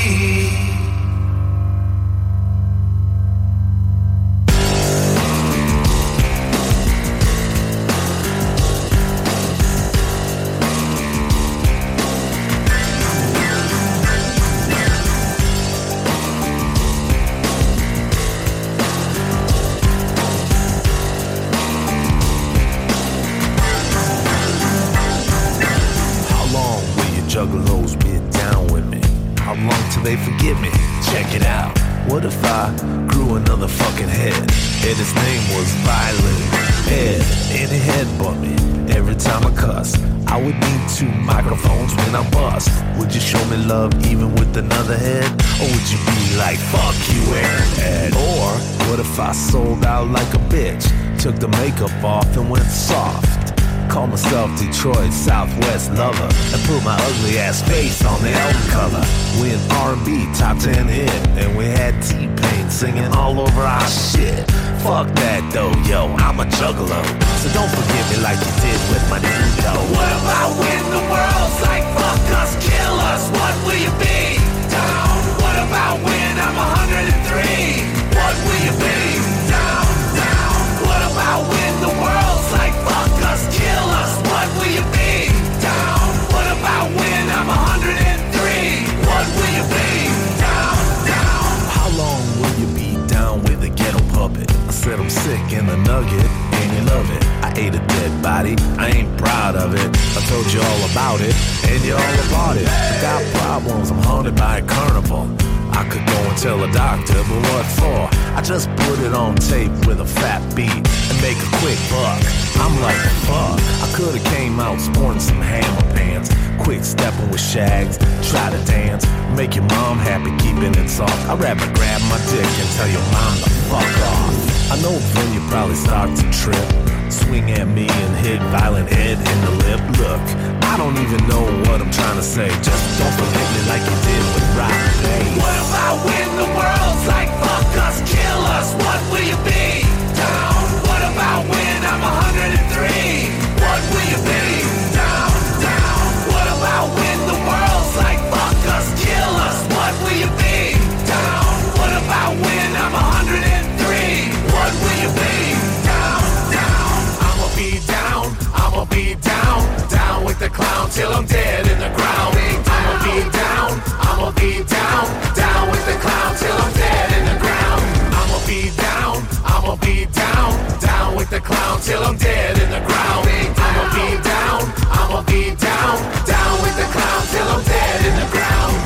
Speaker 7: Juggalos get down with me. How long till they forget me? Check it out. What if I grew another fucking head? And his name was Violent Head. And he headbutt me every time I cuss. I would need two microphones when I bust. Would you show me love even with another head? Or would you be like, fuck you, Ed? Or what if I sold out like a bitch? Took the makeup off and went soft. Call myself Detroit Southwest lover and put my ugly ass face on the album cover. We an R and B top ten hit, and we had T-Pain singing all over our shit. Fuck that though, yo, I'm a juggalo. So don't forget me like you did with my new dough.
Speaker 9: What about when the world's like fuck us, kill us? What will you be? Down. What about when I'm one hundred three? What will you be? Down, down. What about when the world's like fuck us, kill us? What will you be? Down. What about when I'm one hundred three? What will you be? Down, down.
Speaker 7: How long will you be down with a ghetto puppet? I said I'm sick in the nugget, and you love it. I ate a dead body, I ain't proud of it. I told you all about it, and you're all about it. I got problems, I'm haunted by a carnival. I could go and tell a doctor, but what for? I just put it on tape with a fat beat and make a quick buck. I'm like, fuck, I could've came out sporting some hammer pants, quick stepping with shags, try to dance, make your mom happy, keeping it soft. I'd rather grab my dick and tell your mom to fuck off. I know then you probably start to trip, swing at me and hit Violent Head in the lip. Look, I don't even know what I'm trying to say. Just don't forget me like you did with Rock Bass.
Speaker 9: What about when the world's like fuck us, kill us? What will you be? Down. What about when I'm one hundred three? What will you be? Down, down. What about when the world's like fuck us, kill us? What will you be? Down. What about when I'm one hundred three? What will you be? Down, down. I'ma be down, I'ma be down, down with the clown till I'm dead in the ground. I'ma be down, I'ma be down, down with the clown till I'm dead in the ground. I'ma be down, I'ma be down, down with the clown till I'm dead in the ground. I'ma be down, I'ma be down, down with the clown till I'm dead in the ground.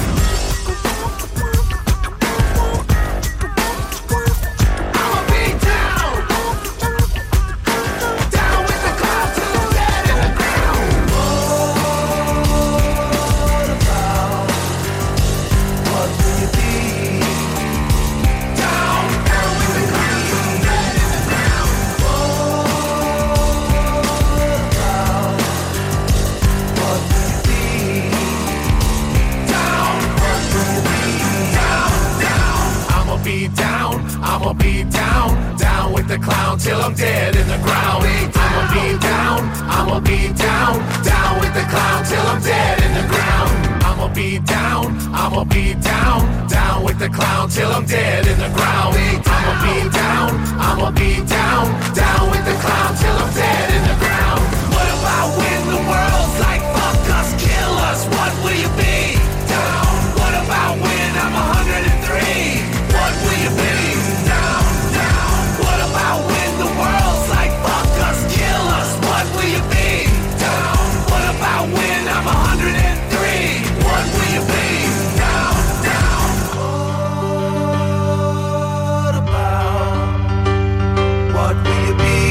Speaker 9: I'ma be down, down with the clown till I'm dead in the ground. I'ma be down, I'ma be down, down with the clown till I'm dead in the ground. I'ma be down, I'ma be down, down with the clown till I'm dead in the ground. I'ma be down, I'ma be down, down with the clown till I'm dead in the ground. What about when the world's like fuck us, kill us? What will you be? Down. What about when I'm one hundred three? What will you be? Down, down. What about when the world's like fuck us, kill us? What will you be? Down. What about when I'm one hundred three? What will you be? Down, down. What about? What will you be?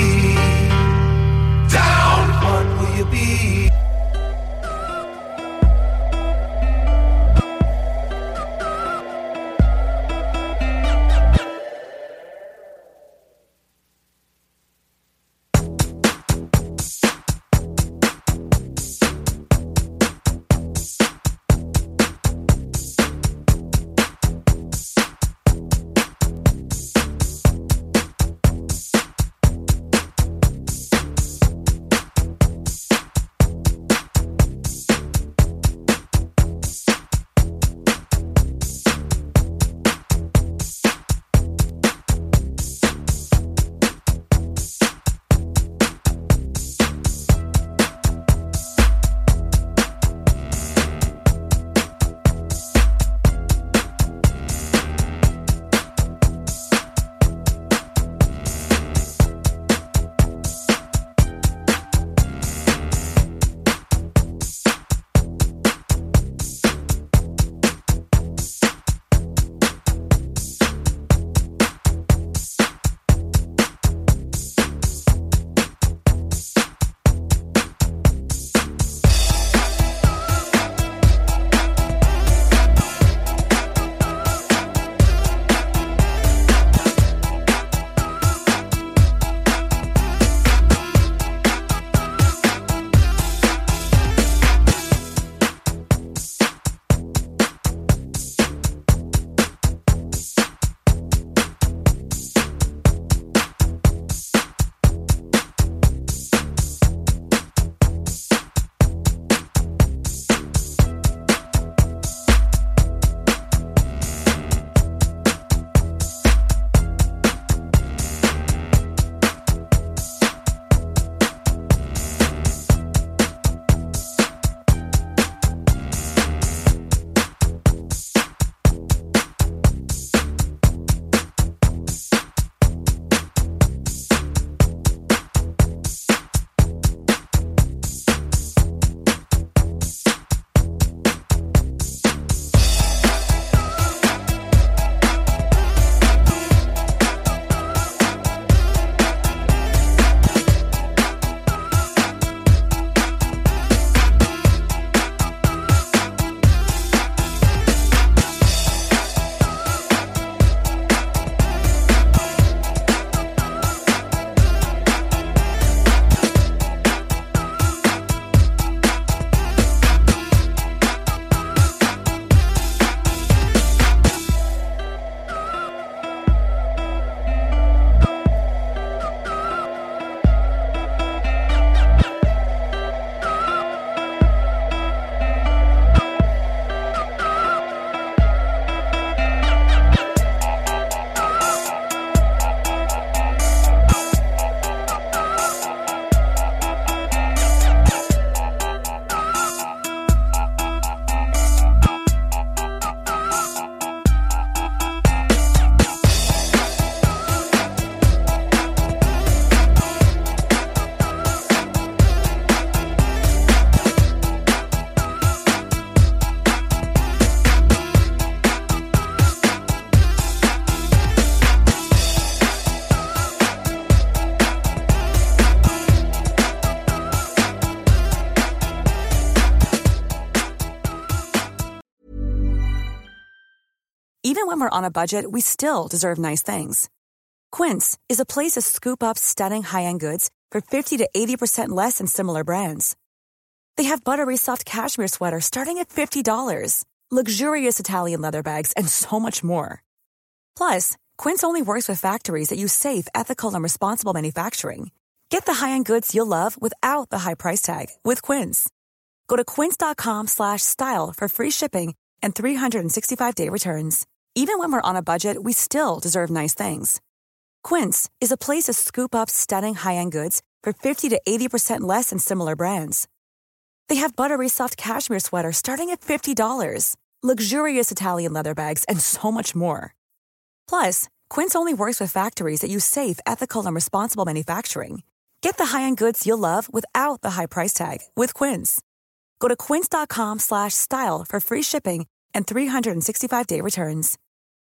Speaker 12: Even when we're on a budget, we still deserve nice things. Quince is a place to scoop up stunning high-end goods for fifty to eighty percent less than similar brands. They have buttery soft cashmere sweaters starting at fifty dollars, luxurious Italian leather bags, and so much more. Plus, Quince only works with factories that use safe, ethical, and responsible manufacturing. Get the high-end goods you'll love without the high price tag with Quince. Go to quince.com slash style for free shipping and three sixty-five day returns. Even when we're on a budget, we still deserve nice things. Quince is a place to scoop up stunning high-end goods for fifty to eighty percent less than similar brands. They have buttery soft cashmere sweaters starting at fifty dollars, luxurious Italian leather bags, and so much more. Plus, Quince only works with factories that use safe, ethical, and responsible manufacturing. Get the high-end goods you'll love without the high price tag with Quince. Go to quince.com slash style for free shipping and three sixty-five day returns.